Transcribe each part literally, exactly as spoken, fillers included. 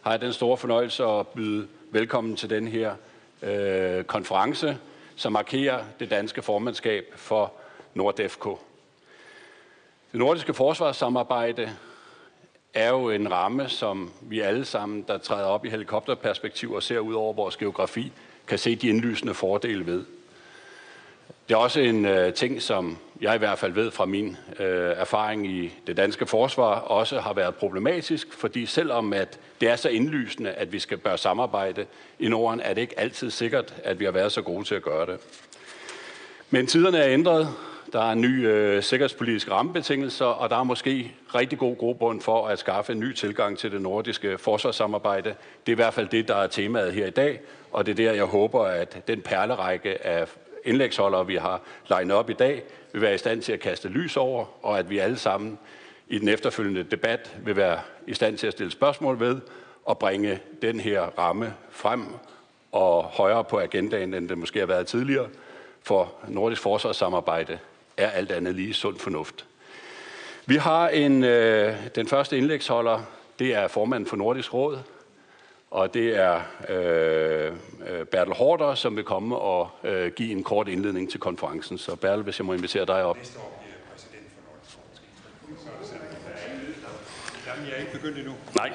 har jeg den store fornøjelse at byde velkommen til den her øh, konference, som markerer det danske formandskab for NORDEFCO. Det nordiske forsvarssamarbejde er jo en ramme, som vi alle sammen, der træder op i helikopterperspektiv og ser ud over vores geografi, kan se de indlysende fordele ved. Det er også en øh, ting, som jeg i hvert fald ved fra min øh, erfaring i det danske forsvar, også har været problematisk, fordi selvom at det er så indlysende, at vi skal bør samarbejde i Norden, er det ikke altid sikkert, at vi har været så gode til at gøre det. Men tiderne er ændret. Der er en ny øh, sikkerhedspolitisk rammebetingelser, og der er måske rigtig god grobund for at skaffe en ny tilgang til det nordiske forsvarssamarbejde. Det er i hvert fald det, der er temaet her i dag, og det er der, jeg håber, at den perlerække af indlægsholdere, vi har legnet op i dag, vil være i stand til at kaste lys over, og at vi alle sammen i den efterfølgende debat vil være i stand til at stille spørgsmål ved og bringe den her ramme frem og højere på agendaen, end det måske har været tidligere, for nordisk forsvarssamarbejde er alt andet lige sund fornuft. Vi har en, øh, den første indlægsholder, det er formanden for Nordisk Råd, og det er øh, Bertel Haarder, som vil komme og øh, give en kort indledning til konferencen. Så Bertel, hvis jeg må invitere dig op. Næste år bliver præsident for Nordisk Råd. Så er det sådan, at der er ingen lyd. Jamen, jeg er ikke begyndt endnu. Nej.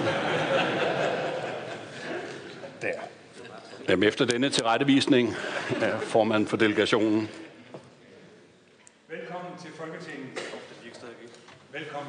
Der. Jamen, efter denne tilrettevisning er formanden for delegationen. Velkommen til Folketinget. Velkommen.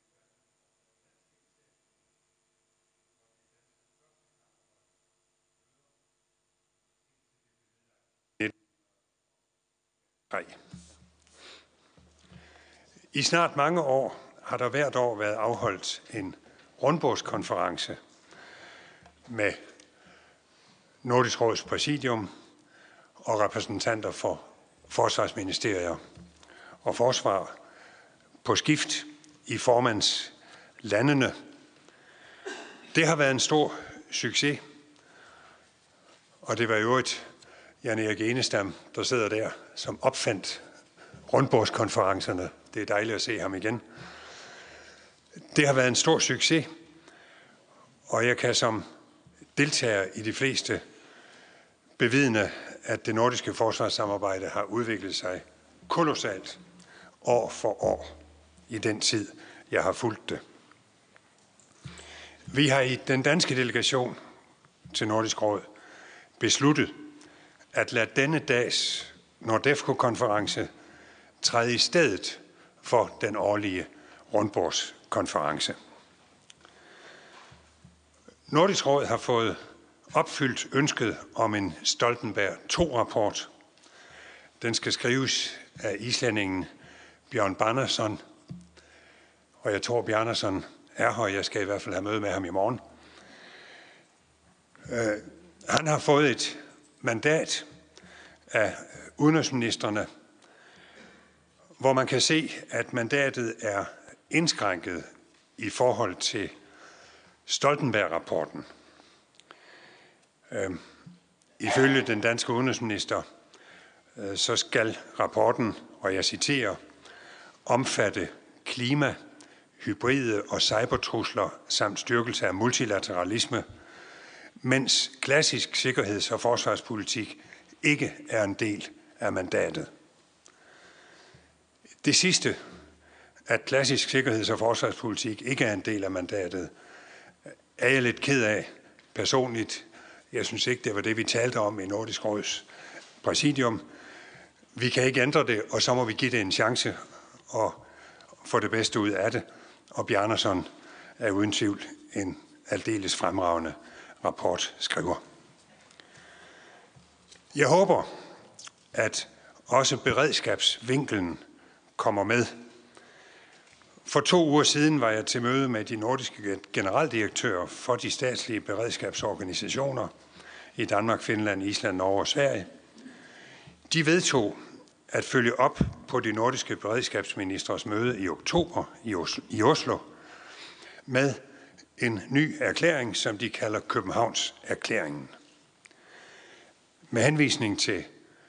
I snart mange år har der hvert år været afholdt en rundbordskonference med Nordisk Råds præsidium og repræsentanter for forsvarsministerier og forsvar på skift i formandslandene. Det har været en stor succes, og det var i øvrigt Jan Erik Enestam, der sidder der, som opfandt rundbordskonferencerne. Det er dejligt at se ham igen. Det har været en stor succes, og jeg kan som deltager i de fleste bevidne, at det nordiske forsvarssamarbejde har udviklet sig kolossalt år for år i den tid, jeg har fulgt det. Vi har i den danske delegation til Nordisk Råd besluttet at lade denne dags NORDEFCO-konference træde i stedet for den årlige rundbordskonference. Nordisk Råd har fået opfyldt ønsket om en Stoltenberg to-rapport. Den skal skrives af islændingen Bjørn Bjarnason, og jeg tror, Bjarnason er her. Jeg skal i hvert fald have møde med ham i morgen. Uh, han har fået et mandat af udenrigsministrene, hvor man kan se, at mandatet er indskrænket i forhold til Stoltenberg-rapporten. Øh, ifølge den danske udenrigsminister, øh, så skal rapporten, og jeg citerer, omfatte klima, hybride og cybertrusler samt styrkelse af multilateralisme, mens klassisk sikkerheds- og forsvarspolitik ikke er en del af mandatet. Det sidste, at klassisk sikkerheds- og forsvarspolitik ikke er en del af mandatet, er jeg lidt ked af personligt. Jeg synes ikke, det var det, vi talte om i Nordisk Råds præsidium. Vi kan ikke ændre det, og så må vi give det en chance og få det bedste ud af det. Og Bjarnason er uden tvivl en aldeles fremragende rapportskriver. Jeg håber, at også beredskabsvinkelen kommer med. For to uger siden var jeg til møde med de nordiske generaldirektører for de statslige beredskabsorganisationer i Danmark, Finland, Island, Norge og Sverige. De vedtog at følge op på de nordiske beredskabsministres møde i oktober i Oslo med en ny erklæring, som de kalder Københavns erklæringen. Med henvisning til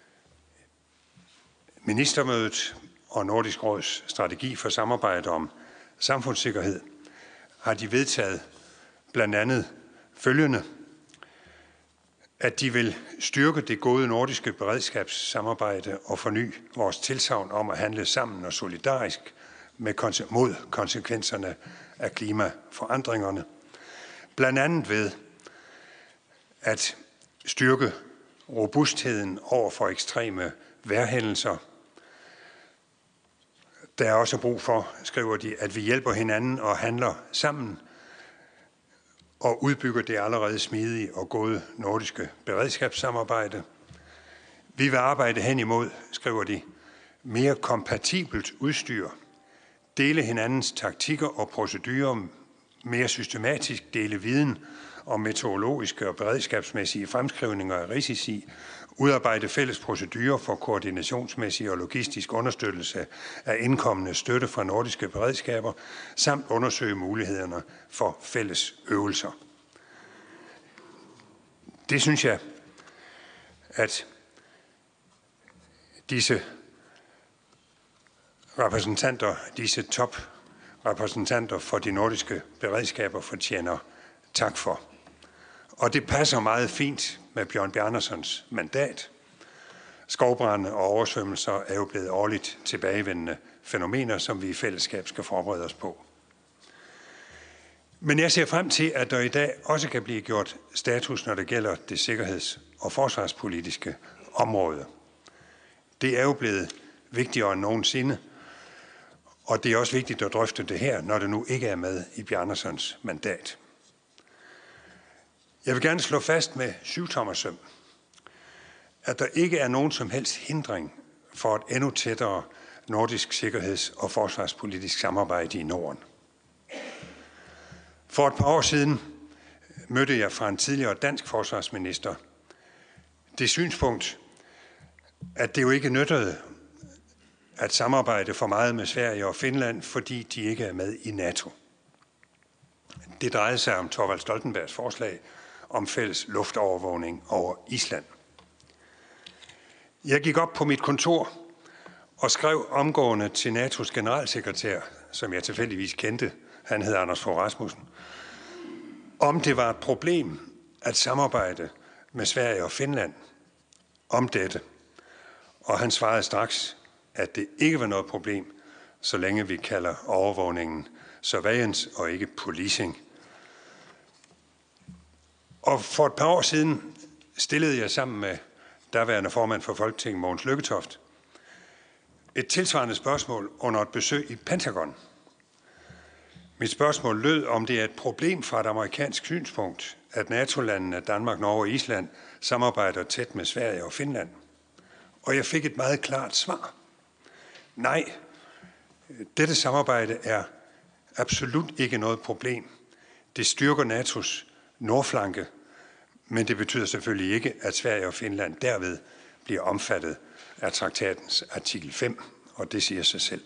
ministermødet og Nordisk Råds strategi for samarbejde om samfundssikkerhed, har de vedtaget blandt andet følgende, at de vil styrke det gode nordiske beredskabssamarbejde og forny vores tilsagn om at handle sammen og solidarisk med mod konsekvenserne af klimaforandringerne, blandt andet ved at styrke robustheden over for ekstreme vejrhændelser. Der er også brug for, skriver de, at vi hjælper hinanden og handler sammen og udbygger det allerede smidige og gode nordiske beredskabssamarbejde. Vi vil arbejde hen imod, skriver de, mere kompatibelt udstyr, dele hinandens taktikker og procedurer, mere systematisk dele viden om meteorologiske og beredskabsmæssige fremskrivninger af risici, udarbejde fælles procedurer for koordinationsmæssig og logistisk understøttelse af indkommende støtte fra nordiske beredskaber, samt undersøge mulighederne for fælles øvelser. Det synes jeg, at disse repræsentanter, disse toprepræsentanter for de nordiske beredskaber fortjener tak for. Og det passer meget fint med Bjørn Bjarnasons mandat. Skovbrande og oversvømmelser er jo blevet årligt tilbagevendende fænomener, som vi i fællesskab skal forberede os på. Men jeg ser frem til, at der i dag også kan blive gjort status, når det gælder det sikkerheds- og forsvarspolitiske område. Det er jo blevet vigtigere end nogensinde, og det er også vigtigt at drøfte det her, når det nu ikke er med i Bjarnasons mandat. Jeg vil gerne slå fast med syvtommersøm, at der ikke er nogen som helst hindring for et endnu tættere nordisk sikkerheds- og forsvarspolitisk samarbejde i Norden. For et par år siden mødte jeg fra en tidligere dansk forsvarsminister det synspunkt, at det jo ikke nyttede at samarbejde for meget med Sverige og Finland, fordi de ikke er med i NATO. Det drejede sig om Thorvald Stoltenbergs forslag om fælles luftovervågning over Island. Jeg gik op på mit kontor og skrev omgående til NATO's generalsekretær, som jeg tilfældigvis kendte, han hed Anders Fogh Rasmussen, om det var et problem at samarbejde med Sverige og Finland om dette. Og han svarede straks, at det ikke var noget problem, så længe vi kalder overvågningen surveillance og ikke policing. Og for et par år siden stillede jeg sammen med daværende formand for Folketinget, Mogens Lykketoft, et tilsvarende spørgsmål under et besøg i Pentagon. Mit spørgsmål lød, om det er et problem fra et amerikansk synspunkt, at NATO-landene Danmark, Norge og Island samarbejder tæt med Sverige og Finland. Og jeg fik et meget klart svar. Nej, dette samarbejde er absolut ikke noget problem. Det styrker NATO's nordflanke, men det betyder selvfølgelig ikke, at Sverige og Finland derved bliver omfattet af traktatens artikel fem, og det siger sig selv.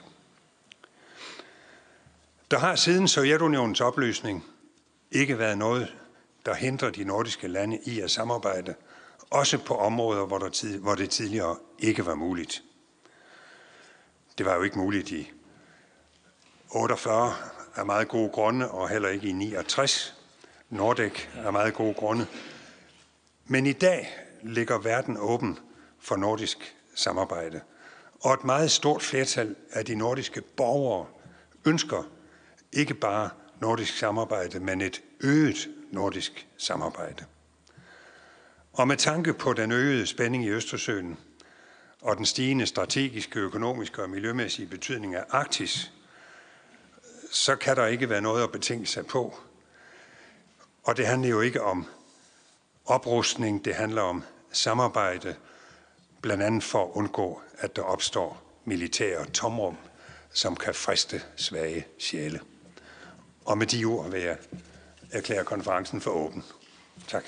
Der har siden Sovjetunionens opløsning ikke været noget, der hindrer de nordiske lande i at samarbejde, også på områder, hvor, der tid, hvor det tidligere ikke var muligt. Det var jo ikke muligt i otteogfyrre af meget gode grunde, og heller ikke i niogtres. Nordek af meget gode grunde. Men i dag ligger verden åben for nordisk samarbejde. Og et meget stort flertal af de nordiske borgere ønsker ikke bare nordisk samarbejde, men et øget nordisk samarbejde. Og med tanke på den øgede spænding i Østersøen og den stigende strategiske, økonomiske og miljømæssige betydning af Arktis, så kan der ikke være noget at betænke sig på. Og det handler jo ikke om oprustning, det handler om samarbejde, blandt andet for at undgå, at der opstår militære tomrum, som kan friste svage sjæle. Og med de ord vil jeg erklære konferencen for åben. Tak.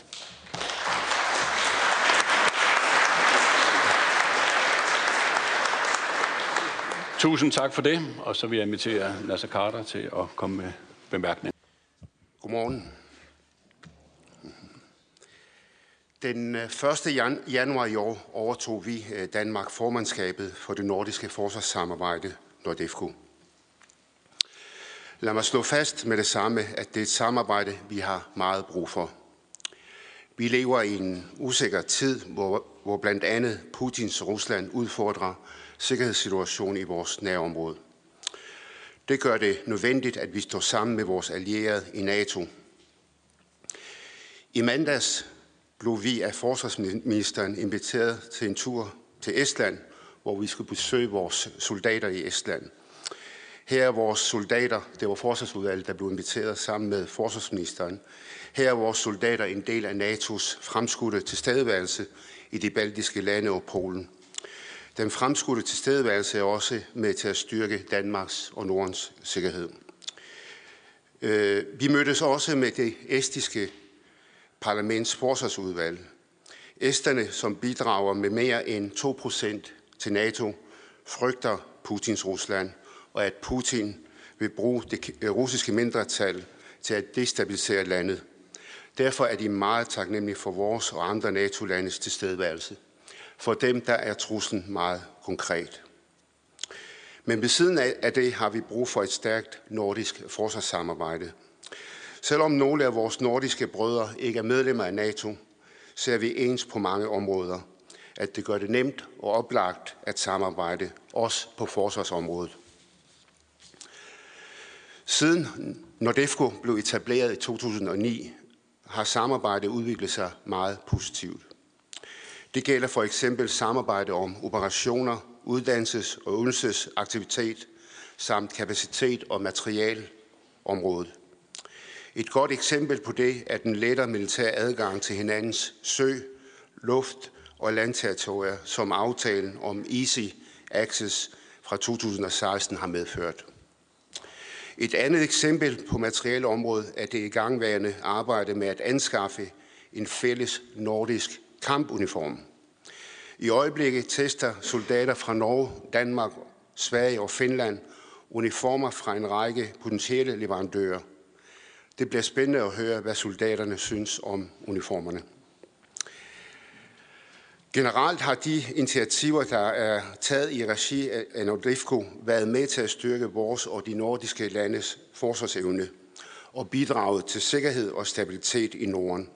Tusind tak for det, og så vil jeg invitere Naser Khader til at komme med bemærkning. Godmorgen. Den første januar i år overtog vi Danmark formandskabet for det nordiske forsvarssamarbejde, NORDEFCO. Lad mig slå fast med det samme, at det er et samarbejde, vi har meget brug for. Vi lever i en usikker tid, hvor, hvor blandt andet Putins Rusland udfordrer sikkerhedssituationen i vores nærområde. Det gør det nødvendigt, at vi står sammen med vores allierede i NATO. I mandags blev vi af forsvarsministeren inviteret til en tur til Estland, hvor vi skulle besøge vores soldater i Estland. Her er vores soldater, det var forsvarsudvalget, der blev inviteret sammen med forsvarsministeren. Her er vores soldater en del af NATO's fremskudte tilstedeværelse i de baltiske lande og Polen. Den fremskudte tilstedeværelse er også med til at styrke Danmarks og Nordens sikkerhed. Vi mødtes også med det estiske parlaments forsvarsudvalg. Esterne, som bidrager med mere end to procent til NATO, frygter Putins Rusland, og at Putin vil bruge det russiske mindretal til at destabilisere landet. Derfor er de meget taknemmelige for vores og andre NATO-landes tilstedeværelse. For dem der er truslen meget konkret. Men ved siden af det har vi brug for et stærkt nordisk forsvarssamarbejde. Selvom nogle af vores nordiske brødre ikke er medlemmer af NATO, ser vi ens på mange områder, at det gør det nemt og oplagt at samarbejde, også på forsvarsområdet. Siden NORDEFCO blev etableret i to tusind og ni, har samarbejdet udviklet sig meget positivt. Det gælder for eksempel samarbejde om operationer, uddannelses- og øvelsesaktivitet samt kapacitet- og materialområdet. Et godt eksempel på det er den lettere militære adgang til hinandens sø-, luft- og landterritorier, som aftalen om Easy Access fra to tusind og seksten har medført. Et andet eksempel på materialeområdet er det igangværende arbejde med at anskaffe en fælles nordisk kampuniform. I øjeblikket tester soldater fra Norge, Danmark, Sverige og Finland uniformer fra en række potentielle leverandører. Det bliver spændende at høre, hvad soldaterne synes om uniformerne. Generelt har de initiativer, der er taget i regi af NORDEFCO, været med til at styrke vores og de nordiske landes forsvarsevne og bidraget til sikkerhed og stabilitet i Norden.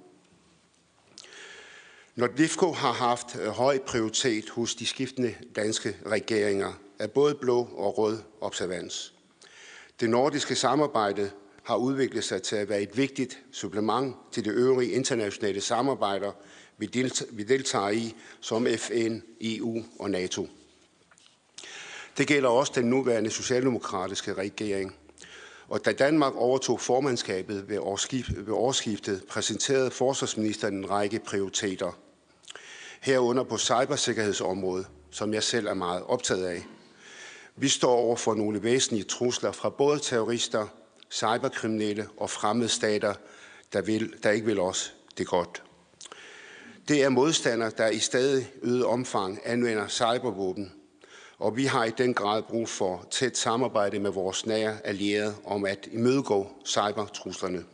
NORDEFCO har haft høj prioritet hos de skiftende danske regeringer af både blå og rød observans. Det nordiske samarbejde har udviklet sig til at være et vigtigt supplement til de øvrige internationale samarbejder, vi deltager i, som F N, E U og NATO. Det gælder også den nuværende socialdemokratiske regering. Og da Danmark overtog formandskabet ved årsskiftet, præsenterede forsvarsministeren en række prioriteter. Herunder på cybersikkerhedsområdet, som jeg selv er meget optaget af. Vi står over for nogle væsentlige trusler fra både terrorister, cyberkriminelle og fremmede stater, der, vil, der ikke vil os det godt. Det er modstandere, der i stadig øget omfang anvender cybervåben, og vi har i den grad brug for tæt samarbejde med vores nære allierede om at imødegå cybertruslerne.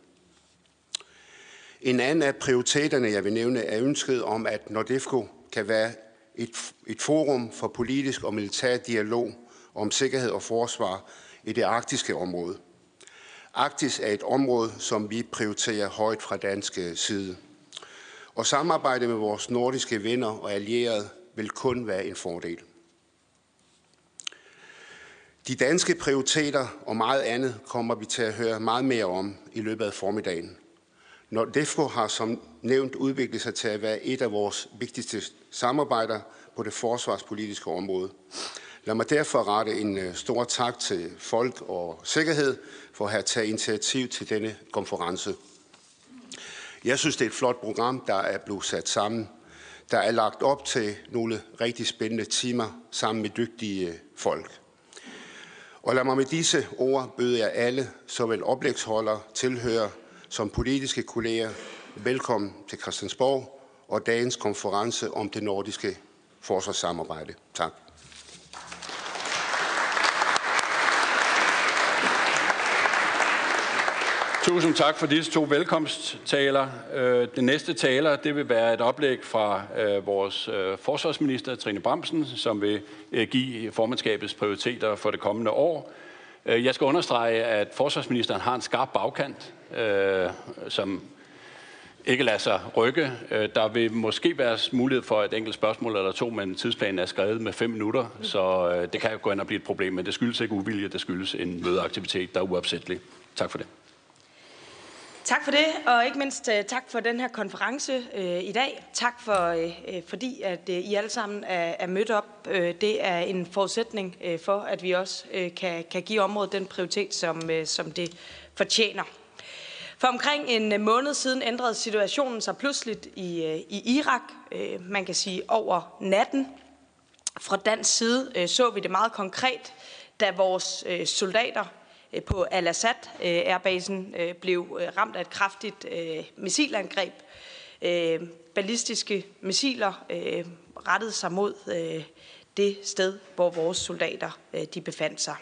En anden af prioriteterne, jeg vil nævne, er ønsket om, at NORDEFCO kan være et, et forum for politisk og militær dialog om sikkerhed og forsvar i det arktiske område. Arktis er et område, som vi prioriterer højt fra dansk side. Og samarbejde med vores nordiske venner og allierede vil kun være en fordel. De danske prioriteter og meget andet kommer vi til at høre meget mere om i løbet af formiddagen. NORDEFCO har som nævnt udviklet sig til at være et af vores vigtigste samarbejder på det forsvarspolitiske område. Lad mig derfor rette en stor tak til Folk og Sikkerhed for at have taget initiativ til denne konference. Jeg synes, det er et flot program, der er blevet sat sammen. Der er lagt op til nogle rigtig spændende timer sammen med dygtige folk. Og lad mig med disse ord byde jer alle, såvel oplægsholdere, tilhører som politiske kolleger, velkommen til Christiansborg og dagens konference om det nordiske forsvarssamarbejde. Tak. Tusind tak for disse to velkomsttaler. Den næste taler, det vil være et oplæg fra vores forsvarsminister, Trine Bramsen, som vil give formandskabets prioriteter for det kommende år. Jeg skal understrege, at forsvarsministeren har en skarp bagkant, som ikke lade sig rykke. Der vil måske være mulighed for et enkelt spørgsmål eller to, men tidsplanen er skrevet med fem minutter, så det kan jo gå ind og blive et problem, men det skyldes ikke uvilje, det skyldes en mødeaktivitet, der er uopsættelig. Tak for det. Tak for det, og ikke mindst tak for den her konference øh, i dag. Tak for, øh, fordi at øh, I alle sammen er, er mødt op. Øh, det er en forudsætning øh, for, at vi også øh, kan, kan give området den prioritet, som, øh, som det fortjener. For omkring en måned siden ændrede situationen sig pludseligt i, øh, i Irak. Øh, man kan sige over natten. Fra dansk side øh, så vi det meget konkret, da vores øh, soldater på Al-Assad Airbasen blev ramt af et kraftigt missilangreb. Ballistiske missiler rettede sig mod det sted, hvor vores soldater de befandt sig.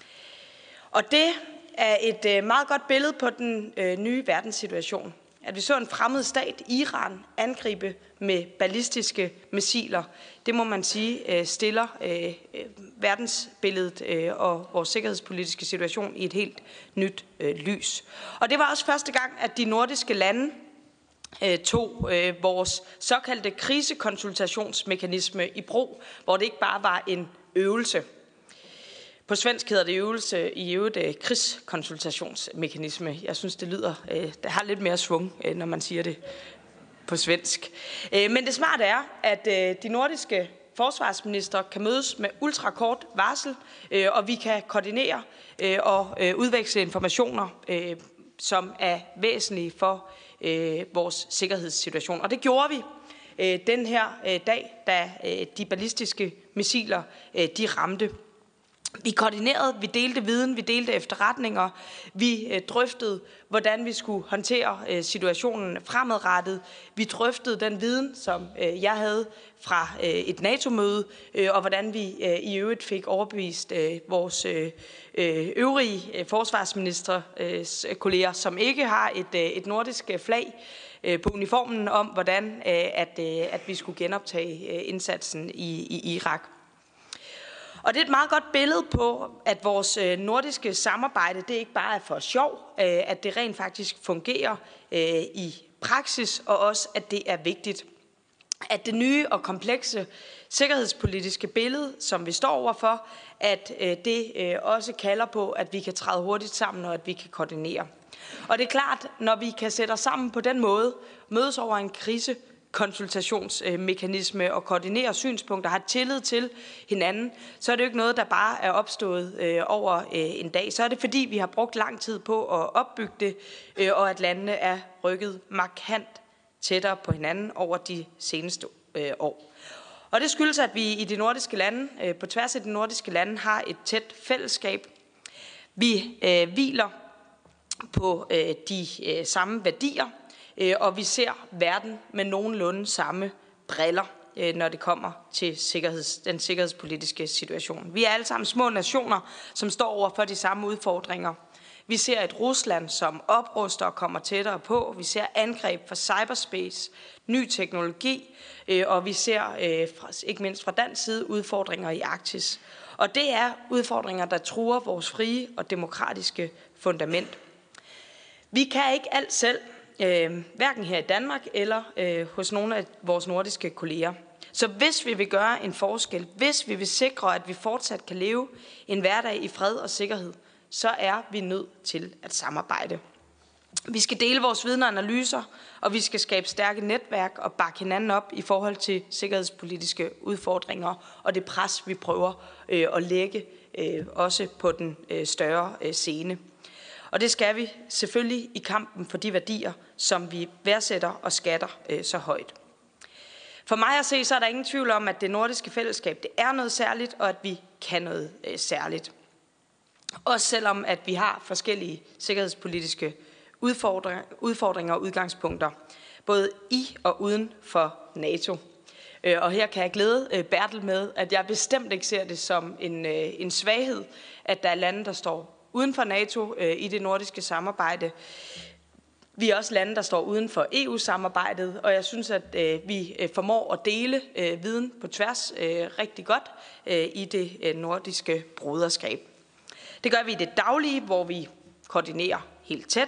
Og det er et meget godt billede på den nye verdenssituation. At vi så en fremmed stat, Iran, angribe med ballistiske missiler, det må man sige stiller verdensbilledet og vores sikkerhedspolitiske situation i et helt nyt lys. Og det var også første gang, at de nordiske lande tog vores såkaldte krisekonsultationsmekanisme i brug, hvor det ikke bare var en øvelse. På svensk hedder det øvelse i øvrigt krigskonsultationsmekanisme. Jeg synes, det lyder, det har lidt mere svung, når man siger det på svensk. Men det smarte er, at de nordiske forsvarsministre kan mødes med ultrakort varsel, og vi kan koordinere og udveksle informationer, som er væsentlige for vores sikkerhedssituation. Og det gjorde vi den her dag, da de ballistiske missiler de ramte. Vi koordinerede, vi delte viden, vi delte efterretninger, vi drøftede, hvordan vi skulle håndtere situationen fremadrettet. Vi drøftede den viden, som jeg havde fra et NATO-møde, og hvordan vi i øvrigt fik overbevist vores øvrige forsvarsministre kolleger, som ikke har et, et nordisk flag på uniformen, om hvordan at, at vi skulle genoptage indsatsen i, i Irak. Og det er et meget godt billede på, at vores nordiske samarbejde, det ikke bare er for sjov, at det rent faktisk fungerer i praksis, og også, at det er vigtigt. At det nye og komplekse sikkerhedspolitiske billede, som vi står overfor, at det også kalder på, at vi kan træde hurtigt sammen, og at vi kan koordinere. Og det er klart, når vi kan sætte os sammen på den måde, mødes over en krise, konsultationsmekanisme og koordinere synspunkter, har tillid til hinanden, så er det jo ikke noget, der bare er opstået øh, over øh, en dag. Så er det fordi, vi har brugt lang tid på at opbygge det, øh, og at landene er rykket markant tættere på hinanden over de seneste øh, år. Og det skyldes, at vi i de nordiske lande, øh, på tværs af de nordiske lande, har et tæt fællesskab. Vi øh, hviler på øh, de øh, samme værdier, og vi ser verden med nogenlunde samme briller, når det kommer til sikkerheds, den sikkerhedspolitiske situation. Vi er alle sammen små nationer, som står over for de samme udfordringer. Vi ser et Rusland, som opruster og kommer tættere på. Vi ser angreb fra cyberspace, ny teknologi, og vi ser ikke mindst fra dansk side udfordringer i Arktis. Og det er udfordringer, der truer vores frie og demokratiske fundament. Vi kan ikke alt selv, Øh, hverken her i Danmark eller øh, hos nogle af vores nordiske kolleger. Så hvis vi vil gøre en forskel, hvis vi vil sikre, at vi fortsat kan leve en hverdag i fred og sikkerhed, så er vi nødt til at samarbejde. Vi skal dele vores viden og analyser, og vi skal skabe stærke netværk og bakke hinanden op i forhold til sikkerhedspolitiske udfordringer og det pres, vi prøver øh, at lægge øh, også på den øh, større øh, scene. Og det skal vi selvfølgelig i kampen for de værdier, som vi værdsætter og skatter øh, så højt. For mig at se, så er der ingen tvivl om, at det nordiske fællesskab det er noget særligt, og at vi kan noget øh, særligt. Også selvom, at vi har forskellige sikkerhedspolitiske udfordringer, udfordringer og udgangspunkter, både i og uden for NATO. Øh, og her kan jeg glæde øh, Bertel med, at jeg bestemt ikke ser det som en, øh, en svaghed, at der er lande, der står uden for NATO øh, i det nordiske samarbejde. Vi er også lande, der står uden for E U-samarbejdet, og jeg synes, at øh, vi øh, formår at dele øh, viden på tværs øh, rigtig godt øh, i det øh, nordiske broderskab. Det gør vi i det daglige, hvor vi koordinerer helt tæt,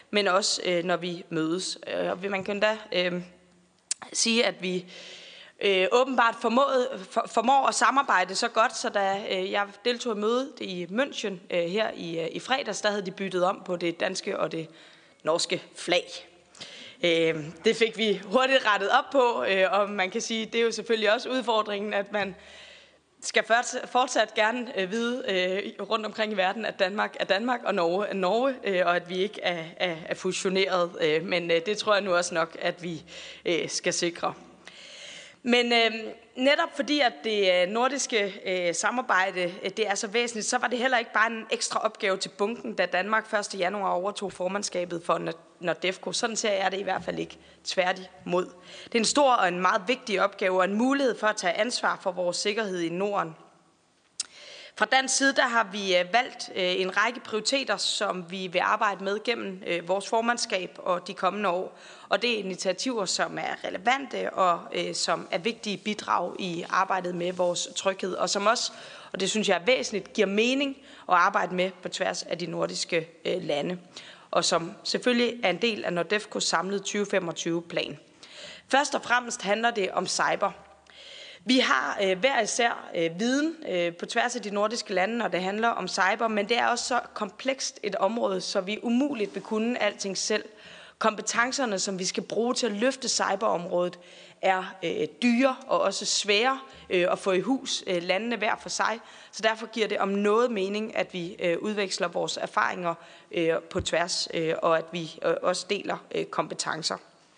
men også øh, når vi mødes. Og man kan da øh, sige, at vi øh, åbenbart formået, for, formår at samarbejde så godt, så da øh, jeg deltog i mødet i München øh, her i, øh, i fredags, der havde de byttet om på det danske og det norske flag. Øh, det fik vi hurtigt rettet op på, øh, og man kan sige, det er jo selvfølgelig også udfordringen, at man skal fortsat gerne øh, vide øh, rundt omkring i verden, at Danmark er Danmark, og Norge er Norge, øh, og at vi ikke er, er, er fusioneret. Øh, men øh, det tror jeg nu også nok, at vi øh, skal sikre. Men øh, netop fordi, at det nordiske øh, samarbejde øh, det er så væsentligt, så var det heller ikke bare en ekstra opgave til bunken, da Danmark første januar overtog formandskabet for NORDEFCO. Sådan ser jeg det i hvert fald ikke, tværtimod. Det er en stor og en meget vigtig opgave og en mulighed for at tage ansvar for vores sikkerhed i Norden. Fra dansk side der har vi valgt en række prioriteter, som vi vil arbejde med gennem vores formandskab og de kommende år. Og det er initiativer, som er relevante og som er vigtige bidrag i arbejdet med vores tryghed, og som også, og det synes jeg er væsentligt, giver mening at arbejde med på tværs af de nordiske lande, og som selvfølgelig er en del af NORDEFCOs samlede tyve femogtyve-plan. Først og fremmest handler det om cyber. Vi har øh, hver især øh, viden øh, på tværs af de nordiske lande, når det handler om cyber, men det er også så komplekst et område, så vi umuligt vil kunne alting selv. Kompetencerne, som vi skal bruge til at løfte cyberområdet, er øh, dyre og også svære øh, at få i hus øh, landene hver for sig. Så derfor giver det om noget mening, at vi øh, udveksler vores erfaringer øh, på tværs, øh, og at vi øh, også deler øh, kompetencer.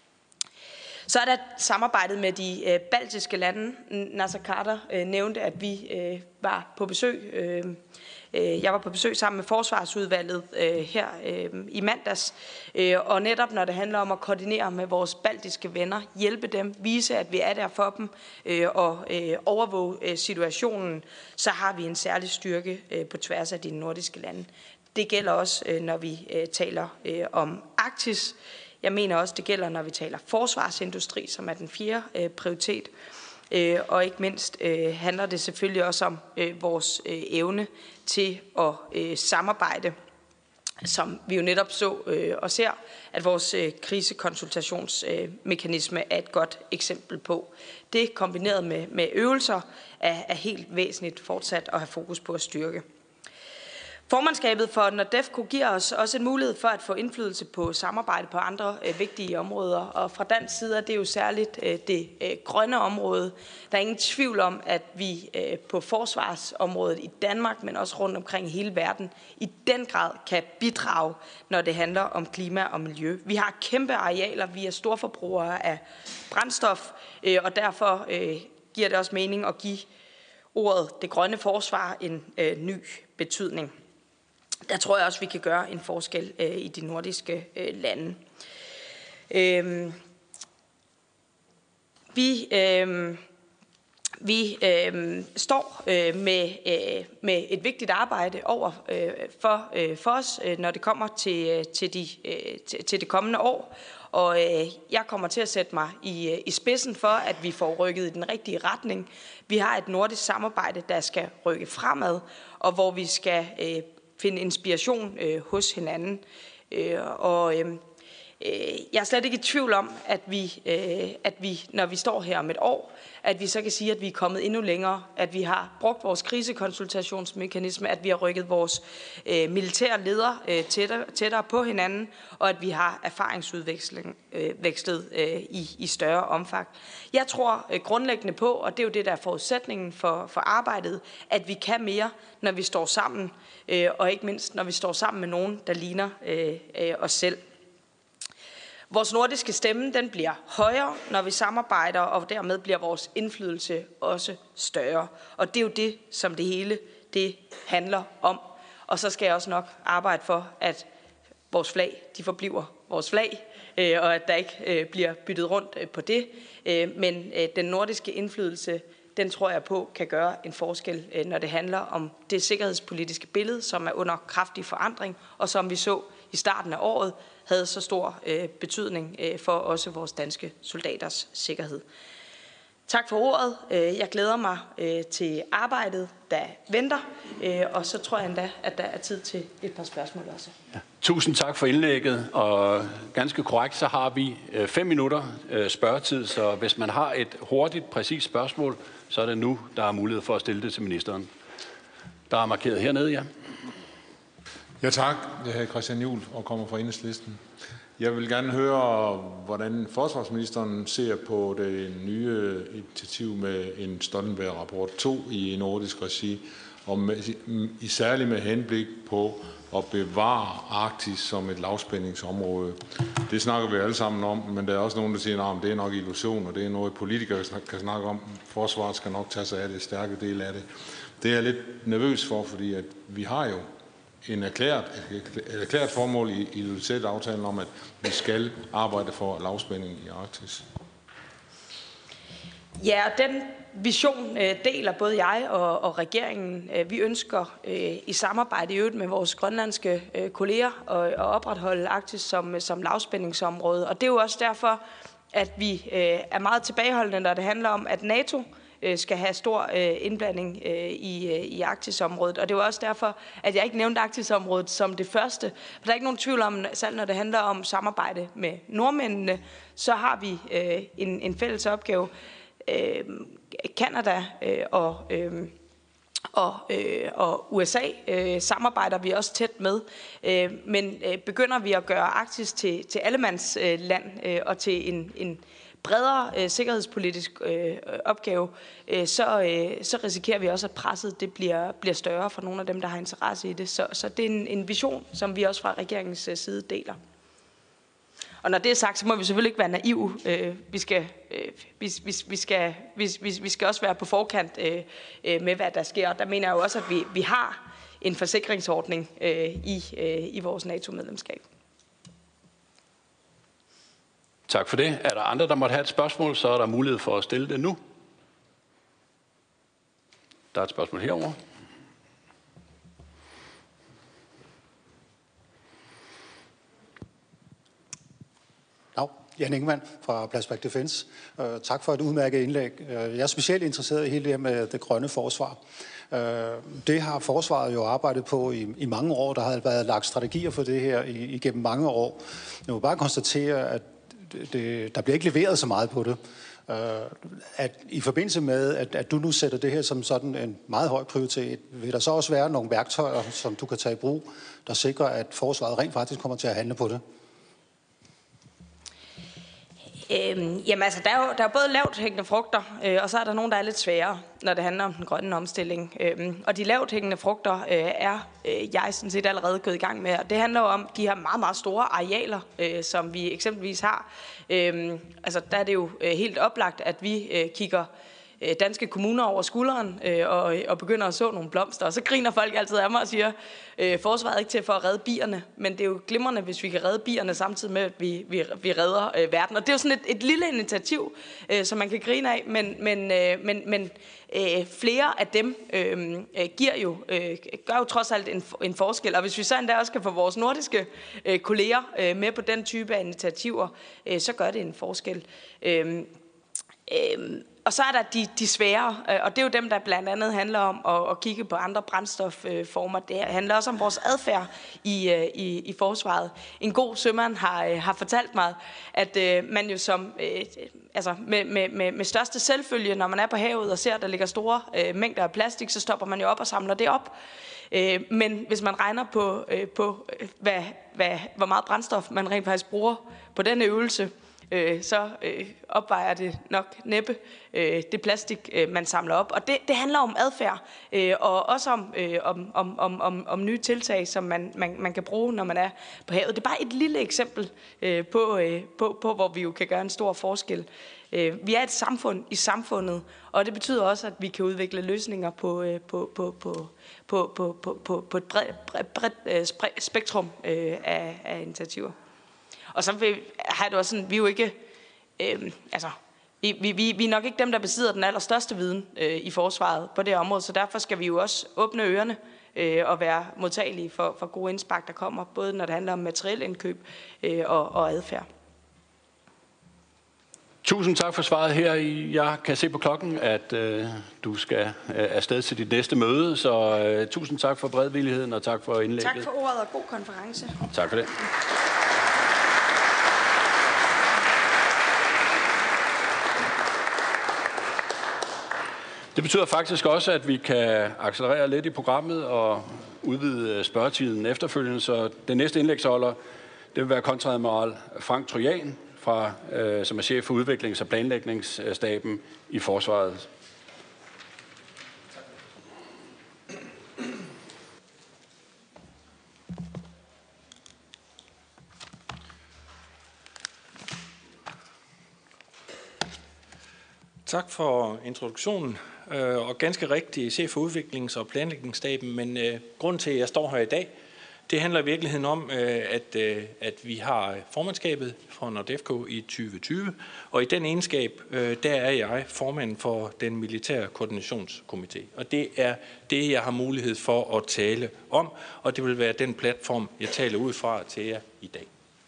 Så er der samarbejdet med de øh, baltiske lande. Nasser Carter øh, nævnte, at vi øh, var på besøg. Øh, øh, jeg var på besøg sammen med Forsvarsudvalget øh, her øh, i mandags. Øh, og netop når det handler om at koordinere med vores baltiske venner, hjælpe dem, vise, at vi er der for dem øh, og øh, overvåge øh, situationen, så har vi en særlig styrke øh, på tværs af de nordiske lande. Det gælder også, øh, når vi øh, taler øh, om Arktis. Jeg mener også, det gælder, når vi taler forsvarsindustri, som er den fjerde øh, prioritet. Øh, og ikke mindst øh, handler det selvfølgelig også om øh, vores øh, evne til at øh, samarbejde, som vi jo netop så øh, og ser, at vores øh, krisekonsultationsmekanisme øh, er et godt eksempel på. Det kombineret med, med øvelser er, er helt væsentligt fortsat at have fokus på at styrke. Formandskabet for NORDEFCO giver os også en mulighed for at få indflydelse på samarbejde på andre øh, vigtige områder. Og fra dansk side er det jo særligt øh, det øh, grønne område. Der er ingen tvivl om, at vi øh, på forsvarsområdet i Danmark, men også rundt omkring i hele verden, i den grad kan bidrage, når det handler om klima og miljø. Vi har kæmpe arealer, vi er storforbrugere af brændstof, øh, og derfor øh, giver det også mening at give ordet det grønne forsvar en øh, ny betydning. Der tror jeg også, vi kan gøre en forskel øh, i de nordiske øh, lande. Øhm, vi øh, vi øh, står øh, med, øh, med et vigtigt arbejde over øh, for, øh, for os, øh, når det kommer til, til, de, øh, til, til det kommende år. Og øh, jeg kommer til at sætte mig i, i spidsen for, at vi får rykket i den rigtige retning. Vi har et nordisk samarbejde, der skal rykke fremad, og hvor vi skal øh, finde inspiration øh, hos hinanden. Øh, og øh, jeg er slet ikke i tvivl om, at vi, øh, at vi, når vi står her om et år, at vi så kan sige, at vi er kommet endnu længere, at vi har brugt vores krisekonsultationsmekanisme, at vi har rykket vores øh, militære ledere øh, tættere, tættere på hinanden, og at vi har erfaringsudvekslet øh, vekslet, øh, i, i større omfang. Jeg tror øh, grundlæggende på, og det er jo det, der er forudsætningen for, for arbejdet, at vi kan mere, når vi står sammen, øh, og ikke mindst, når vi står sammen med nogen, der ligner øh, øh, os selv. Vores nordiske stemme, den bliver højere, når vi samarbejder, og dermed bliver vores indflydelse også større. Og det er jo det, som det hele det handler om. Og så skal jeg også nok arbejde for, at vores flag, de forbliver vores flag, og at der ikke bliver byttet rundt på det. Men den nordiske indflydelse, den tror jeg på, kan gøre en forskel, når det handler om det sikkerhedspolitiske billede, som er under kraftig forandring, og som vi så i starten af året, havde så stor øh, betydning øh, for også vores danske soldaters sikkerhed. Tak for ordet. Jeg glæder mig til arbejdet, der venter, og så tror jeg endda, at der er tid til et par spørgsmål også. Ja. Tusind tak for indlægget, og ganske korrekt, så har vi fem minutter spørgetid, så hvis man har et hurtigt, præcist spørgsmål, så er det nu, der er mulighed for at stille det til ministeren. Der er markeret hernede, ja. Ja tak, jeg hedder Christian Juhl og kommer fra Enhedslisten. Jeg vil gerne høre, hvordan forsvarsministeren ser på det nye initiativ med en Stoltenberg-rapport to i nordisk regi, og med, i særligt med henblik på at bevare Arktis som et lavspændingsområde. Det snakker vi alle sammen om, men der er også nogen, der siger, at det er nok illusion, og det er noget, politikere kan snakke om. Forsvaret skal nok tage sig af det, stærke del af det. Det er jeg lidt nervøs for, fordi at vi har jo en erklæret, et erklæret formål i Ilulissat-aftalen om, at vi skal arbejde for lavspænding i Arktis. Ja, og den vision øh, deler både jeg og, og regeringen. Vi ønsker øh, i samarbejde i øvrigt med vores grønlandske øh, kolleger at, at opretholde Arktis som, som lavspændingsområde. Og det er jo også derfor, at vi øh, er meget tilbageholdende, når det handler om, at NATO skal have stor øh, indblanding øh, i, øh, i Arktisområdet. Og det var også derfor, at jeg ikke nævnte Arktisområdet som det første. For der er ikke nogen tvivl om, selv når det handler om samarbejde med nordmændene, så har vi øh, en, en fælles opgave. Øh, Canada øh, og, øh, og, øh, og U S A øh, samarbejder vi også tæt med. Øh, men øh, begynder vi at gøre Arktis til, til allemandsland øh, og til en, en bredere øh, sikkerhedspolitisk øh, opgave, øh, så, øh, så risikerer vi også, at presset det bliver, bliver større for nogle af dem, der har interesse i det. Så, så det er en, en vision, som vi også fra regeringens side deler. Og når det er sagt, så må vi selvfølgelig ikke være naive. Øh, vi, skal, øh, vi, vi, vi, skal, vi, vi, vi skal også være på forkant øh, med, hvad der sker. Og der mener jeg jo også, at vi, vi har en forsikringsordning øh, i, øh, i vores NATO-medlemskab. Tak for det. Er der andre, der måtte have et spørgsmål, så er der mulighed for at stille det nu. Der er et spørgsmål herovre. Dag, Jan Ingemann fra Plasback Defense. Uh, tak for et udmærket indlæg. Uh, jeg er specielt interesseret i hele det her med det grønne forsvar. Uh, det har forsvaret jo arbejdet på i, i mange år. Der har været lagt strategier for det her i, igennem mange år. Jeg må bare konstatere, at Det, der bliver ikke leveret så meget på det. Uh, at i forbindelse med, at, at du nu sætter det her som sådan en meget høj prioritet, vil der så også være nogle værktøjer, som du kan tage i brug, der sikrer, at forsvaret rent faktisk kommer til at handle på det? Øhm, jamen altså, der er jo der er både lavt hængende frugter, øh, og så er der nogle, der er lidt sværere, når det handler om den grønne omstilling. Øhm, og de lavt hængende frugter øh, er øh, jeg sådan set allerede gået i gang med. Og det handler jo om de her meget, meget store arealer, øh, som vi eksempelvis har. Øhm, altså, der er det jo øh, helt oplagt, at vi øh, kigger danske kommuner over skulderen øh, og, og begynder at så nogle blomster. Og så griner folk altid af mig og siger, øh, forsvaret er ikke til for at redde bierne, men det er jo glimrende, hvis vi kan redde bierne samtidig med, at vi, vi, vi redder øh, verden. Og det er jo sådan et, et lille initiativ, øh, som man kan grine af, men, men, øh, men, men øh, flere af dem øh, giver jo, øh, gør jo trods alt en, en forskel. Og hvis vi så endda også kan få vores nordiske øh, kolleger øh, med på den type af initiativer, øh, så gør det en forskel. Øh, øh, Og så er der de, de svære, og det er jo dem, der blandt andet handler om at, at kigge på andre brændstofformer. Det handler også om vores adfærd i, i, i forsvaret. En god sømand har, har fortalt mig, at uh, man jo som, uh, altså med, med, med største selvfølge, når man er på havet og ser, at der ligger store uh, mængder af plastik, så stopper man jo op og samler det op. Uh, men hvis man regner på, uh, på hvad, hvad, hvor meget brændstof man rent faktisk bruger på den øvelse, så øh, opvejer det nok næppe øh, det plastik, øh, man samler op. Og det, det handler om adfærd, øh, og også om, øh, om, om, om, om, om nye tiltag, som man, man, man kan bruge, når man er på havet. Det er bare et lille eksempel øh, på, øh, på, på, hvor vi jo kan gøre en stor forskel. Øh, vi er et samfund i samfundet, og det betyder også, at vi kan udvikle løsninger på, øh, på, på, på, på, på, på, på, på et bredt, bredt, bredt øh, spektrum øh, af, af initiativer. Og så vil, har det også sådan, vi er jo ikke, øh, altså, vi, vi, vi er nok ikke dem, der besidder den allerstørste viden øh, i forsvaret på det område, så derfor skal vi jo også åbne ørerne øh, og være modtagelige for, for gode indspark, der kommer, både når det handler om materiel indkøb øh, og, og adfærd. Tusind tak for svaret her. Jeg kan se på klokken, at øh, du skal øh, afsted til dit næste møde, så øh, tusind tak for beredvilligheden og tak for indlægget. Tak for ordet og god konference. Tak for det. Det betyder faktisk også, at vi kan accelerere lidt i programmet og udvide spørgetiden efterfølgende, så den næste indlægsholder, det vil være kontreadmiral Frank Trojan, fra, øh, som er chef for udviklings- og planlægningsstaben i Forsvaret. Tak for introduktionen, og ganske rigtig chef for udviklings- og planlægningsstaben, men øh, grunden til, at jeg står her i dag, det handler i virkeligheden om, at, at vi har formandskabet for NORDEFCO i tyve tyve, og i den egenskab, der er jeg formand for den militære koordinationskomité. Og det er det, jeg har mulighed for at tale om, og det vil være den platform, jeg taler ud fra til jer i dag.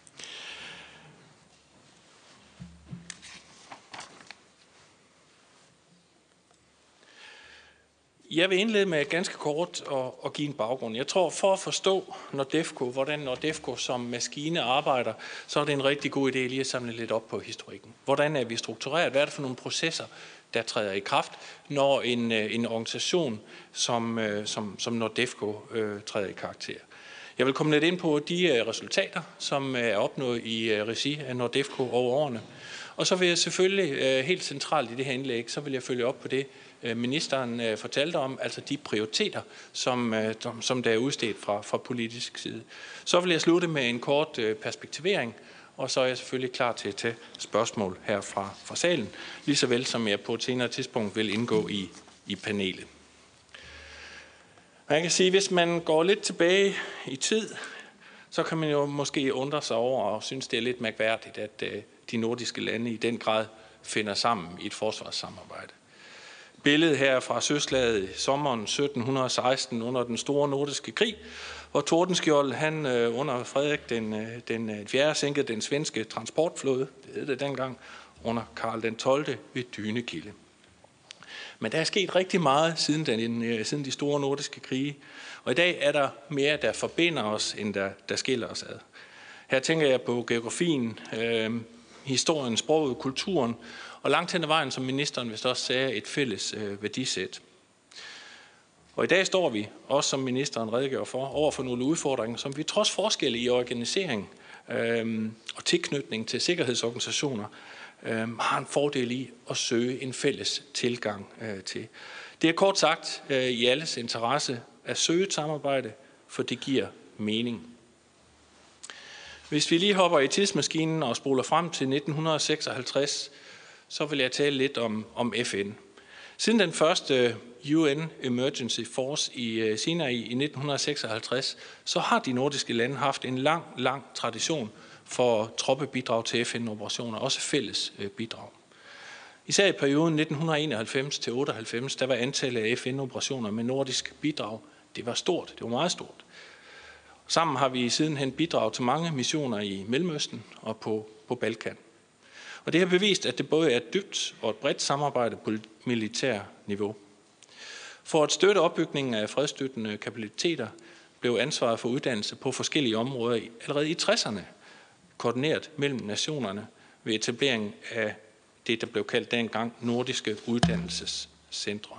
Jeg vil indlede med ganske kort og, og give en baggrund. Jeg tror, for at forstå NORDEFCO, hvordan NORDEFCO som maskine arbejder, så er det en rigtig god idé lige at samle lidt op på historikken. Hvordan er vi struktureret? Hvad er det for nogle processer, der træder i kraft, når en, en organisation som, som, som NORDEFCO øh, træder i karakter? Jeg vil komme lidt ind på de resultater, som er opnået i regi af NORDEFCO over årene. Og så vil jeg selvfølgelig helt centralt i det her indlæg, så vil jeg følge op på det, ministeren fortalte om, altså de prioriteter, som, som der er udstedt fra, fra politisk side. Så vil jeg slutte med en kort perspektivering, og så er jeg selvfølgelig klar til at tage spørgsmål her fra, fra salen, lige så vel som jeg på et senere tidspunkt vil indgå i, i panelet. Man kan sige, hvis man går lidt tilbage i tid, så kan man jo måske undre sig over og synes, det er lidt mærkværdigt, at de nordiske lande i den grad finder sammen i et forsvarssamarbejde. Billedet her fra søslaget i sommeren sytten seksten under den store nordiske krig, hvor Tordenskjold han under Frederik den, den fjerde sænkede den svenske transportflåde, det hed det dengang, under Karl den tolvte ved Dynekilde. Men der er sket rigtig meget siden, den, siden de store nordiske krige, og i dag er der mere, der forbinder os, end der, der skiller os ad. Her tænker jeg på geografien, øh, historien, sproget, kulturen, og langt hen ad vejen, som ministeren vist også sagde, et fælles øh, værdisæt. Og i dag står vi, også som ministeren redegjorde for, over for nogle udfordringer, som vi trods forskelle i organisering øh, og tilknytning til sikkerhedsorganisationer, øh, har en fordel i at søge en fælles tilgang øh, til. Det er kort sagt øh, i alles interesse at søge et samarbejde, for det giver mening. Hvis vi lige hopper i tidsmaskinen og spoler frem til nitten seksoghalvtreds, så vil jeg tale lidt om, om F N. Siden den første U N Emergency Force i Sinai i nitten seksoghalvtreds, så har de nordiske lande haft en lang, lang tradition for troppebidrag til F N-operationer, også fælles bidrag. Især i perioden nitten enoghalvfems til otteoghalvfems, der var antallet af F N-operationer med nordisk bidrag, det var stort, det var meget stort. Sammen har vi sidenhen bidraget til mange missioner i Mellemøsten og på, på Balkan. Og det har bevist, at det både er et dybt og et bredt samarbejde på militær niveau. For at støtte opbygningen af fredsstøttende kapaciteter blev ansvaret for uddannelse på forskellige områder allerede i tresserne koordineret mellem nationerne ved etablering af det, der blev kaldt dengang nordiske uddannelsescentre.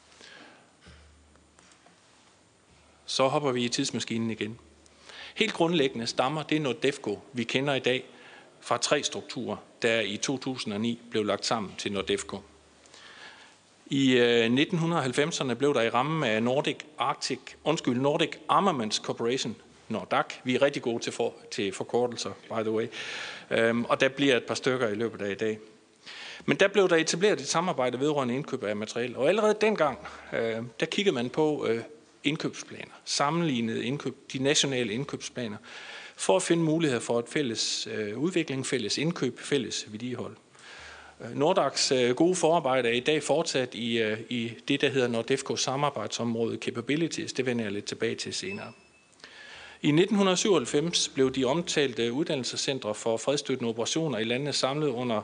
Så hopper vi i tidsmaskinen igen. Helt grundlæggende stammer det NORDEFCO, vi kender i dag, fra tre strukturer, der i to tusind og ni blev lagt sammen til NORDEFCO. I nitten halvfemserne blev der i rammen af Nordic Arctic, undskyld, Nordic Armaments Corporation, NORDAC, vi er rigtig gode til, for, til forkortelser, by the way, øhm, og der bliver et par stykker i løbet af i dag. Men der blev der etableret et samarbejde vedrørende indkøb af materiel, og allerede dengang, øh, der kiggede man på øh, indkøbsplaner, sammenlignede indkøb, de nationale indkøbsplaner, for at finde muligheder for et fælles øh, udvikling, fælles indkøb, fælles vedligehold. NORDACs øh, gode forarbejde er i dag fortsat i, øh, i det, der hedder NORDEFCO samarbejdsområde Capabilities. Det vender jeg lidt tilbage til senere. I nitten syvoghalvfems blev de omtalte uddannelsescentre for fredsstøttende operationer i landene samlet under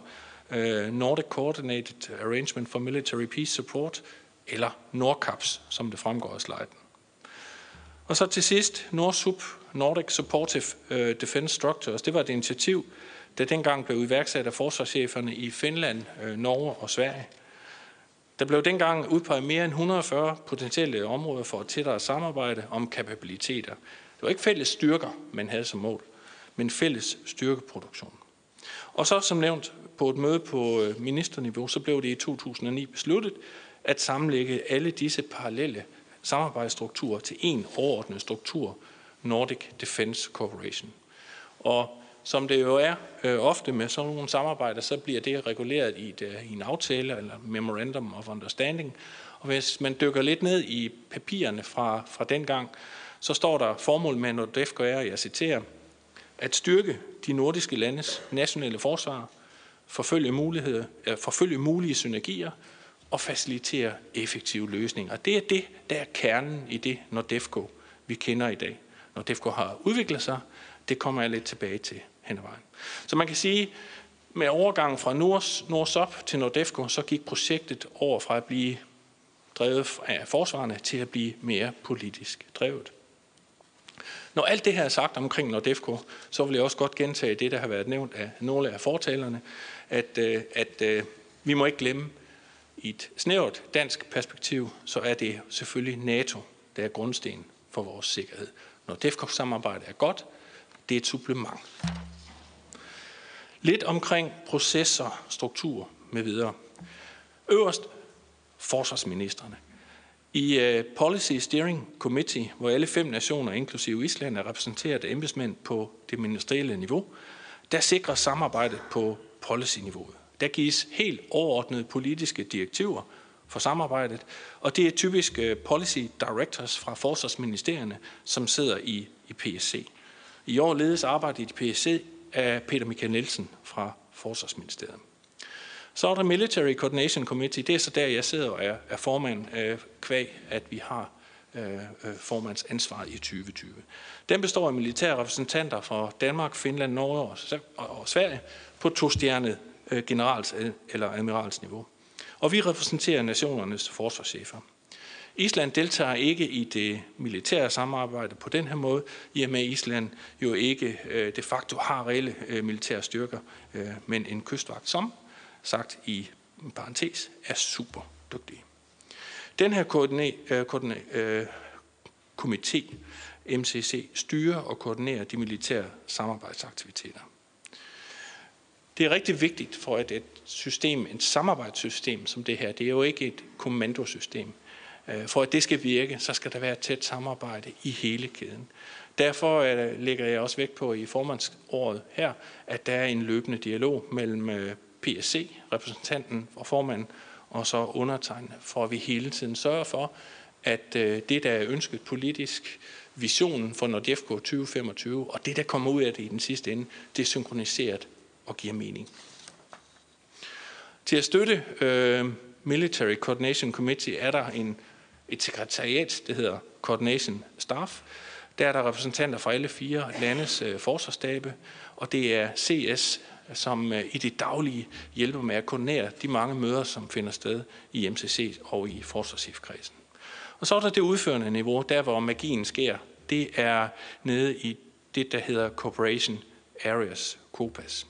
øh, Nordic Coordinated Arrangement for Military Peace Support, eller NORCAPS, som det fremgår af sliden. Og så til sidst, NORSUP, Nordic Supportive Defense Structures. Det var et initiativ, der dengang blev iværksat af forsvarscheferne i Finland, Norge og Sverige. Der blev dengang udpeget mere end et hundrede og fyrre potentielle områder for et tættere samarbejde om kapabiliteter. Det var ikke fælles styrker, man havde som mål, men fælles styrkeproduktion. Og så som nævnt på et møde på ministerniveau, så blev det i to tusind og ni besluttet at sammenlægge alle disse parallelle samarbejdsstrukturer til en overordnet struktur, Nordic Defence Cooperation. Og som det jo er øh, ofte med sådan nogle samarbejder, så bliver det reguleret i, et, i en aftale eller Memorandum of Understanding. Og hvis man dykker lidt ned i papirerne fra, fra dengang, så står der formål med NORDEFCO er, jeg citerer, at styrke de nordiske landes nationale forsvar, forfølge, muligheder, øh, forfølge mulige synergier og facilitere effektive løsninger. Det er det, der er kernen i det NORDEFCO, vi kender i dag. NORDEFCO har udviklet sig, det kommer jeg lidt tilbage til hen ad vejen. Så man kan sige, med overgangen fra NORSUP til NORDEFCO, så gik projektet over fra at blive drevet af forsvarerne til at blive mere politisk drevet. Når alt det her er sagt omkring NORDEFCO, så vil jeg også godt gentage det, der har været nævnt af nogle af fortalerne, at, at, at vi må ikke glemme, i et snævert dansk perspektiv, så er det selvfølgelig NATO, der er grundsten for vores sikkerhed. NORDEFCO-samarbejdet er godt, det er et supplement. Lidt omkring processer, struktur med videre. Øverst forsvarsministrene. I uh, Policy Steering Committee, hvor alle fem nationer, inklusive Island, er repræsenteret af embedsmænd på det ministerielle niveau, der sikrer samarbejdet på policy-niveauet. Der gives helt overordnede politiske direktiver for samarbejdet, og det er typisk uh, Policy Directors fra forsvarsministerierne, som sidder i, i P S C. I år ledes arbejdet i P S C af Peter Michael Nielsen fra Forsvarsministeriet. Så er der Military Coordination Committee. Det er så der, jeg sidder og er, er formand øh, kvæg, at vi har øh, formands ansvar i tyve tyve. Den består af militære repræsentanter fra Danmark, Finland, Norge og, og, og Sverige på to-stjernet øh, generals- eller admiralsniveau. Og vi repræsenterer nationernes forsvarschefer. Island deltager ikke i det militære samarbejde på den her måde, i og med Island jo ikke øh, de facto har reelle øh, militære styrker, øh, men en kystvagt, som sagt i parentes, er super dygtige. Den her koordine- øh, koordine- øh, komité, M C C, styrer og koordinerer de militære samarbejdsaktiviteter. Det er rigtig vigtigt for et, et system, et samarbejdssystem som det her. Det er jo ikke et kommandosystem. For at det skal virke, så skal der være et tæt samarbejde i hele kæden. Derfor lægger jeg også vægt på i formandsåret her, at der er en løbende dialog mellem P S C, repræsentanten og formanden, og så undertegnede, for at vi hele tiden sørger for, at det, der er ønsket politisk, visionen for NORDEFCO tyve femogtyve, og det, der kommer ud af det i den sidste ende, det er synkroniseret og giver mening. Til at støtte øh, Military Coordination Committee er der en, et sekretariat, det hedder Coordination Staff. Der er der repræsentanter fra alle fire landes øh, forsvarsstabe, og det er C S, som øh, i det daglige hjælper med at koordinere de mange møder, som finder sted i M C C og i forsvarschefkredsen. Og så er der det udførende niveau, der hvor magien sker. Det er nede i det, der hedder Cooperation Areas, COPAS.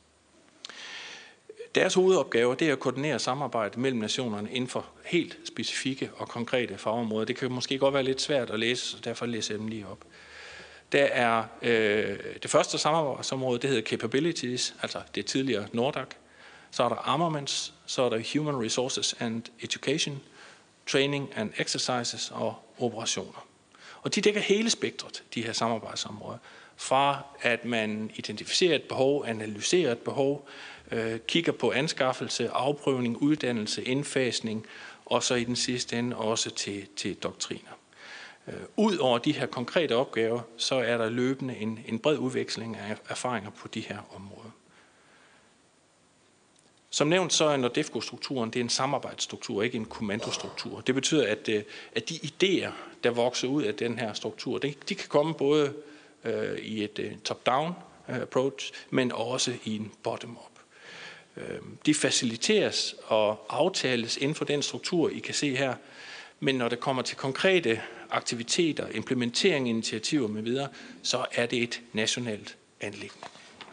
Deres hovedopgave det er at koordinere samarbejdet mellem nationerne inden for helt specifikke og konkrete fagområder. Det kan måske godt være lidt svært at læse, så derfor læser jeg dem lige op. Der er øh, det første samarbejdsområde, det hedder Capabilities, altså det tidligere NORDAC. Så er der Armaments, så er der Human Resources and Education, Training and Exercises og Operationer. Og de dækker hele spektret, de her samarbejdsområder. Fra at man identificerer et behov, analyserer et behov, øh, kigger på anskaffelse, afprøvning, uddannelse, indfasning, og så i den sidste ende også til, til doktriner. Øh, ud over de her konkrete opgaver, så er der løbende en, en bred udveksling af erfaringer på de her områder. Som nævnt, så er NORDEFCO-strukturen det er en samarbejdsstruktur, ikke en kommandostruktur. Det betyder, at, at de idéer, der vokser ud af den her struktur, de, de kan komme både øh, i et uh, top-down approach, men også i en bottom-up. De faciliteres og aftales inden for den struktur, I kan se her. Men når det kommer til konkrete aktiviteter, implementering, initiativer med videre, så er det et nationalt anliggende.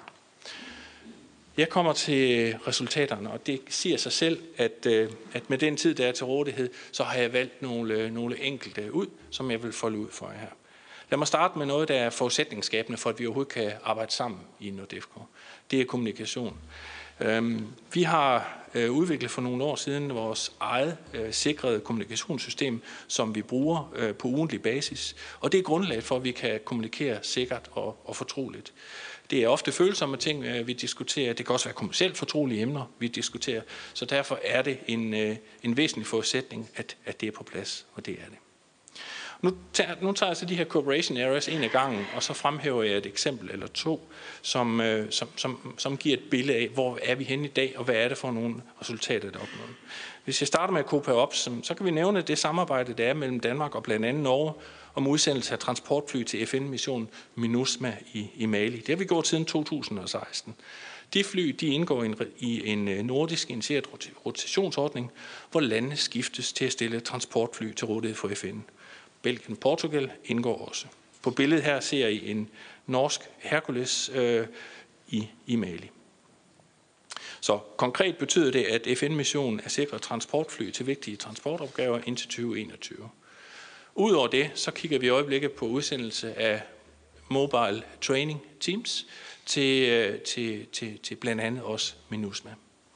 Jeg kommer til resultaterne, og det siger sig selv, at, at med den tid, der er til rådighed, så har jeg valgt nogle, nogle enkelte ud, som jeg vil folde ud for jer her. Lad mig starte med noget, der er forudsætningsskabende for, at vi overhovedet kan arbejde sammen i NORDEFCO. Det er kommunikation. Vi har udviklet for nogle år siden vores eget sikrede kommunikationssystem, som vi bruger på ugentlig basis. Og det er grundlaget for, at vi kan kommunikere sikkert og, og fortroligt. Det er ofte følsomme ting, vi diskuterer. Det kan også være kommercielt fortrolige emner, vi diskuterer. Så derfor er det en, en væsentlig forudsætning, at, at det er på plads, og det er det. Nu tager, nu tager jeg så de her cooperation areas en af gangen, og så fremhæver jeg et eksempel eller to, som, som, som, som giver et billede af, hvor er vi henne i dag, og hvad er det for nogle resultater, der er opnået. Hvis jeg starter med at Copa Ops, så kan vi nævne det samarbejde, der er mellem Danmark og blandt andet Norge, om udsendelse af transportfly til F N-missionen MINUSMA i, i Mali. Det har vi gjort siden to tusind og seksten. De fly de indgår i en, i en nordisk initieret rotationsordning, hvor landene skiftes til at stille transportfly til rådighed for F N. Belgien og Portugal indgår også. På billedet her ser I en norsk Hercules øh, i, i Mali. Så konkret betyder det, at F N-missionen er sikret transportfly til vigtige transportopgaver indtil tyve enogtyve. Udover det, så kigger vi i øjeblikket på udsendelse af mobile training teams til, til, til, til blandt andet også MINUSMA.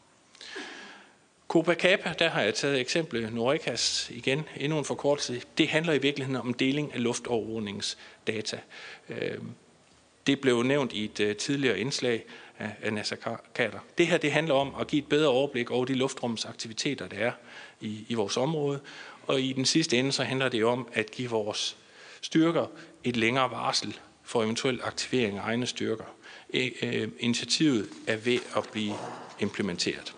Copa Kappa, der har jeg taget eksemplet Norecas igen, endnu en forkortelse. Det handler i virkeligheden om deling af luftovervågningsdata. Det blev nævnt i et tidligere indslag af NASA Kader. Det her det handler om at give et bedre overblik over de luftrumsaktiviteter, der er i, i vores område. Og i den sidste ende så handler det om at give vores styrker et længere varsel for eventuel aktivering af egne styrker. Initiativet er ved at blive implementeret.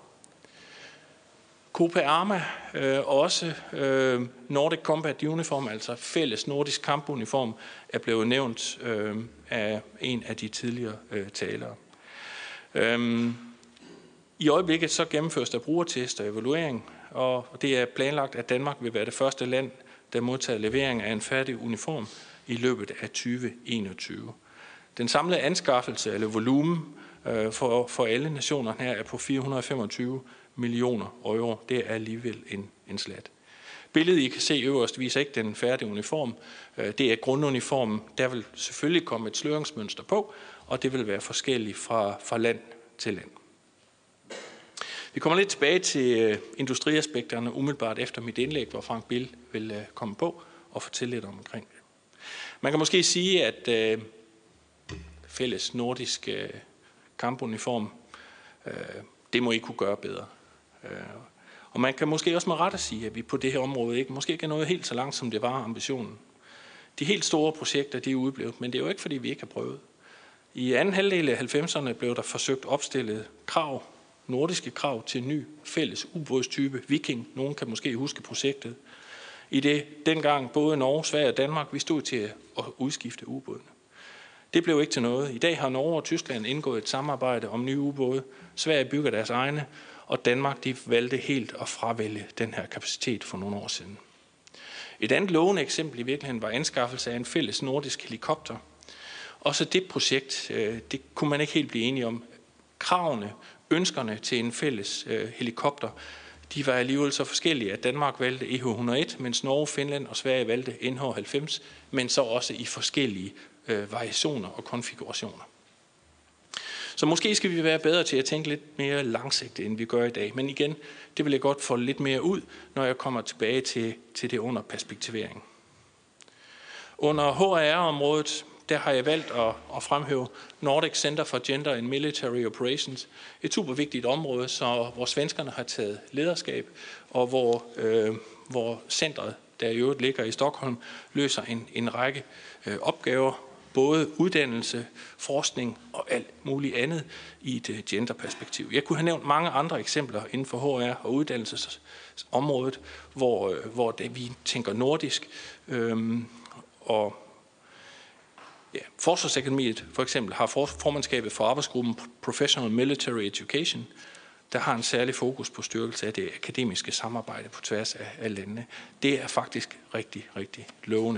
Copa Arma, øh, også øh, Nordic Combat Uniform, altså fælles nordisk kampuniform, er blevet nævnt øh, af en af de tidligere øh, talere. Øhm, I øjeblikket så gennemføres der brugertest og evaluering, og det er planlagt, at Danmark vil være det første land, der modtager levering af en færdig uniform i løbet af tyve enogtyve. Den samlede anskaffelse eller volumen øh, for, for alle nationerne her er på fire hundrede og femogtyve millioner euro. Det er alligevel en, en slat. Billedet, I kan se øverst, viser ikke den færdige uniform. Det er grunduniformen. Der vil selvfølgelig komme et sløringsmønster på, og det vil være forskelligt fra, fra land til land. Vi kommer lidt tilbage til industriaspekterne umiddelbart efter mit indlæg, hvor Frank Bill vil komme på og fortælle lidt omkring det. Man kan måske sige, at øh, fælles nordisk øh, kampuniform, øh, det må I kunne gøre bedre. Og man kan måske også med rette sige, at vi på det her område ikke, måske ikke er nået helt så langt, som det var ambitionen. De helt store projekter, de er udeblevet, men det er jo ikke, fordi vi ikke har prøvet. I anden halvdel af halvfemserne blev der forsøgt opstillet krav, nordiske krav til en ny fælles ubådstype, Viking. Nogen kan måske huske projektet. I det dengang både Norge, Sverige og Danmark, vi stod til at udskifte ubådene. Det blev ikke til noget. I dag har Norge og Tyskland indgået et samarbejde om nye ubåde. Sverige bygger deres egne, og Danmark de valgte helt at fravælge den her kapacitet for nogle år siden. Et andet lovende eksempel i virkeligheden var anskaffelse af en fælles nordisk helikopter. Også det projekt, det kunne man ikke helt blive enige om. Kravene, ønskerne til en fælles helikopter, de var alligevel så forskellige, at Danmark valgte E H et hundrede og en, mens Norge, Finland og Sverige valgte N H halvfems, men så også i forskellige øh, variationer og konfigurationer. Så måske skal vi være bedre til at tænke lidt mere langsigtet, end vi gør i dag. Men igen, det vil jeg godt få lidt mere ud, når jeg kommer tilbage til, til det under perspektivering. Under H R R-området, der har jeg valgt at, at fremhæve Nordic Center for Gender and Military Operations. Et super vigtigt område, så hvor svenskerne har taget lederskab, og hvor, øh, hvor centret, der i øvrigt ligger i Stockholm, løser en, en række øh, opgaver, både uddannelse, forskning og alt muligt andet i et genderperspektiv. Jeg kunne have nævnt mange andre eksempler inden for H R og uddannelsesområdet, hvor, hvor det, vi tænker nordisk, øhm, og Ja, Forsvarsakademiet for eksempel har formandskabet for arbejdsgruppen Professional Military Education, der har en særlig fokus på styrkelse af det akademiske samarbejde på tværs af, af landene. Det er faktisk rigtig, rigtig lovende.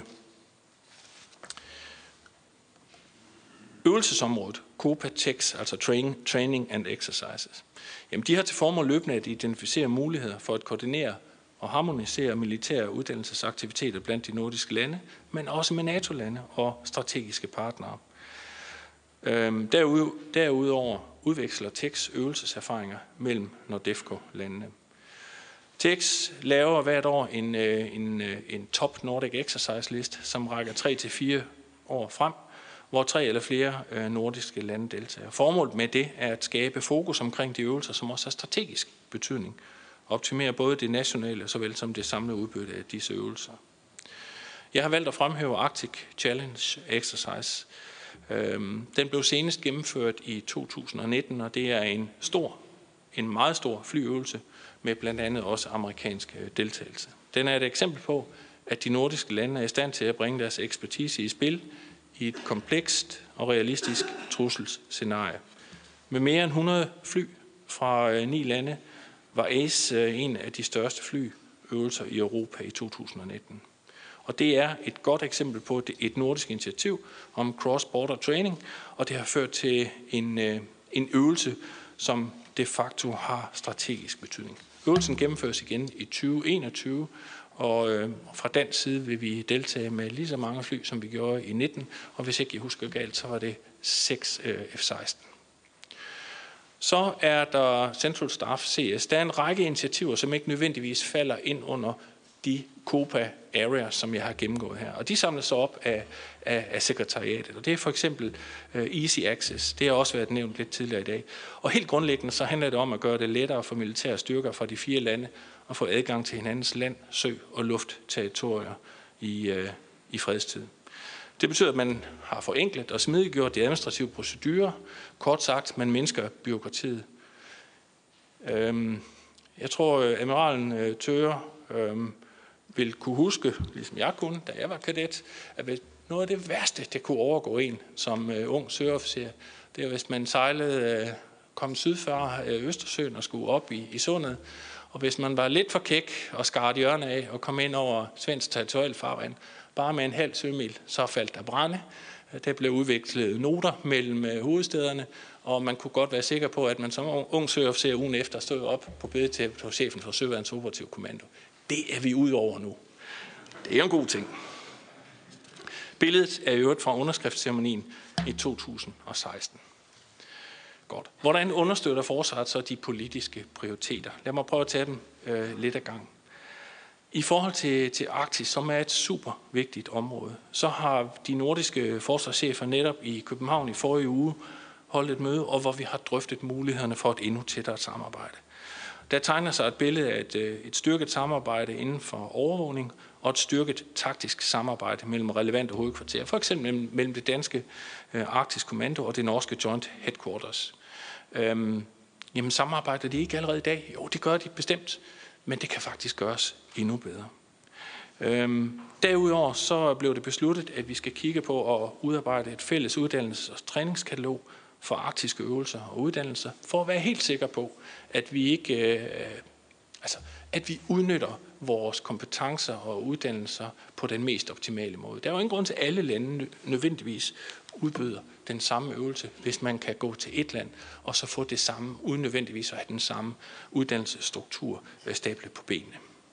Øvelsesområdet, COPA TEX, altså Training, Training and Exercises, jamen de har til formål løbende at identificere muligheder for at koordinere og harmonisere militære uddannelsesaktiviteter blandt de nordiske lande, men også med NATO-lande og strategiske partnere. Derudover udveksler TEX øvelseserfaringer mellem NORDEFCO-landene. TEX laver hvert år en, en, en top Nordic Exercise list, som rækker tre til fire år frem, hvor tre eller flere nordiske lande deltager. Formålet med det er at skabe fokus omkring de øvelser, som også har strategisk betydning. Optimere både det nationale såvel som det samlede udbytte af disse øvelser. Jeg har valgt at fremhæve Arctic Challenge Exercise. Den blev senest gennemført i to tusind og nitten, og det er en stor, en meget stor flyøvelse med blandt andet også amerikansk deltagelse. Den er et eksempel på, at de nordiske lande er i stand til at bringe deres ekspertise i spil i et komplekst og realistisk trusselsscenarie. Med mere end hundrede fly fra ni lande var ACE en af de største flyøvelser i Europa i to tusind og nitten. Og det er et godt eksempel på et nordisk initiativ om cross-border training, og det har ført til en, en øvelse, som de facto har strategisk betydning. Øvelsen gennemføres igen i tyve enogtyve, og fra dansk side vil vi deltage med lige så mange fly, som vi gjorde i nitten, og hvis ikke jeg husker galt, så var det seks F seksten. Så er der Central Staff C S. Der er en række initiativer, som ikke nødvendigvis falder ind under de COPA areas, som jeg har gennemgået her. Og de samles så op af, af, af sekretariatet. Og det er for eksempel uh, Easy Access. Det har også været nævnt lidt tidligere i dag. Og helt grundlæggende så handler det om at gøre det lettere for militære styrker fra de fire lande at få adgang til hinandens land, sø og luftterritorier i, uh, i fredstid. Det betyder, at man har forenklet og smidiggjort de administrative procedurer. Kort sagt, man mindsker byråkratiet. Øhm, jeg tror, at admiralen Thøre øhm, vil kunne huske, ligesom jeg kunne, da jeg var kadet, at noget af det værste, det kunne overgå en som øh, ung søofficer, det er, hvis man sejlede, øh, kom syd for øh, Østersøen og skulle op i, i sundet, og hvis man var lidt for kæk og skar hjørne af og kom ind over svensk territorial farvand, bare med en halv sømil, så faldt der brænde. Der blev udvekslet noter mellem hovedstederne, og man kunne godt være sikker på, at man som ung søofficer ugen efter stod op på bedetæppet hos chefen for Søværnets Operative Kommando. Det er vi ude over nu. Det er en god ting. Billedet er i øvrigt fra underskriftsceremonien i to tusind og seksten. Godt. Hvordan understøtter forsvaret så de politiske prioriteter? Lad mig prøve at tage dem øh, lidt ad gang. I forhold til, til Arktis, som er et super vigtigt område, så har de nordiske forsvarschefer netop i København i forrige uge holdt et møde, og hvor vi har drøftet mulighederne for et endnu tættere samarbejde. Der tegner sig et billede af et, et styrket samarbejde inden for overvågning og et styrket taktisk samarbejde mellem relevante hovedkvarterer, for eksempel mellem det danske øh, Arktisk Kommando og det norske Joint Headquarters. Øhm, jamen samarbejder de ikke allerede i dag? Jo, det gør de bestemt, men det kan faktisk gøres endnu bedre. Øhm, derudover så blev det besluttet, at vi skal kigge på at udarbejde et fælles uddannelses- og træningskatalog for arktiske øvelser og uddannelser, for at være helt sikker på, at vi ikke, øh, altså, at vi udnytter vores kompetencer og uddannelser på den mest optimale måde. Der er jo ingen grund til, at alle lande nødvendigvis udbyder den samme øvelse, hvis man kan gå til et land og så få det samme, uden nødvendigvis at have den samme uddannelsesstruktur stablet på benene.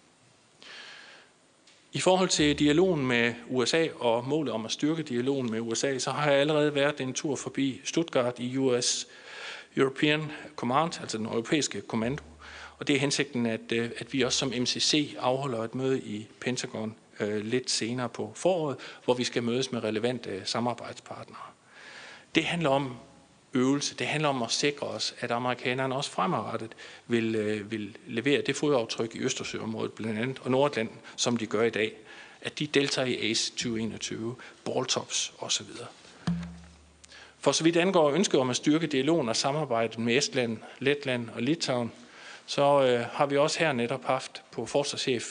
I forhold til dialogen med U S A og målet om at styrke dialogen med U S A, så har jeg allerede været en tur forbi Stuttgart i U S European Command, altså den europæiske kommando. Og det er hensigten, at, at vi også som M C C afholder et møde i Pentagon øh, lidt senere på foråret, hvor vi skal mødes med relevante samarbejdspartnere. Det handler om øvelse. Det handler om at sikre os, at amerikanerne også fremadrettet vil, øh, vil levere det fodaftryk i Østersøområdet blandt andet, og Nordatlanten, som de gør i dag. At de deltager i ACE tyve enogtyve, Balltops osv. For så vidt angår ønsket om at styrke dialogen og samarbejdet med Estland, Letland og Litauen, så øh, har vi også her netop haft på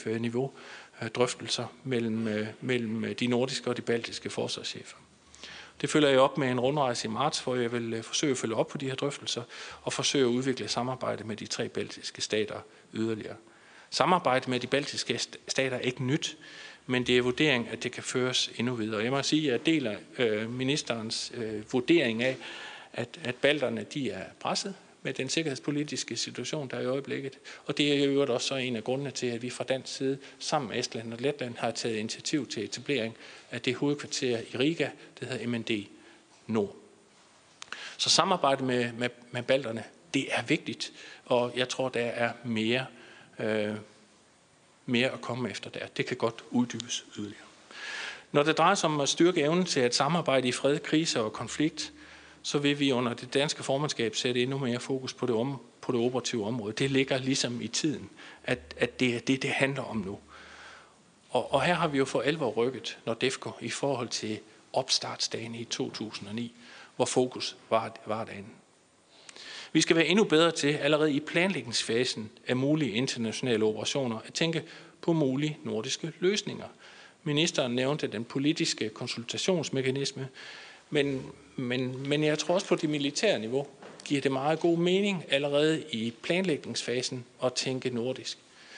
forsvarschef-niveau øh, drøftelser mellem, øh, mellem de nordiske og de baltiske forsvarschefer. Det følger jeg op med en rundrejse i marts, hvor jeg vil forsøge at følge op på de her drøftelser og forsøge at udvikle samarbejde med de tre baltiske stater yderligere. Samarbejde med de baltiske stater er ikke nyt, men det er vurdering, at det kan føres endnu videre. Jeg må sige, at jeg deler øh, ministerens øh, vurdering af, at, at balterne de er presset med den sikkerhedspolitiske situation, der er i øjeblikket. Og det er jo også så en af grundene til, at vi fra dansk side sammen med Estland og Letland har taget initiativ til etablering af det hovedkvarter i Riga, det hedder M N D Nord. Så samarbejde med, med, med balterne, det er vigtigt, og jeg tror, der er mere, øh, mere at komme efter der. Det kan godt uddybes yderligere. Når det drejer sig om at styrke evnen til at samarbejde i fred, krise og konflikt, så vil vi under det danske formandskab sætte endnu mere fokus på det, om, på det operative område. Det ligger ligesom i tiden, at, at det er det, det handler om nu. Og, og her har vi jo for alvor rykket NORDEFCO i forhold til opstartsdagen i to tusind og ni, hvor fokus var, var derinde. Vi skal være endnu bedre til allerede i planlægningsfasen af mulige internationale operationer at tænke på mulige nordiske løsninger. Ministeren nævnte den politiske konsultationsmekanisme, men, men, men jeg tror også på det militære niveau giver det meget god mening allerede i planlægningsfasen at tænke nordisk.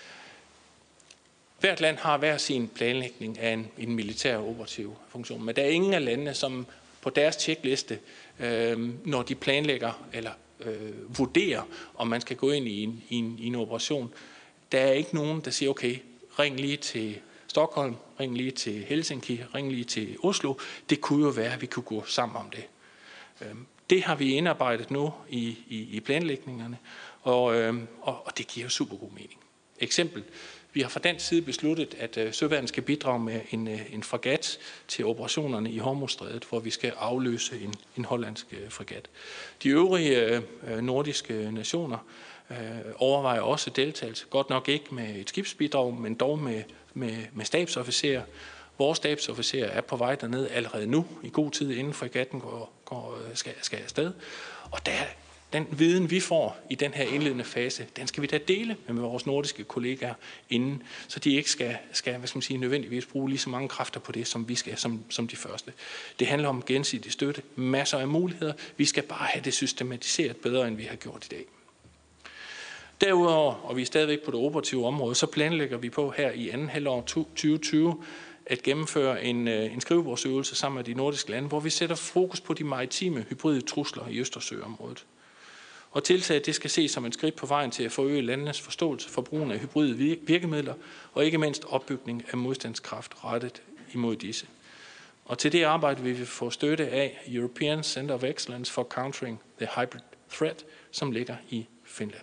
Hvert land har hver sin planlægning af en, en militær operativ funktion, men der er ingen af landene, som på deres tjekliste, øh, når de planlægger eller øh, vurderer, om man skal gå ind i en, i, en, i en operation, der er ikke nogen, der siger, okay, ring lige til Stockholm, ring lige til Helsinki, ring lige til Oslo. Det kunne jo være, at vi kunne gå sammen om det. Det har vi indarbejdet nu i, i, i planlægningerne, og, og, og det giver super god mening. Eksempel, vi har fra dansk side besluttet, at Søværnet skal bidrage med en, en fregat til operationerne i Hormuzstrædet, hvor vi skal afløse en, en hollandsk fregat. De øvrige øh, nordiske nationer øh, overvejer også deltagelse, godt nok ikke med et skibsbidrag, men dog med Med, med stabsofficerer. Vores stabsofficerer er på vej derned allerede nu, i god tid inden fregatten går, går, skal, skal afsted. Og der, den viden, vi får i den her indledende fase, den skal vi da dele med vores nordiske kollegaer inden, så de ikke skal, skal hvad skal man sige, nødvendigvis bruge lige så mange kræfter på det, som vi skal, som, som de første. Det handler om gensidig støtte, masser af muligheder. Vi skal bare have det systematiseret bedre, end vi har gjort i dag. Derudover, og vi er stadigvæk på det operative område, så planlægger vi på her i anden halvår tyve tyve at gennemføre en, en skrivebordsøvelse sammen med de nordiske lande, hvor vi sætter fokus på de maritime hybride trusler i Østersøområdet. Og tiltaget det skal ses som et skridt på vejen til at forøge landenes forståelse for brugen af hybride virkemidler, og ikke mindst opbygning af modstandskraft rettet imod disse. Og til det arbejde vil vi få støtte af European Center of Excellence for Countering the Hybrid Threat, som ligger i Finland.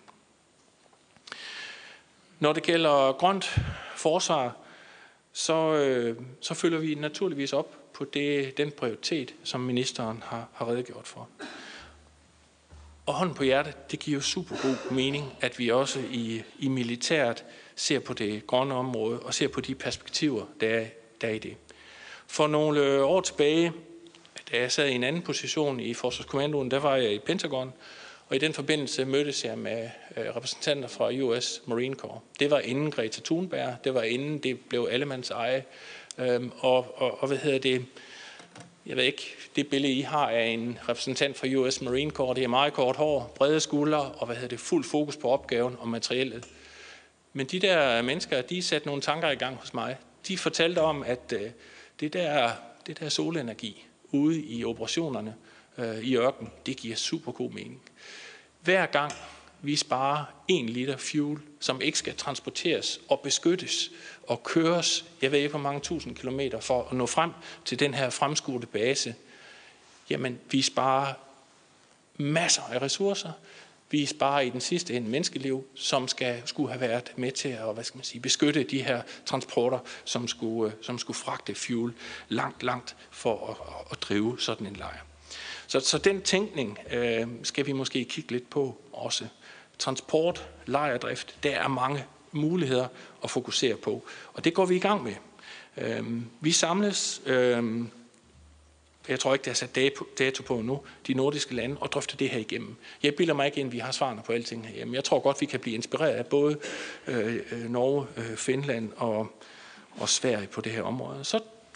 Når det gælder grønt forsvar, så, øh, så følger vi naturligvis op på det, den prioritet, som ministeren har, har redegjort for. Og hånden på hjertet, det giver jo super god mening, at vi også i, i militæret ser på det grønne område og ser på de perspektiver, der er, der er i det. For nogle år tilbage, da jeg sad i en anden position i Forsvarskommandoen, der var jeg i Pentagon, og i den forbindelse mødtes jeg med repræsentanter fra U S Marine Corps. Det var inden Greta Thunberg, det var inden det blev allemands eje. Øhm, og, og, og hvad hedder det? Jeg ved ikke, det billede I har af en repræsentant fra U S Marine Corps, det er meget kort hår, brede skuldre og hvad hedder det, fuld fokus på opgaven og materiellet. Men de der mennesker, de satte nogle tanker i gang hos mig. De fortalte om, at øh, det, der, det der solenergi ude i operationerne øh, i ørken, det giver super god mening. Hver gang vi sparer en liter fuel, som ikke skal transporteres og beskyttes og køres, jeg ved ikke hvor mange tusind kilometer for at nå frem til den her fremskudte base, jamen vi sparer masser af ressourcer. Vi sparer i den sidste ende menneskeliv, som skal, skulle have været med til at hvad skal man sige, beskytte de her transporter, som skulle, som skulle fragte fuel langt, langt for at, at drive sådan en lejr. Så, så den tænkning øh, skal vi måske kigge lidt på også. Transport, lejrdrift, der er mange muligheder at fokusere på, og det går vi i gang med. Øh, vi samles, øh, jeg tror ikke, der er sat dato på nu, de nordiske lande, og drøfter det her igennem. Jeg bilder mig ikke ind, at vi har svarene på alting herhjemme. Jeg tror godt, vi kan blive inspireret af både øh, Norge, øh, Finland og, og Sverige på det her område. Så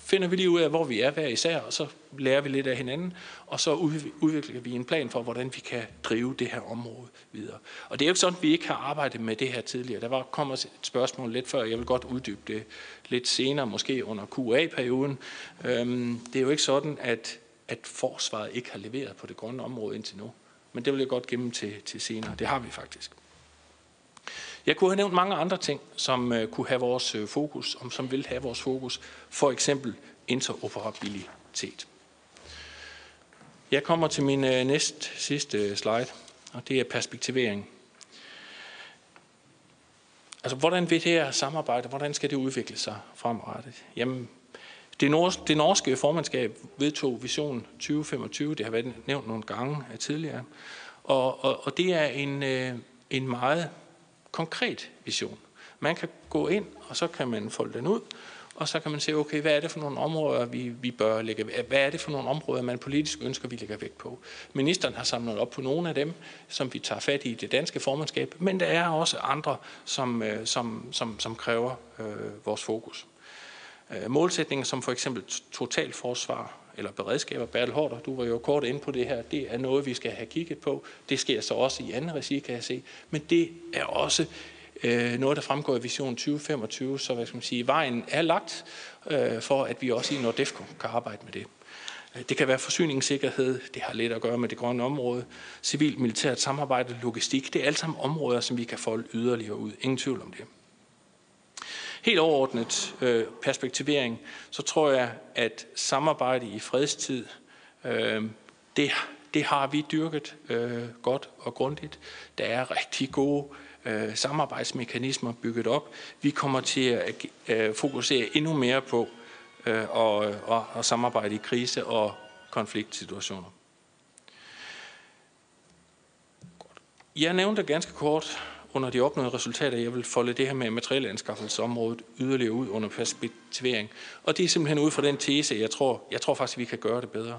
finder vi lige ud af, hvor vi er hver især, og så lærer vi lidt af hinanden, og så udvikler vi en plan for, hvordan vi kan drive det her område videre. Og det er jo ikke sådan, at vi ikke har arbejdet med det her tidligere. Der var kommer et spørgsmål lidt før, jeg vil godt uddybe det lidt senere, måske under Q A-perioden. Øhm, det er jo ikke sådan, at, at forsvaret ikke har leveret på det grønne område indtil nu. Men det vil jeg godt gemme til, til senere. Det har vi faktisk. Jeg kunne have nævnt mange andre ting, som uh, kunne have vores uh, fokus, om som vil have vores fokus. For eksempel interoperabilitet. Jeg kommer til min uh, næst sidste slide, og det er perspektivering. Altså, hvordan vil det her samarbejde, hvordan skal det udvikle sig fremadrettet? Jamen, det, nors- det norske formandskab vedtog Vision tyve femogtyve, det har været nævnt nogle gange tidligere, og, og, og det er en, uh, en meget konkret vision. Man kan gå ind, og så kan man folde den ud, og så kan man se, okay, hvad er det for nogle områder, vi, vi bør lægge, hvad er det for nogle områder, man politisk ønsker, vi lægger vægt på. Ministeren har samlet op på nogle af dem, som vi tager fat i det danske formandskab, men der er også andre, som, som, som, som kræver øh, vores fokus. Øh, målsætninger som for eksempel totalforsvar eller beredskaber. Bertel Haarder, du var jo kort inde på det her. Det er noget, vi skal have kigget på. Det sker så også i anden regi, kan jeg se. Men det er også øh, noget, der fremgår af Vision tyve femogtyve. Så hvad skal man sige, vejen er lagt øh, for, at vi også i Nordefco kan arbejde med det. Det kan være forsyningssikkerhed. Det har lidt at gøre med det grønne område. Civil-militært samarbejde, logistik. Det er alle sammen områder, som vi kan folde yderligere ud. Ingen tvivl om det. Helt overordnet øh, perspektivering, så tror jeg, at samarbejde i fredstid, øh, det, det har vi dyrket øh, godt og grundigt. Der er rigtig gode øh, samarbejdsmekanismer bygget op. Vi kommer til at øh, fokusere endnu mere på øh, og, og, og samarbejde i krise- og konfliktsituationer. Jeg nævnte ganske kort under de opnåede resultater, jeg vil folde det her med materielanskaffelsesområdet yderligere ud under perspektivering. Og det er simpelthen ud fra den tese, jeg tror, jeg tror faktisk, vi kan gøre det bedre.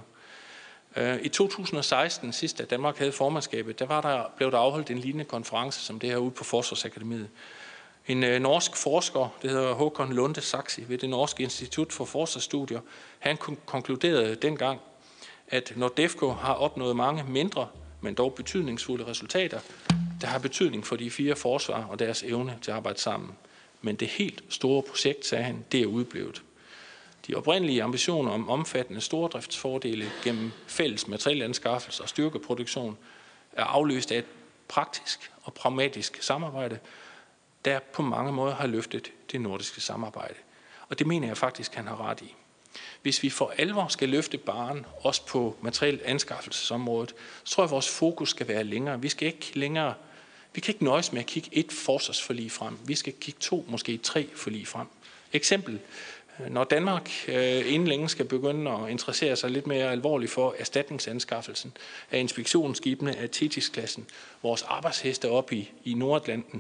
I to tusind og seksten, sidst da Danmark havde formandskabet, der, var der blev der afholdt en lignende konference som det her ude på Forsvarsakademiet. En øh, norsk forsker, det hedder Håkon Lunde Saxi, ved det norske Institut for Forsvarsstudier, han konkluderede dengang, at Nordefco har opnået mange mindre, men dog betydningsfulde resultater, der har betydning for de fire forsvar og deres evne til at arbejde sammen. Men det helt store projekt, sagde han, det er udblevet. De oprindelige ambitioner om omfattende stordriftsfordele gennem fælles materielanskaffelse og styrkeproduktion er afløst af et praktisk og pragmatisk samarbejde, der på mange måder har løftet det nordiske samarbejde. Og det mener jeg faktisk, han har ret i. Hvis vi for alvor skal løfte barren, også på materielanskaffelsesområdet, så tror jeg, at vores fokus skal være længere. Vi skal ikke længere, vi kan ikke nøjes med at kigge et forsvarsforlig frem. Vi skal kigge to, måske tre forlig frem. Eksempel, når Danmark øh, inden længe skal begynde at interessere sig lidt mere alvorligt for erstatningsanskaffelsen af inspektionsskibene af Thetis-klassen, vores arbejdsheste op i, i Nordatlanten,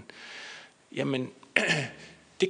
jamen det,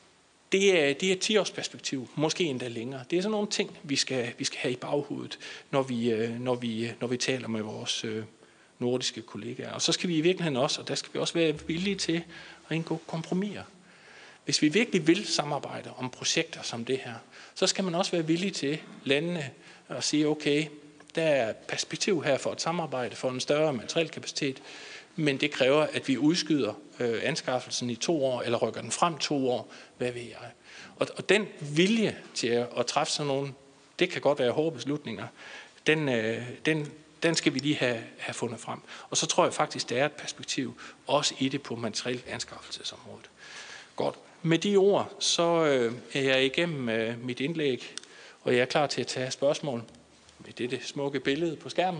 det, er, det er et ti-års-perspektiv, måske endda længere. Det er sådan nogle ting, vi skal, vi skal have i baghovedet, når vi, når vi, når vi taler med vores øh, nordiske kollegaer. Og så skal vi i virkeligheden også, og der skal vi også være villige til at indgå kompromiser. Hvis vi virkelig vil samarbejde om projekter som det her, så skal man også være villig til landene at sige, okay, der er perspektiv her for et samarbejde, for en større materiel kapacitet, men det kræver, at vi udskyder øh, anskaffelsen i to år, eller rykker den frem to år, hvad ved jeg. Og, og den vilje til at, at træffe sådan nogle, det kan godt være hårde beslutninger, den, øh, den, den skal vi lige have, have fundet frem. Og så tror jeg faktisk, der er et perspektiv, også i det på materiel anskaffelsesområdet. Godt. Med de ord, så øh, er jeg igennem øh, mit indlæg, og jeg er klar til at tage spørgsmål med dette smukke billede på skærmen.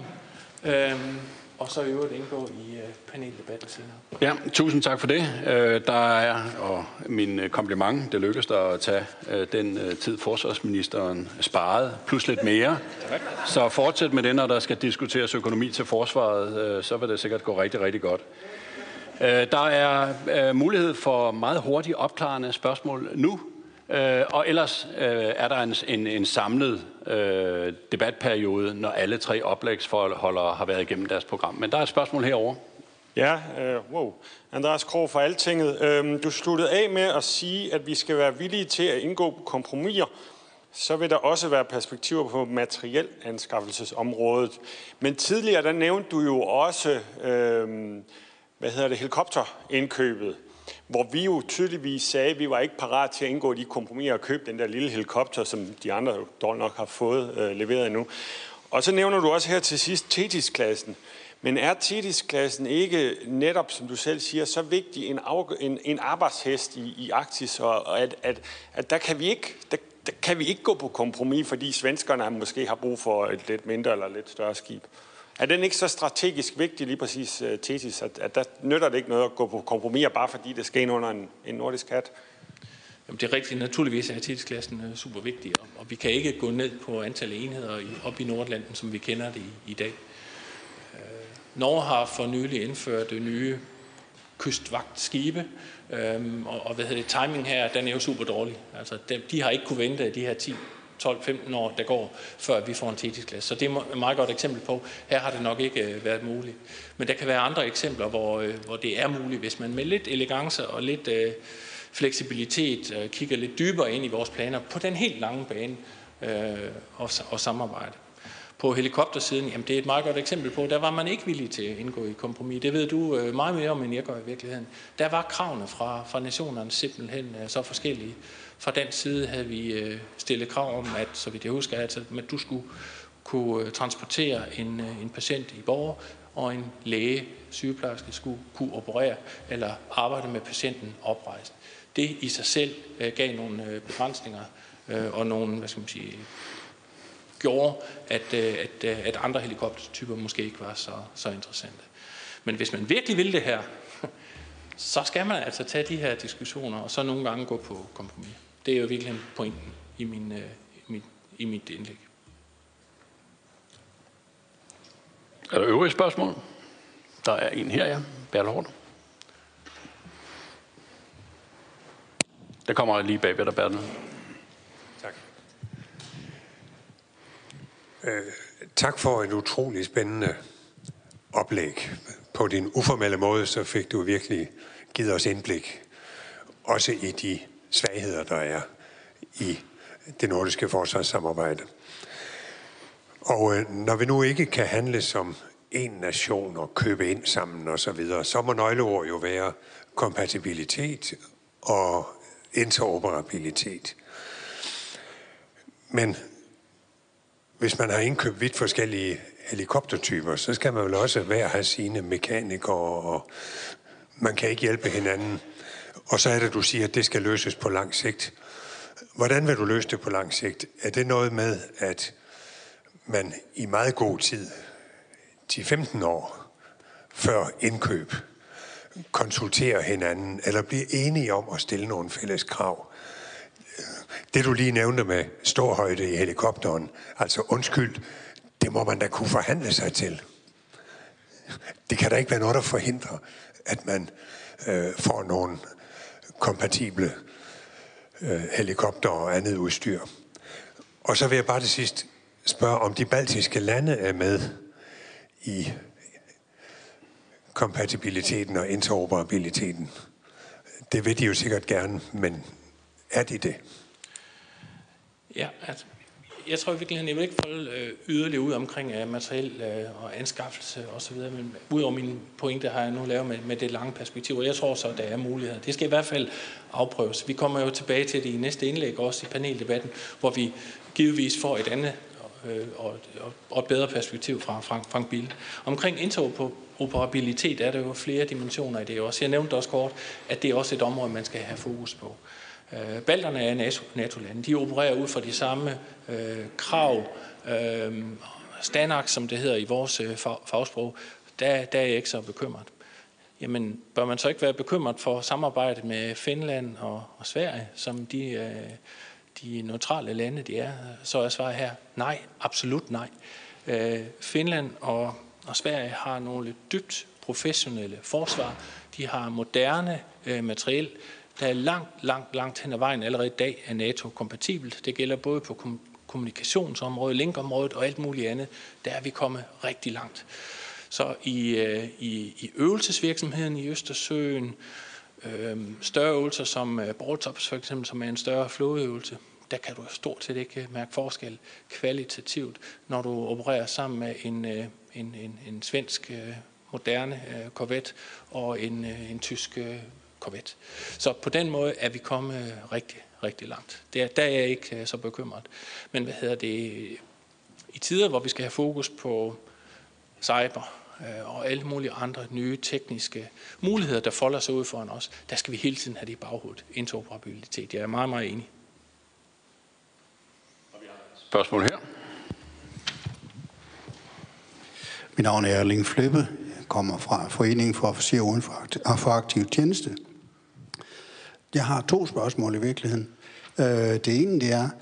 Øhm, og så i øvrigt indgå i øh, paneldebatten senere. Ja, tusind tak for det. Øh, der er, og min kompliment, det lykkedes der at tage øh, den øh, tid, forsvarsministeren sparede, plus lidt mere. Så fortsæt med det, når der skal diskuteres økonomi til forsvaret, øh, så vil det sikkert gå rigtig, rigtig godt. Der er mulighed for meget hurtigt opklarende spørgsmål nu, og ellers er der en, en, en samlet debatperiode, når alle tre oplægsholdere har været igennem deres program. Men der er et spørgsmål herovre. Ja, øh, wow. Andreas Krog fra Altinget. Øh, du sluttede af med at sige, at vi skal være villige til at indgå kompromiser. så vil der også være perspektiver på materiel anskaffelsesområdet. Men tidligere, der nævnte du jo også, øh, hvad hedder det, helikopterindkøbet, hvor vi jo tydeligvis sagde, at vi var ikke parat til at indgå de kompromiser og købe den der lille helikopter, som de andre dog nok har fået øh, leveret endnu. Og så nævner du også her til sidst Thetis-klassen. Men er Thetis-klassen ikke netop, som du selv siger, så vigtig en, en, en arbejdshest i, i Arktis, og at, at, at der kan vi ikke... Der, der kan vi ikke gå på kompromis, fordi svenskerne måske har brug for et lidt mindre eller lidt større skib. Er den ikke så strategisk vigtig, lige præcis uh, Thetis, at, at der nytter det ikke noget at gå på kompromis, bare fordi det skal ind under en, en nordisk hat? Jamen, det er rigtigt. Naturligvis er Thetis-klassen uh, super vigtig, og, og vi kan ikke gå ned på antallet af enheder i, op i Nordlanden, som vi kender det i, i dag. Uh, Norge har for nylig indført uh, nye kystvagtskibe, øhm, og, og hvad hedder det, timing her, den er jo super dårlig. Altså, de, de har ikke kunne vente de her ti, tolv, femten år, der går, før vi får en Thetis-klasse. Så det er et meget godt eksempel på, her har det nok ikke øh, været muligt. Men der kan være andre eksempler, hvor, øh, hvor det er muligt, hvis man med lidt elegance og lidt øh, fleksibilitet øh, kigger lidt dybere ind i vores planer på den helt lange bane øh, og, og samarbejde. På helikoptersiden, jamen det er et meget godt eksempel på, der var man ikke villig til at indgå i kompromis. Det ved du øh, meget mere om, end jeg gør i virkeligheden. Der var kravene fra, fra nationerne simpelthen øh, så forskellige. Fra den side havde vi øh, stillet krav om, at, så vidt jeg husker, at, at du skulle kunne øh, transportere en, øh, en patient i Borre, og en læge, sygeplejerske, skulle kunne operere eller arbejde med patienten oprejst. Det i sig selv øh, gav nogle øh, begrænsninger øh, og nogle, hvad skal man sige, gjorde, at, at, at andre helikoptertyper måske ikke var så, så interessante. Men hvis man virkelig vil det her, så skal man altså tage de her diskussioner, og så nogle gange gå på kompromis. Det er jo virkelig pointen i, min, i, mit, i mit indlæg. Er der øvrige spørgsmål? Der er en her, ja. Bertel. Der kommer lige bagved dig, Bertel. Tak. Øh, tak for et utroligt spændende oplæg. På din uformelle måde, så fik du virkelig givet os indblik. Også i de svagheder, der er i det nordiske forsvarssamarbejde. Og øh, når vi nu ikke kan handle som en nation og købe ind sammen og så videre, så må nøgleord jo være kompatibilitet og interoperabilitet. Men hvis man har indkøbt vidt forskellige helikoptertyper, så skal man vel også hver have sine mekanikere, og man kan ikke hjælpe hinanden. Og så er det, du siger, at det skal løses på lang sigt. Hvordan vil du løse det på lang sigt? Er det noget med, at man i meget god tid, ti til femten år før indkøb, konsulterer hinanden, eller bliver enige om at stille nogle fælles krav? Det du lige nævnte med ståhøjde i helikopteren, altså undskyld, det må man da kunne forhandle sig til. Det kan da ikke være noget, der forhindrer, at man øh, får nogle kompatible øh, helikopter og andet udstyr. Og så vil jeg bare til sidst spørge, om de baltiske lande er med i kompatibiliteten og interoperabiliteten. Det vil de jo sikkert gerne, men er de det? Ja, altså, jeg tror virkelig, jeg vil ikke folde øh, yderligere ud omkring øh, materiel øh, og anskaffelse osv., men udover mine pointer har jeg nu lavet med, med det lange perspektiv, og jeg tror så, at der er muligheder. Det skal i hvert fald afprøves. Vi kommer jo tilbage til det i næste indlæg, også i paneldebatten, hvor vi givetvis får et andet øh, og, og et bedre perspektiv fra Frank, Frank Bille. Omkring interoperabilitet er der jo flere dimensioner i det også. Jeg nævnte også kort, at det er også et område, man skal have fokus på. Balterne er NATO-lande. De opererer ud fra de samme øh, krav, øh, standards, som det hedder i vores øh, fagsprog. Der, der er jeg ikke så bekymret. Jamen, bør man så ikke være bekymret for samarbejdet med Finland og, og Sverige, som de, øh, de neutrale lande, de er? Så er svaret her, nej, absolut nej. Øh, Finland og, og Sverige har nogle dybt professionelle forsvar. De har moderne øh, materiel, der er langt, langt, langt hen ad vejen allerede i dag er NATO-kompatibelt. Det gælder både på kommunikationsområdet, linkområdet og alt muligt andet. Der er vi kommet rigtig langt. Så i, i, i øvelsesvirksomheden i Østersøen, øh, større øvelser som Baltops for eksempel, som er en større flådeøvelse, der kan du stort set ikke mærke forskel kvalitativt, når du opererer sammen med en, en, en, en svensk moderne korvet og en, en tysk korvet. Så på den måde er vi kommet rigtig, rigtig langt. Der, der er jeg ikke så bekymret. Men hvad hedder det? I tider, hvor vi skal have fokus på cyber og alle mulige andre nye tekniske muligheder, der folder sig ud foran os, der skal vi hele tiden have det i baghovedet. Interoperabilitet. Jeg er meget, meget enig. Spørgsmål her. Mit navn er Erling Flippe. Jeg kommer fra Foreningen for Officerer uden for aktiv tjeneste. Jeg har to spørgsmål i virkeligheden. Det ene det er,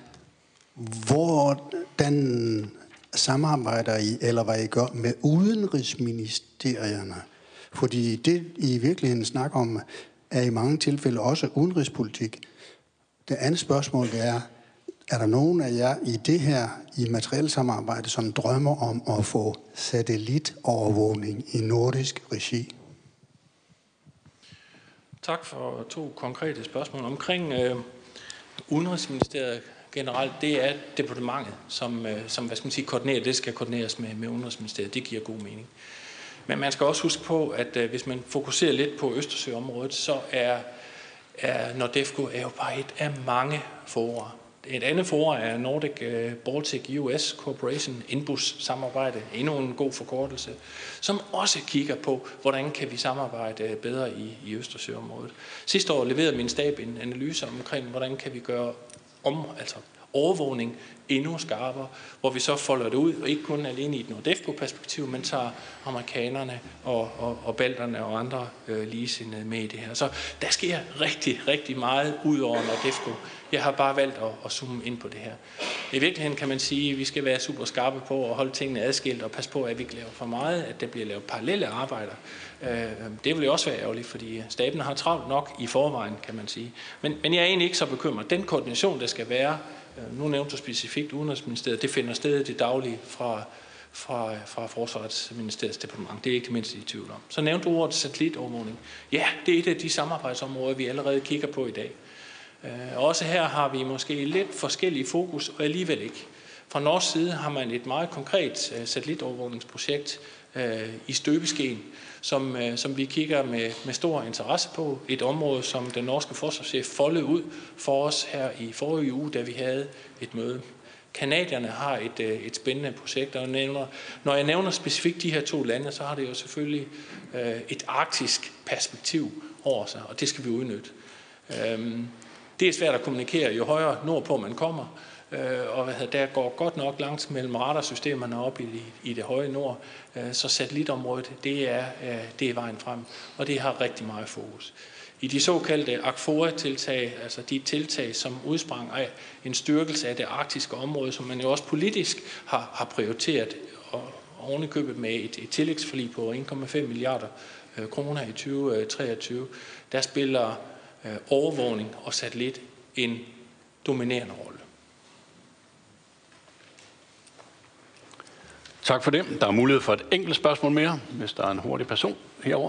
hvordan samarbejder I, eller hvad I gør med udenrigsministerierne? Fordi det, I i virkeligheden snakker om, er i mange tilfælde også udenrigspolitik. Det andet spørgsmål det er, er der nogen af jer i det her, i materielt samarbejde, som drømmer om at få satellitovervågning i nordisk regi? Tak for to konkrete spørgsmål. Omkring øh, Udenrigsministeriet generelt, det er departementet, som, øh, som hvad skal man sige, koordinerer. Det skal koordineres med, med Udenrigsministeriet. Det giver god mening. Men man skal også huske på, at øh, hvis man fokuserer lidt på Østersøområdet, så er, er NORDEFCO er jo bare et af mange fora. Et andet forum er Nordic Baltic U S Corporation, Inbus-samarbejde, endnu en god forkortelse, som også kigger på, hvordan kan vi samarbejde bedre i, i Østersøområdet. Sidste år leverede min stab en analyse omkring, hvordan kan vi gøre om, altså overvågning endnu skarpere, hvor vi så folder det ud, og ikke kun alene i et NORDEFCO-perspektiv, men tager amerikanerne og, og, og balterne og andre øh, ligesindede med i det her. Så der sker rigtig, rigtig meget ud over NORDEFCO. Jeg har bare valgt at, at zoome ind på det her. I virkeligheden kan man sige, at vi skal være super skarpe på at holde tingene adskilt og passe på, at vi ikke laver for meget, at der bliver lavet parallelle arbejder. Det vil jo også være ærgerligt, fordi staben har travlt nok i forvejen, kan man sige. Men, men jeg er egentlig ikke så bekymret. Den koordination, der skal være, nu nævnte du specifikt Udenrigsministeriet, det finder sted det daglige fra, fra, fra Forsvarsministeriets departement. Det er ikke det mindste i tvivl om. Så nævnte du ordet satellitovervågning. Ja, det er et af de samarbejdsområder, vi allerede kigger på i dag. Også her har vi måske lidt forskellige fokus, og alligevel ikke. Fra norsk side har man et meget konkret satellitovervågningsprojekt i støbeskeen, som, som vi kigger med, med stor interesse på. Et område, som den norske forsvarschef foldede ud for os her i forrige uge, da vi havde et møde. Kanadierne har et, et spændende projekt, og nævner, når jeg nævner specifikt de her to lande, så har det jo selvfølgelig et arktisk perspektiv over sig, og det skal vi udnytte. Det er svært at kommunikere, jo højere nordpå man kommer, og der går godt nok langt mellem radarsystemerne op i, i det høje nord, så satellitområdet, det er, det er vejen frem, og det har rigtig meget fokus. I de såkaldte A C F O A-tiltag, altså de tiltag, som udsprang af en styrkelse af det arktiske område, som man jo også politisk har, har prioriteret, og ovenikøbet med et, et tillægsforlig på en komma fem milliarder kroner i tyve treogtyve, der spiller overvågning og satellit en dominerende rolle. Tak for det. Der er mulighed for et enkelt spørgsmål mere, hvis der er en hurtig person herover.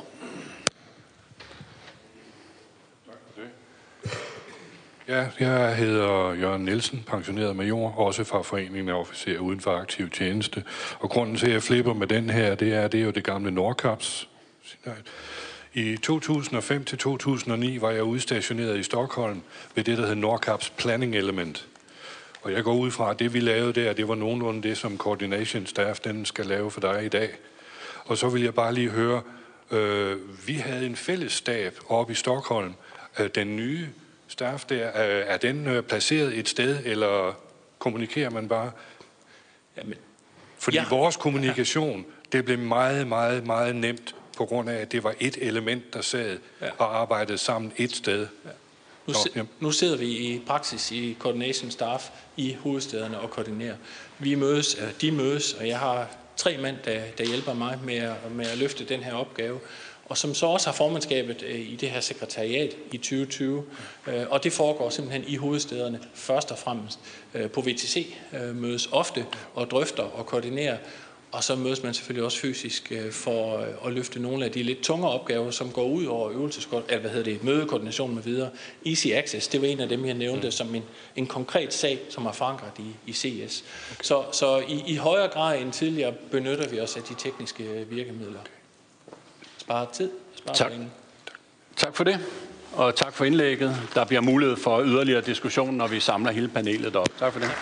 Tak for det. Ja, jeg hedder Jørgen Nielsen, pensioneret major, også fra Foreningen af Officerer uden for aktiv tjeneste. Og grunden til, at jeg flipper med den her, det er, det er jo det gamle Nordkaps. I to tusind og fem til to tusind og ni var jeg udstationeret i Stockholm ved det, der hed Nordkaps Planning Element. Og jeg går ud fra, at det vi lavede der, det var nogenlunde det, som Coordination Staff den skal lave for dig i dag. Og så vil jeg bare lige høre, øh, vi havde en fælles stab oppe i Stockholm. Øh, den nye staff der, øh, er den øh, placeret et sted, eller kommunikerer man bare? Jamen, Fordi ja. vores kommunikation, det blev meget, meget, meget nemt, på grund af, at det var et element, der sad ja. og arbejdede sammen et sted. Ja. Nu, Så, ja. nu sidder vi i praksis i Coordination Staff i hovedstederne og koordinerer. Vi mødes, de mødes, og jeg har tre mænd, der, der hjælper mig med at, med at løfte den her opgave, og som så også har formandskabet i det her sekretariat i tyve tyve. Og det foregår simpelthen i hovedstederne først og fremmest. På V T C mødes ofte og drøfter og koordinerer. Og så mødes man selvfølgelig også fysisk for at løfte nogle af de lidt tungere opgaver, som går ud over øvelseskoordination, eller hvad hedder det, mødekoordination med videre. Easy Access, det var en af dem, jeg nævnte, mm. som en, en konkret sag, som er forankret i, i C S. Okay. Så, så i, i højere grad end tidligere benytter vi os af de tekniske virkemidler. Spare tid, spare tak. penge. Tak for det, og tak for indlægget. Der bliver mulighed for yderligere diskussion, når vi samler hele panelet op. Tak for det.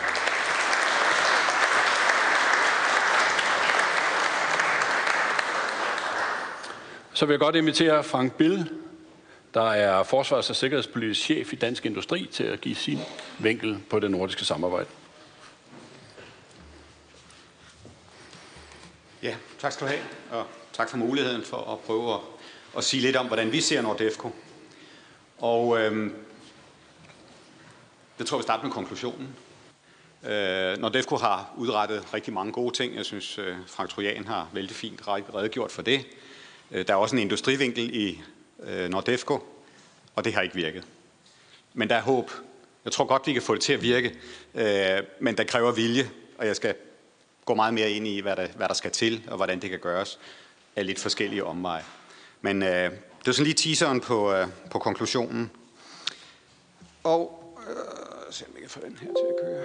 Så vil jeg godt invitere Frank Bill, der er forsvars- og sikkerhedspolitisk chef i Dansk Industri, til at give sin vinkel på det nordiske samarbejde. Ja, tak skal du have, og tak for muligheden for at prøve at, at sige lidt om, hvordan vi ser NORDEFCO. Og øhm, det tror jeg, vi starter med konklusionen. Øh, NORDEFCO har udrettet rigtig mange gode ting. Jeg synes, øh, Frank Trojan har vældig fint redegjort for det. Der er også en industrivinkel i øh, NORDEFCO, og det har ikke virket. Men der er håb. Jeg tror godt, vi kan få det til at virke, øh, men der kræver vilje, og jeg skal gå meget mere ind i, hvad der, hvad der skal til, og hvordan det kan gøres af lidt forskellige omveje. Men øh, det er sådan lige teaseren på, øh, på konklusionen. Og øh, se om jeg kan få den her til at køre.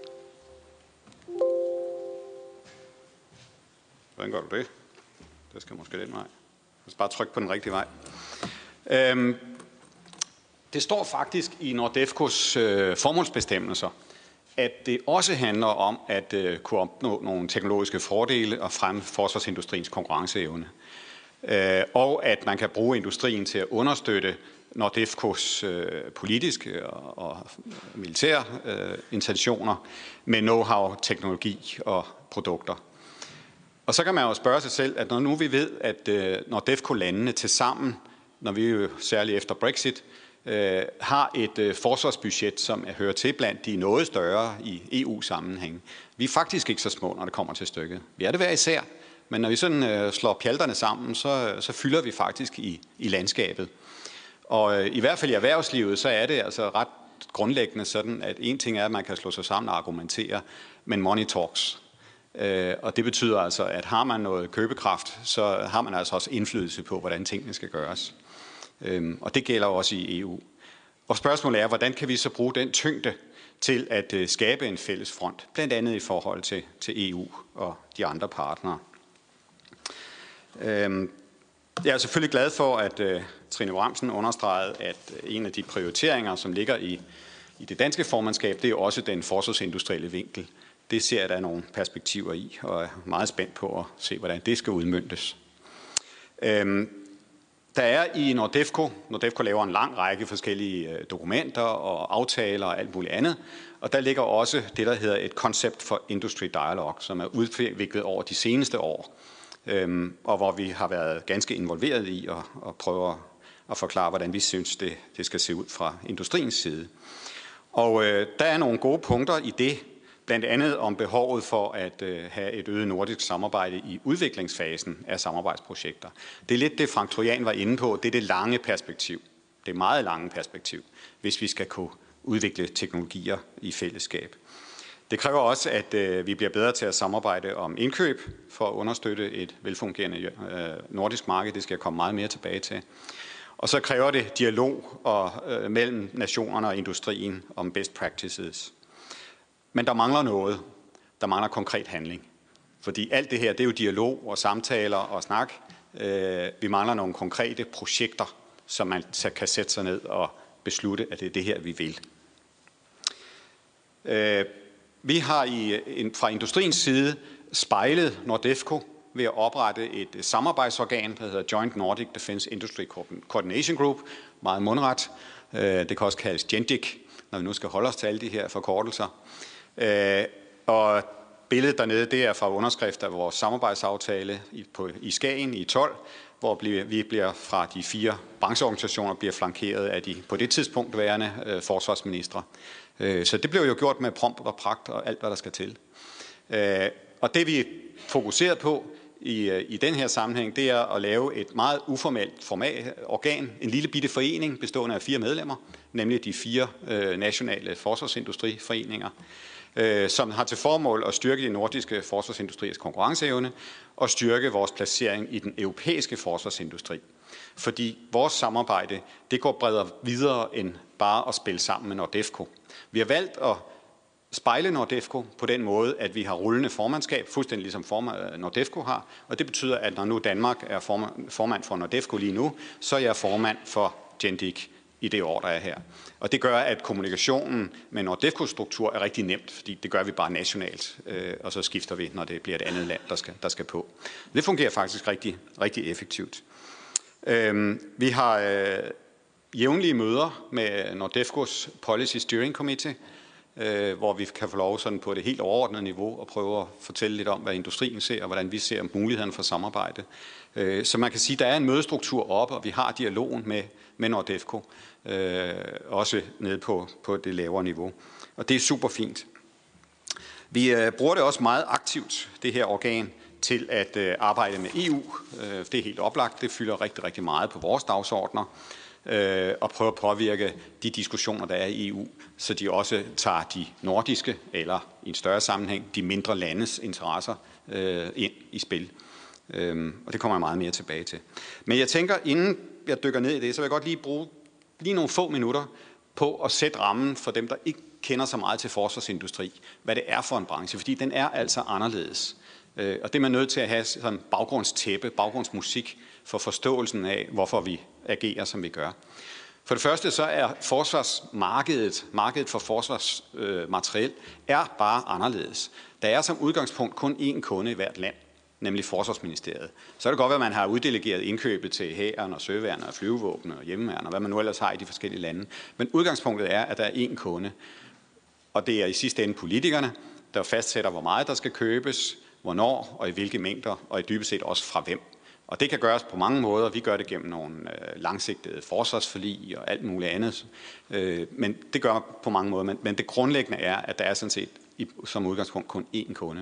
Hvordan gør du det? Det skal måske den vej. Jeg skal bare trykke på den rigtige vej. Øhm, det står faktisk i NORDEFCOs øh, formålsbestemmelser, at det også handler om at øh, kunne opnå nogle teknologiske fordele og fremme forsvarsindustriens konkurrenceevne. Øh, og at man kan bruge industrien til at understøtte NORDEFCOs øh, politiske og, og militære øh, intentioner med know-how, teknologi og produkter. Og så kan man jo spørge sig selv, at når nu vi ved, at øh, NORDEFCO-landene til sammen, når vi jo særligt efter Brexit, øh, har et øh, forsvarsbudget, som er hører til blandt de noget større i E U-sammenhæng. Vi er faktisk ikke så små, når det kommer til stykket. Vi er det hver især, men når vi sådan øh, slår pjalterne sammen, så, så fylder vi faktisk i, i landskabet. Og øh, i hvert fald i erhvervslivet, så er det altså ret grundlæggende sådan, at en ting er, at man kan slå sig sammen og argumentere, men money talks. Og det betyder altså, at har man noget købekraft, så har man altså også indflydelse på, hvordan tingene skal gøres. Og det gælder også i E U. Og spørgsmålet er, hvordan kan vi så bruge den tyngde til at skabe en fælles front, blandt andet i forhold til, til E U og de andre partnere. Jeg er selvfølgelig glad for, at Trine Bramsen understregede, at en af de prioriteringer, som ligger i, i det danske formandskab, det er også den forsvarsindustrielle vinkel. Det ser jeg, der er nogle perspektiver i, og er meget spændt på at se, hvordan det skal udmøntes. Øhm, der er i NORDEFCO, NORDEFCO laver en lang række forskellige dokumenter og aftaler og alt muligt andet, og der ligger også det, der hedder et Concept for Industry Dialogue, som er udviklet over de seneste år, øhm, og hvor vi har været ganske involveret i at, at prøve at, at forklare, hvordan vi synes, det, det skal se ud fra industriens side. Og øh, der er nogle gode punkter i det, blandt andet om behovet for at øh, have et øget nordisk samarbejde i udviklingsfasen af samarbejdsprojekter. Det er lidt det, Frank Trojan var inde på. Det er det lange perspektiv. Det meget lange perspektiv, hvis vi skal kunne udvikle teknologier i fællesskab. Det kræver også, at øh, vi bliver bedre til at samarbejde om indkøb for at understøtte et velfungerende øh, nordisk marked. Det skal jeg komme meget mere tilbage til. Og så kræver det dialog og, øh, mellem nationerne og industrien om best practices. Men der mangler noget. Der mangler konkret handling. Fordi alt det her, det er jo dialog og samtaler og snak. Øh, vi mangler nogle konkrete projekter, som man kan sætte sig ned og beslutte, at det er det her, vi vil. Øh, vi har i, en, fra industriens side spejlet NORDEFCO ved at oprette et samarbejdsorgan, der hedder Joint Nordic Defence Industry Coordination Group. Meget mundret. Øh, det kan også kaldes GENDIC, når vi nu skal holde os til alle de her forkortelser. Øh, og billedet dernede, det er fra underskrift af vores samarbejdsaftale i, på, i Skagen i tolv, hvor vi bliver fra de fire brancheorganisationer bliver flankeret af de på det tidspunkt værende øh, forsvarsministre. Øh, så det blev jo gjort med prompt og pragt og alt, hvad der skal til. Øh, og det vi fokuseret på i, i den her sammenhæng, det er at lave et meget uformelt format, organ, en lille bitte forening bestående af fire medlemmer, nemlig de fire øh, nationale forsvarsindustriforeninger, øh, som har til formål at styrke de nordiske forsvarsindustriers konkurrenceevne og styrke vores placering i den europæiske forsvarsindustri. Fordi vores samarbejde, det går bredere videre end bare at spille sammen med Nordefco. Vi har valgt at spejle Nordefco på den måde, at vi har rullende formandskab, fuldstændig ligesom Nordefco har. Og det betyder, at når nu Danmark er formand for Nordefco lige nu, så er jeg formand for Gendic i det år, der er her. Og det gør, at kommunikationen med Nordefco-struktur er rigtig nemt, fordi det gør vi bare nationalt, og så skifter vi, når det bliver et andet land, der skal, der skal på. Det fungerer faktisk rigtig, rigtig effektivt. Vi har jævnlige møder med Nordefcos Policy Steering Committee, hvor vi kan få lov sådan på det helt overordnede niveau og prøve at fortælle lidt om, hvad industrien ser, og hvordan vi ser mulighederne for samarbejde. Så man kan sige, at der er en mødestruktur oppe, og vi har dialogen med, med Nordefco, også nede på, på det lavere niveau. Og det er super fint. Vi bruger det også meget aktivt, det her organ, til at arbejde med E U. Det er helt oplagt. Det fylder rigtig, rigtig meget på vores dagsordner. Og prøve at påvirke de diskussioner, der er i E U, så de også tager de nordiske, eller i en større sammenhæng, de mindre landes interesser øh, ind i spil. Øhm, og det kommer jeg meget mere tilbage til. Men jeg tænker, inden jeg dykker ned i det, så vil jeg godt lige bruge lige nogle få minutter på at sætte rammen for dem, der ikke kender så meget til forsvarsindustri, hvad det er for en branche, fordi den er altså anderledes. Øh, og det er man nødt til at have sådan baggrundstæppe, baggrundsmusik for forståelsen af, hvorfor vi agerer, som vi gør. For det første så er forsvarsmarkedet, markedet for forsvarsmateriel, er bare anderledes. Der er som udgangspunkt kun én kunde i hvert land, nemlig Forsvarsministeriet. Så er det godt, at man har uddelegeret indkøbet til hæren og søværnet og flyvevåben og hjemmeværn og hvad man nu ellers har i de forskellige lande. Men udgangspunktet er, at der er én kunde. Og det er i sidste ende politikerne, der fastsætter, hvor meget der skal købes, hvornår og i hvilke mængder, og i dybest set også fra hvem. Og det kan gøres på mange måder. Vi gør det gennem nogle øh, langsigtede forsvarsforlig og alt muligt andet. Øh, men det gør på mange måder. Men, men det grundlæggende er, at der er sådan set i, som udgangspunkt kun én kunde.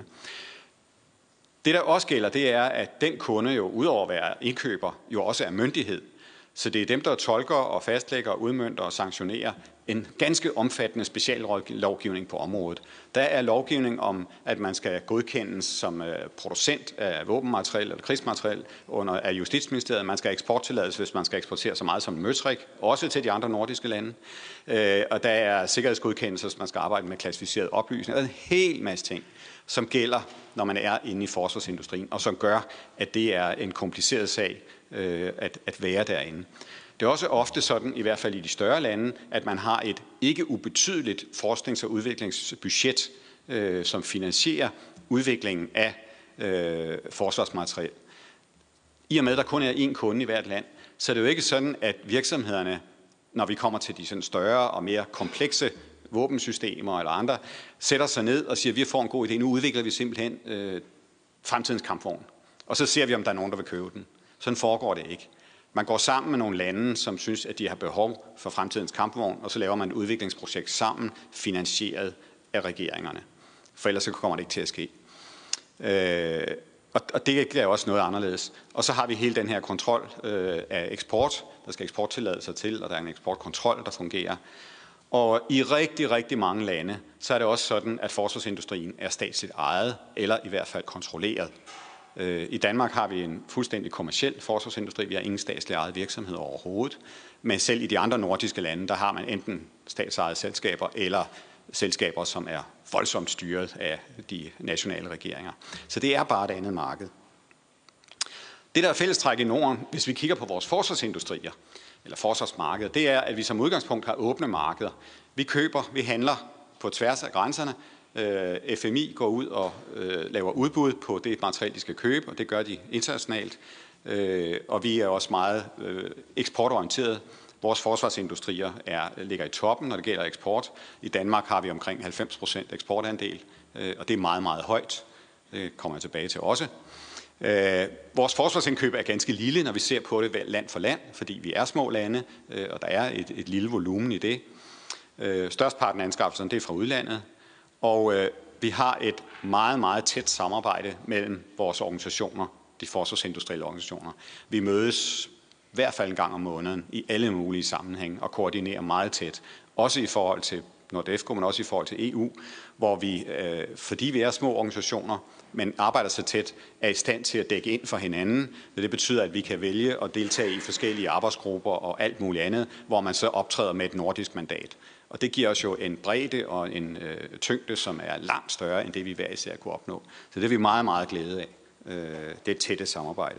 Det der også gælder, det er, at den kunde jo udover at være indkøber, jo også er myndighed. Så det er dem, der tolker og fastlægger, udmønter og sanktionerer en ganske omfattende speciallovgivning på området. Der er lovgivning om, at man skal godkendes som producent af våbenmateriel eller krigsmateriel under af Justitsministeriet. Man skal eksporttillades, hvis man skal eksportere så meget som møtrik, også til de andre nordiske lande. Og der er sikkerhedsgodkendelser, hvis man skal arbejde med klassificerede oplysninger. Der er en hel masse ting, som gælder, når man er inde i forsvarsindustrien, og som gør, at det er en kompliceret sag at, at være derinde. Det er også ofte sådan, i hvert fald i de større lande, at man har et ikke ubetydeligt forsknings- og udviklingsbudget, øh, som finansierer udviklingen af øh, forsvarsmateriel. I og med, at der kun er én kunde i hvert land, så er det jo ikke sådan, at virksomhederne, når vi kommer til de sådan større og mere komplekse våbensystemer eller andre, sætter sig ned og siger, at vi får en god idé. Nu udvikler vi simpelthen øh, fremtidens kampvogn. Og så ser vi, om der er nogen, der vil købe den. Sådan foregår det ikke. Man går sammen med nogle lande, som synes, at de har behov for fremtidens kampvogn, og så laver man et udviklingsprojekt sammen, finansieret af regeringerne. For ellers så kommer det ikke til at ske. Øh, og det er også noget anderledes. Og så har vi hele den her kontrol øh, af eksport. Der skal eksporttilladelser til, og der er en eksportkontrol, der fungerer. Og i rigtig, rigtig mange lande, så er det også sådan, at forsvarsindustrien er statsligt ejet, eller i hvert fald kontrolleret. I Danmark har vi en fuldstændig kommerciel forsvarsindustri. Vi har ingen statslig ejet virksomhed overhovedet. Men selv i de andre nordiske lande, der har man enten statsejede selskaber eller selskaber, som er voldsomt styret af de nationale regeringer. Så det er bare et andet marked. Det, der er fællestræk i Norden, hvis vi kigger på vores forsvarsindustrier, eller forsvarsmarkeder, det er, at vi som udgangspunkt har åbne markeder. Vi køber, vi handler på tværs af grænserne. F M I går ud og øh, laver udbud på det materiel, de skal købe, og det gør de internationalt. Øh, og vi er også meget øh, eksportorienteret. Vores forsvarsindustrier er, ligger i toppen, når det gælder eksport. I Danmark har vi omkring halvfems procent eksportandel, øh, og det er meget, meget højt. Det kommer jeg tilbage til også. Øh, vores forsvarsindkøb er ganske lille, når vi ser på det land for land, fordi vi er små lande, øh, og der er et, et lille volumen i det. Øh, størstparten af anskaffelserne, det er fra udlandet. Og øh, vi har et meget, meget tæt samarbejde mellem vores organisationer, de forsvarsindustrielle organisationer. Vi mødes i hvert fald en gang om måneden i alle mulige sammenhænge og koordinerer meget tæt. Også i forhold til NORDEFCO, men også i forhold til E U, hvor vi, øh, fordi vi er små organisationer, men arbejder så tæt, er i stand til at dække ind for hinanden. Det betyder, at vi kan vælge at deltage i forskellige arbejdsgrupper og alt muligt andet, hvor man så optræder med et nordisk mandat. Og det giver os jo en bredde og en øh, tyngde, som er langt større end det, vi hver især kunne opnå. Så det er vi meget, meget glade af. Øh, det er tætte samarbejde.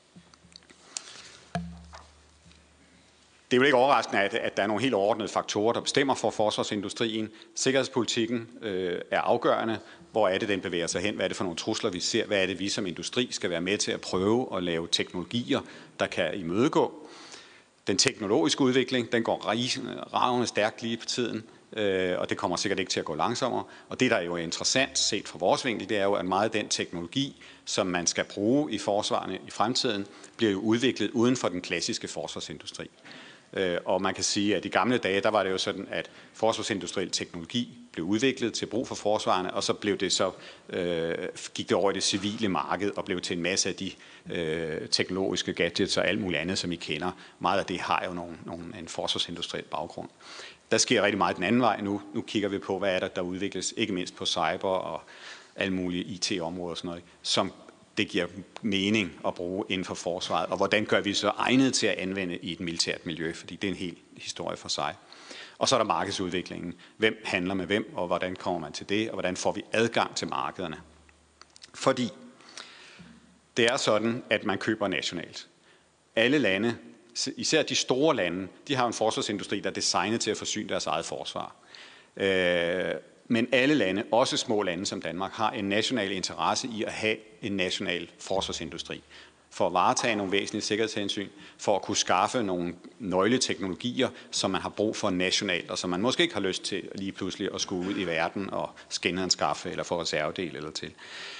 Det er jo ikke overraskende, at, at der er nogle helt overordnede faktorer, der bestemmer for forsvarsindustrien. Sikkerhedspolitikken øh, er afgørende. Hvor er det, den bevæger sig hen? Hvad er det for nogle trusler, vi ser? Hvad er det, vi som industri skal være med til at prøve at lave teknologier, der kan imødegå? Den teknologiske udvikling, den går ravende stærkt lige på tiden, øh, og det kommer sikkert ikke til at gå langsommere. Og det, der er jo interessant set fra vores vinkel, det er jo, at meget af den teknologi, som man skal bruge i forsvarene i fremtiden, bliver jo udviklet uden for den klassiske forsvarsindustri. Og man kan sige, at i gamle dage, der var det jo sådan, at forsvarsindustriel teknologi blev udviklet til brug for forsvarene, og så blev det så, øh, gik det over i det civile marked og blev til en masse af de øh, teknologiske gadgets og alt muligt andet, som I kender. Meget af det har jo nogle, nogle, en forsvarsindustriel baggrund. Der sker rigtig meget den anden vej nu. Nu kigger vi på, hvad er der, der udvikles, ikke mindst på cyber og alle mulige I T-områder og sådan noget, som det giver mening at bruge inden for forsvaret, og hvordan gør vi så egnet til at anvende i et militært miljø, fordi det er en hel historie for sig. Og så er der markedsudviklingen. Hvem handler med hvem, og hvordan kommer man til det, og hvordan får vi adgang til markederne? Fordi det er sådan, at man køber nationalt. Alle lande, især de store lande, de har en forsvarsindustri, der er designet til at forsyne deres eget forsvar. Øh, Men alle lande, også små lande som Danmark, har en national interesse i at have en national forsvarsindustri. For at varetage nogle væsentlige sikkerhedshensyn, for at kunne skaffe nogle nøgleteknologier, som man har brug for nationalt, og som man måske ikke har lyst til lige pludselig at skulle ud i verden og skinneanskaffe eller få reservedel eller til.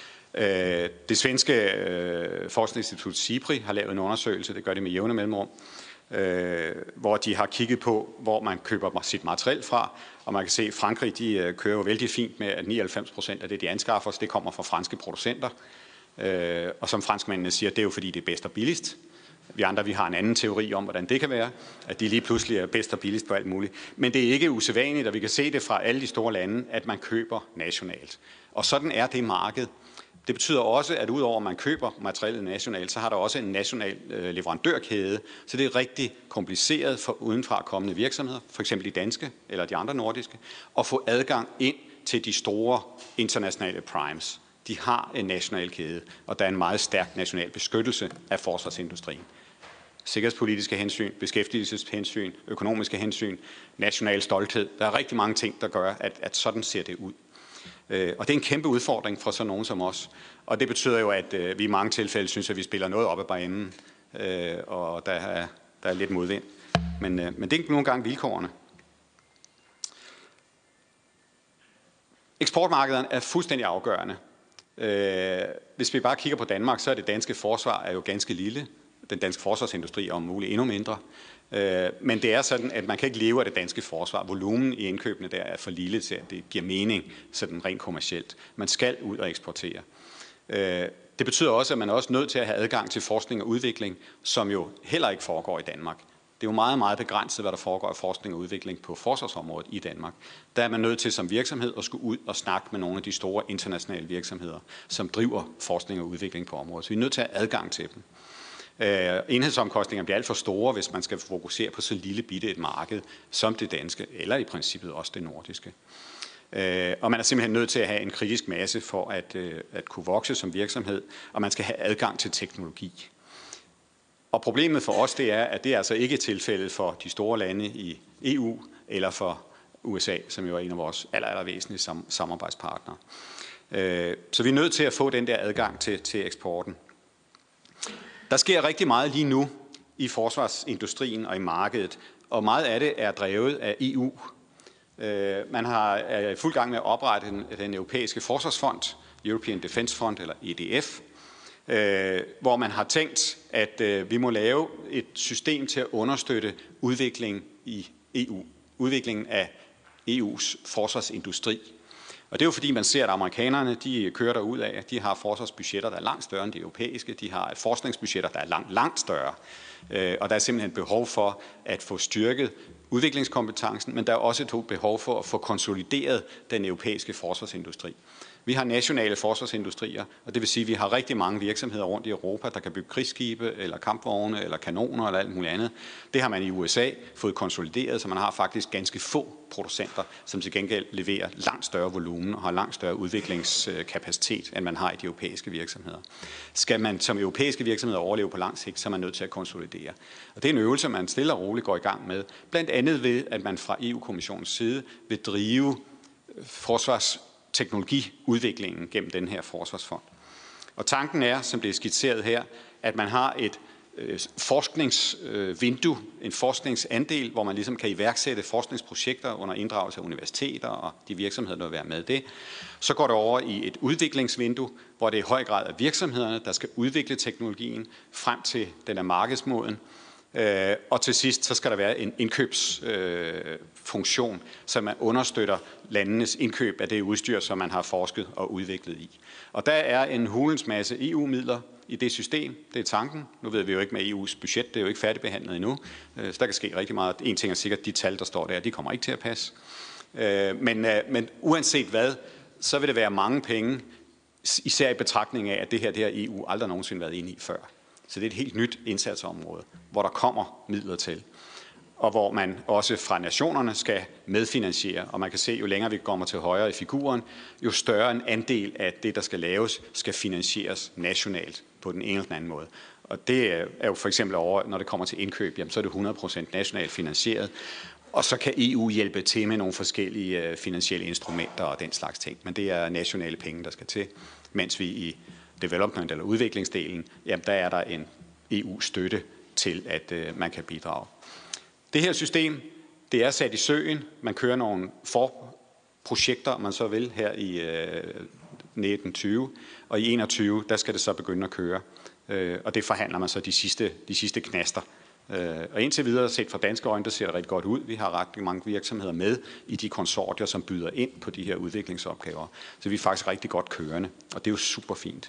Det svenske forskningsinstitut SIPRI har lavet en undersøgelse, det gør det med jævne mellemrum, Øh, hvor de har kigget på, hvor man køber sit materiel fra, og man kan se, at Frankrig de, øh, kører jo vældig fint med, at nioghalvfems procent af det, de anskaffer os, det kommer fra franske producenter. Øh, og som franskmændene siger, det er jo fordi, det er bedst og billigst. Vi andre vi har en anden teori om, hvordan det kan være, at de lige pludselig er bedst og billigst på alt muligt. Men det er ikke usædvanligt, og vi kan se det fra alle de store lande, at man køber nationalt. Og sådan er det marked. Det betyder også, at udover at man køber materialet nationalt, så har der også en national øh, leverandørkæde. Så det er rigtig kompliceret for udenfra kommende virksomheder, for eksempel de danske eller de andre nordiske, at få adgang ind til de store internationale primes. De har en national kæde, og der er en meget stærk national beskyttelse af forsvarsindustrien. Sikkerhedspolitiske hensyn, beskæftigelseshensyn, økonomiske hensyn, national stolthed. Der er rigtig mange ting, der gør, at, at sådan ser det ud. Og det er en kæmpe udfordring for sådan nogen som os. Og det betyder jo, at øh, vi i mange tilfælde synes, at vi spiller noget op ad banen, øh, og der er, der er lidt modvind. Men, øh, men det er ikke nogle gange vilkårene. Eksportmarkederne er fuldstændig afgørende. Øh, hvis vi bare kigger på Danmark, så er det danske forsvar er jo ganske lille. Den danske forsvarsindustri er om muligt endnu mindre. Men det er sådan, at man kan ikke leve af det danske forsvar. Volumen i indkøbene der er for lille til, at det giver mening sådan rent kommercielt. Man skal ud og eksportere. Det betyder også, at man er også nødt til at have adgang til forskning og udvikling, som jo heller ikke foregår i Danmark. Det er jo meget, meget begrænset, hvad der foregår af forskning og udvikling på forsvarsområdet i Danmark. Der er man nødt til som virksomhed at skulle ud og snakke med nogle af de store internationale virksomheder, som driver forskning og udvikling på området. Så vi er nødt til at have adgang til dem. Uh, enhedsomkostninger bliver alt for store, hvis man skal fokusere på så lille bitte et marked som det danske, eller i princippet også det nordiske. Uh, og man er simpelthen nødt til at have en kritisk masse for at, uh, at kunne vokse som virksomhed, og man skal have adgang til teknologi. Og problemet for os, det er, at det er altså ikke tilfældet for de store lande i E U, eller for U S A, som jo er en af vores aller, aller væsentlige sam- samarbejdspartnere. Uh, så vi er nødt til at få den der adgang til, til eksporten. Der sker rigtig meget lige nu i forsvarsindustrien og i markedet, og meget af det er drevet af E U. Man har, er i fuld gang med at oprette den, den europæiske forsvarsfond, European Defence Fund eller E D F, hvor man har tænkt, at vi må lave et system til at understøtte udvikling i E U, udviklingen af E U's forsvarsindustri. Og det er jo fordi, man ser, at amerikanerne de kører derud af, at de har forsvarsbudgetter, der er langt større end de europæiske. De har forskningsbudgetter, der er langt, langt større. Og der er simpelthen behov for at få styrket udviklingskompetencen, men der er også et behov for at få konsolideret den europæiske forsvarsindustri. Vi har nationale forsvarsindustrier, og det vil sige, at vi har rigtig mange virksomheder rundt i Europa, der kan bygge krigsskibe, eller kampvogne, eller kanoner, eller alt muligt andet. Det har man i U S A fået konsolideret, så man har faktisk ganske få producenter, som til gengæld leverer langt større volumen og har langt større udviklingskapacitet, end man har i de europæiske virksomheder. Skal man som europæiske virksomheder overleve på lang sigt, så er man nødt til at konsolidere. Og det er en øvelse, man stille og roligt går i gang med, blandt andet ved, at man fra E U-kommissionens side vil drive forsvars teknologiudviklingen gennem den her forsvarsfond. Og tanken er, som det er skitseret her, at man har et øh, forskningsvindue, øh, en forskningsandel, hvor man ligesom kan iværksætte forskningsprojekter under inddragelse af universiteter og de virksomheder, der vil være med det. Så går det over i et udviklingsvindue, hvor det i høj grad er virksomhederne, der skal udvikle teknologien frem til den er markedsmoden. Øh, og til sidst så skal der være en indkøbsfunktion, øh, som man understøtter landenes indkøb af det udstyr, som man har forsket og udviklet i. Og der er en hulens masse E U-midler i det system. Det er tanken. Nu ved vi jo ikke med E U's budget, det er jo ikke færdigbehandlet endnu. Øh, så der kan ske rigtig meget. En ting er sikkert, de tal, der står der, de kommer ikke til at passe. Øh, men, øh, men uanset hvad, så vil det være mange penge, især i betragtning af, at det her, det har E U aldrig nogensinde været inde i før. Så det er et helt nyt indsatsområde, hvor der kommer midler til, og hvor man også fra nationerne skal medfinansiere. Og man kan se, jo længere vi kommer til højre i figuren, jo større en andel af det, der skal laves, skal finansieres nationalt på den ene eller den anden måde. Og det er jo for eksempel over, når det kommer til indkøb, jamen, så er det hundrede procent nationalt finansieret. Og så kan E U hjælpe til med nogle forskellige finansielle instrumenter og den slags ting. Men det er nationale penge, der skal til, mens vi i development- eller udviklingsdelen, jamen der er der en E U-støtte til, at øh, man kan bidrage. Det her system, det er sat i søen. Man kører nogle forprojekter, man så vil, her i øh, nitten tyve, og i enogtyve, der skal det så begynde at køre. Øh, og det forhandler man så de sidste, de sidste knaster. Øh, og indtil videre, set fra danske øjne, der ser det rigtig godt ud. Vi har ret mange virksomheder med i de konsortier, som byder ind på de her udviklingsopgaver. Så vi er faktisk rigtig godt kørende, og det er jo super fint.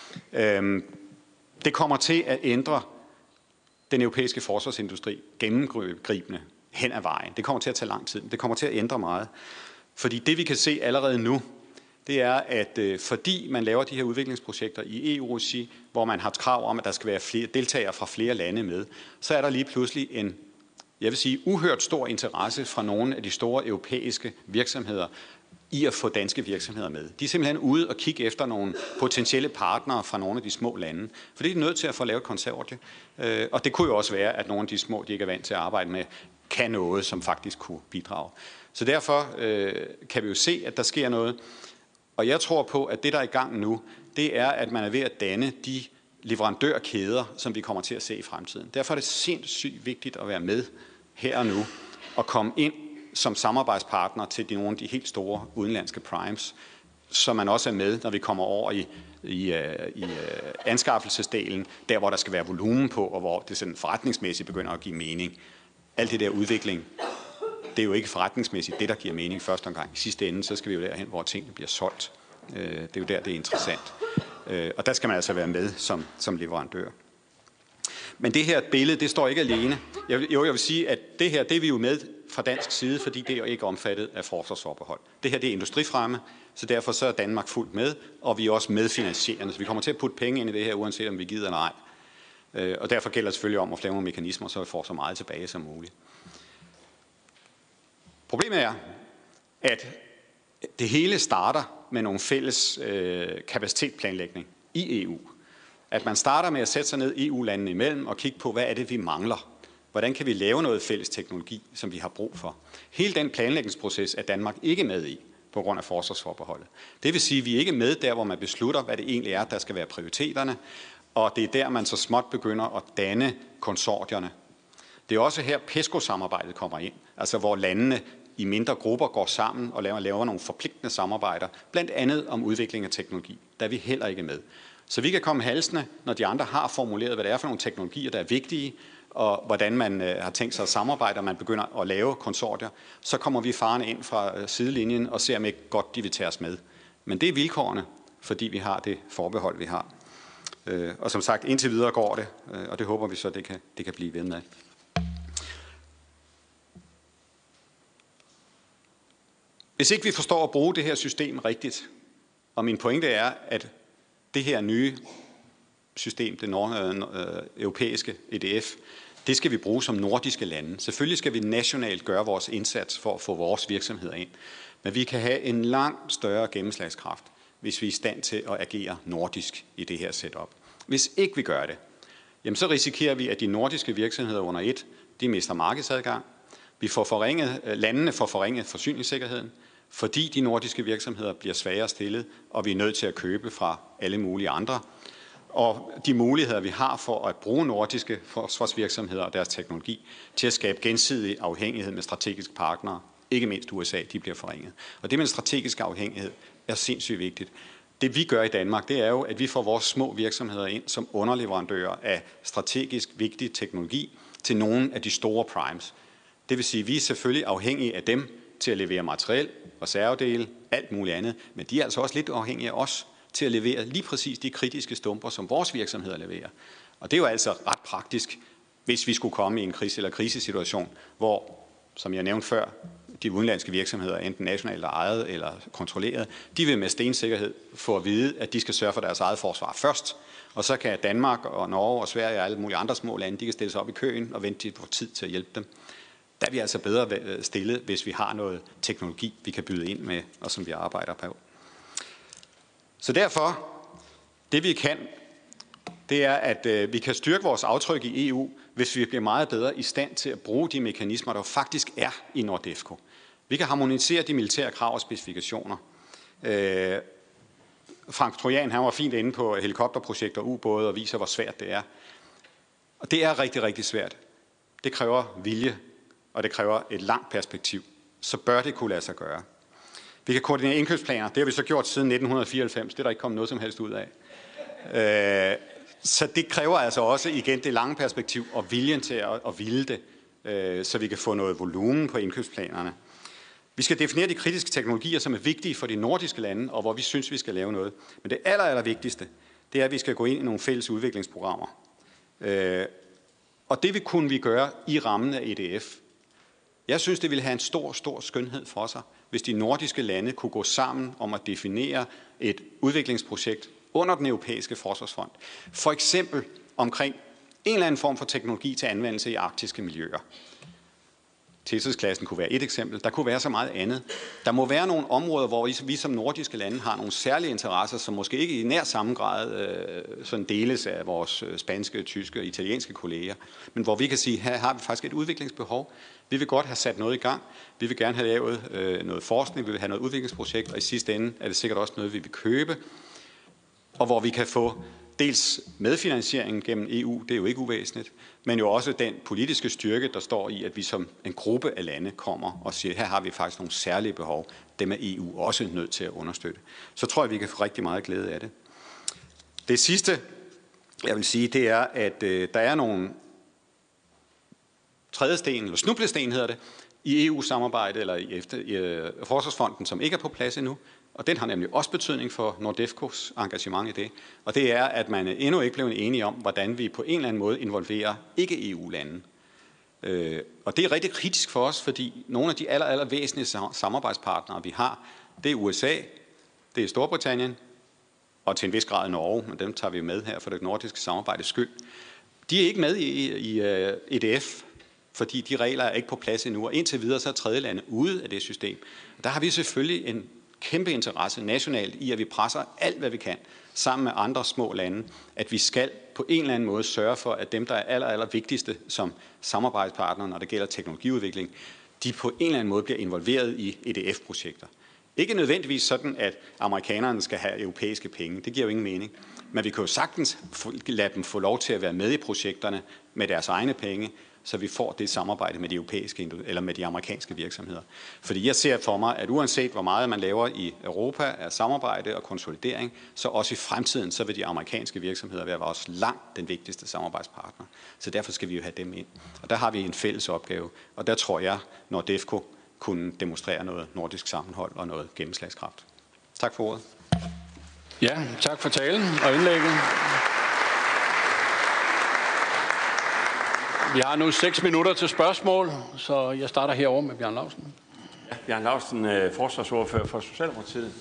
Øh, det kommer til at ændre den europæiske forsvarsindustri gennemgribende hen ad vejen. Det kommer til at tage lang tid, men det kommer til at ændre meget. Fordi det, vi kan se allerede nu, det er, at øh, fordi man laver de her udviklingsprojekter i E U-regi, hvor man har krav om, at der skal være flere deltagere fra flere lande med, så er der lige pludselig en, jeg vil sige, uhørt stor interesse fra nogle af de store europæiske virksomheder i at få danske virksomheder med. De er simpelthen ude og kigge efter nogle potentielle partnere fra nogle af de små lande, for det er de nødt til at få lavet konsortie. Øh, og det kunne jo også være, at nogle af de små, de ikke er vant til at arbejde med, kan noget, som faktisk kunne bidrage. Så derfor øh, kan vi jo se, at der sker noget. Og jeg tror på, at det, der er i gang nu, det er, at man er ved at danne de leverandørkæder, som vi kommer til at se i fremtiden. Derfor er det sindssygt vigtigt at være med her og nu og komme ind som samarbejdspartner til de, nogle af de helt store udenlandske primes, så man også er med, når vi kommer over i, i, i anskaffelsesdelen, der hvor der skal være volumen på, og hvor det sådan forretningsmæssigt begynder at give mening. Alt det der udvikling, det er jo ikke forretningsmæssigt det, der giver mening første omgang. I sidste ende, så skal vi jo derhen, hvor tingene bliver solgt. Det er jo der, det er interessant. Og der skal man altså være med som, som leverandør. Men det her billede, det står ikke alene. Jeg, jo, jeg vil sige, at det her, det er vi jo med fra dansk side, fordi det er jo ikke omfattet af forsvarsforbehold. Det her, det er industrifremme, så derfor så er Danmark fuldt med, og vi er også medfinansierende. Så vi kommer til at putte penge ind i det her, uanset om vi gider eller ej. Og derfor gælder det selvfølgelig om at lave nogle mekanismer, så vi får så meget tilbage som muligt. Problemet er, at det hele starter med nogle fælles øh, kapacitetsplanlægning i E U. At man starter med at sætte sig ned E U-landene imellem og kigge på, hvad er det, vi mangler? Hvordan kan vi lave noget fælles teknologi, som vi har brug for? Hele den planlægningsproces er Danmark ikke med i på grund af forsvarsforbeholdet. Det vil sige, at vi er ikke med der, hvor man beslutter, hvad det egentlig er, der skal være prioriteterne, og det er der, man så småt begynder at danne konsortierne. Det er også her, PESCO-samarbejdet kommer ind, altså hvor landene i mindre grupper går sammen og laver, laver nogle forpligtende samarbejder, blandt andet om udvikling af teknologi. Der er vi heller ikke med. Så vi kan komme halsende, når de andre har formuleret, hvad det er for nogle teknologier, der er vigtige, og hvordan man øh, har tænkt sig at samarbejde, og man begynder at lave konsortier, så kommer vi farne ind fra øh, sidelinjen og ser, om ikke godt de vil tage os med. Men det er vilkårene, fordi vi har det forbehold, vi har. Øh, og som sagt, indtil videre går det, øh, og det håber vi så, det kan, det kan blive ved med. Hvis ikke vi forstår at bruge det her system rigtigt, og min pointe er, at det her nye system, det nord, øh, europæiske E D F, det skal vi bruge som nordiske lande. Selvfølgelig skal vi nationalt gøre vores indsats for at få vores virksomheder ind, men vi kan have en langt større gennemslagskraft, hvis vi er i stand til at agere nordisk i det her setup. Hvis ikke vi gør det, jamen så risikerer vi, at de nordiske virksomheder under et, de mister markedsadgang. Vi får forringet, landene får forringet forsyningssikkerheden, fordi de nordiske virksomheder bliver svagere stillet, og vi er nødt til at købe fra alle mulige andre. Og de muligheder, vi har for at bruge nordiske forsvarsvirksomheder og deres teknologi til at skabe gensidig afhængighed med strategiske partnere, ikke mindst U S A, de bliver forringet. Og det med en strategisk afhængighed er sindssygt vigtigt. Det vi gør i Danmark, det er jo, at vi får vores små virksomheder ind som underleverandører af strategisk vigtig teknologi til nogle af de store primes. Det vil sige, at vi er selvfølgelig afhængige af dem til at levere materiel, reservedele, alt muligt andet, men de er altså også lidt afhængige af os til at levere lige præcis de kritiske stumper, som vores virksomheder leverer. Og det er jo altså ret praktisk, hvis vi skulle komme i en krise- eller krisesituation, hvor, som jeg nævnte før, de udenlandske virksomheder, enten nationalt ejet eller kontrolleret, de vil med stensikkerhed få at vide, at de skal sørge for deres eget forsvar først, og så kan Danmark og Norge og Sverige og alle mulige andre små lande, de kan stille sig op i køen og vente til på tid til at hjælpe dem. Der er vi altså bedre stillet, hvis vi har noget teknologi, vi kan byde ind med, og som vi arbejder på. Så derfor, det vi kan, det er, at øh, vi kan styrke vores aftryk i E U, hvis vi bliver meget bedre i stand til at bruge de mekanismer, der faktisk er i NORDEFCO. Vi kan harmonisere de militære krav og specifikationer. Øh, Frank Trojan, han var fint inde på helikopterprojekter og ubåde og viser, hvor svært det er. Og det er rigtig, rigtig svært. Det kræver vilje, og det kræver et langt perspektiv. Så bør det kunne lade sig gøre. Vi kan koordinere indkøbsplaner. Det har vi så gjort siden nitten fireoghalvfems. Det er der ikke kommet noget som helst ud af. Øh, så det kræver altså også igen det lange perspektiv og viljen til at, at ville det, øh, så vi kan få noget volumen på indkøbsplanerne. Vi skal definere de kritiske teknologier, som er vigtige for de nordiske lande, og hvor vi synes, vi skal lave noget. Men det aller, aller vigtigste, det er, at vi skal gå ind i nogle fælles udviklingsprogrammer. Øh, og det vil kunne vi gøre i rammen af E D F. Jeg synes, det ville have en stor, stor skønhed for sig, hvis de nordiske lande kunne gå sammen om at definere et udviklingsprojekt under den europæiske forsvarsfond. For eksempel omkring en eller anden form for teknologi til anvendelse i arktiske miljøer. Thesis-klassen kunne være et eksempel. Der kunne være så meget andet. Der må være nogle områder, hvor vi som nordiske lande har nogle særlige interesser, som måske ikke i nær samme grad øh, sådan deles af vores spanske, tyske og italienske kolleger, men hvor vi kan sige, her har vi faktisk et udviklingsbehov. Vi vil godt have sat noget i gang. Vi vil gerne have lavet øh, noget forskning, vi vil have noget udviklingsprojekt, og i sidste ende er det sikkert også noget, vi vil købe, og hvor vi kan få dels medfinansieringen gennem E U, det er jo ikke uvæsentligt, men jo også den politiske styrke, der står i, at vi som en gruppe af lande kommer og siger, her har vi faktisk nogle særlige behov, dem er E U også nødt til at understøtte. Så tror jeg, vi kan få rigtig meget glæde af det. Det sidste, jeg vil sige, det er, at øh, der er nogle trædesten, eller snublesten hedder det, i E U-samarbejdet eller i, efter, i øh, Forsvarsfonden, som ikke er på plads endnu. Og den har nemlig også betydning for NORDEFCOs engagement i det. Og det er, at man endnu ikke blev enige om, hvordan vi på en eller anden måde involverer ikke-E U-lande. Øh, og det er rigtig kritisk for os, fordi nogle af de aller, aller væsentlige samarbejdspartnere, vi har, det er U S A, det er Storbritannien, og til en vis grad Norge, men dem tager vi med her for det nordiske samarbejdes skyld. De er ikke med i, i uh, E D F, fordi de regler er ikke på plads endnu, og indtil videre så er tredje lande ude af det system. Og der har vi selvfølgelig en kæmpe interesse nationalt i, at vi presser alt, hvad vi kan, sammen med andre små lande, at vi skal på en eller anden måde sørge for, at dem, der er aller, aller vigtigste som samarbejdspartnere, når det gælder teknologiudvikling, de på en eller anden måde bliver involveret i E D F-projekter. Ikke nødvendigvis sådan, at amerikanerne skal have europæiske penge. Det giver jo ingen mening. Men vi kan jo sagtens lade dem få lov til at være med i projekterne med deres egne penge, så vi får det samarbejde med de europæiske eller med de amerikanske virksomheder. Fordi jeg ser for mig, at uanset hvor meget man laver i Europa af samarbejde og konsolidering, så også i fremtiden, så vil de amerikanske virksomheder være vores langt den vigtigste samarbejdspartner. Så derfor skal vi jo have dem ind. Og der har vi en fælles opgave. Og der tror jeg, NORDEFCO kunne demonstrere noget nordisk sammenhold og noget gennemslagskraft. Tak for ordet. Ja, tak for talen og indlægget. Vi har nu seks minutter til spørgsmål, så jeg starter herovre med Bjarne Laustsen. Ja, Bjarne Laustsen, forsvarsordfører for Socialdemokratiet.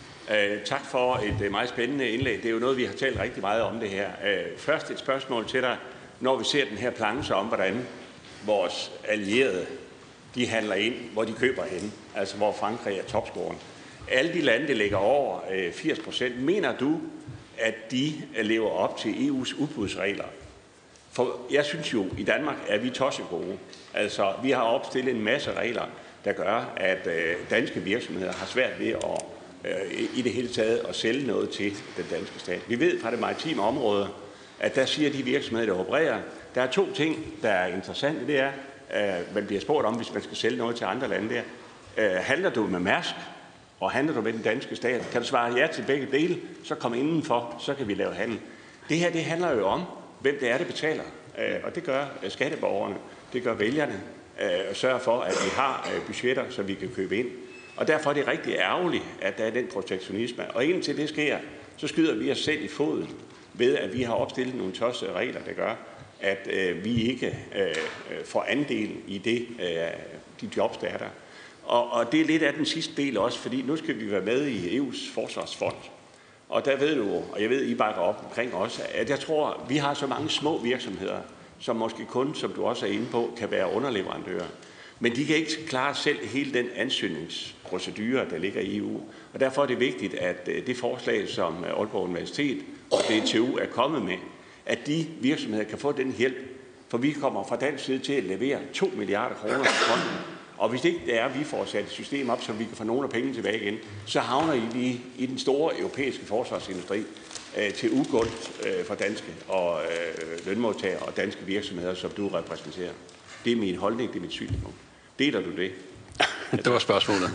Tak for et meget spændende indlæg. Det er jo noget, vi har talt rigtig meget om det her. Først et spørgsmål til dig, når vi ser den her planche om, hvordan vores allierede de handler ind, hvor de køber hen, altså hvor Frankrig er topscoren. Alle de lande, der ligger over firs procent, mener du, at de lever op til E U's udbudsregler? For jeg synes jo, i Danmark er vi tosset gode. Altså, vi har opstillet en masse regler, der gør, at øh, danske virksomheder har svært ved at øh, i det hele taget at sælge noget til den danske stat. Vi ved fra det maritime område, at der siger de virksomheder, der opererer, der er to ting, der er interessante. Det er, øh, man bliver spurgt om, hvis man skal sælge noget til andre lande der. Øh, handler du med Mærsk, og handler du med den danske stat? Kan du svare ja til begge dele, så kom indenfor, så kan vi lave handel. Det her, det handler jo om, hvem det er, der betaler. Og det gør skatteborgerne, det gør vælgerne, og sørger for, at vi har budgetter, så vi kan købe ind. Og derfor er det rigtig ærgerligt, at der er den protektionisme. Og indtil det sker, så skyder vi os selv i foden ved, at vi har opstillet nogle tossede regler, der gør, at vi ikke får andel i det, de jobs, der er der. Og, og det er lidt af den sidste del også, fordi nu skal vi være med i E U's forsvarsfond. Og der ved du, og jeg ved, I bakker op omkring også, at jeg tror, vi har så mange små virksomheder, som måske kun, som du også er inde på, kan være underleverandører. Men de kan ikke klare selv hele den ansøgningsprocedure, der ligger i E U. Og derfor er det vigtigt, at det forslag, som Aalborg Universitet og D T U er kommet med, at de virksomheder kan få den hjælp. For vi kommer fra dansk side til at levere to milliarder kroner til fonden. Og hvis ikke det er, at vi får sat et system op, så vi kan få nogle af pengene tilbage igen, så havner I i den store europæiske forsvarsindustri øh, til ugunst øh, for danske og øh, lønmodtagere og danske virksomheder, som du repræsenterer. Det er min holdning, det er mit synspunkt. Deler du det? Det var spørgsmålet.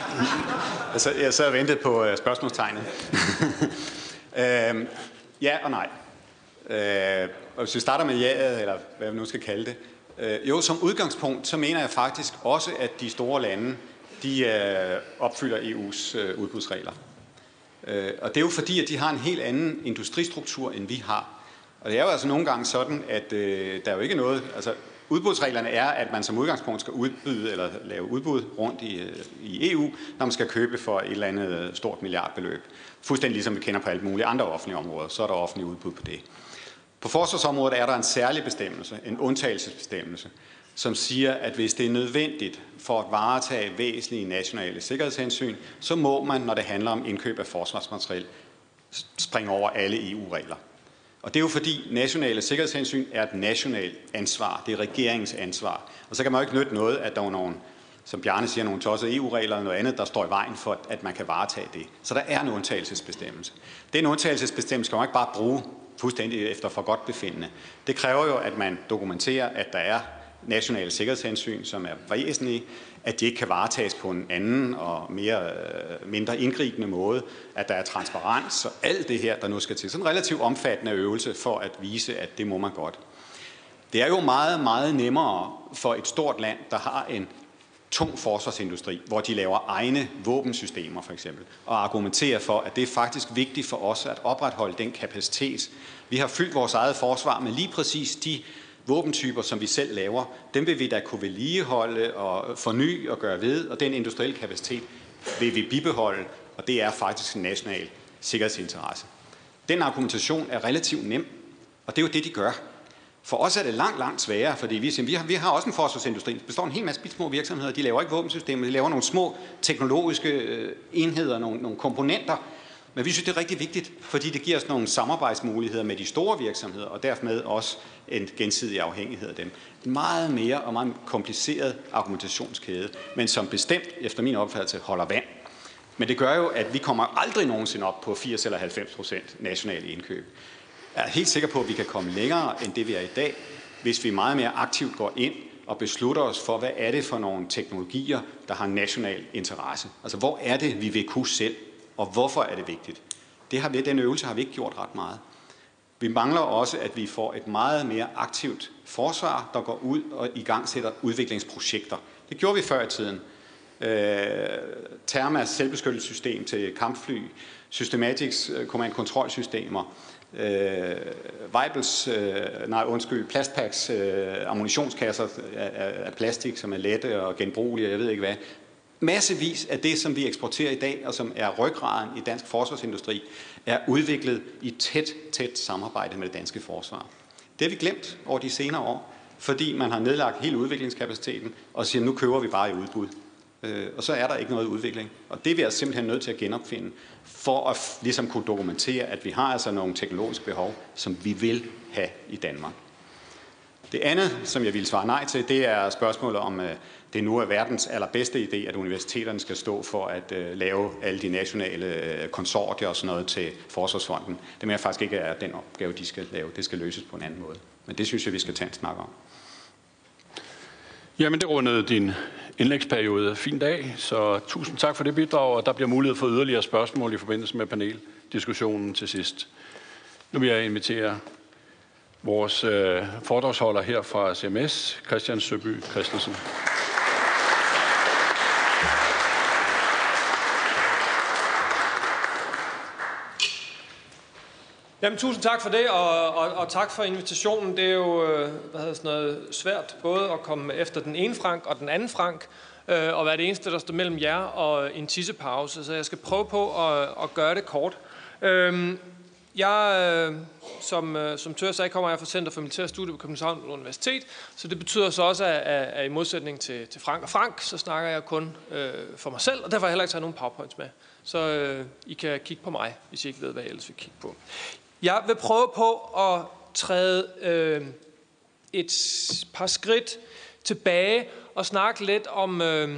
altså, jeg sad og ventede på uh, spørgsmålstegnet. uh, ja og nej. Uh, og hvis vi starter med jaet, eller hvad vi nu skal kalde det, Øh, jo, som udgangspunkt, så mener jeg faktisk også, at de store lande, de øh, opfylder E U's øh, udbudsregler. Øh, og det er jo fordi, at de har en helt anden industristruktur, end vi har. Og det er jo altså nogle gange sådan, at øh, der er jo ikke noget, altså udbudsreglerne er, at man som udgangspunkt skal udbyde eller lave udbud rundt i, i E U, når man skal købe for et eller andet stort milliardbeløb. Fuldstændig ligesom vi kender på alle mulige andre offentlige områder, så er der offentlige udbud på det. På forsvarsområdet er der en særlig bestemmelse, en undtagelsesbestemmelse, som siger, at hvis det er nødvendigt for at varetage væsentlige nationale sikkerhedshensyn, så må man, når det handler om indkøb af forsvarsmateriel, springe over alle E U-regler. Og det er jo fordi nationale sikkerhedshensyn er et nationalt ansvar, det er regeringens ansvar. Og så kan man jo ikke nytte noget, at der er nogle, som Bjarne siger, nogle tossede E U-regler og noget andet, der står i vejen for, at man kan varetage det. Så der er en undtagelsesbestemmelse. Den undtagelsesbestemmelse skal man ikke bare bruge fuldstændig efter for godt befindende. Det kræver jo, at man dokumenterer, at der er nationale sikkerhedshensyn, som er væsentlige, at de ikke kan varetages på en anden og mere, mindre indgribende måde, at der er transparens og alt det her, der nu skal til. Sådan en relativt omfattende øvelse for at vise, at det må man godt. Det er jo meget, meget nemmere for et stort land, der har en tung forsvarsindustri, hvor de laver egne våbensystemer for eksempel, og argumenterer for, at det er faktisk vigtigt for os at opretholde den kapacitet. Vi har fyldt vores eget forsvar med lige præcis de våbentyper, som vi selv laver. Dem vil vi da kunne vedligeholde og forny og gøre ved, og den industrielle kapacitet vil vi bibeholde, og det er faktisk en national sikkerhedsinteresse. Den argumentation er relativt nem, og det er jo det, de gør. For os er det langt, langt sværere, fordi vi, vi, har, vi har også en forsvarsindustri. Det består en hel masse små virksomheder. De laver ikke våbensystemer, de laver nogle små teknologiske enheder, nogle, nogle komponenter. Men vi synes, det er rigtig vigtigt, fordi det giver os nogle samarbejdsmuligheder med de store virksomheder, og dermed også en gensidig afhængighed af dem. En meget mere og meget kompliceret argumentationskæde, men som bestemt, efter min opfattelse, holder vand. Men det gør jo, at vi kommer aldrig nogensinde op på firs eller halvfems procent nationale indkøb. Jeg er helt sikker på, at vi kan komme længere end det, vi er i dag, hvis vi meget mere aktivt går ind og beslutter os for, hvad er det for nogle teknologier, der har national interesse. Altså, hvor er det, vi vil kunne selv, og hvorfor er det vigtigt? Det har vi, den øvelse har vi ikke gjort ret meget. Vi mangler også, at vi får et meget mere aktivt forsvar, der går ud og i gang sætter udviklingsprojekter. Det gjorde vi før i tiden. Øh, Thermas selvbeskyttelsessystem til kampfly, Systematics command-kontrolsystemer, Øh, Weibels, øh, nej undskyld, plastpacks, øh, ammunitionskasser af, af plastik, som er lette og genbrugelige, og jeg ved ikke hvad. Massevis af det, som vi eksporterer i dag, og som er ryggraden i dansk forsvarsindustri, er udviklet i tæt, tæt samarbejde med det danske forsvar. Det har vi glemt over de senere år, fordi man har nedlagt hele udviklingskapaciteten og siger, nu køber vi bare i udbud. Øh, og så er der ikke noget udvikling. Og det er vi altså simpelthen nødt til at genopfinde, for at ligesom kunne dokumentere, at vi har altså nogle teknologiske behov, som vi vil have i Danmark. Det andet, som jeg vil svare nej til, det er spørgsmålet om, øh, det nu er verdens allerbedste idé, at universiteterne skal stå for at øh, lave alle de nationale øh, konsortier og sådan noget til Forsvarsfonden. Det mener jeg faktisk ikke er den opgave, de skal lave. Det skal løses på en anden måde. Men det synes jeg, vi skal tage en snak om. Jamen, det rundede din indlægsperiode fin dag, så tusind tak for det bidrag, og der bliver mulighed for yderligere spørgsmål i forbindelse med paneldiskussionen til sidst. Nu vil jeg invitere vores øh, foredragsholder her fra C M S, Christian Søby Christensen. Jamen, tusind tak for det, og, og, og tak for invitationen. Det er jo øh, hvad hedder sådan noget, svært både at komme efter den ene Frank og den anden Frank, øh, og være det eneste, der står mellem jer og en tissepause. Så jeg skal prøve på at, at gøre det kort. Øh, jeg, øh, som, øh, som Tør sagde, kommer jeg fra Center for Militære Studier på Københavns Universitet, så det betyder så også, at, at, at i modsætning til, til Frank og Frank, så snakker jeg kun øh, for mig selv, og derfor har jeg heller ikke taget nogen powerpoints med. Så øh, I kan kigge på mig, hvis I ikke ved, hvad jeg ellers vil kigge på. Jeg vil prøve på at træde øh, et par skridt tilbage og snakke lidt om, øh,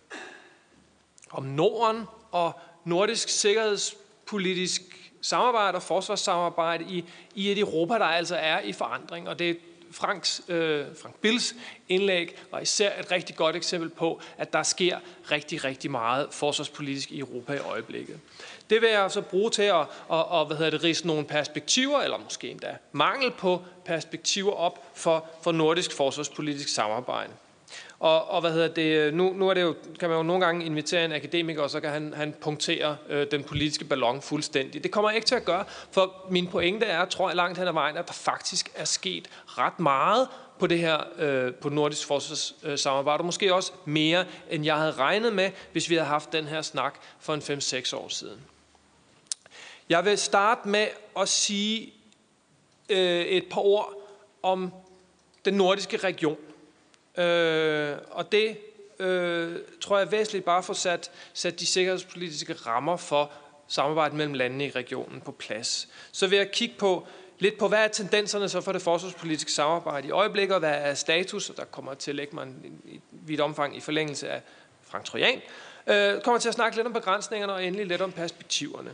om Norden og nordisk sikkerhedspolitisk samarbejde og forsvarssamarbejde i, i et Europa, der altså er i forandring. Og det er Franks, øh, Frank Bills indlæg var især et rigtig godt eksempel på, at der sker rigtig, rigtig meget forsvarspolitisk i Europa i øjeblikket. Det vil jeg så bruge til at, at, at hvad hedder det, ridse nogle perspektiver, eller måske endda mangel på perspektiver op for, for nordisk forsvarspolitisk samarbejde. Og, og hvad hedder det, nu, nu er det jo, kan man jo nogle gange invitere en akademiker, og så kan han, han punktere øh, den politiske ballon fuldstændig. Det kommer jeg ikke til at gøre, for min pointe er, tror jeg langt hen ad vejen, at der faktisk er sket ret meget på det her øh, på nordisk forsvarssamarbejde, og måske også mere, end jeg havde regnet med, hvis vi havde haft den her snak for en fem seks år siden. Jeg vil starte med at sige øh, et par ord om den nordiske region. Øh, og det øh, tror jeg er væsentligt bare for sat, sat de sikkerhedspolitiske rammer for samarbejdet mellem landene i regionen på plads. Så vil jeg kigge på lidt på, hvad er tendenserne så for det forsvarspolitiske samarbejde i øjeblikket, og hvad er status, og der kommer til at lægge mig i vidt omfang i forlængelse af Frank Trojan. Øh, kommer til at snakke lidt om begrænsningerne og endelig lidt om perspektiverne.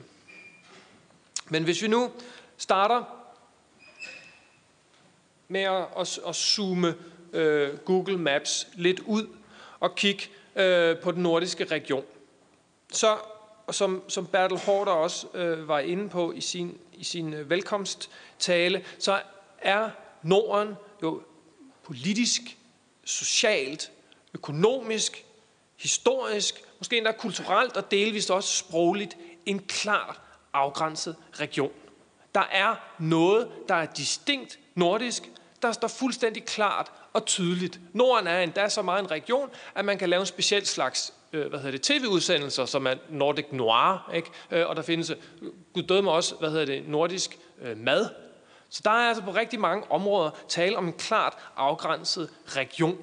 Men hvis vi nu starter med at, at, at zoome øh, Google Maps lidt ud og kigge øh, på den nordiske region, så som, som Bertel Haarder også øh, var inde på i sin, i sin øh, velkomsttale, så er Norden jo politisk, socialt, økonomisk, historisk, måske endda kulturelt og delvist også sprogligt en klar afgrænset region. Der er noget, der er distinkt nordisk, der står fuldstændig klart og tydeligt. Norden er endda så meget en region, at man kan lave en speciel slags øh, hvad hedder det, tv-udsendelser, som er Nordic Noir, ikke? Øh, og der findes, gud døde mig også, hvad hedder det, nordisk øh, mad. Så der er altså på rigtig mange områder tale om en klart afgrænset region.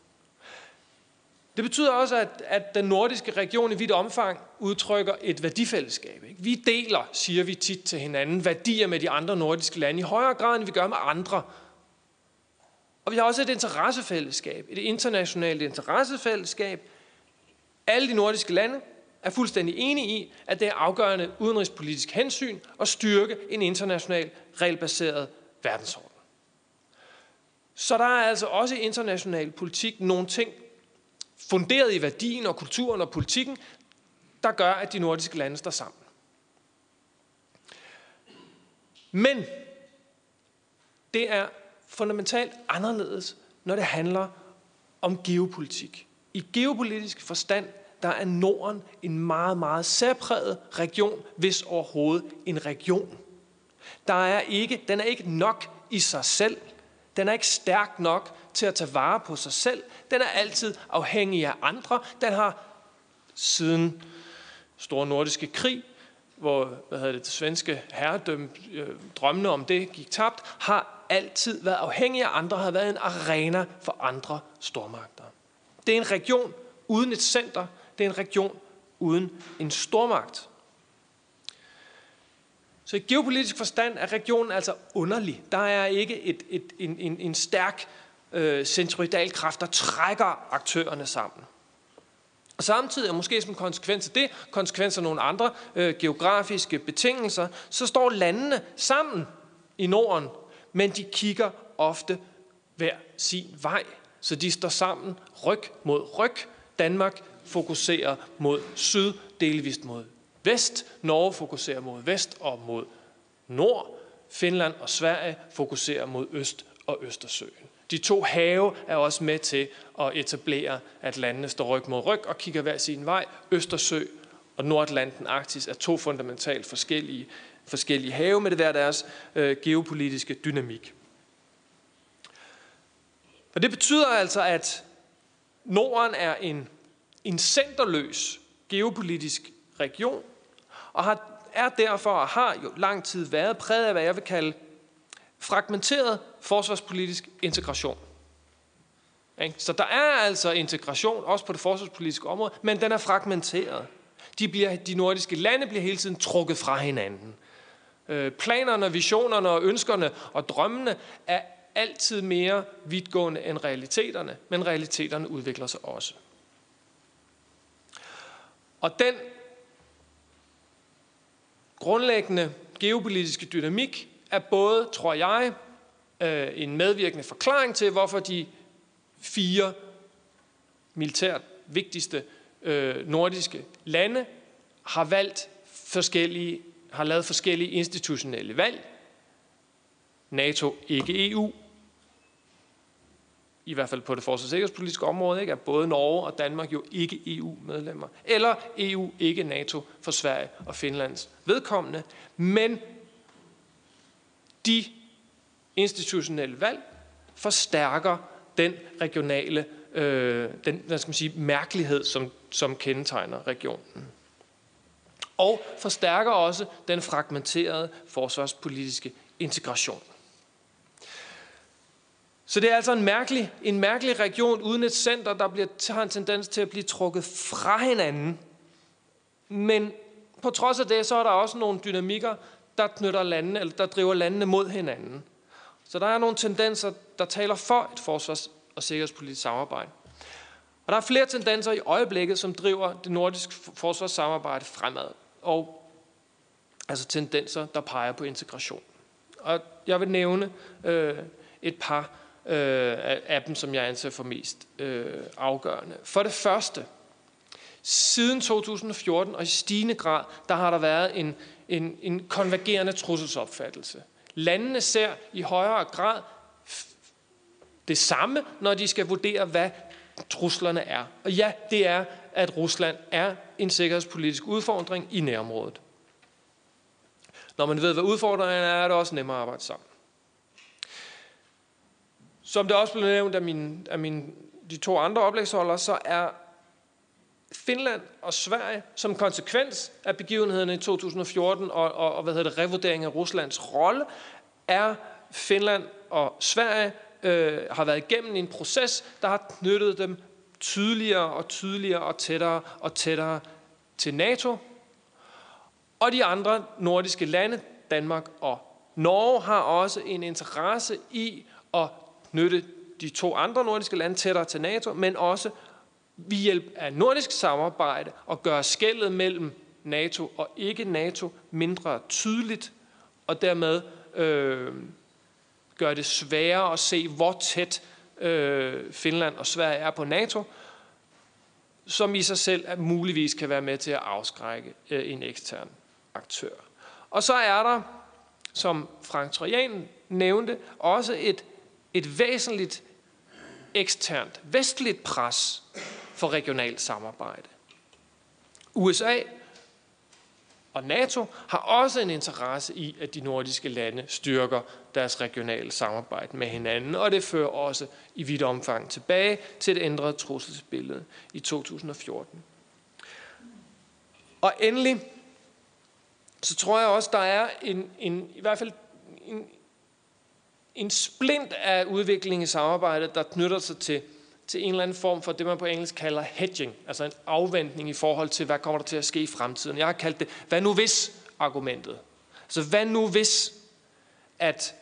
Det betyder også, at, at den nordiske region i vidt omfang udtrykker et værdifællesskab. Ikke? Vi deler, siger vi tit til hinanden, værdier med de andre nordiske lande i højere grad, end vi gør med andre. Og vi har også et interessefællesskab, et internationalt interessefællesskab. Alle de nordiske lande er fuldstændig enige i, at det er afgørende udenrigspolitisk hensyn at styrke en international, regelbaseret verdensorden. Så der er altså også i international politik nogle ting, funderet i værdien og kulturen og politikken, der gør, at de nordiske lande står sammen. Men det er fundamentalt anderledes, når det handler om geopolitik. I geopolitisk forstand, der er Norden en meget, meget særpræget region, hvis overhovedet en region. Der er ikke, den er ikke nok i sig selv. Den er ikke stærk nok til at tage vare på sig selv. Den er altid afhængig af andre. Den har siden Store Nordiske Krig, hvor hvad hedder det, det svenske herredømme, øh, drømmene om det gik tabt, har altid været afhængig af andre, har været en arena for andre stormagter. Det er en region uden et center. Det er en region uden en stormagt. Så i geopolitisk forstand er regionen altså underlig. Der er ikke et, et, en, en, en stærk øh, centroidal kraft, der trækker aktørerne sammen. Og samtidig, og måske som konsekvens af det, konsekvens af nogle andre øh, geografiske betingelser, så står landene sammen i Norden, men de kigger ofte hver sin vej. Så de står sammen ryg mod ryg. Danmark fokuserer mod syd, delvist mod vest. Norge fokuserer mod vest og mod nord. Finland og Sverige fokuserer mod øst og Østersøen. De to have er også med til at etablere, at landene står ryg mod ryg og kigger hver sin vej. Østersø og Nordatlanten, Arktis er to fundamentalt forskellige, forskellige have med det hver deres øh, geopolitiske dynamik. Og det betyder altså, at Norden er en, en centerløs geopolitisk region, og har, er derfor og har jo lang tid været præget af, hvad jeg vil kalde fragmenteret forsvarspolitisk integration. Så der er altså integration, også på det forsvarspolitiske område, men den er fragmenteret. De, bliver, de nordiske lande bliver hele tiden trukket fra hinanden. Planerne, visionerne og ønskerne og drømmene er altid mere vidtgående end realiteterne, men realiteterne udvikler sig også. Og den grundlæggende geopolitiske dynamik er både, tror jeg, en medvirkende forklaring til, hvorfor de fire militært vigtigste nordiske lande har valgt forskellige, har lavet forskellige institutionelle valg. NATO, ikke E U. I hvert fald på det forsvars- og sikkerhedspolitiske område, ikke? Er både Norge og Danmark jo ikke E U-medlemmer. Eller E U, ikke NATO for Sverige og Finlands vedkommende. Men de institutionelle valg forstærker den regionale, øh, den hvad skal man sige, mærkelighed, som, som kendetegner regionen. Og forstærker også den fragmenterede forsvarspolitiske integration. Så det er altså en mærkelig, en mærkelig region uden et center, der bliver, har en tendens til at blive trukket fra hinanden. Men på trods af det, så er der også nogle dynamikker, der knytter landene, eller der driver landene mod hinanden. Så der er nogle tendenser, der taler for et forsvars- og sikkerhedspolitisk samarbejde. Og der er flere tendenser i øjeblikket, som driver det nordiske forsvarssamarbejde fremad. Og altså tendenser, der peger på integration. Og jeg vil nævne øh, et par øh, af dem, som jeg anser for mest øh, afgørende. For det første, siden to tusind og fjorten og i stigende grad, der har der været en, en, en konvergerende trusselsopfattelse. Landene ser i højere grad det samme, når de skal vurdere, hvad truslerne er. Og ja, det er, at Rusland er en sikkerhedspolitisk udfordring i nærområdet. Når man ved, hvad udfordringen er, er det også nemmere at arbejde sammen. Som det også blev nævnt af, mine, af mine, de to andre oplægsholdere, så er Finland og Sverige som konsekvens af begivenhederne i to tusind og fjorten og, og, og hvad hedder det, revurdering af Ruslands rolle, er Finland og Sverige øh, har været igennem en proces, der har knyttet dem tydeligere og tydeligere og tættere og tættere til NATO. Og de andre nordiske lande, Danmark og Norge, har også en interesse i at knytte de to andre nordiske lande tættere til NATO, men også ved hjælp af nordisk samarbejde og gøre skellet mellem NATO og ikke NATO mindre tydeligt, og dermed øh, gøre det sværere at se, hvor tæt øh, Finland og Sverige er på NATO, som i sig selv at muligvis kan være med til at afskrække øh, en ekstern aktør. Og så er der, som Frank Trojan nævnte, også et, et væsentligt eksternt vestligt pres for regionalt samarbejde. U S A og NATO har også en interesse i, at de nordiske lande styrker deres regionale samarbejde med hinanden, og det fører også i vidt omfang tilbage til et ændret trusselsbillede i to tusind og fjorten. Og endelig, så tror jeg også, der er en, en i hvert fald en, en splint af udvikling i samarbejdet, der knytter sig til, til en eller anden form for det, man på engelsk kalder hedging, altså en afventning i forhold til, hvad kommer der til at ske i fremtiden. Jeg har kaldt det, hvad nu hvis argumentet. Altså, hvad nu hvis, at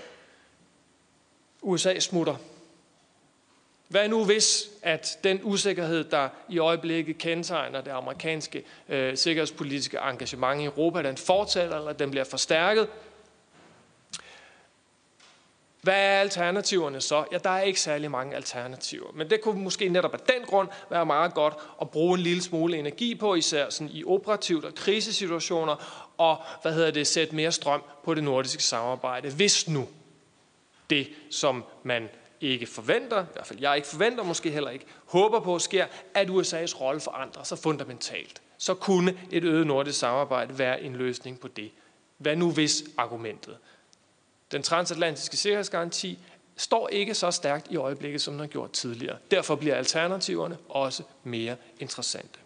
U S A smutter? Hvad nu hvis, at den usikkerhed, der i øjeblikket kendetegner det amerikanske øh, sikkerhedspolitiske engagement i Europa, den fortsætter, eller den bliver forstærket? Hvad er alternativerne så? Ja, der er ikke særlig mange alternativer. Men det kunne måske netop af den grund være meget godt at bruge en lille smule energi på, især sådan i operativt og krisesituationer, og hvad hedder det, sætte mere strøm på det nordiske samarbejde. Hvis nu det, som man ikke forventer, i hvert fald jeg ikke forventer, måske heller ikke håber på, sker, at U S A's rolle forandrer sig fundamentalt. Så kunne et øget nordisk samarbejde være en løsning på det. Hvad nu hvis argumentet? Den transatlantiske sikkerhedsgaranti står ikke så stærkt i øjeblikket, som den har gjort tidligere. Derfor bliver alternativerne også mere interessante.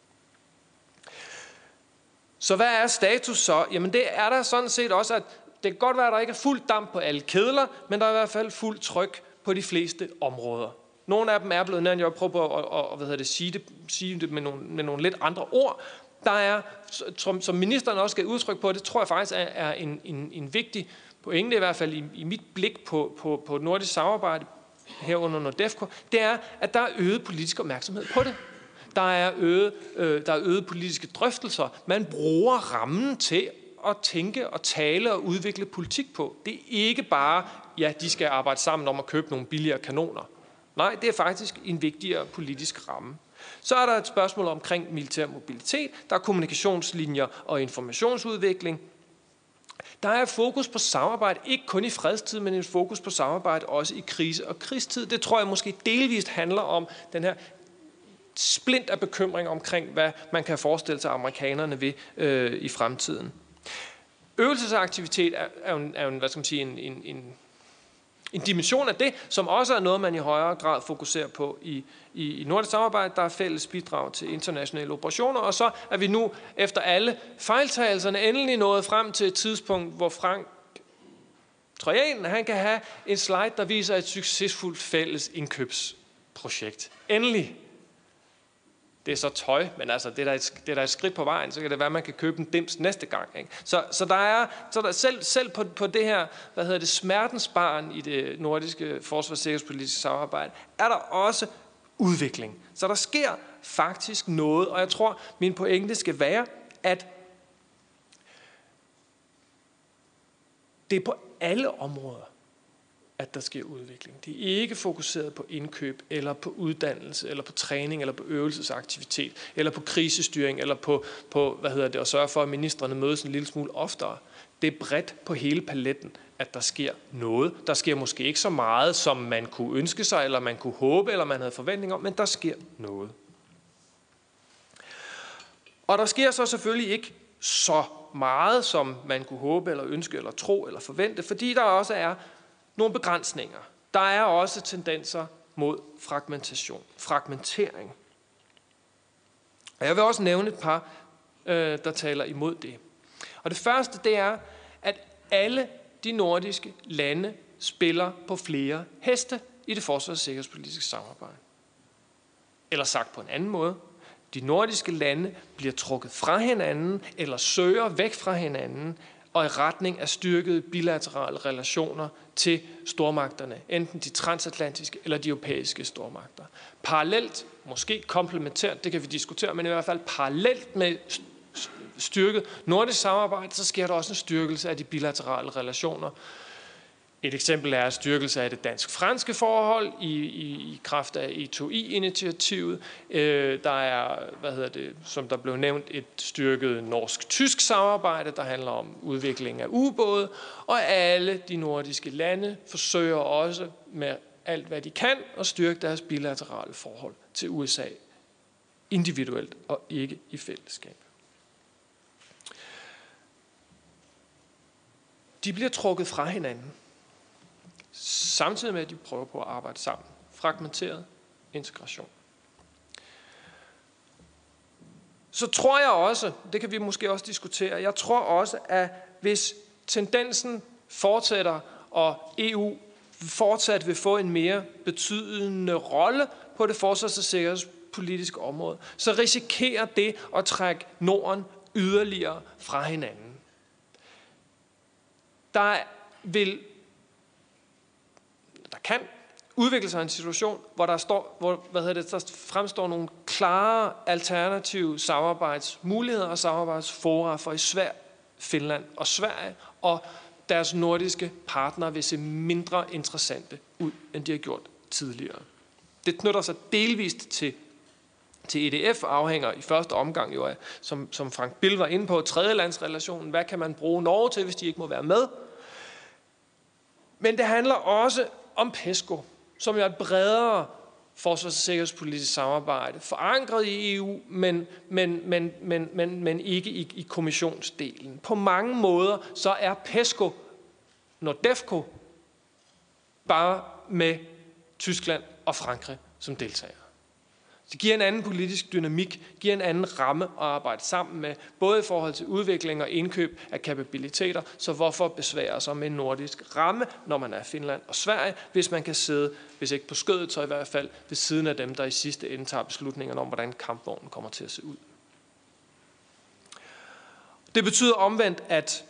Så hvad er status så? Jamen det er der sådan set også, at det kan godt være, at der ikke er fuld damp på alle kedler, men der er i hvert fald fuld tryk på de fleste områder. Nogle af dem er blevet nævnt, jeg vil prøve på at, at, at hvad hedder det, sige, det, sige det med nogle, med nogle lidt andre ord. Der er, som, som ministeren også gav udtryk på, det tror jeg faktisk er, er en, en, en vigtig pointe, i hvert fald i, i mit blik på, på, på nordisk samarbejde herunder NORDEFCO, det er, at der er øget politisk opmærksomhed på det. Der er øget, øh, der er øget politiske drøftelser. Man bruger rammen til at tænke og tale og udvikle politik på. Det er ikke bare, ja, de skal arbejde sammen om at købe nogle billigere kanoner. Nej, det er faktisk en vigtigere politisk ramme. Så er der et spørgsmål omkring militær mobilitet. Der er kommunikationslinjer og informationsudvikling. Der er fokus på samarbejde, ikke kun i fredstid, men en fokus på samarbejde også i krise- og krigstid. Det tror jeg måske delvist handler om den her splint af bekymring omkring, hvad man kan forestille sig amerikanerne ved øh, i fremtiden. Øvelsesaktivitet er, er, jo, er jo, hvad skal man sige, en, en, en, en dimension af det, som også er noget, man i højere grad fokuserer på i, i, i nordisk samarbejde. Der er fælles bidrag til internationale operationer, og så er vi nu efter alle fejltagelserne endelig nået frem til et tidspunkt, hvor Frank Trojan, han kan have en slide, der viser et succesfuldt fælles indkøbsprojekt. Endelig. Det er så tøj, men altså, det er der et, det er der et skridt på vejen, så kan det være, at man kan købe en dims næste gang. Ikke? Så, så der er, så der selv, selv på, på det her, hvad hedder det, smertensbarn i det nordiske forsvars- og sikkerhedspolitiske samarbejde, er der også udvikling. Så der sker faktisk noget, og jeg tror, min pointe skal være, at det er på alle områder, at der sker udvikling. Det er ikke fokuseret på indkøb, eller på uddannelse, eller på træning, eller på øvelsesaktivitet, eller på krisestyring, eller på, på hvad hedder det, at sørge for, at ministrene mødes en lille smule oftere. Det er bredt på hele paletten, at der sker noget. Der sker måske ikke så meget, som man kunne ønske sig, eller man kunne håbe, eller man havde forventning om, men der sker noget. Og der sker så selvfølgelig ikke så meget, som man kunne håbe, eller ønske, eller tro, eller forvente, fordi der også er nogle begrænsninger. Der er også tendenser mod fragmentation, fragmentering. Og jeg vil også nævne et par, øh, der taler imod det. Og det første, det er, at alle de nordiske lande spiller på flere heste i det forsvars- og sikkerhedspolitiske samarbejde. Eller sagt på en anden måde, de nordiske lande bliver trukket fra hinanden, eller søger væk fra hinanden, og i retning af styrkede bilaterale relationer til stormagterne, enten de transatlantiske eller de europæiske stormagter. Parallelt, måske komplementært, det kan vi diskutere, men i hvert fald parallelt med styrket nordisk samarbejde, så sker der også en styrkelse af de bilaterale relationer. Et eksempel er styrkelse af det dansk-franske forhold i, i, i kraft af E to I-initiativet. Øh, der er, hvad hedder det, som der blev nævnt, et styrket norsk-tysk samarbejde, der handler om udvikling af ubåde. Og alle de nordiske lande forsøger også med alt, hvad de kan, at styrke deres bilaterale forhold til U S A individuelt og ikke i fællesskab. de bliver trukket fra hinanden, samtidig med, at de prøver på at arbejde sammen. Fragmenteret integration. Så tror jeg også, det kan vi måske også diskutere, jeg tror også, at hvis tendensen fortsætter, og E U fortsat vil få en mere betydende rolle på det forsvars- og sikkerhedspolitiske område, så risikerer det at trække Norden yderligere fra hinanden. Der vil, der kan udvikle sig en situation, hvor der står, hvor, hvad hedder det, der fremstår nogle klare alternative samarbejdsmuligheder og samarbejdsfora for især Finland og Sverige, og deres nordiske partnere vil se mindre interessante ud, end de har gjort tidligere. Det knytter sig delvist til, til E D F, afhænger i første omgang jo af, som, som Frank Bill var inde på, tredjelandsrelationen. Hvad kan man bruge Norge til, hvis de ikke må være med? Men det handler også om PESCO, som er et bredere forsvars- og sikkerhedspolitisk samarbejde, forankret i E U, men, men, men, men, men, men ikke i, i kommissionsdelen. På mange måder så er PESCO, NORDEFCO, bare med Tyskland og Frankrig som deltagere. Det giver en anden politisk dynamik, giver en anden ramme at arbejde sammen med, både i forhold til udvikling og indkøb af kapabiliteter, så hvorfor besvære sig med en nordisk ramme, når man er Finland og Sverige, hvis man kan sidde, hvis ikke på skødet, så i hvert fald ved siden af dem, der i sidste ende tager beslutningerne om, hvordan kampvognen kommer til at se ud. Det betyder omvendt, at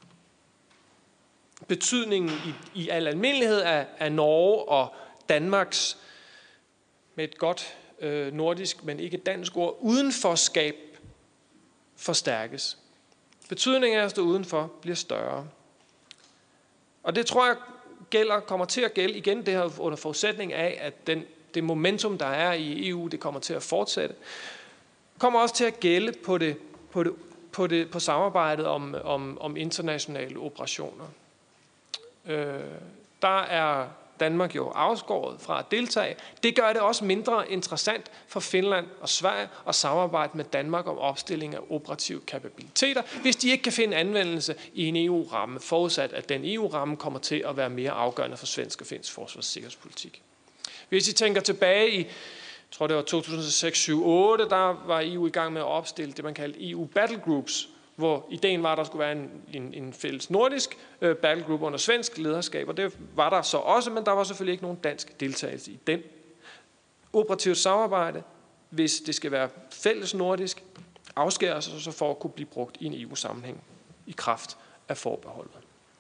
betydningen i, i al almindelighed af, af Norge og Danmarks, med et godt øh, nordisk, men ikke dansk ord, udenforskab forstærkes. Betydningen af at stå udenfor bliver større. Og det tror jeg gælder, kommer til at gælde igen det her under forudsætning af, at den, det momentum, der er i E U, det kommer til at fortsætte. Kommer også til at gælde på, det, på, det, på, det, på samarbejdet om, om, om internationale operationer. Øh, der er Danmark jo afskåret fra at deltage. Det gør det også mindre interessant for Finland og Sverige at samarbejde med Danmark om opstilling af operative kapabiliteter, hvis de ikke kan finde anvendelse i en E U-ramme, forudsat at den E U-ramme kommer til at være mere afgørende for svensk og finsk forsvars- og sikkerhedspolitik. Hvis I tænker tilbage i, jeg tror det var to tusind og seks, syv, otte, der var E U i gang med at opstille det, man kaldte E U Battle Groups, hvor ideen var, at der skulle være en, en, en fælles nordisk øh, battlegroup under svensk lederskab, og det var der så også, men der var selvfølgelig ikke nogen dansk deltagelse i den. Operativt samarbejde, hvis det skal være fælles nordisk, afskæres så for at kunne blive brugt i en E U-sammenhæng i kraft af forbeholdet.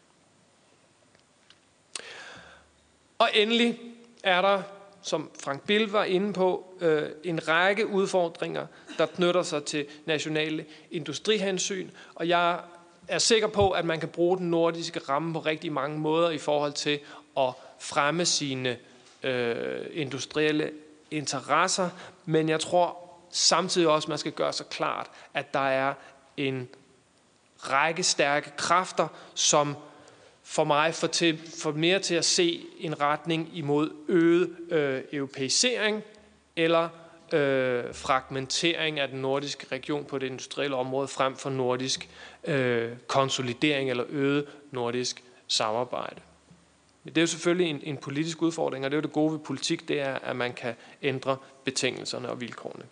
Og endelig er der, som Frank Bill var inde på, øh, en række udfordringer, der knytter sig til nationale industrihensyn, og jeg er sikker på, at man kan bruge den nordiske ramme på rigtig mange måder i forhold til at fremme sine øh, industrielle interesser, men jeg tror samtidig også, at man skal gøre sig klart, at der er en række stærke kræfter, som for mig får, til, får mere til at se en retning imod øget øh, europæisering eller øh, fragmentering af den nordiske region på det industrielle område frem for nordisk øh, konsolidering eller øget nordisk samarbejde. Men det er jo selvfølgelig en, en politisk udfordring, og det er jo det gode ved politik, det er, at man kan ændre betingelserne og vilkårene.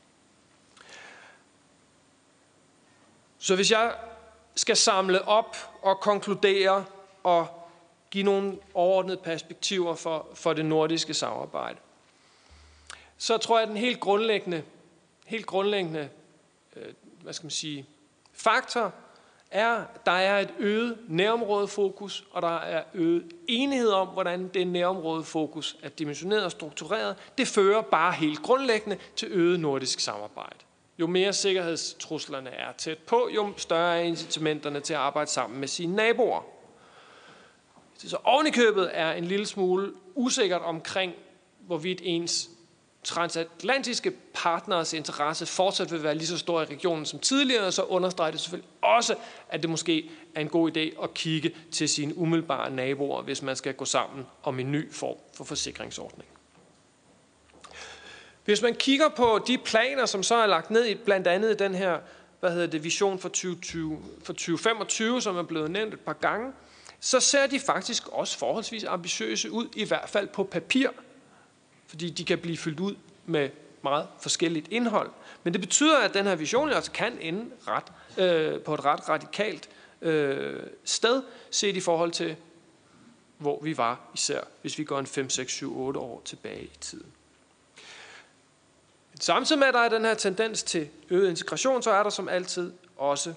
Så hvis jeg skal samle op og konkludere og give nogle overordnede perspektiver for, for det nordiske samarbejde, så tror jeg, at den helt grundlæggende, helt grundlæggende øh, hvad skal man sige, faktor er, at der er et øget nærområdefokus, og der er øget enighed om, hvordan det nærområdefokus er dimensioneret og struktureret. Det fører bare helt grundlæggende til øget nordisk samarbejde. Jo mere sikkerhedstruslerne er tæt på, jo større er incitamenterne til at arbejde sammen med sine naboer. Så ovenikøbet er en lille smule usikkert omkring, hvorvidt ens transatlantiske partners interesse fortsat vil være lige så stor i regionen som tidligere, så understreger det selvfølgelig også, at det måske er en god idé at kigge til sine umiddelbare naboer, hvis man skal gå sammen om en ny form for forsikringsordning. Hvis man kigger på de planer, som så er lagt ned i blandt andet den her hvad hedder det, vision for, tyve tyve, for tyve femogtyve, som er blevet nævnt et par gange, så ser de faktisk også forholdsvis ambitiøse ud, i hvert fald på papir, fordi de kan blive fyldt ud med meget forskelligt indhold. Men det betyder, at den her vision altså kan ende ret, øh, på et ret radikalt øh, sted, set i forhold til, hvor vi var, især hvis vi går en fem, seks, syv, otte år tilbage i tiden. Samtidig med, at der er den her tendens til øget integration, så er der som altid også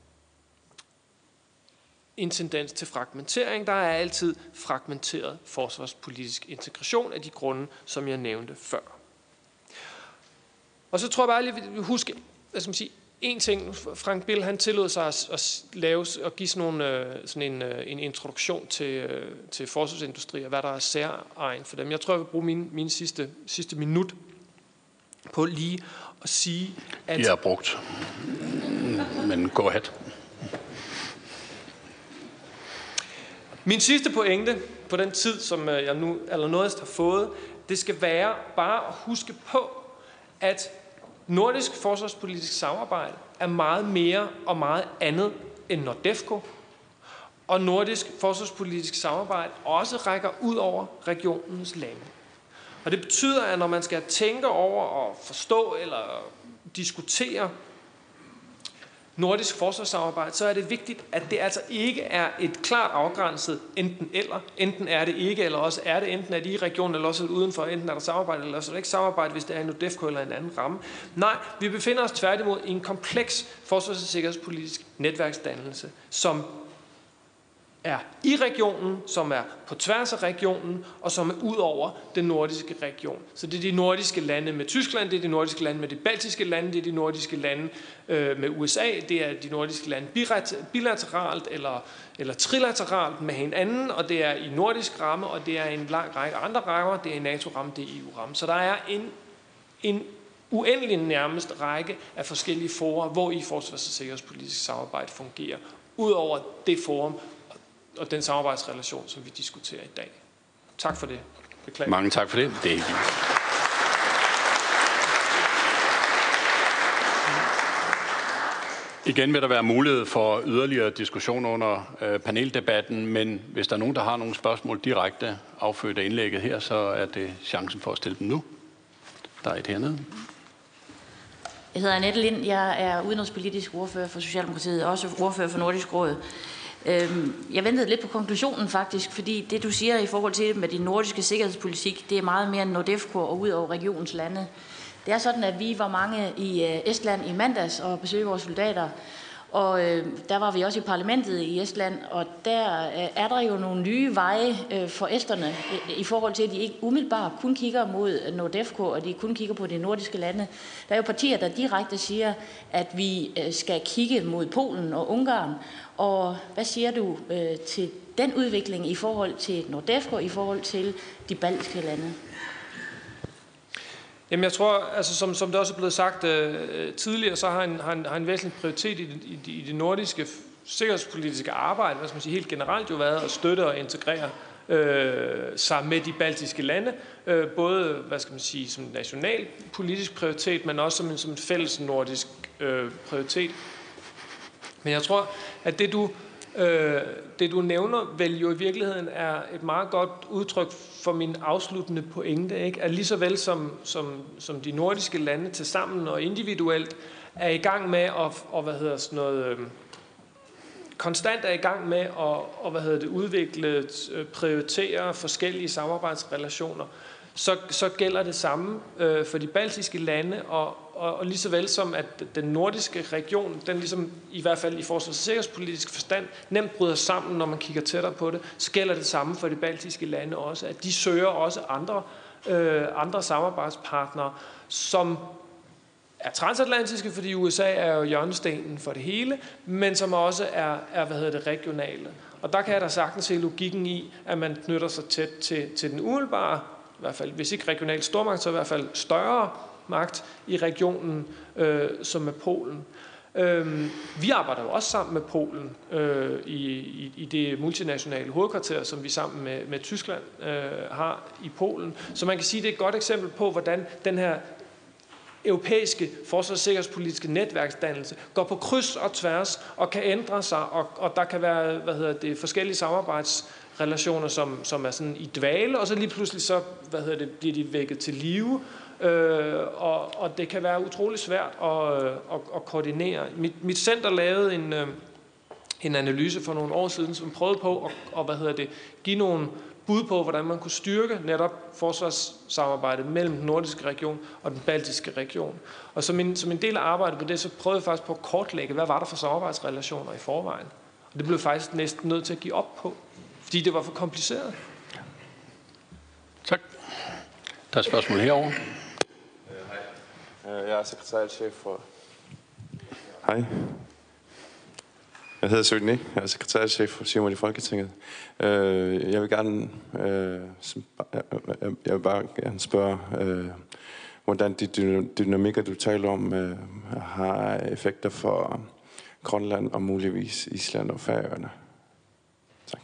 en tendens til fragmentering. Der er altid fragmenteret forsvarspolitisk integration af de grunde, som jeg nævnte før. Og så tror jeg bare lige, at vi husker, hvad skal man sige, en ting. Frank Bill, han tillod sig at, at lave og give sådan, nogle, sådan en, en introduktion til, til forsvarsindustri, og hvad der er særegen for dem. Jeg tror, jeg vil bruge min, min sidste, sidste minut på lige at sige, at... Jeg har brugt, men go ahead. Min sidste pointe på den tid, som jeg nu allernådigst har fået, det skal være bare at huske på, at nordisk forsvarspolitisk samarbejde er meget mere og meget andet end NORDEFCO. Og nordisk forsvarspolitisk samarbejde også rækker ud over regionens lande. Og det betyder, at når man skal tænke over og forstå eller diskutere nordisk forsvarssamarbejde, så er det vigtigt, at det altså ikke er et klart afgrænset enten eller. Enten er det ikke, eller også er det enten er det i regionen, eller også er det udenfor. Enten er der samarbejde, eller også er der ikke samarbejde, hvis det er en NORDEFCO eller en anden ramme. Nej, vi befinder os tværtimod i en kompleks forsvars- og sikkerhedspolitisk netværksdannelse, som er i regionen, som er på tværs af regionen, og som er ud over den nordiske region. Så det er de nordiske lande med Tyskland, det er de nordiske lande med de baltiske lande, det er de nordiske lande øh, med U S A, det er de nordiske lande bilateralt eller, eller trilateralt med hinanden, og det er i nordisk ramme, og det er en lang række andre rammer, det er en NATO-ramme, det er E U-ramme. Så der er en, en uendelig nærmest række af forskellige forer, hvor i forsvars- og sikkerhedspolitisk samarbejde fungerer, ud over det forum, og den samarbejdsrelation, som vi diskuterer i dag. Tak for det. Beklager. Mange tak for det. Det er Igen vil der være mulighed for yderligere diskussion under øh, paneldebatten, men hvis der er nogen, der har nogle spørgsmål direkte affødt af indlægget her, så er det chancen for at stille dem nu. Der er et hernede. Jeg hedder Annette Lind. Jeg er udenrigspolitisk ordfører for Socialdemokratiet, og også ordfører for Nordisk Råd. Jeg ventede lidt på konklusionen faktisk, fordi det du siger i forhold til med din nordiske sikkerhedspolitik, det er meget mere end NORDEFCO og ud over regionens lande. Det er sådan, at vi var mange i Estland i mandags og besøgte vores soldater, og der var vi også i parlamentet i Estland, og der er der jo nogle nye veje for esterne i forhold til, at de ikke umiddelbart kun kigger mod NORDEFCO, og de kun kigger på de nordiske lande. Der er jo partier, der direkte siger, at vi skal kigge mod Polen og Ungarn. Og hvad siger du øh, til den udvikling i forhold til NORDEFCO, i forhold til de baltiske lande? Jamen jeg tror, altså som, som det også er blevet sagt øh, tidligere, så har en, har, en, har en væsentlig prioritet i det, i, i det nordiske sikkerhedspolitiske arbejde, hvad skal man sige, helt generelt jo været at støtte og integrere øh, sig med de baltiske lande, øh, både hvad skal man sige, som national politisk prioritet, men også som en, som en fælles nordisk øh, prioritet. Men jeg tror, at det du, øh, det du nævner, vel jo i virkeligheden er et meget godt udtryk for min afsluttende pointe, ikke? At lige så vel som, som, som de nordiske lande til sammen og individuelt er i gang med at, og, hvad hedder sådan noget, øh, konstant er i gang med at og, hvad hedder det, udvikle, prioritere forskellige samarbejdsrelationer, så, så gælder det samme øh, for de baltiske lande, og, og, og lige så vel som at den nordiske region, den ligesom i hvert fald i forsvars- og sikkerhedspolitisk forstand, nemt bryder sammen, når man kigger tættere på det, så gælder det samme for de baltiske lande også, at de søger også andre, øh, andre samarbejdspartnere, som er transatlantiske, fordi U S A er jo hjørnestenen for det hele, men som også er, er hvad hedder det, regionale. Og der kan jeg da sagtens se logikken i, at man knytter sig tæt til, til den umiddelbare, i hvert fald, hvis ikke regional stormagt, så i hvert fald større magt i regionen, øh, som er Polen. Øh, vi arbejder jo også sammen med Polen øh, i, i, i det multinationale hovedkvarter, som vi sammen med, med Tyskland øh, har i Polen. Så man kan sige, at det er et godt eksempel på, hvordan den her europæiske forsvars- og sikkerhedspolitiske netværksdannelse går på kryds og tværs og kan ændre sig, og, og der kan være hvad hedder det, forskellige samarbejdsrelationer, som, som er sådan i dvale, og så lige pludselig så hvad hedder det, bliver de vækket til live, øh, og, og det kan være utrolig svært at, at, at koordinere. Mit, mit center lavede en, en analyse for nogle år siden, som prøvede på at og, hvad hedder det, give nogle bud på, hvordan man kunne styrke netop forsvarssamarbejdet mellem den nordiske region og den baltiske region. Og som en, som en del af arbejdet på det, så prøvede jeg faktisk på at kortlægge, hvad var der for samarbejdsrelationer i forvejen. Og det blev faktisk næsten nødt til at give op på, fordi det var for kompliceret. Tak. Der er et spørgsmål herovre. Hej. Jeg er sekretariatschef for... Hej. Jeg hedder Søgni. Jeg er sekretariatschef for Simon i Folketinget. Jeg vil gerne, jeg vil bare gerne spørge, hvordan de dynamikker, du taler om, har effekter for Grønland og muligvis Island og Færøerne. Tak.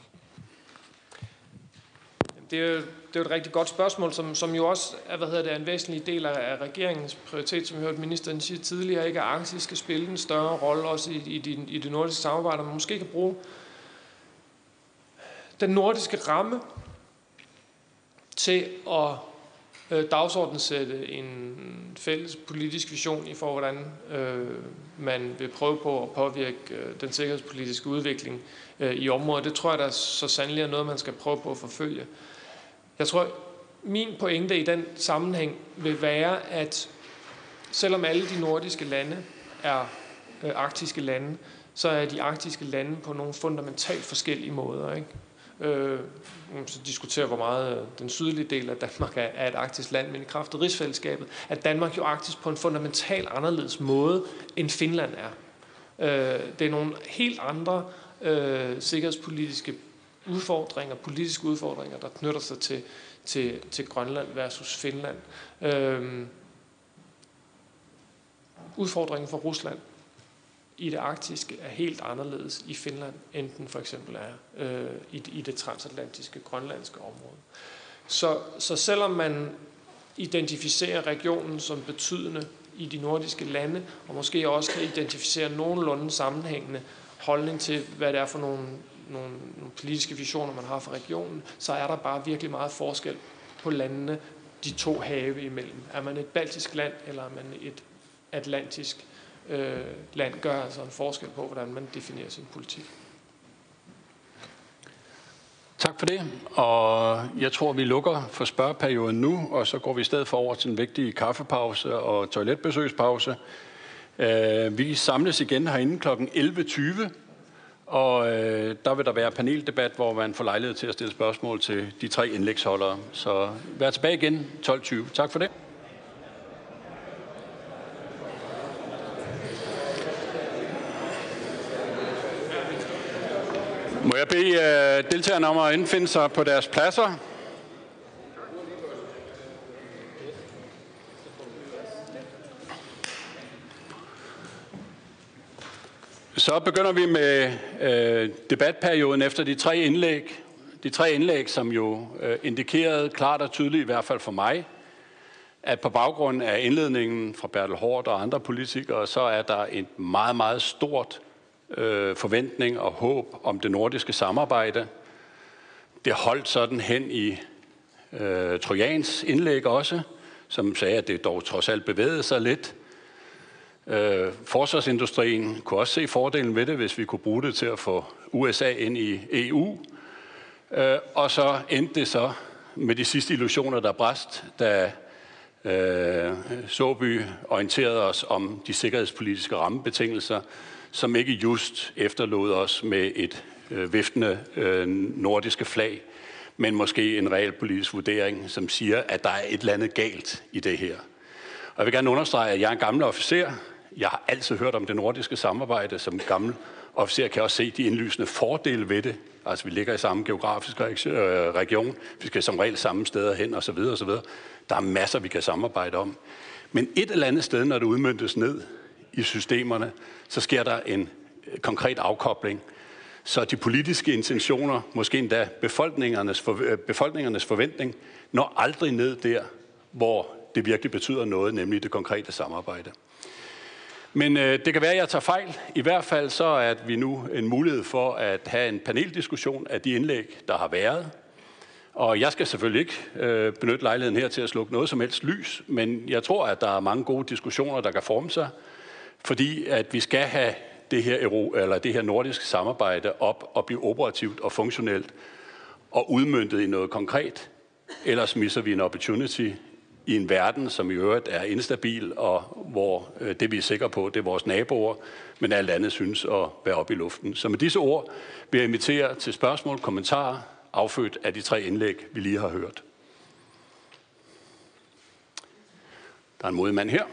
Det er jo, det er jo et rigtig godt spørgsmål, som, som jo også er, hvad hedder det, en væsentlig del af, af regeringens prioritet, som vi hørte ministeren sige tidligere, ikke, at Arktis skal spille en større rolle også i, i, de, i det nordiske samarbejde, og man måske kan bruge den nordiske ramme til at øh, dagsordensætte en fælles politisk vision i for, hvordan øh, man vil prøve på at påvirke øh, den sikkerhedspolitiske udvikling øh, i området. Det tror jeg, der så sandelig er noget, man skal prøve på at forfølge. Jeg tror, min pointe i den sammenhæng vil være, at selvom alle de nordiske lande er øh, arktiske lande, så er de arktiske lande på nogle fundamentalt forskellige måder, ikke? Øh, så diskuterer, hvor meget den sydlige del af Danmark er, er et arktisk land, men i kraft af rigsfællesskabet er Danmark jo arktisk på en fundamentalt anderledes måde, end Finland er. Øh, det er nogle helt andre øh, sikkerhedspolitiske udfordringer, politiske udfordringer, der knytter sig til, til, til Grønland versus Finland. Øh, udfordringen for Rusland i det arktiske er helt anderledes i Finland, end den for eksempel er øh, i, i det transatlantiske grønlandske område. Så, så selvom man identificerer regionen som betydende i de nordiske lande, og måske også kan identificere nogenlunde sammenhængende holdning til, hvad det er for nogle, nogle, nogle politiske visioner, man har for regionen, så er der bare virkelig meget forskel på landene, de to have imellem. Er man et baltisk land, eller er man et atlantisk øh, land, gør altså en forskel på, hvordan man definerer sin politik. Tak for det, og jeg tror, vi lukker for spørgeperioden nu, og så går vi i stedet for over til en vigtig kaffepause og toiletbesøgspause. Vi samles igen herinde klokken elleve tyve, og der vil der være paneldebat, hvor man får lejlighed til at stille spørgsmål til de tre indlægsholdere. Så vær tilbage igen tolv tyve. Tak for det. Må jeg bede uh, deltagerne om at indfinde sig på deres pladser? Så begynder vi med uh, debatperioden efter de tre indlæg. De tre indlæg, som jo uh, indikerede klart og tydeligt, i hvert fald for mig, at på baggrund af indledningen fra Bertel Haarder og andre politikere, så er der et meget, meget stort forventning og håb om det nordiske samarbejde. Det holdt sådan hen i øh, Trojans indlæg også, som sagde, at det dog trods alt bevægede sig lidt. Øh, forsvarsindustrien kunne også se fordelen ved det, hvis vi kunne bruge det til at få U S A ind i E U. Øh, og så endte det så med de sidste illusioner, der brast, da øh, Såby orienterede os om de sikkerhedspolitiske rammebetingelser, som ikke just efterlod os med et øh, viftende øh, nordiske flag, men måske en realpolitisk vurdering, som siger, at der er et eller andet galt i det her. Og jeg vil gerne understrege, at jeg er en gammel officer. Jeg har altid hørt om det nordiske samarbejde. Som gammel officer kan jeg også se de indlysende fordele ved det. Altså, vi ligger i samme geografiske region. Vi skal som regel samme steder hen, osv. osv. Der er masser, vi kan samarbejde om. Men et eller andet sted, når det udmøntes ned i systemerne, så sker der en konkret afkobling. Så de politiske intentioner, måske endda befolkningernes, for, befolkningernes forventning, når aldrig ned der, hvor det virkelig betyder noget, nemlig det konkrete samarbejde. Men øh, det kan være, at jeg tager fejl. I hvert fald så er at vi nu en mulighed for at have en paneldiskussion af de indlæg, der har været. Og jeg skal selvfølgelig ikke øh, benytte lejligheden her til at slukke noget som helst lys, men jeg tror, at der er mange gode diskussioner, der kan forme sig, fordi at vi skal have det her, euro, eller det her nordiske samarbejde op og blive operativt og funktionelt og udmøntet i noget konkret. Ellers misser vi en opportunity i en verden, som i øvrigt er instabil, og hvor øh, det vi er sikre på, det er vores naboer, men alt andet synes at være oppe i luften. Så med disse ord vil jeg invitere til spørgsmål, kommentarer, affødt af de tre indlæg, vi lige har hørt. Der er en modig mand her.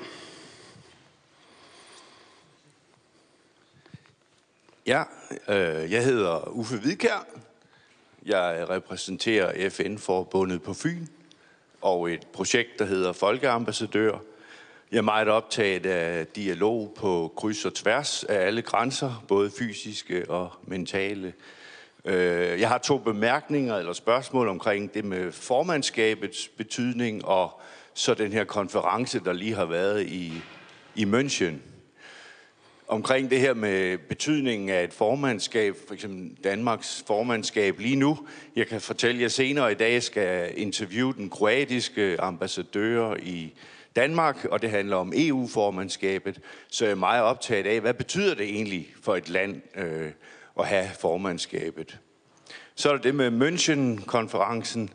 Ja, øh, jeg hedder Uffe Hvidkjær. Jeg repræsenterer F N-forbundet på Fyn og et projekt, der hedder Folkeambassadør. Jeg er meget optaget af dialog på kryds og tværs af alle grænser, både fysiske og mentale. Jeg har to bemærkninger eller spørgsmål omkring det med formandskabets betydning og så den her konference, der lige har været i, i München. Omkring det her med betydningen af et formandskab, for eksempel Danmarks formandskab lige nu. Jeg kan fortælle jer senere i dag, skal interviewe den kroatiske ambassadør i Danmark, og det handler om E U-formandskabet. Så jeg er meget optaget af, hvad betyder det egentlig for et land øh, at have formandskabet. Så er der det med München-konferencen.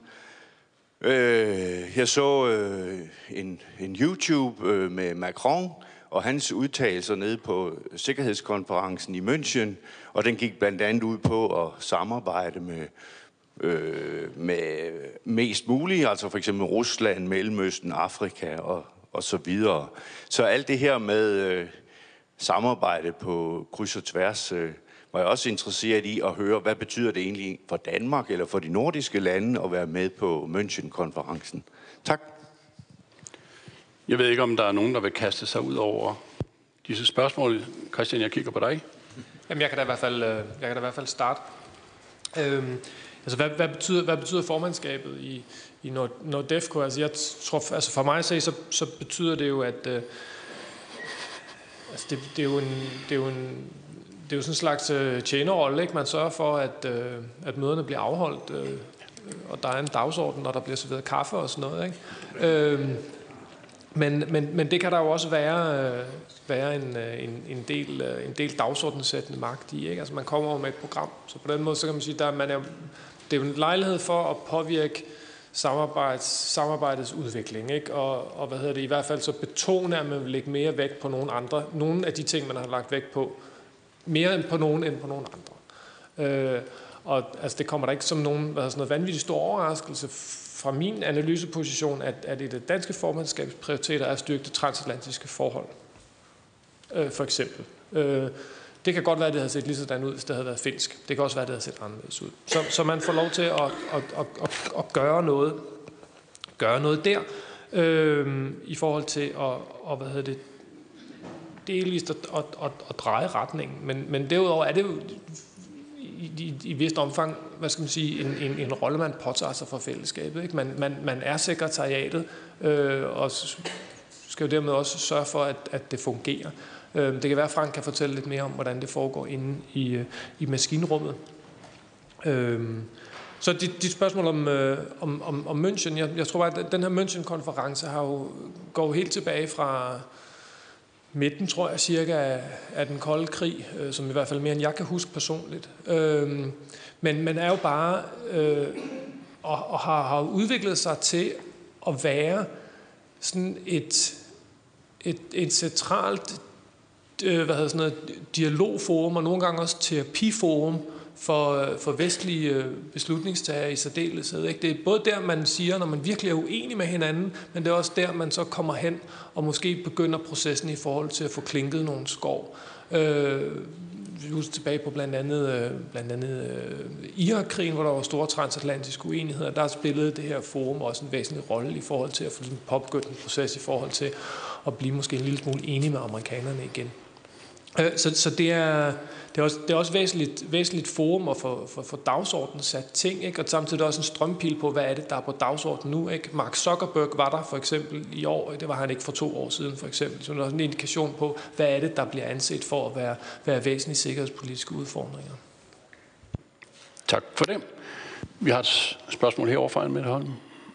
Øh, jeg så øh, en, en YouTube øh, med Macron og hans udtalelser nede på sikkerhedskonferencen i München, og den gik blandt andet ud på at samarbejde med, øh, med mest muligt, altså for eksempel Rusland, Mellemøsten, Afrika og, og så videre. Så alt det her med øh, samarbejde på kryds og tværs, øh, var jeg også interesseret i at høre, hvad betyder det egentlig for Danmark eller for de nordiske lande at være med på München-konferencen. Tak. Jeg ved ikke, om der er nogen, der vil kaste sig ud over disse spørgsmål. Christian, jeg kigger på dig. Jamen, jeg kan da i hvert fald, jeg kan da i hvert fald starte. Øhm, altså, hvad, hvad, betyder, hvad betyder formandskabet i, i NORDEFCO? Altså, jeg tror, altså for mig at se, så, så betyder det jo, at øh, altså det, det, er jo en, det er jo en det er jo sådan en slags øh, tjenerrolle, ikke? Man sørger for, at, øh, at møderne bliver afholdt, øh, og der er en dagsorden, og der bliver serveret kaffe og sådan noget, ikke? Øh, men, men, men det kan der jo også være, øh, være en, en, en, del, øh, en del dagsordensættende magt i, ikke? Altså man kommer over med et program, så på den måde, så kan man sige, der man er, det er jo en lejlighed for at påvirke samarbejds, samarbejdets udvikling, ikke? Og, og hvad hedder det, i hvert fald så betone, at man vil lægge mere vægt på nogle andre, nogle af de ting, man har lagt vægt på, mere end på nogen end på nogen andre. Øh, og altså, det kommer der ikke som nogen hvad sådan noget vanvittigt stor overraskelse fra min analyseposition, at, at et af det danske formandskabs prioriteter er at styrke det transatlantiske forhold. Øh, for eksempel. Øh, det kan godt være, at det havde set lige sådan ud, hvis det havde været finsk. Det kan også være, at det havde set anderledes ud. Så, så man får lov til at, at, at, at, at gøre noget, gøre noget der, øh, i forhold til at, og, hvad hedder det, delvist at, at, at, at dreje retningen. Men, men derudover er det jo i, i, i vist omfang, hvad skal man sige, en, en, en rolle, man påtager sig for fællesskabet. Ikke? Man, man, man er sekretariatet, øh, og skal jo dermed også sørge for, at, at det fungerer. Øh, det kan være, at Frank kan fortælle lidt mere om, hvordan det foregår inde i, i maskinrummet. Øh, så dit, dit spørgsmål om, øh, om, om, om München, jeg, jeg tror bare, at den her München-konference har jo, går jo helt tilbage fra midten, tror jeg, cirka af, af den kolde krig, øh, som i hvert fald mere end jeg kan huske personligt. Øh, men man er jo bare øh, og, og har, har udviklet sig til at være sådan et, et, et centralt øh, hvad hedder sådan noget, dialogforum, og nogle gange også terapiforum for, for vestlige beslutningstagere i særdeleshed. Ikke? Det er både der, man siger, når man virkelig er uenig med hinanden, men det er også der, man så kommer hen og måske begynder processen i forhold til at få klinket nogle skov. Øh, vi husker tilbage på blandt andet, blandt andet øh, Irak-krigen, hvor der var store transatlantiske uenigheder. Der spillede det her forum også en væsentlig rolle i forhold til at få påbegyndt en proces i forhold til at blive måske en lille smule enige med amerikanerne igen. Øh, så, så det er... Det er også, det er også væsentligt, væsentligt forum at få for, for dagsordenen sat ting, ikke? Og samtidig også en strømpil på, hvad er det, der er på dagsordenen nu, ikke? Mark Zuckerberg var der for eksempel i år, det var han ikke for to år siden for eksempel, så det er også en indikation på, hvad er det, der bliver anset for at være, være væsentlige sikkerhedspolitiske udfordringer. Tak for det. Vi har et spørgsmål herovre fra Mette Holm.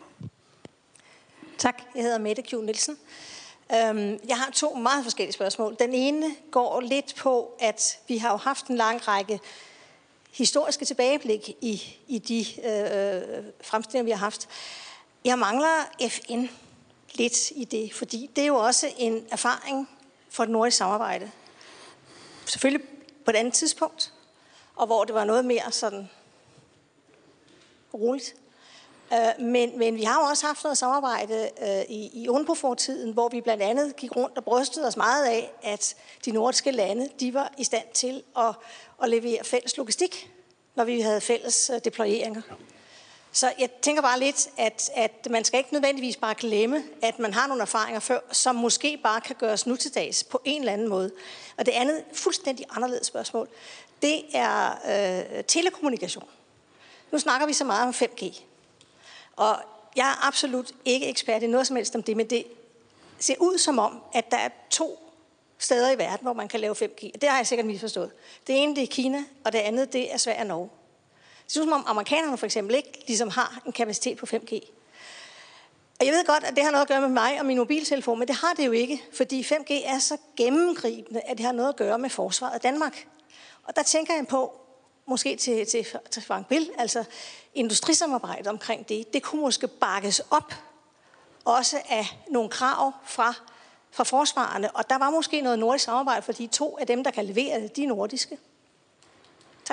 Tak, jeg hedder Mette Q. Nielsen. Jeg har to meget forskellige spørgsmål. Den ene går lidt på, at vi har jo haft en lang række historiske tilbageblik i, i de øh, fremstillinger, vi har haft. Jeg mangler F N lidt i det, fordi det er jo også en erfaring for det nordiske samarbejde. Selvfølgelig på et andet tidspunkt, og hvor det var noget mere sådan roligt. Men, men vi har jo også haft noget samarbejde øh, i, i UNPROFOR-tiden, hvor vi blandt andet gik rundt og brystede os meget af, at de nordiske lande de var i stand til at, at levere fælles logistik, når vi havde fælles øh, deployeringer. Så jeg tænker bare lidt, at, at man skal ikke nødvendigvis bare glemme, at man har nogle erfaringer før, som måske bare kan gøres nu til dags på en eller anden måde. Og det andet fuldstændig anderledes spørgsmål, det er øh, telekommunikation. Nu snakker vi så meget om fem G. Og jeg er absolut ikke ekspert i noget som helst om det, men det ser ud som om, at der er to steder i verden, hvor man kan lave fem G. Det har jeg sikkert misforstået. Det ene det er Kina, og det andet det er Sverige og Norge. Det synes som om amerikanerne for eksempel ikke ligesom har en kapacitet på fem G. Og jeg ved godt, at det har noget at gøre med mig og min mobiltelefon, men det har det jo ikke, fordi fem G er så gennemgribende, at det har noget at gøre med forsvaret af Danmark. Og der tænker jeg på, måske til, til, til Frank Bill, altså industrisamarbejde omkring det, det kunne måske bakkes op også af nogle krav fra, fra forsvarerne, og der var måske noget nordisk samarbejde, fordi to af dem, der kan levere det, de er nordiske. Tak.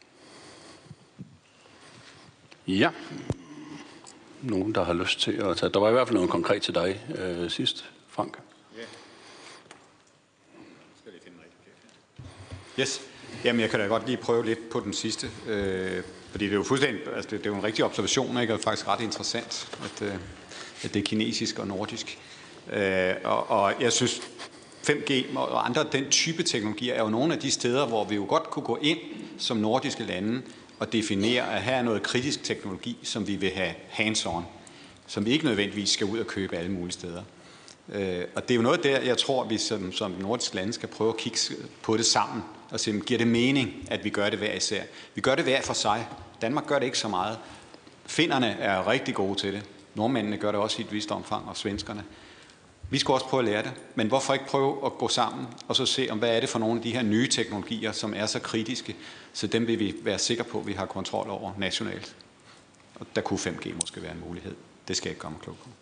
Ja. Nogen, der har lyst til at tage... Der var i hvert fald noget konkret til dig øh, sidst, Frank. Ja. Skal lige finde rigtig. Yes. Jamen, jeg kan da godt lige prøve lidt på den sidste, øh, fordi det er jo fuldstændig, altså det, det er jo en rigtig observation, ikke? Og det er faktisk ret interessant, at, øh, at det er kinesisk og nordisk. Øh, og, og jeg synes, fem G og andre den type teknologier er jo nogle af de steder, hvor vi jo godt kunne gå ind som nordiske lande og definere, at her er noget kritisk teknologi, som vi vil have hands-on, som vi ikke nødvendigvis skal ud og købe alle mulige steder. Øh, og det er jo noget der, jeg tror, vi som, som nordiske lande skal prøve at kigge på det sammen, og se, giver det mening, at vi gør det hver især. Vi gør det hver for sig. Danmark gør det ikke så meget. Finnerne er rigtig gode til det. Nordmændene gør det også i et vist omfang, og svenskerne. Vi skal også prøve at lære det. Men hvorfor ikke prøve at gå sammen, og så se, om hvad er det for nogle af de her nye teknologier, som er så kritiske, så dem vil vi være sikre på, at vi har kontrol over nationalt. Og der kunne fem G måske være en mulighed. Det skal jeg ikke komme klog på.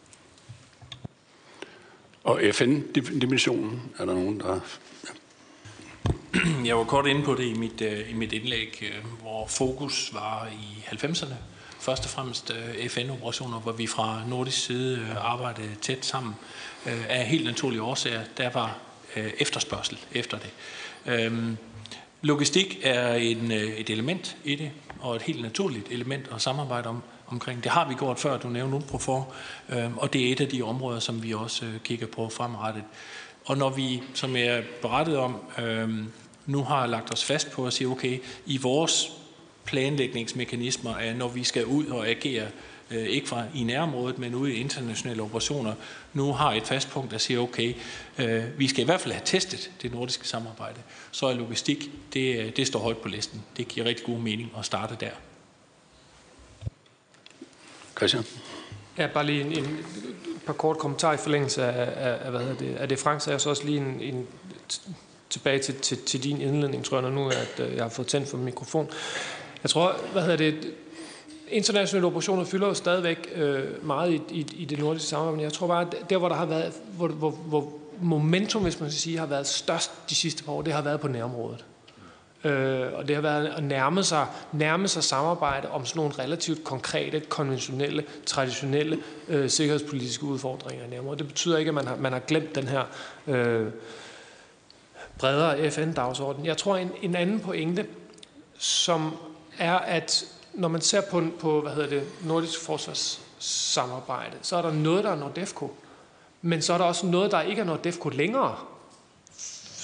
Og F N-dimensionen, er der nogen, der... Jeg var kort inde på det i mit, i mit indlæg, hvor fokus var i halvfemserne. Først og fremmest F N-operationer, hvor vi fra nordisk side arbejdede tæt sammen. Af helt naturlige årsager, der var efterspørgsel efter det. Logistik er en, et element i det, og et helt naturligt element at samarbejde om, omkring. Det har vi gjort før, du nævnte UNPROFOR, og det er et af de områder, som vi også kigger på fremadrettet. Og når vi, som jeg berettede om, nu har lagt os fast på at sige, okay, i vores planlægningsmekanismer, er, når vi skal ud og agere, ikke fra i nærområdet, men ude i internationale operationer, nu har et fast punkt, der siger, okay, vi skal i hvert fald have testet det nordiske samarbejde. Så er logistik, det, det står højt på listen. Det giver rigtig god mening at starte der. Christian? Ja, bare lige en, en par kort kommentarer i forlængelse af, af, af hvad det, af det Frank sagde, så også lige en, en tilbage til, til, til din indledning, tror jeg, når nu at jeg har fået tændt for mikrofon. Jeg tror, hvad hedder det, internationale operationer fylder jo stadigvæk øh, meget i, i, i det nordiske samarbejde, men jeg tror bare, at der, hvor der har været, hvor, hvor, hvor momentum, hvis man skal sige, har været størst de sidste par år, det har været på nærområdet. Øh, og det har været at nærme sig, nærme sig samarbejde om sådan nogle relativt konkrete, konventionelle, traditionelle øh, sikkerhedspolitiske udfordringer i nærområdet. Det betyder ikke, at man har, man har glemt den her øh, bredere F N-dagsorden. Jeg tror, en, en anden pointe, som er, at når man ser på, på hvad hedder det, nordisk forsvarssamarbejde, så er der noget, der er NORDEFCO, men så er der også noget, der ikke er NORDEFCO længere.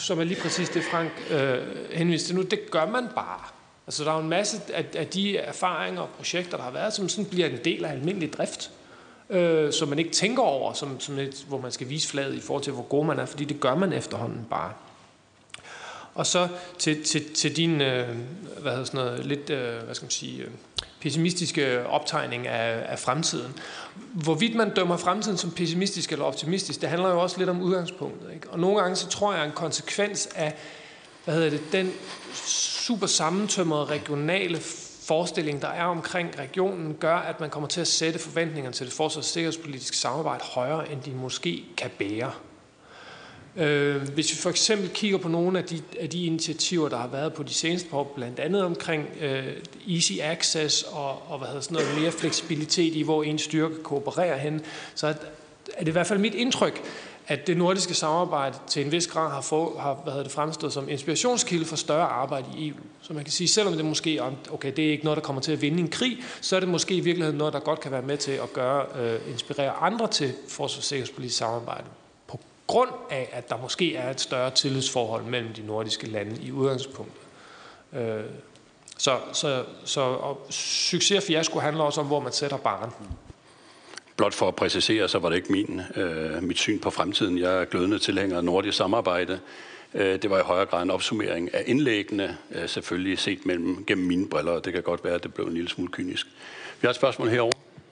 som er lige præcis det, Frank øh, henviste til nu, det gør man bare. Altså, der er jo en masse af, af de erfaringer og projekter, der har været, som sådan bliver en del af almindelig drift, øh, som man ikke tænker over, som, som et, hvor man skal vise flaget i forhold til, hvor god man er, fordi det gør man efterhånden bare. Og så til, til, til din øh, hvad hedder sådan noget, lidt øh, hvad skal man sige, øh, pessimistiske optegning af, af fremtiden. Hvorvidt man dømmer fremtiden som pessimistisk eller optimistisk, det handler jo også lidt om udgangspunktet. Ikke? Og nogle gange så tror jeg, at en konsekvens af hvad hedder det, den super sammentømrede regionale forestilling, der er omkring regionen, gør, at man kommer til at sætte forventningerne til det forsvars- og sikkerhedspolitiske samarbejde højere, end de måske kan bære. Øh, hvis vi for eksempel kigger på nogle af de, af de initiativer, der har været på de seneste år, blandt andet omkring øh, easy access og, og hvad hedder sådan noget, mere fleksibilitet i, hvor en styrke koopererer hen, så er det i hvert fald mit indtryk, at det nordiske samarbejde til en vis grad har, få, har hvad hedder det, fremstået som inspirationskilde for større arbejde i E U. Så man kan sige, selvom det måske okay, det er ikke noget, der kommer til at vinde en krig, så er det måske i virkeligheden noget, der godt kan være med til at gøre, øh, inspirere andre til forsvars- og sikkerhedspolitisk samarbejde. På grund af, at der måske er et større tillidsforhold mellem de nordiske lande i udgangspunktet. Øh, så så, så og succes og fiasko handler også om, hvor man sætter barren. Blot for at præcisere, så var det ikke min, øh, mit syn på fremtiden. Jeg er glødende tilhænger af nordisk samarbejde. Øh, det var i højere grad en opsummering af indlæggene, øh, selvfølgelig set mellem, gennem mine briller, og det kan godt være, at det blev en lille smule kynisk. Vi har et spørgsmål herovre.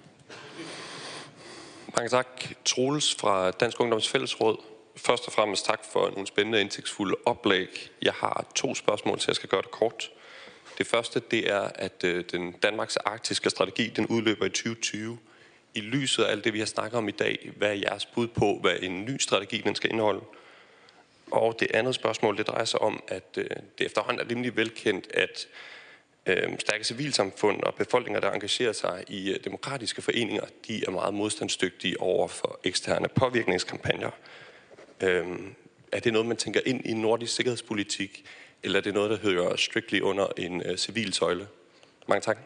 Mange tak. Troels fra Dansk Ungdoms Fællesråd. Først og fremmest tak for nogle spændende indsigtsfulde oplæg. Jeg har to spørgsmål, så jeg skal gøre det kort. Det første, det er, at øh, den Danmarks arktiske strategi, den udløber i tyve tyve. I lyset af alt det, vi har snakket om i dag, hvad er jeres bud på, hvad en ny strategi den skal indeholde? Og det andet spørgsmål, det drejer sig om, at øh, det efterhånden er rimelig velkendt, at øh, stærke civilsamfund og befolkninger, der engagerer sig i øh, demokratiske foreninger, de er meget modstandsdygtige over for eksterne påvirkningskampagner. Øh, er det noget, man tænker ind i nordisk sikkerhedspolitik, eller er det noget, der hører strictly under en øh, civil søjle? Mange tak.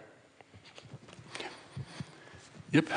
Yep.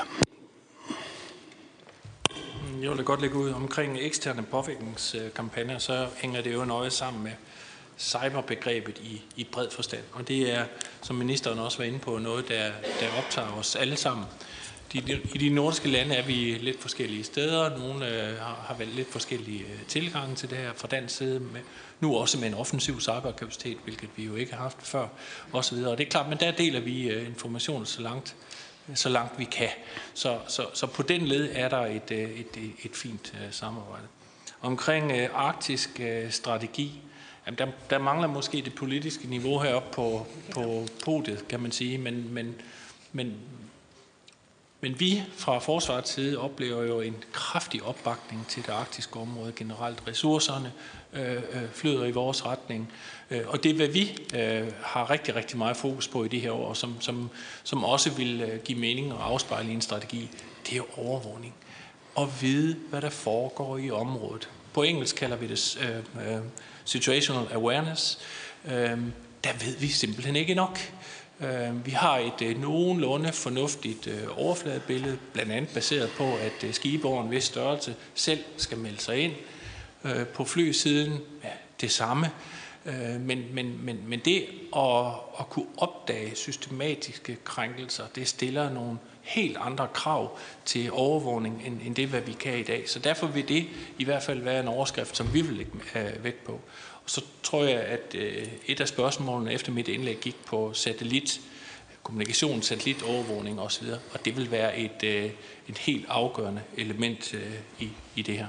Jeg vil da godt lægge ud omkring eksterne påvirkningskampagner, så hænger det jo nøje sammen med cyberbegrebet i, i bred forstand. Og det er, som ministeren også var inde på, noget, der, der optager os alle sammen. De, I de nordiske lande er vi lidt forskellige steder. Nogle øh, har, har valgt lidt forskellige øh, tilgange til det her fra dansk side. Med, nu også med en offensiv cyberkapacitet, hvilket vi jo ikke har haft før, osv. Og det er klart, men der deler vi øh, information så langt, så langt vi kan. Så, så, så på den led er der et, et, et, et fint uh, samarbejde. Omkring uh, arktisk uh, strategi, jamen der, der mangler måske det politiske niveau heroppe på, på podiet, kan man sige, men, men, men, men vi fra forsvarets side oplever jo en kraftig opbakning til det arktiske område generelt. Ressourcerne øh, øh, flyder i vores retning, øh, og det, hvad vi øh, har rigtig, rigtig meget fokus på i de her år, som, som, som også vil øh, give mening og afspejle i en strategi, det er jo overvågning. Og vide, hvad der foregår i området. På engelsk kalder vi det øh, øh, situational awareness. Øh, der ved vi simpelthen ikke nok. Vi har et øh, nogenlunde fornuftigt øh, overfladebillede, blandt andet baseret på, at øh, skibe over en vis størrelse selv skal melde sig ind. Øh, på flysiden, ja, det samme. Øh, men, men, men, men det at, at kunne opdage systematiske krænkelser, det stiller nogle helt andre krav til overvågning, end, end det, hvad vi kan i dag. Så derfor vil det i hvert fald være en overskrift, som vi vil lægge øh, vægt på. Og så tror jeg, at øh, et af spørgsmålene efter mit indlæg gik på satellit, kommunikation, satellitovervågning osv., og det vil være et, øh, et helt afgørende element øh, i, i det her.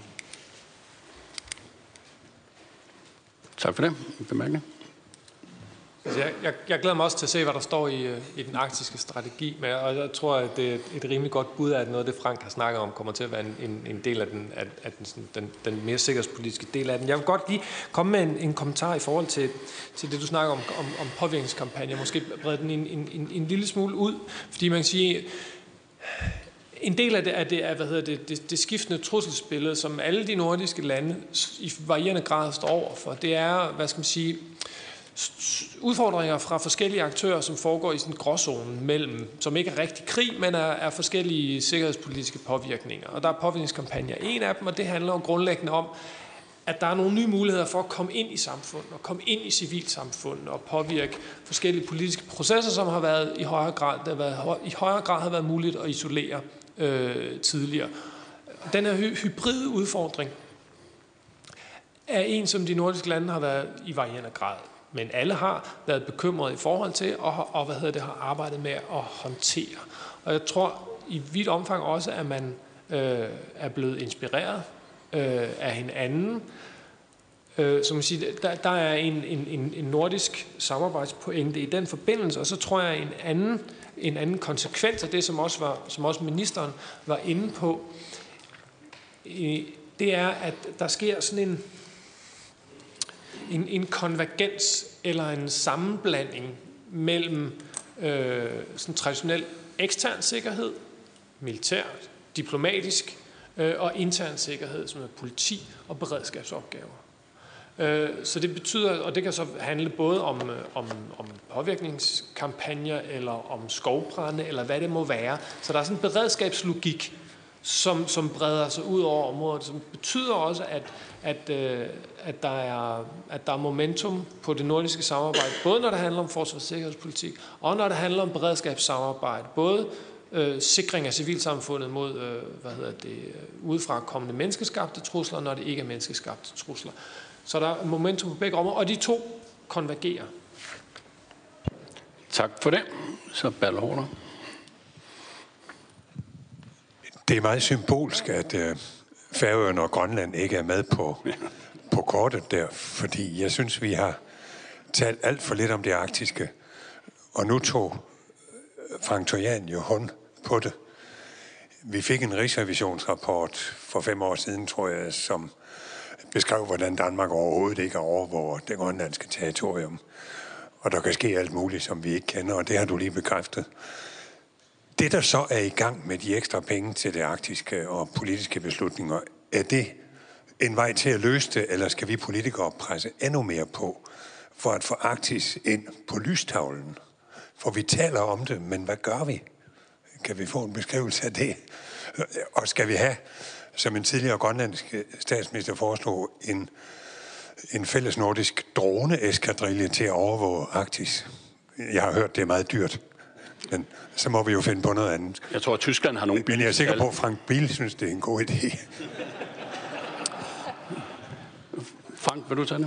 Tak for det. Bemærkning. Altså jeg, jeg, jeg glæder mig også til at se, hvad der står i, i den arktiske strategi, men og jeg tror, at det er et rimelig godt bud af, at noget af det, Frank har snakket om, kommer til at være en, en, en del af, den, af, af den, sådan, den, den mere sikkerhedspolitiske del af den. Jeg vil godt lige komme med en, en kommentar i forhold til, til det, du snakker om, om, om påvirkningskampagner. Måske brede den en, en, en, en lille smule ud, fordi man kan sige, en del af det er, det, er hvad hedder det, det, det skiftende trusselsbillede, som alle de nordiske lande i varierende grad står over for. Det er, hvad skal man sige, udfordringer fra forskellige aktører, som foregår i sådan en gråzone mellem, som ikke er rigtig krig, men er, er forskellige sikkerhedspolitiske påvirkninger. Og der er påvirkningskampagner en af dem, og det handler jo grundlæggende om, at der er nogle nye muligheder for at komme ind i samfundet, og komme ind i civilsamfundet, og påvirke forskellige politiske processer, som har været i højere grad, der har været, i højere grad har været muligt at isolere øh, tidligere. Den her hy- hybride udfordring er en, som de nordiske lande har været i varierende grad. Men alle har været bekymrede i forhold til, og, og hvad hedder det, har arbejdet med at håndtere. Og jeg tror i vidt omfang også, at man øh, er blevet inspireret øh, af hinanden. Øh, som man siger, der, der er en, en, en nordisk samarbejdspointe i den forbindelse, og så tror jeg en anden, en anden konsekvens af det, som også, var, som også ministeren var inde på, øh, det er, at der sker sådan en En, en konvergens eller en sammenblanding mellem øh, sådan traditionel ekstern sikkerhed, militær, diplomatisk øh, og intern sikkerhed, som er politi og beredskabsopgaver. Øh, så det betyder, og det kan så handle både om, om, om påvirkningskampagner eller om skovbrænde eller hvad det må være. Så der er sådan en beredskabslogik, som, som breder sig ud over området, som betyder også, at, at, øh, at, der er, at der er momentum på det nordiske samarbejde, både når det handler om forsvars- og sikkerhedspolitik, og når det handler om beredskabssamarbejde, både øh, sikring af civilsamfundet mod øh, hvad hedder det, udefra kommende menneskeskabte trusler, når det ikke er menneskeskabte trusler. Så der er momentum på begge områder, og de to konvergerer. Tak for det. Så Ballerup. Det er meget symbolsk, at øh, Færøerne og Grønland ikke er med på, på kortet der, fordi jeg synes, vi har talt alt for lidt om det arktiske, og nu tog Frank Tojan jo hånd på det. Vi fik en rigsrevisionsrapport for fem år siden, tror jeg, som beskrev, hvordan Danmark overhovedet ikke overvåger det grønlandske territorium. Og der kan ske alt muligt, som vi ikke kender, og det har du lige bekræftet. Det, der så er i gang med de ekstra penge til det arktiske og politiske beslutninger, er det en vej til at løse det, eller skal vi politikere presse endnu mere på for at få Arktis ind på lystavlen? For vi taler om det, men hvad gør vi? Kan vi få en beskrivelse af det? Og skal vi have, som en tidligere grønlandsk statsminister foreslog, en, en fælles nordisk drone-eskadrille til at overvåge Arktis? Jeg har hørt, det er meget dyrt. Men så må vi jo finde på noget andet. Jeg tror, at Tyskland har nogle biler. Men jeg er sikker på, at Frank Biel synes, det er en god idé. Frank, vil du tage det?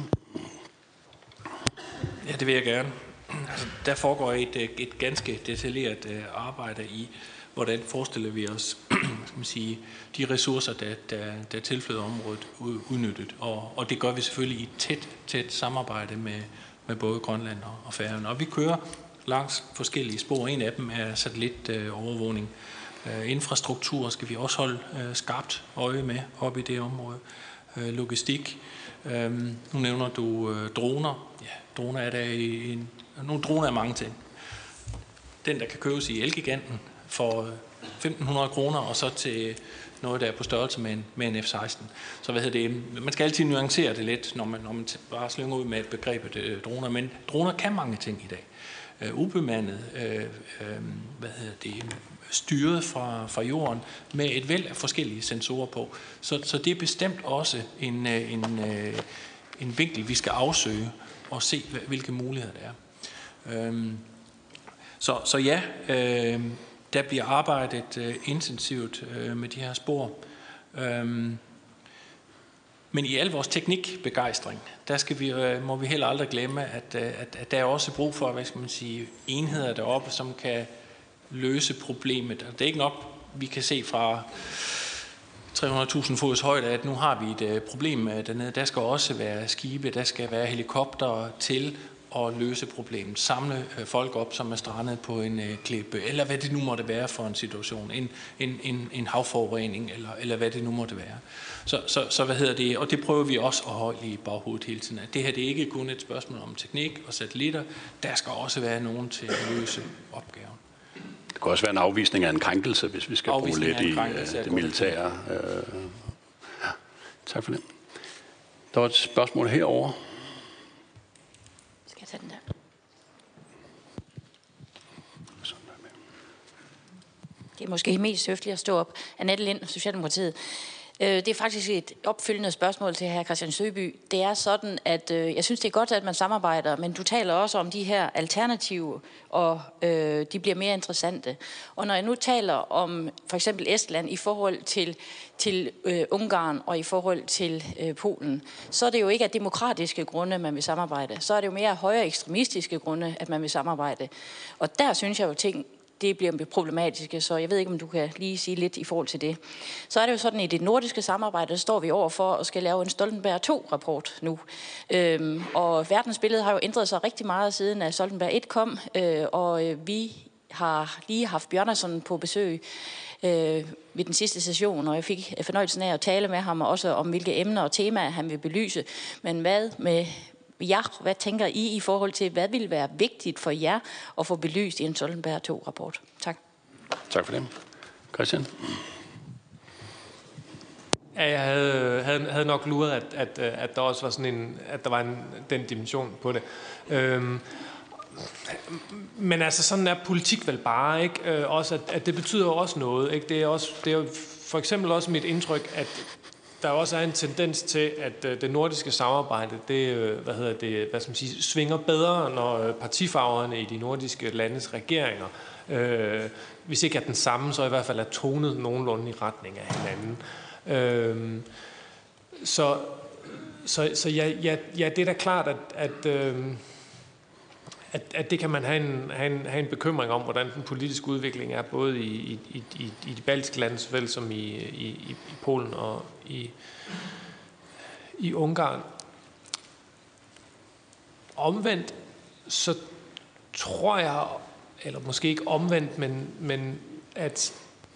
Ja, det vil jeg gerne. Altså, der foregår et, et ganske detaljeret arbejde i, hvordan forestiller vi os skal man sige, de ressourcer, der, der, der tilflyder området udnyttet. Og, og det gør vi selvfølgelig i et tæt, tæt samarbejde med, med både Grønland og Færøerne. Og vi kører langs forskellige spor. En af dem er satellitovervågning. Øh, infrastruktur skal vi også holde øh, skarpt øje med op i det område. Øh, logistik. Øh, nu nævner du øh, droner. Ja, droner er der i en, nogle droner er mange ting. Den, der kan købes i Elgiganten for femten hundrede kroner, og så til noget, der er på størrelse med en, med en F seksten. Så hvad hedder det? Man skal altid nuancere det lidt, når man, når man bare slynger ud med begrebet øh, droner. Men droner kan mange ting i dag. Uh, ubemandet, uh, uh, hvad hedder det, styret fra, fra jorden med et væld af forskellige sensorer på. Så, så det er bestemt også en, en, uh, en vinkel, vi skal afsøge og se, hvilke muligheder der er. Um, så, så ja, uh, der bliver arbejdet uh, intensivt uh, med de her spor. Um, Men i al vores teknikbegejstring, der skal vi, må vi heller aldrig glemme, at, at, at der er også brug for, hvad skal man sige, enheder deroppe, som kan løse problemet. Og det er ikke nok, vi kan se fra tre hundrede tusind fods højde, at nu har vi et problem dernede. Der skal også være skibe, der skal være helikoptere til at løse problemet. Samle folk op, som er strandet på en klippe, eller hvad det nu måtte være for en situation. En, en, en, en havforurening, eller, eller hvad det nu måtte være. Så, så, så hvad hedder det? Og det prøver vi også at holde i baghovedet hele tiden. At det her det er ikke kun et spørgsmål om teknik og satellitter. Der skal også være nogen til at løse opgaven. Det kan også være en afvisning af en krænkelse, hvis vi skal bruge lidt i det militære. Øh, ja. Tak for det. Der var et spørgsmål herovre. Skal jeg tage den der? Det er måske mest høfligt at stå op. Annette Lind, Socialdemokratiet. Det er faktisk et opfølgende spørgsmål til hr. Christian Søby. Det er sådan, at øh, jeg synes, det er godt, at man samarbejder, men du taler også om de her alternativer, og øh, de bliver mere interessante. Og når jeg nu taler om for eksempel Estland i forhold til, til øh, Ungarn og i forhold til øh, Polen, så er det jo ikke af demokratiske grunde, man vil samarbejde. Så er det jo mere af højere ekstremistiske grunde, at man vil samarbejde. Og der synes jeg jo ting, det bliver problematiske, så jeg ved ikke, om du kan lige sige lidt i forhold til det. Så er det jo sådan, at i det nordiske samarbejde, der står vi over for at skal lave en Stoltenberg to-rapport nu. Øhm, og verdensbilledet har jo ændret sig rigtig meget siden, at Stoltenberg et kom, øh, og øh, vi har lige haft Bjørnason på besøg øh, ved den sidste session, og jeg fik fornøjelsen af at tale med ham også om, hvilke emner og temaer han vil belyse. Men hvad med Ja, hvad tænker I i forhold til, hvad vil være vigtigt for jer at få belyst i en Stoltenberg to-rapport? Tak. Tak for det. Christian? Ja, jeg havde, havde, havde nok luret, at, at, at der også var sådan en, at der var en, den dimension på det. Øhm, men altså, sådan er politik vel bare, ikke? Øh, også at, at det betyder også noget, ikke? Det er også, det er jo for eksempel også mit indtryk, at der også er en tendens til, at øh, det nordiske samarbejde, det, øh, hvad hedder det, hvad skal man sige, svinger bedre, når øh, partifarverne i de nordiske landes regeringer, øh, hvis ikke er den samme, så i hvert fald er tonet nogenlunde i retning af hinanden. Øh, så så, så ja, ja, ja, det er da klart, at, at, øh, at, at det kan man have en, have, en, have en bekymring om, hvordan den politiske udvikling er, både i, i, i, i de baltiske lande, såvel som i, i, i Polen og i, i Ungarn. Omvendt, så tror jeg, eller måske ikke omvendt, men, men at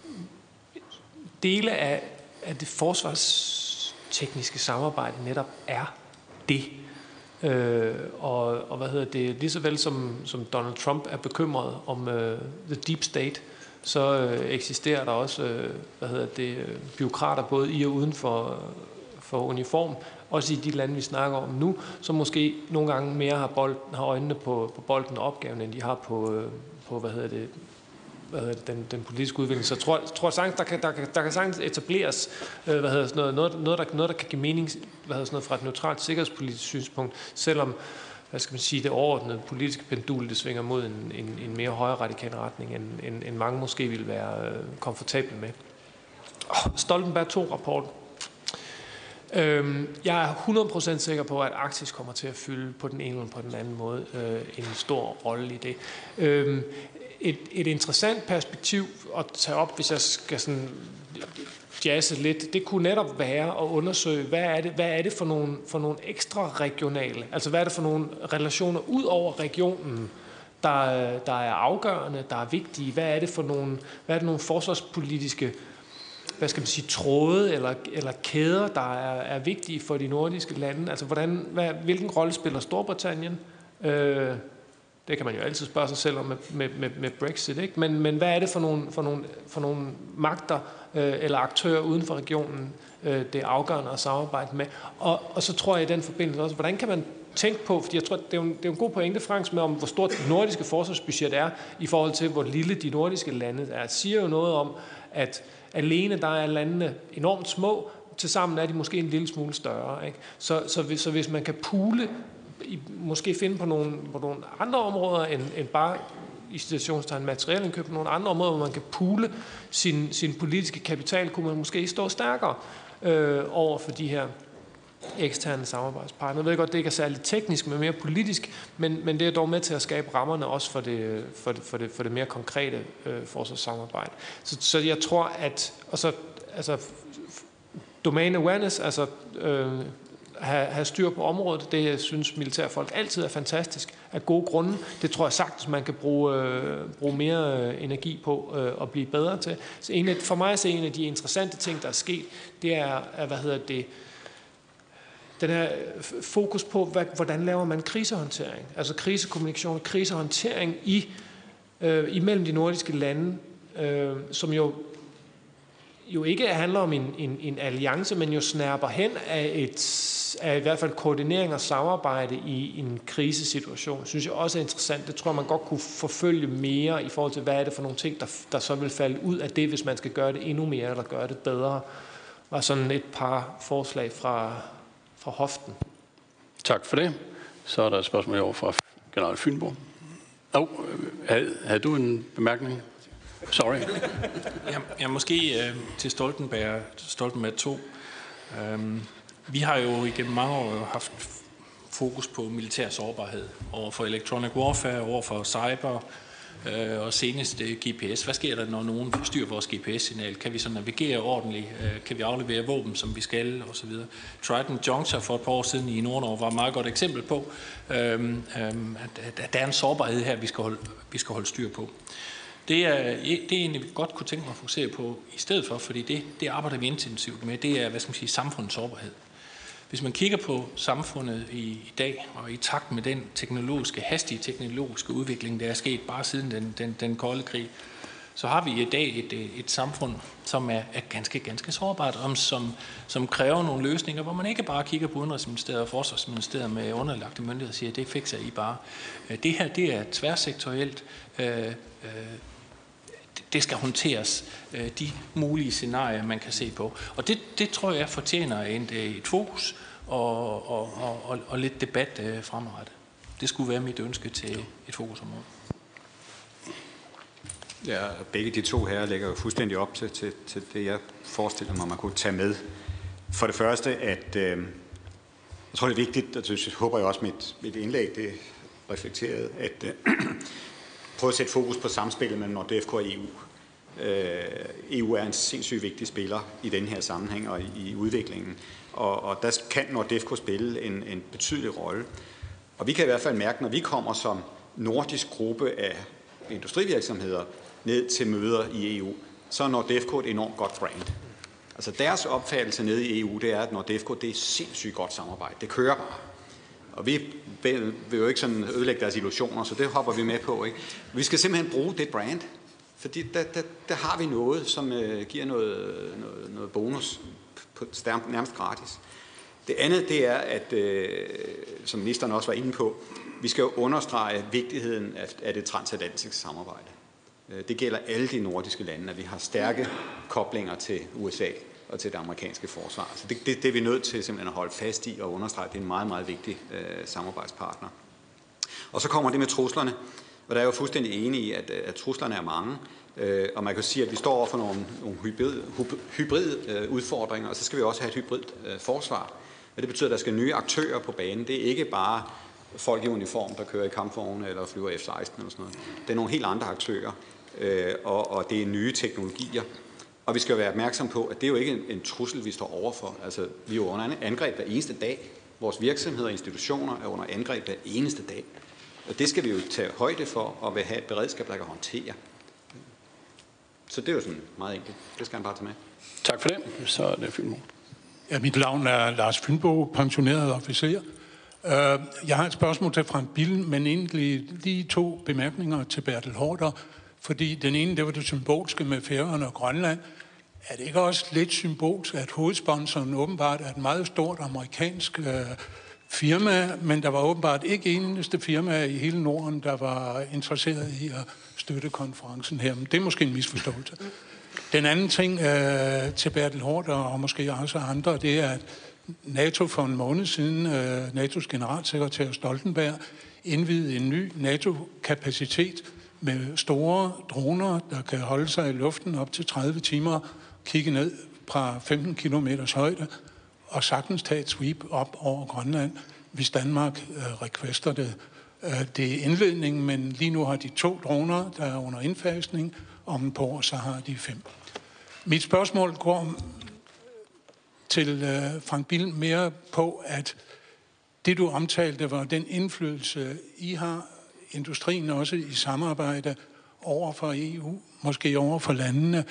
dele af, af det forsvarstekniske samarbejde netop er det. Øh, og, og hvad hedder det, lige så vel som, som Donald Trump er bekymret om øh, the deep state, så øh, eksisterer der også øh, hvad hedder det, øh, bureaukrater både i og uden for, for uniform, også i de lande, vi snakker om nu, som måske nogle gange mere har, bold, har øjnene på, på bolden og opgaven, end de har på, øh, på hvad hedder det, hvad hedder det, den, den politiske udvikling. Så jeg tror, jeg tror sagtens, der kan, der, kan, der kan sagtens etableres øh, hvad hedder sådan noget, noget, noget, der, noget, der kan give mening hvad hedder sådan noget, fra et neutralt sikkerhedspolitisk synspunkt, selvom hvad skal man sige, det overordnede politiske pendul, det svinger mod en, en, en mere højere radikal retning, end, end, end mange måske ville være øh, komfortable med. Oh, Stoltenberg to-rapport. Øhm, jeg er hundrede procent sikker på, at Arktis kommer til at fylde på den ene eller på den anden måde øh, en stor rolle i det. Øhm, et, et interessant perspektiv at tage op, hvis jeg skal sådan jazze lidt, det kunne netop være at undersøge, hvad er det, hvad er det for nogle, for nogle ekstra regionale, altså hvad er det for nogle relationer ud over regionen, der, der er afgørende, der er vigtige, hvad er det for nogle, hvad er det nogle forsvarspolitiske, hvad skal man sige, tråde eller, eller kæder, der er, er vigtige for de nordiske lande, altså hvordan, hvad, hvilken rolle spiller Storbritannien? Øh, Det kan man jo altid spørge sig selv om med, med, med, med Brexit, ikke? Men, men hvad er det for nogle, for nogle, for nogle magter øh, eller aktører uden for regionen, øh, det er afgørende at samarbejde med? Og, og så tror jeg i den forbindelse også, hvordan kan man tænke på, fordi jeg tror, det er jo en, det er jo en god pointe, Franks, med om, hvor stort det nordiske forsvarsbudget er, i forhold til, hvor lille de nordiske lande er. Det siger jo noget om, at alene der er landene enormt små, tilsammen er de måske en lille smule større, ikke? Så, så, hvis, så hvis man kan pule, I måske finde på nogle, på nogle andre områder, end, end bare i situationstegn materielindkøb, på nogle andre områder, hvor man kan pule sin, sin politiske kapital, kunne man måske stå stærkere øh, over for de her eksterne samarbejdspartnere. Jeg ved godt, det ikke er særligt teknisk, men mere politisk, men, men det er dog med til at skabe rammerne også for det, for det, for det, for det mere konkrete øh, forsvarssamarbejde. Så, så jeg tror, at og så, altså, domain awareness, altså øh, have, have styr på området, det jeg synes militærfolk altid er fantastisk, af gode grunde. Det tror jeg sagtens, man kan bruge, øh, bruge mere øh, energi på øh, og blive bedre til. Så en af, for mig så en af de interessante ting, der er sket, det er, er hvad hedder det, den her fokus på, hvad, hvordan laver man krisehåndtering, altså krisekommunikation og krisehåndtering i, øh, imellem de nordiske lande, øh, som jo jo ikke handler om en, en, en alliance, men jo snærper hen af, et, af i hvert fald koordinering og samarbejde i en krisesituation, synes jeg også er interessant. Det tror jeg, man godt kunne forfølge mere i forhold til, hvad er det for nogle ting, der, der så vil falde ud af det, hvis man skal gøre det endnu mere eller gøre det bedre. var sådan et par forslag fra, fra hoften. Tak for det. Så er der et spørgsmål over fra general Fynbo. Oh, havde, havde du en bemærkning? Sorry. Ja, ja måske øh, til Stoltenberg, Stoltenberg to. Øhm, vi har jo igennem mange år haft fokus på militær sårbarhed over for electronic warfare, over for cyber øh, og senest øh, G P S. Hvad sker der, når nogen forstyrrer vores G P S-signal? Kan vi så navigere ordentligt? Øh, kan vi aflevere våben, som vi skal? Og så videre. Trident Juncture for et par år siden i Nord-Norge var et meget godt eksempel på, øh, øh, at, at der er en sårbarhed her, vi skal holde, vi skal holde styr på. Det er, det er egentlig, vi godt kunne tænke mig at fokusere på i stedet for, fordi det, det arbejder vi intensivt med. Det er, hvad skal man sige, samfundets sårbarhed. Hvis man kigger på samfundet i, i dag, og i takt med den teknologiske, hastige teknologiske udvikling, der er sket bare siden den, den, den kolde krig, så har vi i dag et, et samfund, som er, er ganske, ganske sårbart, og som, som kræver nogle løsninger, hvor man ikke bare kigger på Udenrigsministeriet og Forsvarsministeriet med underlagte myndigheder og siger, at det fikser I bare. Det her, det er tværsektorielt. Øh, øh, det skal håndteres, de mulige scenarier, man kan se på. Og det, det tror jeg fortjener et, et fokus og, og, og, og lidt debat fremadrettet. Det skulle være mit ønske til et fokusområde. Ja, begge de to her lægger jo fuldstændig op til, til, til det, jeg forestiller mig, man kunne tage med. For det første, at øh, jeg tror, det er vigtigt, og det håber jeg også, mit, mit indlæg det reflekterede, at øh, prøve at sætte fokus på samspillet mellem NORDEFCO og E U. Øh, E U er en sindssygt vigtig spiller i den her sammenhæng og i, i udviklingen, og, og der kan NORDEFCO spille en, en betydelig rolle. Og vi kan i hvert fald mærke, når vi kommer som nordisk gruppe af industrivirksomheder ned til møder i E U, så er NORDEFCO et enormt godt brand. Altså deres opfattelse nede i E U, det er, at NORDEFCO det er sindssygt godt samarbejde. Det kører bare. Og vi vil jo ikke sådan ødelægge deres illusioner, så det hopper vi med på. Ikke? Vi skal simpelthen bruge det brand, fordi der, der, der har vi noget, som uh, giver noget, noget, noget bonus på, nærmest gratis. Det andet, det er, at, uh, som ministeren også var inde på, vi skal jo understrege vigtigheden af, af det transatlantiske samarbejde. Uh, det gælder alle de nordiske lande, at vi har stærke koblinger til U S A og til det amerikanske forsvar. Så det, det, det er vi nødt til simpelthen at holde fast i og understrege, at det er en meget, meget vigtig øh, samarbejdspartner. Og så kommer det med truslerne, og der er jo fuldstændig enig i, at, at truslerne er mange, øh, og man kan sige, at vi står over for nogle, nogle hybrid, hybrid øh, udfordringer, og så skal vi også have et hybrid øh, forsvar. Og det betyder, at der skal nye aktører på banen. Det er ikke bare folk i uniform, der kører i kampvogne eller flyver F seksten eller sådan noget. Det er nogle helt andre aktører, øh, og, og det er nye teknologier. Og vi skal være opmærksom på, at det er jo ikke en, en trussel, vi står overfor. Altså, vi er jo under angreb hver eneste dag. Vores virksomheder og institutioner er under angreb hver eneste dag. Og det skal vi jo tage højde for, og vil have et beredskab, der kan håndtere. Så det er jo sådan meget enkelt. Det skal han bare tage med. Tak for det. Så er det Fynbo. Ja, mit navn er Lars Fynbo, pensioneret officer. Jeg har et spørgsmål til Frank Billen, men egentlig lige to bemærkninger til Bertel Haarder. Fordi den ene, det var det symbolske med Færøerne og Grønland. Er det ikke også lidt symbolsk, at hovedsponsoren åbenbart er et meget stort amerikansk øh, firma, men der var åbenbart ikke eneste firma i hele Norden, der var interesseret i at støtte konferencen her. Men det er måske en misforståelse. Den anden ting øh, til Bertel Haarder og måske også andre, det er, at NATO for en måned siden, øh, N A T O's generalsekretær Stoltenberg, indvidede en ny NATO-kapacitet med store droner, der kan holde sig i luften op til tredive timer, kigge ned fra femten kilometers højde og sagtens tage et sweep op over Grønland, hvis Danmark øh, requester det. Øh, det er indledningen, men lige nu har de to droner, der er under indfasning, om et par år så har de fem. Mit spørgsmål går til øh, Frank Billen mere på, at det du omtalte var den indflydelse, I har, industrien også i samarbejde over for E U, måske over for landene.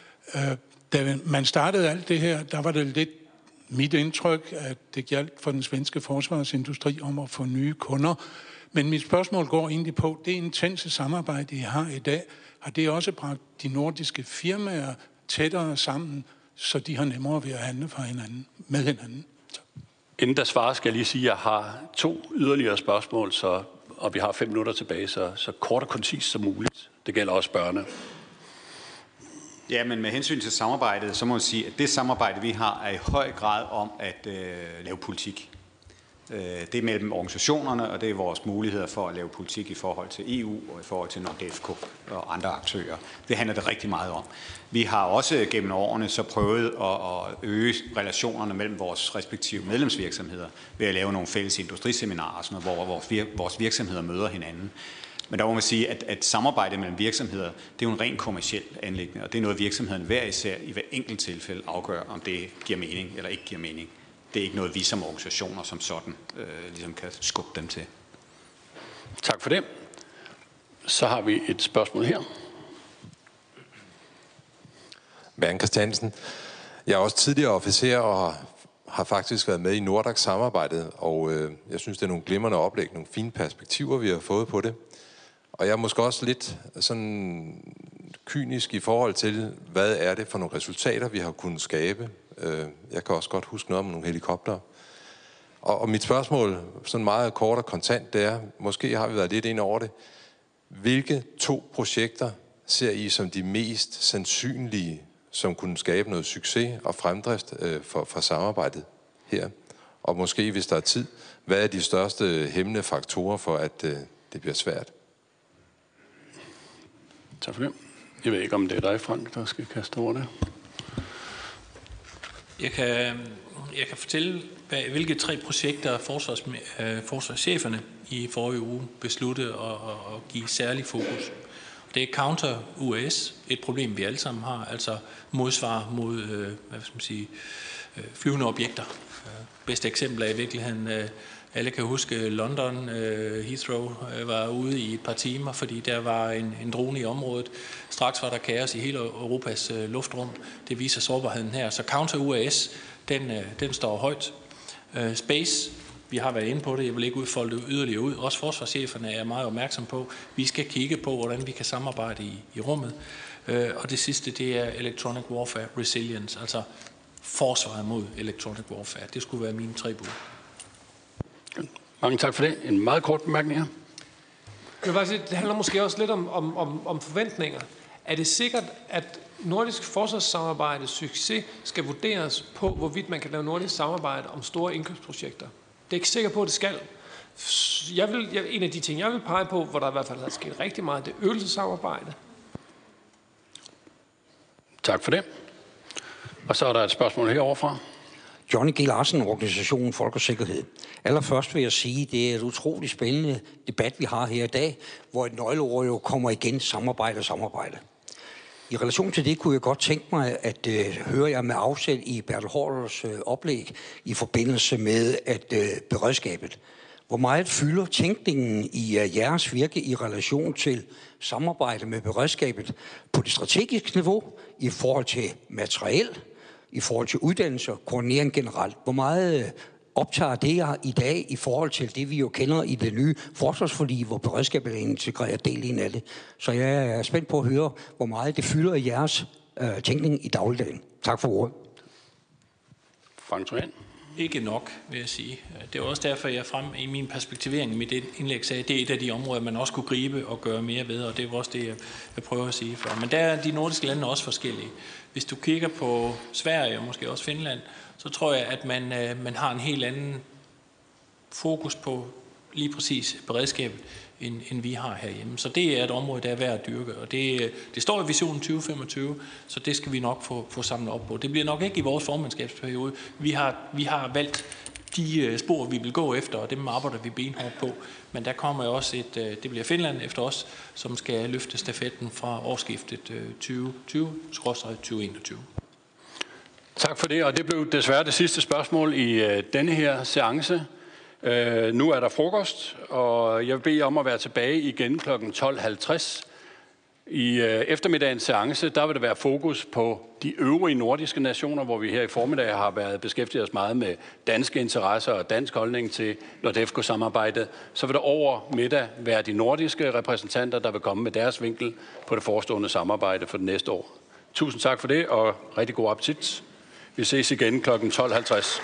Da man startede alt det her, der var det lidt mit indtryk, at det gjaldt for den svenske forsvarsindustri om at få nye kunder. Men mit spørgsmål går egentlig på, det intense samarbejde, I har i dag, har det også bragt de nordiske firmaer tættere sammen, så de har nemmere ved at handle for hinanden, med hinanden? Så. Inden der svarer, skal jeg lige sige, at jeg har to yderligere spørgsmål, så og vi har fem minutter tilbage, så, så kort og koncis som muligt. Det gælder også børne. Ja, men med hensyn til samarbejdet, så må man sige, at det samarbejde, vi har, er i høj grad om at øh, lave politik. Øh, det er mellem organisationerne, og det er vores muligheder for at lave politik i forhold til E U og i forhold til NORDEFCO og andre aktører. Det handler det rigtig meget om. Vi har også gennem årene så prøvet at, at øge relationerne mellem vores respektive medlemsvirksomheder ved at lave nogle fælles industriseminarer, sådan noget, hvor vores, vir- vores virksomheder møder hinanden. Men der må man sige, at, at samarbejde mellem virksomheder, det er jo en ren kommerciel anliggende, og det er noget, virksomheden hver især i hver enkelt tilfælde afgør, om det giver mening eller ikke giver mening. Det er ikke noget, vi som organisationer som sådan øh, ligesom kan skubbe dem til. Tak for det. Så har vi et spørgsmål her. Bernd Christiansen. Jeg er også tidligere officer og har faktisk været med i Nordax-samarbejdet, og øh, jeg synes, det er nogle glimrende oplæg, nogle fine perspektiver, vi har fået på det. Og jeg er måske også lidt sådan kynisk i forhold til, hvad er det for nogle resultater, vi har kunnet skabe. Jeg kan også godt huske noget om nogle helikoptere. Og, og mit spørgsmål, sådan meget kort og kontant, det er, måske har vi været lidt ind over det. Hvilke to projekter ser I som de mest sandsynlige, som kunne skabe noget succes og fremdrift øh, for, for samarbejdet her? Og måske, hvis der er tid, hvad er de største hæmmende faktorer for, at øh, det bliver svært? Tak for det. Jeg ved ikke, om det er dig, Frank, der skal kaste over det. Jeg kan, jeg kan fortælle, hvilke tre projekter forsvars, øh, forsvarscheferne i forrige uge besluttede at, at give særlig fokus. Det er counter U A S, et problem vi alle sammen har, altså modsvar mod øh, hvad skal man sige, øh, flyvende objekter. Øh, bedste eksempel er i virkeligheden, øh, alle kan huske London, øh, Heathrow øh, var ude i et par timer, fordi der var en, en drone i området. Straks var der kaos i hele Europas øh, luftrum. Det viser sårbarheden her. Så counter U A S, den, øh, den står højt. Øh, space, vi har været inde på det, jeg vil ikke udfolde det yderligere ud. Også forsvarscheferne er meget opmærksom på, vi skal kigge på, hvordan vi kan samarbejde i, i rummet. Øh, og det sidste, det er electronic warfare resilience, altså forsvaret mod electronic warfare. Det skulle være mine tre bud. Mange tak for det. En meget kort bemærkning her. Jeg vil bare sige, det handler måske også lidt om, om, om, om forventninger. Er det sikkert, at nordisk forsvarssamarbejdes succes skal vurderes på, hvorvidt man kan lave nordisk samarbejde om store indkøbsprojekter? Det er ikke sikker på, at det skal. Jeg vil, jeg, en af de ting, jeg vil pege på, hvor der i hvert fald har sket rigtig meget, det er øvelsessamarbejde. Tak for det. Og så er der et spørgsmål heroverfra. Johnny G. Larsen, organisationen Folk og Sikkerhed. Allerførst vil jeg sige, at det er et utroligt spændende debat, vi har her i dag, hvor et nøgleord jo kommer igen, samarbejde og samarbejde. I relation til det kunne jeg godt tænke mig at øh, høre jer med afsæt i Bertel Haarders øh, oplæg i forbindelse med at øh, beredskabet. Hvor meget fylder tænkningen i uh, jeres virke i relation til samarbejde med beredskabet på det strategiske niveau i forhold til materiel, i forhold til uddannelse og koordinering generelt? Hvor meget optager det jer i dag i forhold til det, vi jo kender i det nye forsvarsforlig, hvor beredskabet er en integreret del ind af det? Så jeg er spændt på at høre, hvor meget det fylder i jeres øh, tænkning i dagligdagen. Tak for ordet. Frank Thorén. Ikke nok, vil jeg sige. Det er også derfor, jeg frem i min perspektivering i mit indlæg sagde, at det er et af de områder, man også kunne gribe og gøre mere ved, og det er også det, jeg prøver at sige før. Men der er de nordiske lande også forskellige. Hvis du kigger på Sverige og måske også Finland, så tror jeg, at man, man har en helt anden fokus på lige præcis beredskabet, end, end vi har herhjemme. Så det er et område, der er værd at dyrke, og det, det står i visionen tyve femogtyve, så det skal vi nok få, få samlet op på. Det bliver nok ikke i vores formandskabsperiode. Vi har, vi har valgt de spor, vi vil gå efter, og dem arbejder vi benhårdt på. Men der kommer jo også et, det bliver Finland efter os, som skal løfte stafetten fra årsskiftet tyve tyve til tyve enogtyve. Tak for det, og det blev desværre det sidste spørgsmål i denne her seance. Uh, nu er der frokost, og jeg vil bede om at være tilbage igen klokken tolv halvtreds. I uh, eftermiddagens seance, der vil der være fokus på de øvrige nordiske nationer, hvor vi her i formiddag har været beskæftiget os meget med danske interesser og dansk holdning til NORDEFCO-samarbejdet. Så vil der over middag være de nordiske repræsentanter, der vil komme med deres vinkel på det forestående samarbejde for det næste år. Tusind tak for det, og rigtig god appetit. Vi ses igen klokken tolv halvtreds.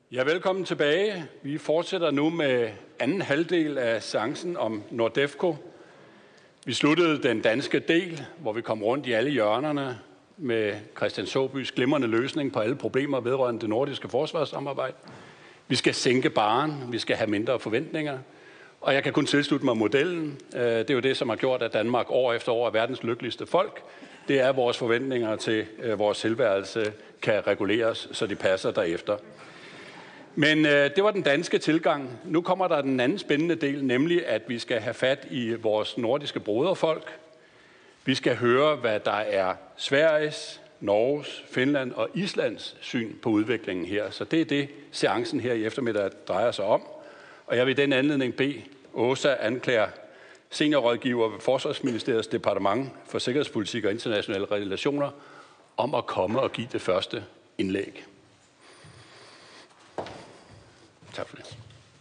Ja, velkommen tilbage. Vi fortsætter nu med anden halvdel af seancen om NORDEFCO. Vi sluttede den danske del, hvor vi kom rundt i alle hjørnerne med Christian Såbys glimrende løsning på alle problemer vedrørende det nordiske forsvarssamarbejde. Vi skal sænke barren, vi skal have mindre forventninger, og jeg kan kun tilslutte mig modellen. Det er jo det, som har gjort, at Danmark år efter år er verdens lykkeligste folk. Det er, at vores forventninger til vores tilværelse kan reguleres, så de passer derefter. Men øh, det var den danske tilgang. Nu kommer der den anden spændende del, nemlig at vi skal have fat i vores nordiske broderfolk. Vi skal høre, hvad der er Sveriges, Norges, Finland og Islands syn på udviklingen her. Så det er det, seancen her i eftermiddag drejer sig om. Og jeg vil i den anledning bede Åsa Anklager, seniorrådgiver ved Forsvarsministeriets Departement for Sikkerhedspolitik og Internationale Relationer, om at komme og give det første indlæg. Tak for det.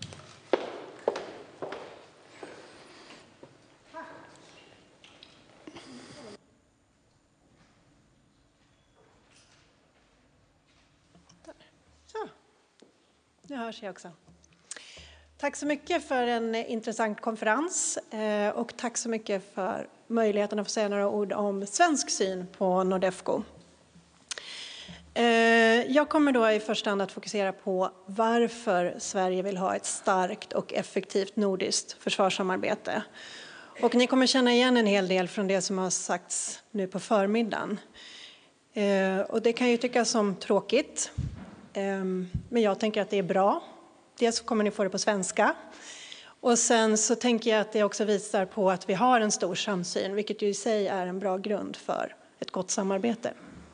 Så, nu hörs jag också. Tack så mycket för en intressant konferens och tack så mycket för möjligheten att få säga några ord om svensk syn på NORDEFCO. Jag kommer då i första hand att fokusera på varför Sverige vill ha ett starkt och effektivt nordiskt försvarssamarbete. Och ni kommer känna igen en hel del från det som har sagts nu på förmiddagen. Och det kan ju tyckas som tråkigt, men jag tänker att det är bra. Dels så kommer ni få det på svenska. Och sen så tänker jag att det också visar på att vi har en stor samsyn, vilket ju i sig är en bra grund för ett gott samarbete.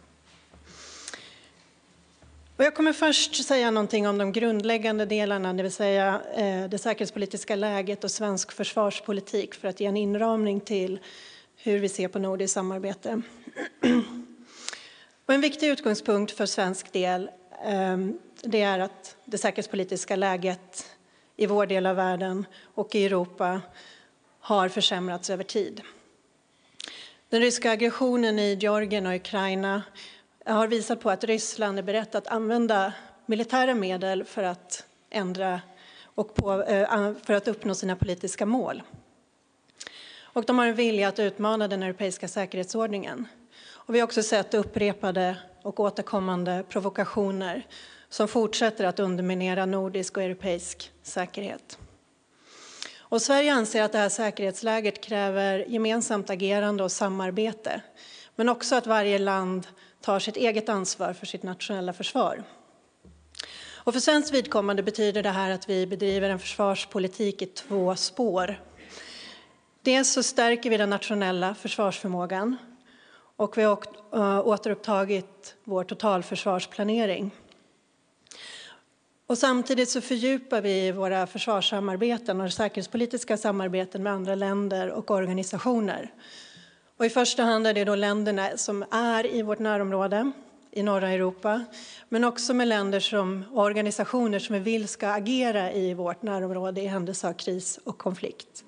Och jag kommer först säga någonting om de grundläggande delarna, det vill säga eh, det säkerhetspolitiska läget och svensk försvarspolitik för att ge en inramning till hur vi ser på nordiskt samarbete. Och en viktig utgångspunkt för svensk del eh, det är att det säkerhetspolitiska läget i vår del av världen och i Europa har försämrats över tid. Den ryska aggressionen i Georgien och Ukraina har visat på att Ryssland är berett att använda militära medel för att ändra och på, för att uppnå sina politiska mål. Och de har en vilja att utmana den europeiska säkerhetsordningen. Och vi har också sett upprepade och återkommande provokationer som fortsätter att underminera nordisk och europeisk säkerhet. Och Sverige anser att det här säkerhetsläget kräver gemensamt agerande och samarbete, men också att varje land tar sitt eget ansvar för sitt nationella försvar. Och för svenskt vidkommande betyder det här att vi bedriver en försvarspolitik i två spår. Dels så stärker vi den nationella försvarsförmågan och vi har återupptagit vår totalförsvarsplanering. Och samtidigt så fördjupar vi våra försvarssamarbeten och säkerhetspolitiska samarbeten med andra länder och organisationer. Och i första hand är det då länderna som är i vårt närområde i norra Europa, men också med länder som organisationer som vi vill ska agera i vårt närområde i händelse av kris och konflikt.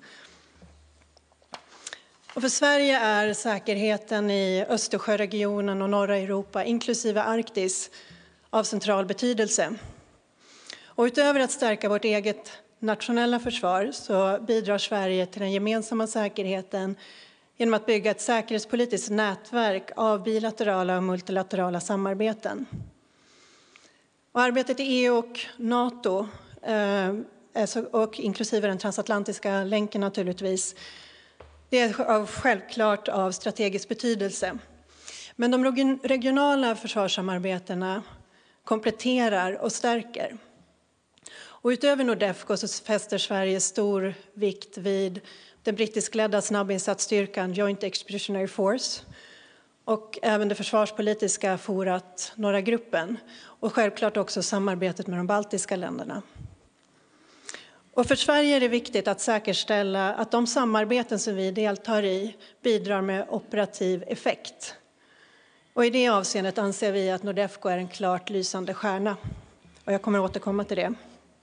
Och för Sverige är säkerheten i Östersjöregionen och norra Europa, inklusive Arktis, av central betydelse. Och utöver att stärka vårt eget nationella försvar så bidrar Sverige till den gemensamma säkerheten genom att bygga ett säkerhetspolitiskt nätverk av bilaterala och multilaterala samarbeten. Och arbetet i E U och NATO, och inklusive den transatlantiska länken naturligtvis, det är självklart av strategisk betydelse. Men de regionala försvarssamarbetena kompletterar och stärker. Och utöver NORDEFCO så fäster Sverige stor vikt vid den brittiskledda snabbinsatsstyrkan Joint Expeditionary Force och även det försvarspolitiska forat Norra gruppen och självklart också samarbetet med de baltiska länderna. Och för Sverige är det viktigt att säkerställa att de samarbeten som vi deltar i bidrar med operativ effekt. Och i det avseendet anser vi att NORDEFCO är en klart lysande stjärna. Och jag kommer återkomma till det.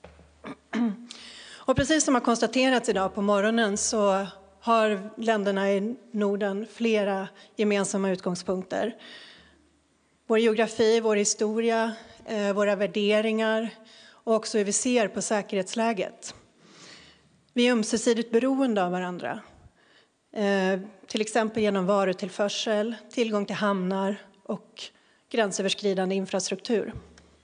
Och precis som har konstaterats idag på morgonen så har länderna i Norden flera gemensamma utgångspunkter. Vår geografi, vår historia, våra värderingar och också hur vi ser på säkerhetsläget. Vi är ömsesidigt beroende av varandra. Eh, till exempel genom varutillförsel, tillgång till hamnar och gränsöverskridande infrastruktur.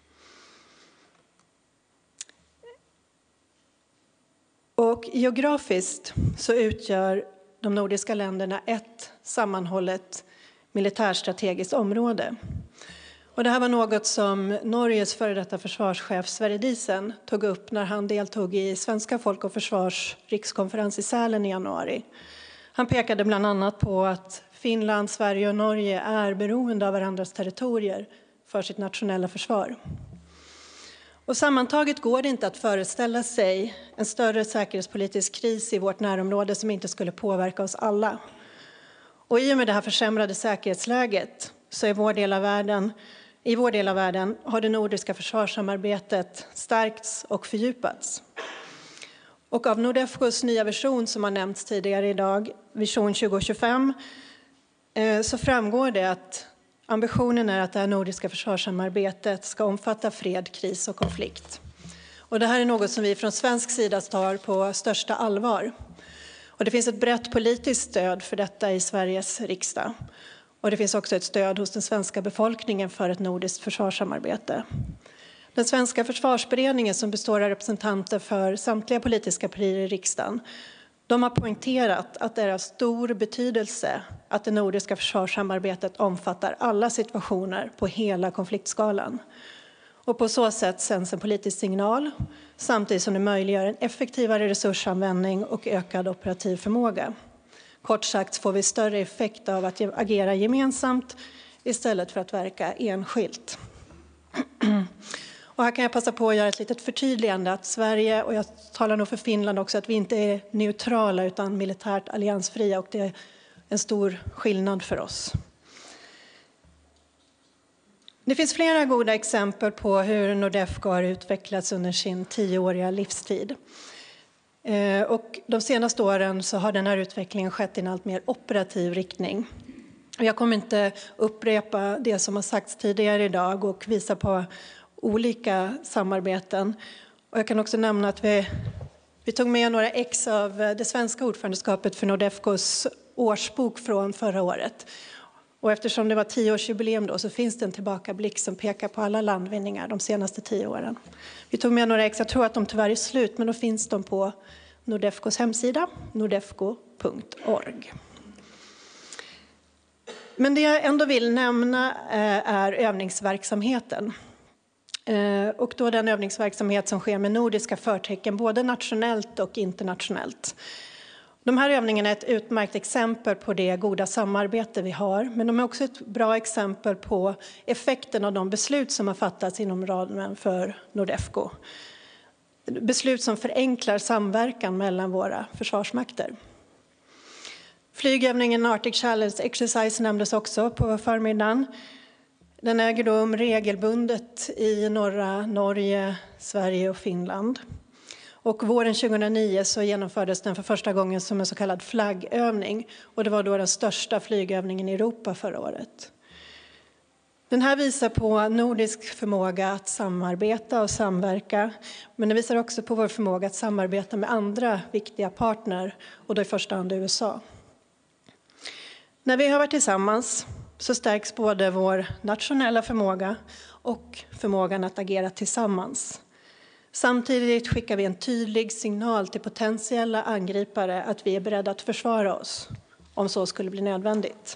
Och geografiskt så utgör de nordiska länderna ett sammanhållet militärstrategiskt område. Och det här var något som Norges före detta försvarschef Sverre Diesen tog upp när han deltog i Svenska folk- och försvars rikskonferens i Sälen i januari. Han pekade bland annat på att Finland, Sverige och Norge är beroende av varandras territorier för sitt nationella försvar. Och sammantaget går det inte att föreställa sig en större säkerhetspolitisk kris i vårt närområde som inte skulle påverka oss alla. Och i och med det här försämrade säkerhetsläget så är vår del av världen, i vår del av världen har det nordiska försvarssamarbetet stärkts och fördjupats. Och av Nordefcos nya vision som har nämnts tidigare idag, vision tjugo tjugofem, så framgår det att ambitionen är att det här nordiska försvarssamarbetet ska omfatta fred, kris och konflikt. Och det här är något som vi från svensk sida tar på största allvar. Och det finns ett brett politiskt stöd för detta i Sveriges riksdag. Och det finns också ett stöd hos den svenska befolkningen för ett nordiskt försvarssamarbete. Den svenska försvarsberedningen, som består av representanter för samtliga politiska partier i riksdagen, de har poängterat att det är av stor betydelse att det nordiska försvarssamarbetet omfattar alla situationer på hela konfliktskalan. Och på så sätt sänds en politisk signal samtidigt som det möjliggör en effektivare resursanvändning och ökad operativ förmåga. Kort sagt får vi större effekt av att agera gemensamt istället för att verka enskilt. Och här kan jag passa på att göra ett litet förtydligande att Sverige, och jag talar nog för Finland också, att vi inte är neutrala utan militärt alliansfria, och det är en stor skillnad för oss. Det finns flera goda exempel på hur Nordefco har utvecklats under sin tioåriga livstid. Och de senaste åren så har den här utvecklingen skett i en allt mer operativ riktning. Jag kommer inte upprepa det som har sagts tidigare idag och visa på olika samarbeten. Och jag kan också nämna att vi, vi tog med några ex av det svenska ordförandeskapet för Nordefcos årsbok från förra året. Och eftersom det var tioårsjubileum då så finns det en tillbakablick som pekar på alla landvinningar de senaste tio åren. Vi tog med några ex, jag tror att de tyvärr är slut, men då finns de på Nordefcos hemsida, nordefco punkt org. Men det jag ändå vill nämna är övningsverksamheten. Och då den övningsverksamhet som sker med nordiska förtecken, både nationellt och internationellt. De här övningarna är ett utmärkt exempel på det goda samarbete vi har, men de är också ett bra exempel på effekten av de beslut som har fattats inom ramen för Nordefco. Beslut som förenklar samverkan mellan våra försvarsmakter. Flygövningen Arctic Challenge Exercise nämndes också på förmiddagen. Den äger rum regelbundet i norra Norge, Sverige och Finland. Och våren tjugohundranio så genomfördes den för första gången som en så kallad flaggövning. Och det var då den största flygövningen i Europa förra året. Den här visar på nordisk förmåga att samarbeta och samverka. Men den visar också på vår förmåga att samarbeta med andra viktiga partner. Och då i första hand U S A. När vi har varit tillsammans så stärks både vår nationella förmåga och förmågan att agera tillsammans. Samtidigt skickar vi en tydlig signal till potentiella angripare att vi är beredda att försvara oss om så skulle bli nödvändigt.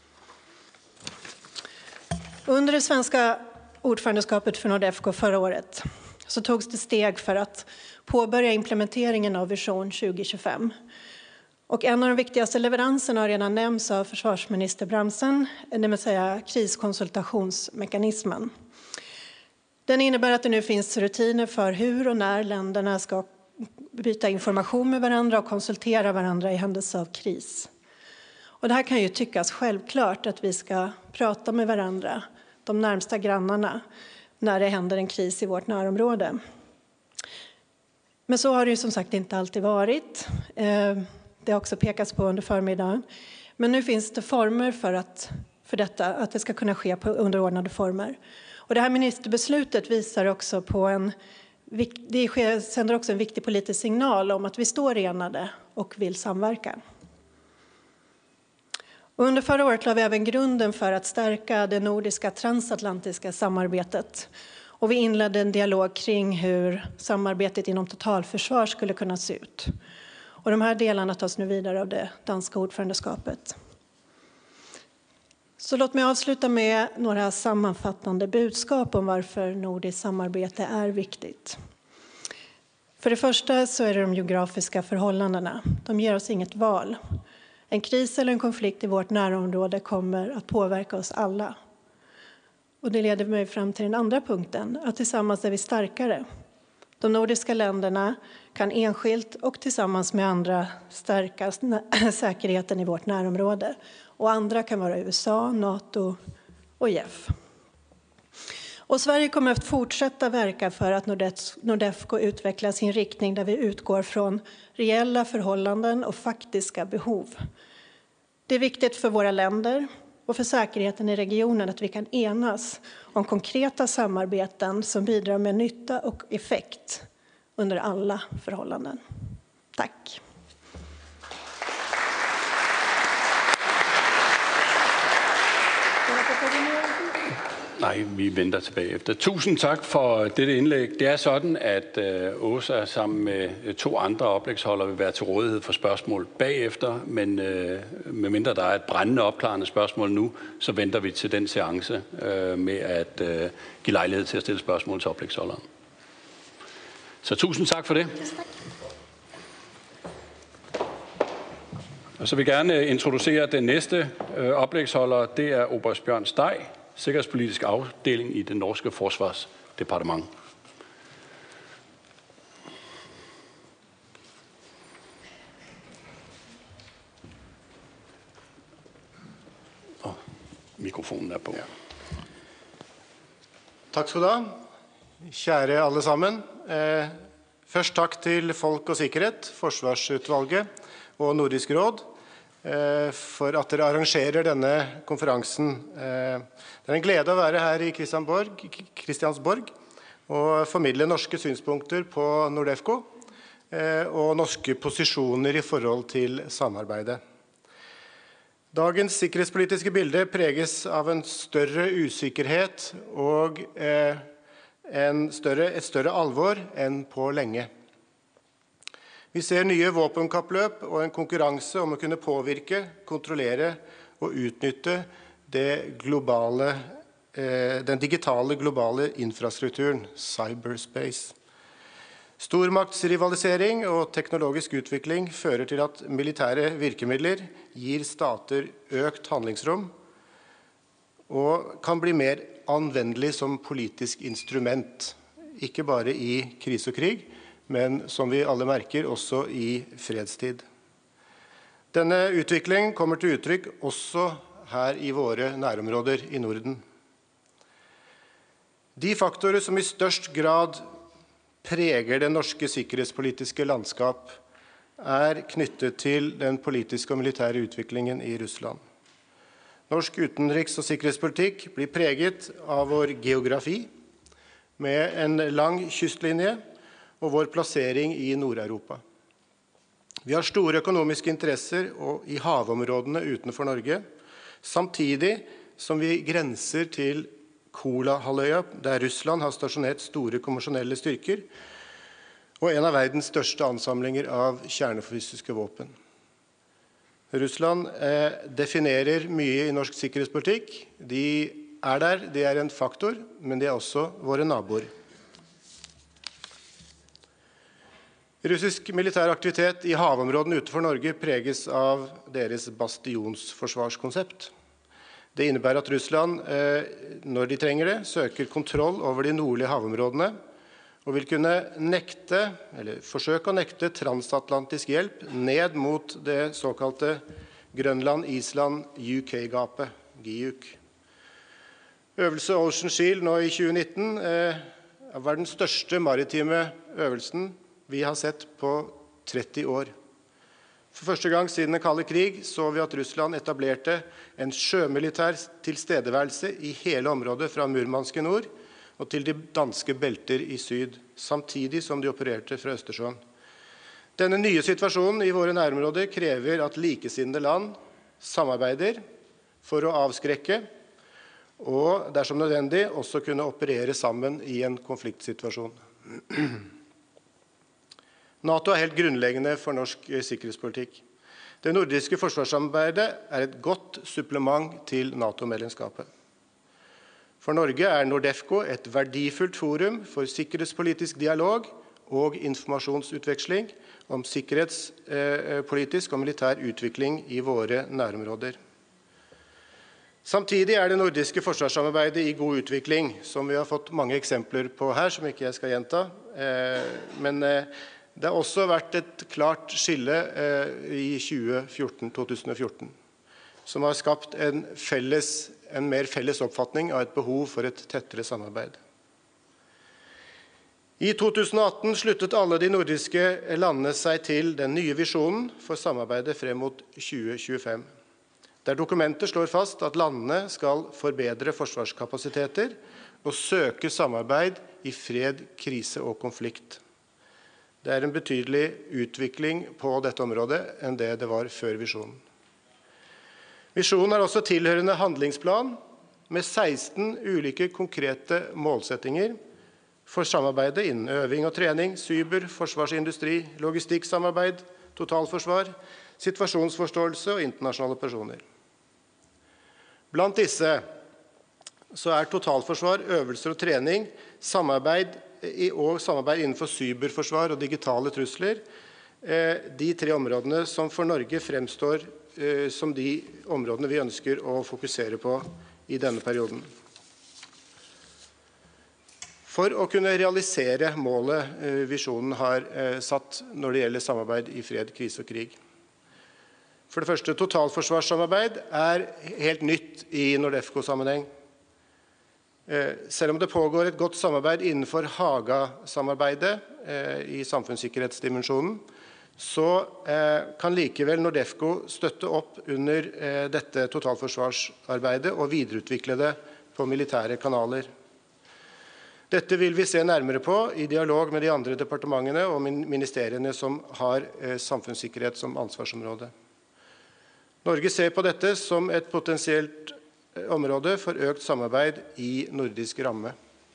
Under det svenska ordförandeskapet för Nordefco förra året så togs det steg för att påbörja implementeringen av vision tjugo tjugofem. Och en av de viktigaste leveranserna har redan nämnts av försvarsminister Bramsen, det vill säga kriskonsultationsmekanismen. Den innebär att det nu finns rutiner för hur och när länderna ska byta information med varandra och konsultera varandra i händelse av kris. Och det här kan ju tyckas självklart att vi ska prata med varandra, de närmsta grannarna, när det händer en kris i vårt närområde. Men så har det ju som sagt inte alltid varit. Det har också pekats på under förmiddagen. Men nu finns det former för, att, för detta, att det ska kunna ske på underordnade former. Och det här ministerbeslutet visar också på en det sänder också en viktig politisk signal om att vi står enade och vill samverka. Och under förra året la vi även grunden för att stärka det nordiska transatlantiska samarbetet. Och vi inledde en dialog kring hur samarbetet inom totalförsvar skulle kunna se ut. Och de här delarna tas nu vidare av det danska ordförandeskapet. Så låt mig avsluta med några sammanfattande budskap om varför nordiskt samarbete är viktigt. För det första så är det de geografiska förhållandena. De ger oss inget val. En kris eller en konflikt i vårt närområde kommer att påverka oss alla. Och det leder mig fram till den andra punkten, att tillsammans är vi starkare. De nordiska länderna kan enskilt och tillsammans med andra stärka säkerheten i vårt närområde. Och andra kan vara U S A, NATO och I E F. Och Sverige kommer att fortsätta verka för att Nordefco utvecklar sin riktning där vi utgår från reella förhållanden och faktiska behov. Det är viktigt för våra länder och för säkerheten i regionen att vi kan enas om konkreta samarbeten som bidrar med nytta och effekt under alla förhållanden. Tack. Nej, vi venter tilbage efter. Tusind tak for dette indlæg. Det er sådan, at øh, Åsa sammen med to andre oplægsholdere vil være til rådighed for spørgsmål bagefter, men øh, medmindre der er et brændende opklarende spørgsmål nu, så venter vi til den seance øh, med at øh, give lejlighed til at stille spørgsmål til oplægsholderen. Så tusind tak for det. Og så vil jeg gerne introducere den næste øh, oplægsholder. Det er oberst Bjørn Steg, sikkerhedspolitisk afdeling i det norske forsvarsdepartement. Og mikrofonen er på. Ja. Takk skal du ha. Kjære alle sammen. Eh, først takk til Folk og Sikkerhet, Forsvarsutvalget og Nordisk Råd eh, for at dere arrangerer denne konferansen. Eh, det er en glede å være her i Kristiansborg, Kristiansborg og formidle norske synspunkter på Nordefco eh, og norske posisjoner i forhold til samarbeidet. Dagens sikkerhetspolitiske bilde preges av en større usikkerhet og eh, en større, et større alvor enn på lenge. Vi ser nye våpenkappløp og en konkurranse om å kunne påvirke, kontrollere og utnytte det globale, eh, den digitale globale infrastrukturen, cyberspace. Stormaktsrivalisering og teknologisk utvikling fører til at militære virkemidler gir stater økt handlingsrom og kan bli mer anvendelig som politisk instrument, ikke bare i krise og krig, men som vi alle merker også i fredstid. Denne utviklingen kommer til uttrykk også her i våre nærområder i Norden. De faktorer som i størst grad preger det norske sikkerhetspolitiske landskap er knyttet til den politiske og militære utviklingen i Russland. Norsk utenriks- og sikkerhetspolitikk blir preget av vår geografi, med en lang kystlinje og vår plassering i Nord-Europa. Vi har store økonomiske interesser i havområdene utenfor Norge, samtidig som vi grenser til Kolahalvøya, der Russland har stasjonert store konvensjonelle styrker, og en av verdens største ansamlinger av kjernefysiske våpen. Russland eh, definerer mye i norsk sikkerhetspolitikk. De er der, det er en faktor, men de er også våre naboer. Russisk militær aktivitet i havområdene utenfor Norge preges av deres bastionsforsvarskonsept. Det innebærer at Russland, eh, når de trenger det, søker kontroll over de nordlige havområdene, og vil kunne nekte, eller forsøke å nekte transatlantisk hjelp ned mot det såkalte Grønland-Island-U K-gapet, G I U K. Øvelse Ocean Shield nå i tjue nitten eh, var den største maritime øvelsen vi har sett på tretti år. For første gang siden den kalde krig så vi at Russland etablerte en sjømilitær tilstedeværelse i hele området fra Murmansk i nord og til de danske belter i syd, samtidig som de opererte fra Østersjøen. Denne nye situasjonen i våre nærområder krever at likesinnede land samarbeider for å avskrekke, og dersom nødvendig også kunne operere sammen i en konfliktsituasjon. NATO er helt grunnleggende for norsk sikkerhetspolitikk. Det nordiske forsvarssamarbeidet er et godt supplement til NATO-medlemskapet. For Norge er NORDEFCO et verdifullt forum for sikkerhetspolitisk dialog og informasjonsutveksling om sikkerhetspolitisk og militær utvikling i våre nærområder. Samtidig er det nordiske forsvarssamarbeidet i god utvikling, som vi har fått mange eksempler på her, som ikke jeg skal gjenta. Men det har også vært et klart skille i tjue fjorten til to tusen og fjorten, som har skapt en, felles, en mer felles oppfatning av et behov for et tettere samarbeid. I to tusen og atten sluttet alle de nordiske landene seg til den nye visjonen for samarbeidet frem mot tjue tjuefem, der dokumentet slår fast at landene skal forbedre forsvarskapasiteter og søke samarbeid i fred, krise og konflikt. Det er en betydelig utvikling på dette området enn det det var før visjonen. Visjonen har også tilhørende handlingsplan med seksten ulike konkrete målsettinger for samarbeidet innen øving og trening, cyber, forsvarsindustri, logistikksamarbeid, totalforsvar, situasjonsforståelse og internasjonale operasjoner. Blant disse så er totalforsvar, øvelser og trening, samarbeid og samarbeid innenfor cyberforsvar og digitale trusler, de tre områdene som for Norge fremstår som de områdene vi ønsker å fokusere på i denne perioden. For å kunne realisere målet visjonen har satt når det gjelder samarbeid i fred, krise og krig. For det første, totalforsvarssamarbeid er helt nytt i NORDEFCO-sammenheng. Selv om det pågår et godt samarbeid innenfor Haga-samarbeidet i samfunnssikkerhetsdimensjonen, så kan likevel NORDEFCO støtte opp under dette totalforsvarsarbeidet og videreutvikle det på militære kanaler. Dette vil vi se nærmere på i dialog med de andre departementene og ministeriene som har samfunnssikkerhet som ansvarsområde. Norge ser på dette som et potensielt område for økt samarbeid i nordisk ramme.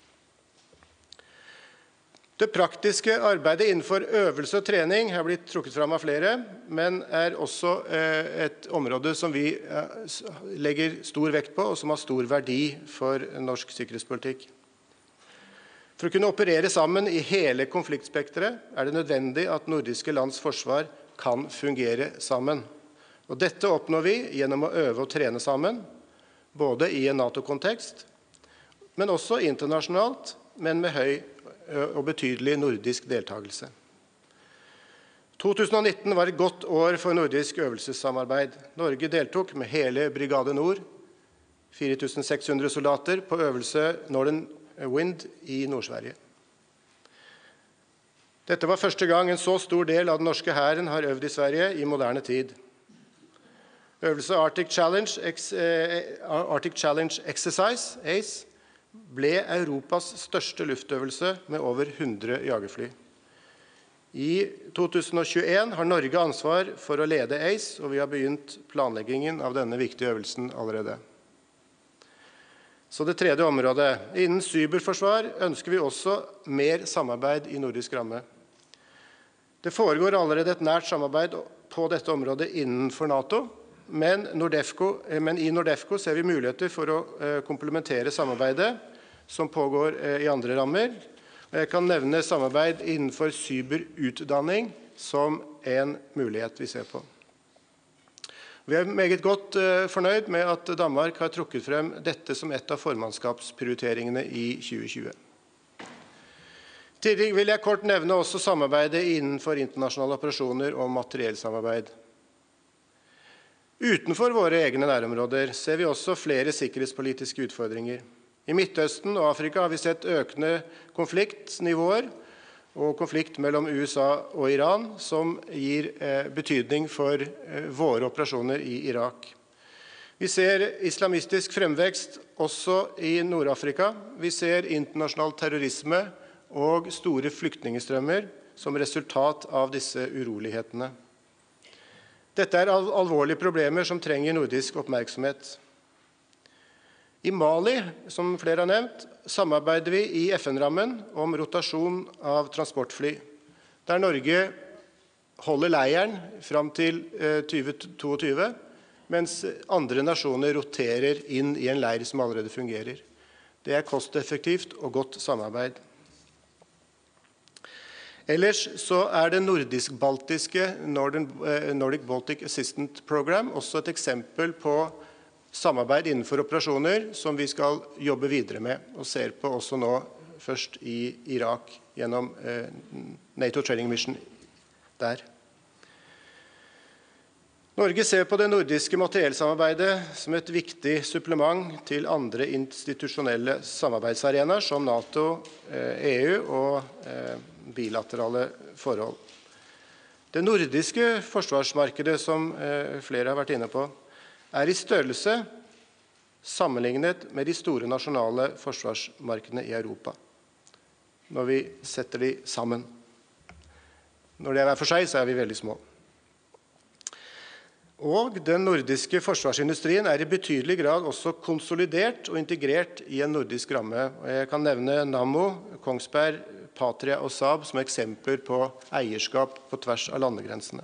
Det praktiske arbeidet innenfor øvelse og trening har blitt trukket fram av flere, men er også et område som vi legger stor vekt på og som har stor verdi for norsk sikkerhetspolitikk. For å kunne operere sammen i hele konfliktspektret er det nødvendig at nordiske lands forsvar kan fungere sammen. Og dette oppnår vi gjennom å øve og trene sammen, både i en NATO-kontekst, men også internasjonalt, men med høy og betydelig nordisk deltakelse. to tusen og nitten var et godt år for nordisk øvelsessamarbeid. Norge deltok med hele Brigade Nord, fire tusen seks hundre soldater, på øvelse Northern Wind i Nord-Sverige. Dette var første gang en så stor del av den norske hæren har øvd i Sverige i moderne tid. Øvelse Arctic Challenge, Arctic Challenge Exercise, A C E, ble Europas største luftøvelse med over hundre jagerfly. I to tusen og tjueen har Norge ansvar for å lede A C E, og vi har begynt planleggingen av denne viktige øvelsen allerede. Så det tredje området. Innen cyberforsvar ønsker vi også mer samarbeid i nordisk ramme. Det foregår allerede et nært samarbeid på dette området innenfor NATO, men, NORDEFCO, men i NORDEFCO ser vi muligheter for å komplementere samarbeidet som pågår i andre rammer. Jeg kan nevne samarbeid innenfor cyberutdanning som en mulighet vi ser på. Vi er meget godt fornøyd med at Danmark har trukket frem dette som et av formannskapsprioriteringene i tjue tjue. Tidligere vil jeg kort nevne også samarbeidet innenfor internasjonale operasjoner og materiellsamarbeid. Utenfor våre egne nærområder ser vi også flere sikkerhetspolitiske utfordringer. I Midtøsten og Afrika har vi sett økende konfliktnivåer og konflikt mellom U S A og Iran, som gir betydning for våre operasjoner i Irak. Vi ser islamistisk fremvekst også i Nord-Afrika. Vi ser internasjonal terrorisme og store flyktningestrømmer som resultat av disse urolighetene. Dette er alvorlige problemer som trenger nordisk oppmerksomhet. I Mali, som flere har nevnt, samarbeider vi i F N-rammen om rotasjon av transportfly, der Norge holder leiren fram til tjue tjueto, mens andre nasjoner roterer inn i en leir som allerede fungerer. Det er kosteffektivt og godt samarbeid. Ellers så er det nordisk-baltiske Nordic Baltic Assistance Program også et eksempel på samarbeid innenfor operasjoner som vi skal jobbe videre med, og ser på også nå først i Irak gjennom NATO Training Mission der. Norge ser på det nordiske materiellsamarbeidet som et viktig supplement til andre institusjonelle samarbeidsarenaer som NATO, E U og bilaterale forhold. Det nordiske forsvarsmarkedet, som flere har vært inne på, er i størrelse sammenlignet med de store nasjonale forsvarsmarkedene i Europa, når vi setter de sammen. Når det er hver for seg, så er vi veldig små. Og den nordiske forsvarsindustrien er i betydelig grad også konsolidert og integrert i en nordisk ramme. Jeg kan nevne Nammo, Kongsberg, Patria og Saab som eksempler på eierskap på tvers av landegrensene.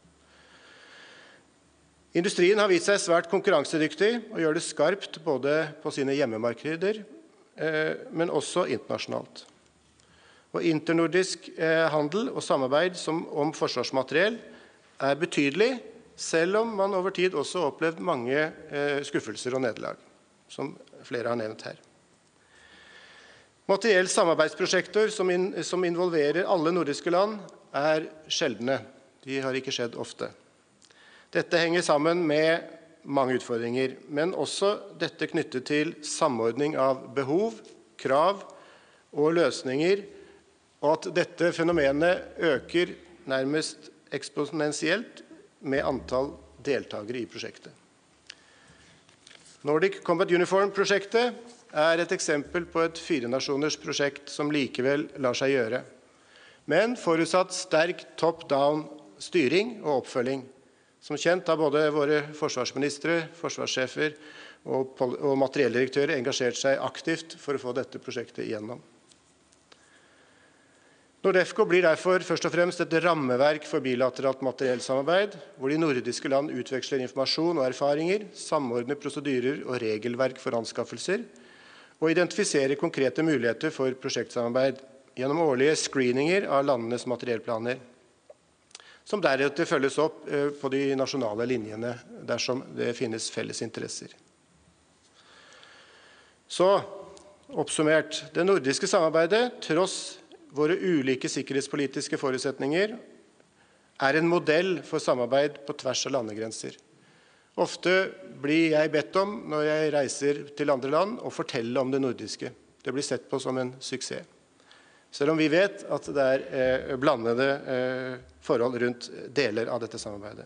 Industrien har vist seg svært konkurransedyktig og gjør det skarpt både på sine hjemmemarkeder, men også internasjonalt. Og internordisk handel og samarbeid som om forsvarsmateriell er betydelig, selv om man over tid også har opplevd mange skuffelser og nederlag, som flere har nevnt her. Materiell samarbeidsprosjekter som, in, som involverer alle nordiske land er sjeldne. De har ikke skjedd ofte. Dette henger sammen med mange utfordringer, men også dette knyttet til samordning av behov, krav og løsninger, og at dette fenomenet øker nærmest eksponentielt med antall deltagere i prosjektet. Nordic Combat Uniform-prosjektet er et eksempel på et firenasjoners prosjekt som likevel lar seg gjøre, men forutsatt sterk top-down styring og oppfølging. Som kjent har både våre forsvarsministre, forsvarssjefer og, og materielldirektører engasjert seg aktivt for å få dette prosjektet igjennom. NORDEFCO blir derfor først og fremst et rammeverk for bilateralt materiellsamarbeid, hvor de nordiske land utveksler informasjon og erfaringer, samordner prosedyrer og regelverk for anskaffelser, og identifiserer konkrete muligheter for prosjektsamarbeid gjennom årlige screeninger av landenes materiellplaner, som deretter følges opp på de nasjonale linjene dersom det finnes felles interesser. Så, oppsummert, det nordiske samarbeidet, tross våre ulike sikkerhetspolitiske forutsetninger, er en modell for samarbeid på tvers av landegrenser. Ofte blir jeg bedt om, når jeg reiser til andre land, å fortelle om det nordiske. Det blir sett på som en suksess. Selv om vi vet at det er eh, blandede eh, forhold rundt deler av dette samarbeidet.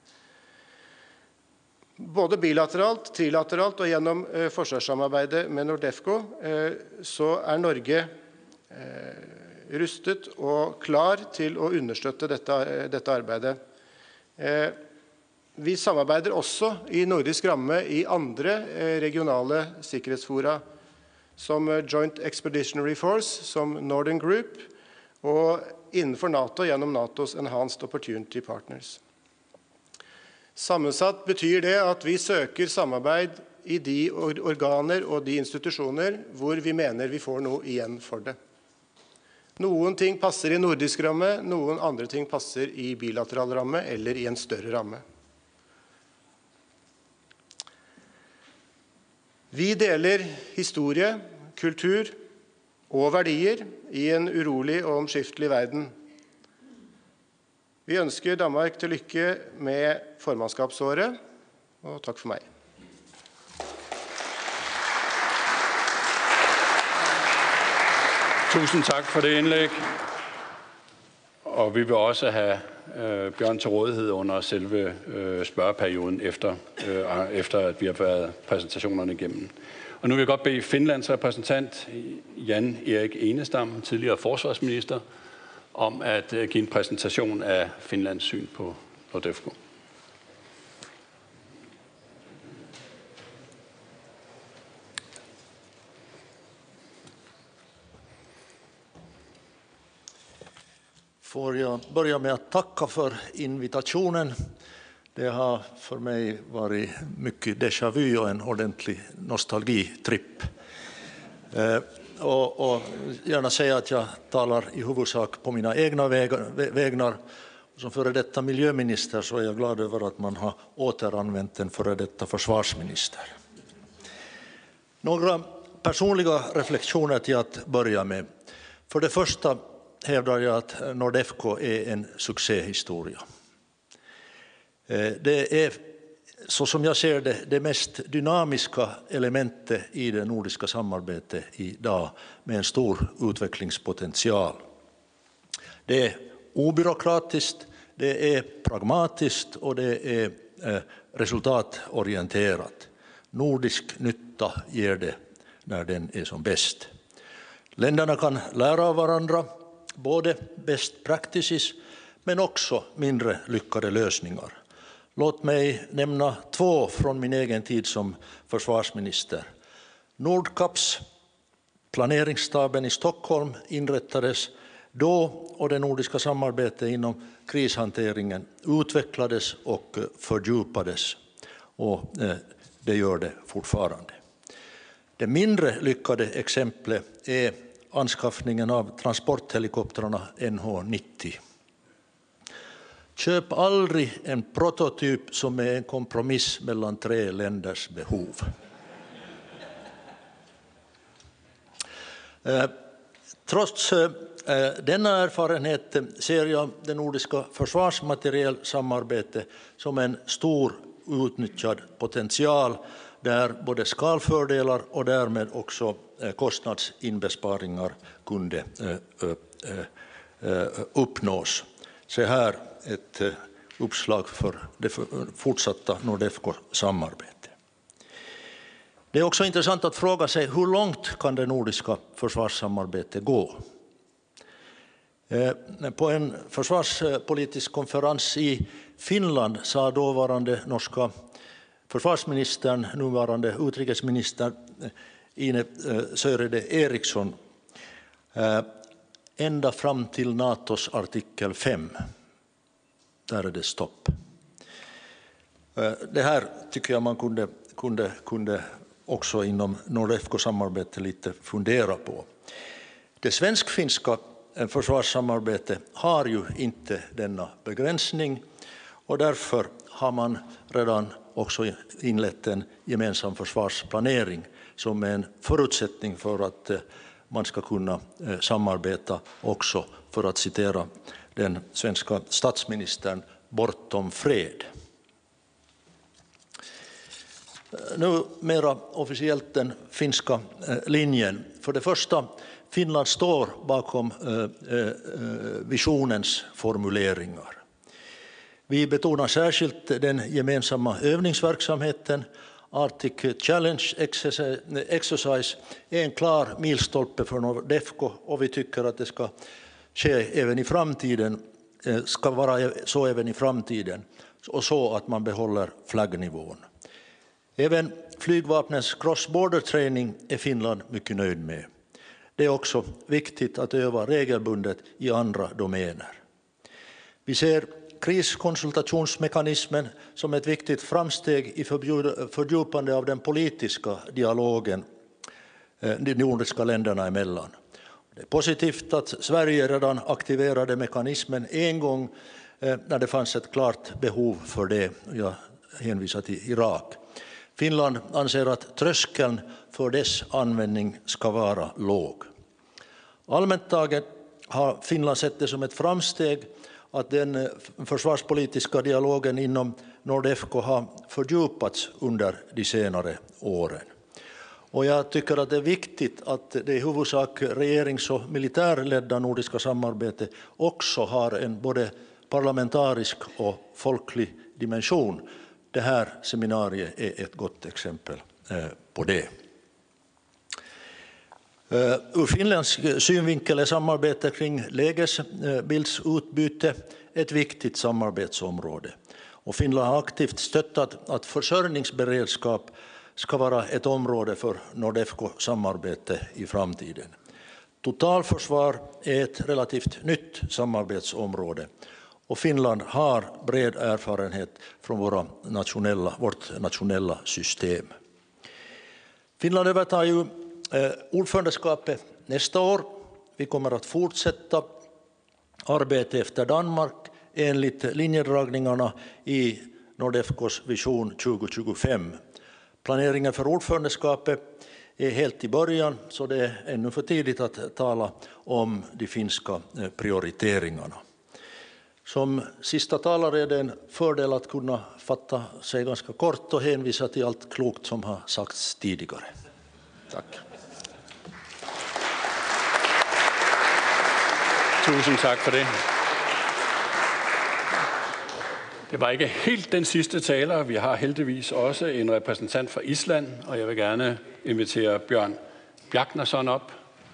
Både bilateralt, trilateralt og gjennom eh, forsvarssamarbeidet med NORDEFCO, eh, så er Norge eh, rustet og klar til å understøtte dette, dette arbeidet. Eh, vi samarbeider også i nordisk ramme i andre eh, regionale sikkerhetsfora, som Joint Expeditionary Force, som Northern Group, og innenfor NATO gjennom NATO's Enhanced Opportunity Partners. Sammensatt betyr det at vi søker samarbeid i de organer og de institusjoner hvor vi mener vi får noe igjen for det. Noen ting passer i nordisk ramme, noen andre ting passer i bilateral ramme eller i en større ramme. Vi deler historie, kultur og verdier i en urolig og omskiftelig verden. Vi ønsker Danmark til lykke med formannskapsåret, og takk for meg. Tusind tak for det indlæg, og vi vil også have øh, Bjørn til rådighed under selve øh, spørgeperioden, efter, øh, efter at vi har været præsentationerne igennem. Og nu vil jeg godt bede Finlands repræsentant, Jan Erik Enestam, tidligere forsvarsminister, om at øh, give en præsentation af Finlands syn på NORDEFCO. Får jag börja med att tacka för invitationen. Det har för mig varit mycket déjà vu och en ordentlig nostalgitripp. Eh, och, och gärna säga att jag talar i huvudsak på mina egna vägnar. Som före detta miljöminister så är jag glad över att man har återanvänt en före detta försvarsminister. Några personliga reflektioner till att börja med. För det första hävdar jag att NORDEFCO är en succéhistoria. Det är, så som jag ser det, det mest dynamiska elementet i det nordiska samarbetet idag, med en stor utvecklingspotential. Det är obyråkratiskt, det är pragmatiskt och det är resultatorienterat. Nordisk nytta ger det när den är som bäst. Länderna kan lära av varandra, både best practices men också mindre lyckade lösningar. Låt mig nämna två från min egen tid som försvarsminister. Nordkaps, planeringsstaben i Stockholm, inrättades då och det nordiska samarbetet inom krishanteringen utvecklades och fördjupades, och det gör det fortfarande. Det mindre lyckade exemplet är anskaffningen av transporthelikoptrarna N H nittio. Köp aldrig en prototyp som är en kompromiss mellan tre länders behov. Trots denna erfarenhet ser jag det nordiska försvarsmaterielsamarbetet som en stor utnyttjad potential, där både skalfördelar och därmed också kostnadsinbesparingar kunde uppnås. Se här ett uppslag för det fortsatta NORDEFCO-samarbete. Det är också intressant att fråga sig hur långt kan det nordiska försvarssamarbetet gå? På en försvarspolitisk konferens i Finland sa dåvarande norska försvarsministern, nuvarande utrikesminister Ine Sörede Eriksson, ända fram till NATOs artikel fem. Där är det stopp. Det här tycker jag man kunde, kunde, kunde också inom NORDEFCO-samarbetet lite fundera på. Det svensk-finska försvarssamarbetet har ju inte denna begränsning, och därför har man redan också inlett en gemensam försvarsplanering som är en förutsättning för att man ska kunna samarbeta också, för att citera den svenska statsministern, bortom fred. Nu mera officiellt den finska linjen. För det första, Finland står bakom visionens formuleringar. Vi betonar särskilt den gemensamma övningsverksamheten. Arctic Challenge Exercise är en klar milstolpe för NORDEFCO, och vi tycker att det ska ske även i framtiden, ska vara så även i framtiden, och så att man behåller flaggnivån. Även flygvapnens cross-border training är Finland mycket nöjd med. Det är också viktigt att öva regelbundet i andra domäner. Vi ser kriskonsultationsmekanismen som ett viktigt framsteg i fördjupande av den politiska dialogen de nordiska länderna emellan. Det är positivt att Sverige redan aktiverade mekanismen en gång när det fanns ett klart behov för det. Jag hänvisar till Irak. Finland anser att tröskeln för dess användning ska vara låg. Allmänt taget har Finland sett det som ett framsteg att den försvarspolitiska dialogen inom NORDEFCO har fördjupats under de senare åren. Och jag tycker att det är viktigt att det i huvudsak regerings- och militärledda nordiska samarbetet också har en både parlamentarisk och folklig dimension. Det här seminariet är ett gott exempel på det. Ur finländsk synvinkel är samarbete kring lägesbildsutbyte ett viktigt samarbetsområde. Och Finland har aktivt stöttat att försörjningsberedskap ska vara ett område för Nordefco-samarbete i framtiden. Totalförsvar är ett relativt nytt samarbetsområde och Finland har bred erfarenhet från våra nationella, vårt nationella system. Finland övertar ju eh, ordförandeskapet nästa år. Vi kommer att fortsätta arbeta efter Danmark enligt linjedragningarna i Nordefcos vision tjugo tjugofem. Planeringen för ordförandeskapet är helt i början, så det är ännu för tidigt att tala om de finska prioriteringarna. Som sista talare är det en fördel att kunna fatta sig ganska kort och hänvisa till allt klokt som har sagts tidigare. Tack. Tusind tak for det. Det var ikke helt den sidste taler. Vi har heldigvis også en repræsentant fra Island, og jeg vil gerne invitere Bjørn Bjarnason op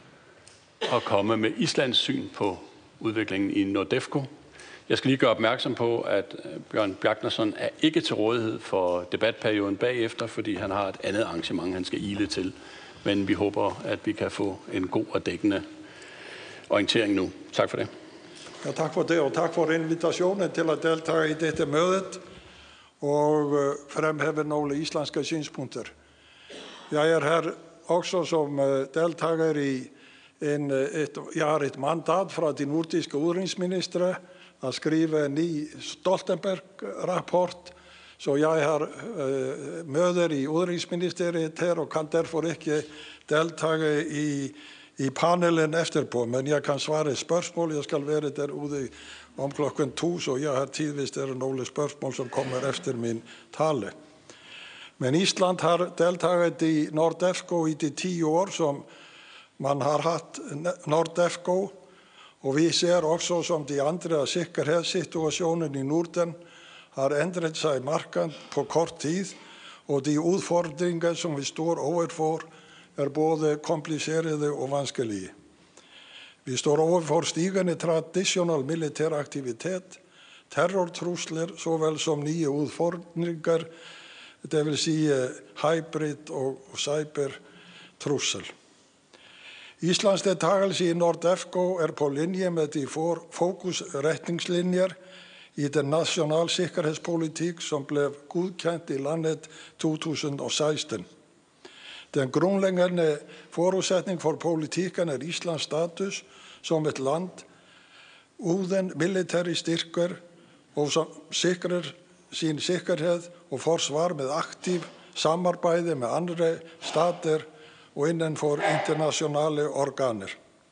og komme med Islands syn på udviklingen i Nordefco. Jeg skal lige gøre opmærksom på, at Bjørn Bjarnason er ikke til rådighed for debatperioden bagefter, fordi han har et andet arrangement, han skal ile til. Men vi håber, at vi kan få en god og dækkende orientering nu. Tak for det. Ja, takk for det, og takk for invitationen til at delta i dette møtet og fremheve nogle islandske synspunkter. Jeg er her også som deltager i en, et, jeg har et mandat fra de nordiske udenrigsministre at skrive en ny Stoltenberg-rapport, så jeg har uh, møder i udenrigsministeriet her og kan derfor ikke deltage i i panelen efterpå, men jeg kan svare spørgsmål. Jeg skal være derude om klokken to, så jeg har tid, hvis det er nogle spørgsmål, som kommer efter min tale. Men Island har deltaget i Nordefco i de ti år, som man har haft Nordefco, og vi ser også, som de andre sikkerhedssituationen i Norden har ændret sig markant på kort tid, og de udfordringer, som vi står overfor, er både komplicerede og vanskelige. Vi står overfor stigende traditionel militær aktivitet, terrortrusler, såvel som nye udfordringer, det vil sige hybrid og cybertrussel. Islands deltagelse i Nordefco er på linje med de fokusretningslinjer i den nationale sikkerhedspolitik, som blev godkendt i landet to tusind og seksten. Den grundlæggende forudsætning for politikken er Islands status som et land uden militære styrker og som sikrer sin sikkerhed og forsvar med aktiv samarbejde med andre stater og inden for internationale organer.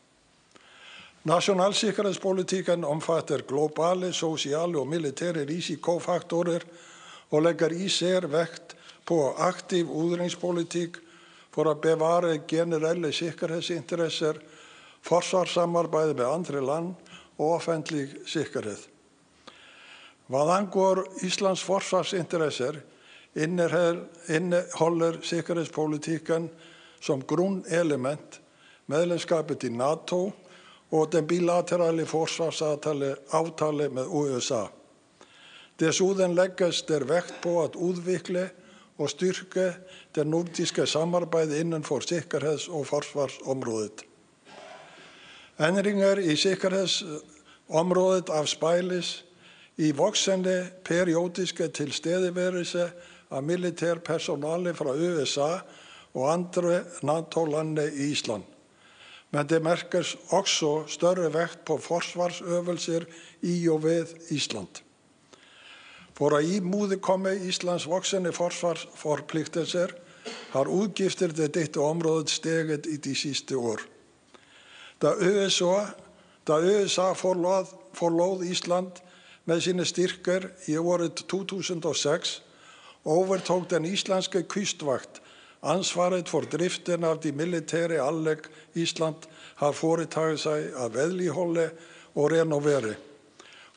Nationalsikkerhedspolitikken omfatter globale, sociale og militære risikofaktorer og lægger især vægt på aktiv udenrigspolitik for at bevare generelle sikkerhedsinteresser, forsvarssamarbejde med andre land og offentlig sikkerhed. Hvad angår Islands forsvarsinteresser, indeholder sikkerhedspolitikken som grundelement medlemskabet i NATO og den bilaterale forsvarsaftale med U S A. Desuden lægges der vægt på at udvikle og styrke det nordiske samarbejde inden for sikkerheds- og forsvarsområdet. Ændringer i sikkerhedsområdet afspejles i voksende periodiske tilstedeværelse af militær personale fra U S A og andre NATO-lande i Island. Men det mærkes også større vægt på forsvarsøvelser i og ved Island. For at imødekomme Islands voksende forsvarsforpligtelser har udgifter til dette område steget i de sidste år. Da U S A, da U S A forlod, forlod Island med sine styrker i året to tusind og seks, overtog den islandske kystvagt ansvaret for driften af de militære anlæg Island har foretaget sig at vedligeholde og renovere.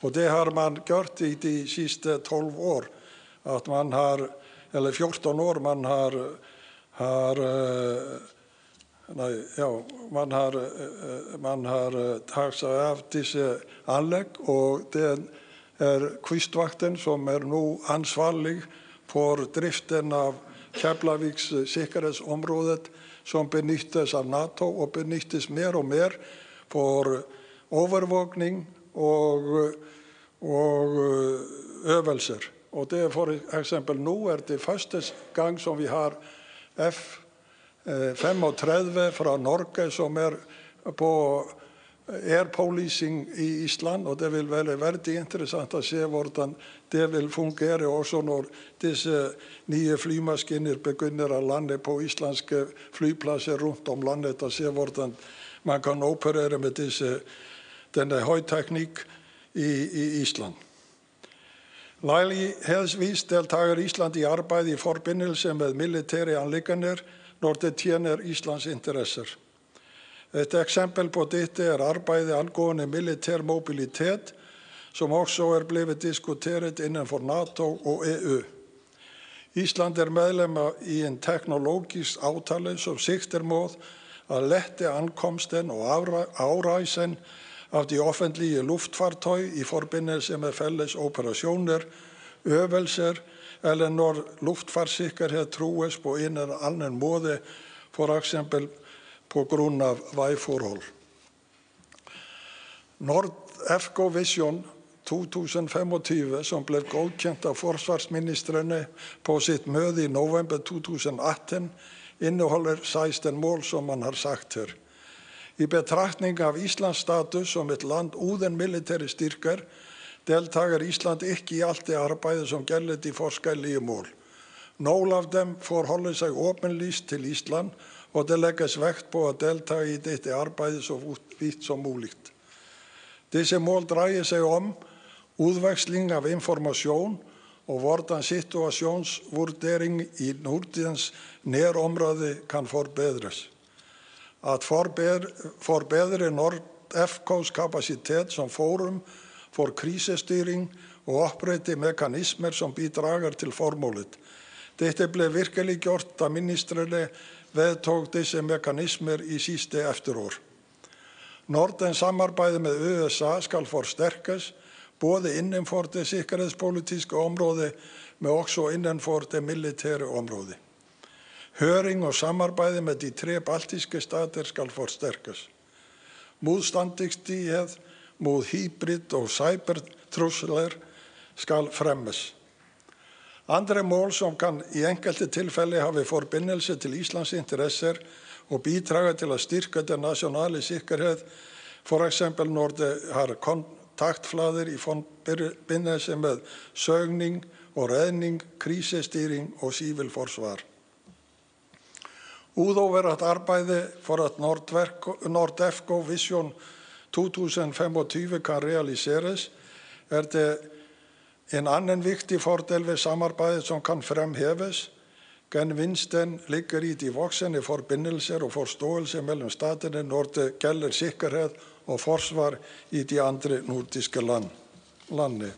Og det har man gjort i de sidste tolv år, at man har, eller fjorten år, man har, har nej, ja, man har, man har taget sig af disse anlæg, og det er Kystvakten, som er nu ansvarlig for driften av Keflavíks sikkerhedsområdet, som benyttes av NATO og benyttes mer og mer for overvåkning og, og øvelser. Og det er for eksempel nu er det første gang, som vi har F femogtredive fra Norge, som er på air policing i Island, og det vil være veldig interessant at se, hvordan det vil fungere også når disse nye flymaskiner begynder at lande på islandske flypladser rundt om landet, og se, hvordan man kan operere med disse, denne højteknik i, i Island. Lejlighedsvis deltager Island i arbejde i forbindelse med militære anliggender, når det tjener Islands interesser. Et eksempel på dette er arbejde angående militær mobilitet, som også er blevet diskuteret inden for NATO og E U. Island er medlem i en teknologisk aftale, som sigter mod at lette ankomsten og afrejsen af de offentlige luftfartøj i forbindelse med fælles operationer, øvelser, eller når luftfartssikkerhed trues på en eller anden måde, for eksempel på grund af vejforhold. NordEFCO Vision to tusind femogtyve, som blev godkendt af forsvarsministrene på sit møde i november to tusind atten, indeholder seksten mål, som man har sagt her. I betragtning af Islands status som et land uden militære styrker, deltager Island ikke i alt det arbejde, som gælder de forskellige mål. Nogle af dem forholder sig åbenlyst til Island, og det lægges vægt på at deltage i dette arbejde så vidt som muligt. Disse mål drejer sig om udveksling af information og hvordan situationsvurdering i Nordens nærområde kan forbedres. At forbedre, forbedre NordEFCOs kapacitet som forum for krisestyring og oprette mekanismer, som bidrager til formålet. Dette blev virkelig gjort, da ministrene vedtog disse mekanismer i sidste efterår. Nordens samarbejde med U S A skal forstærkes, både inden for det sikkerhedspolitiske område, men også inden for det militære område. Høring og samarbejde med de tre baltiske stater skal forstærkes. Modstandsdygtighed mod hybrid- og cybertrusler skal fremmes. Andre mål, som kan i enkelte tilfælde have forbindelse til Islands interesser og bidrage til at styrke den nationale sikkerhed, for eksempel når det har kontaktflader i forbindelse med søgning og redning, krisestyring og civilforsvar. Udover at arbejde for at NordEFCO Vision to tusind femogtyve kan realiseres, er det en anden vigtig fordel ved samarbejdet, som kan fremhæves. Gevinsten ligger i de voksende forbindelser og forståelse mellem staterne, når det gælder sikkerhed og forsvar i de andre nordiske land, lande.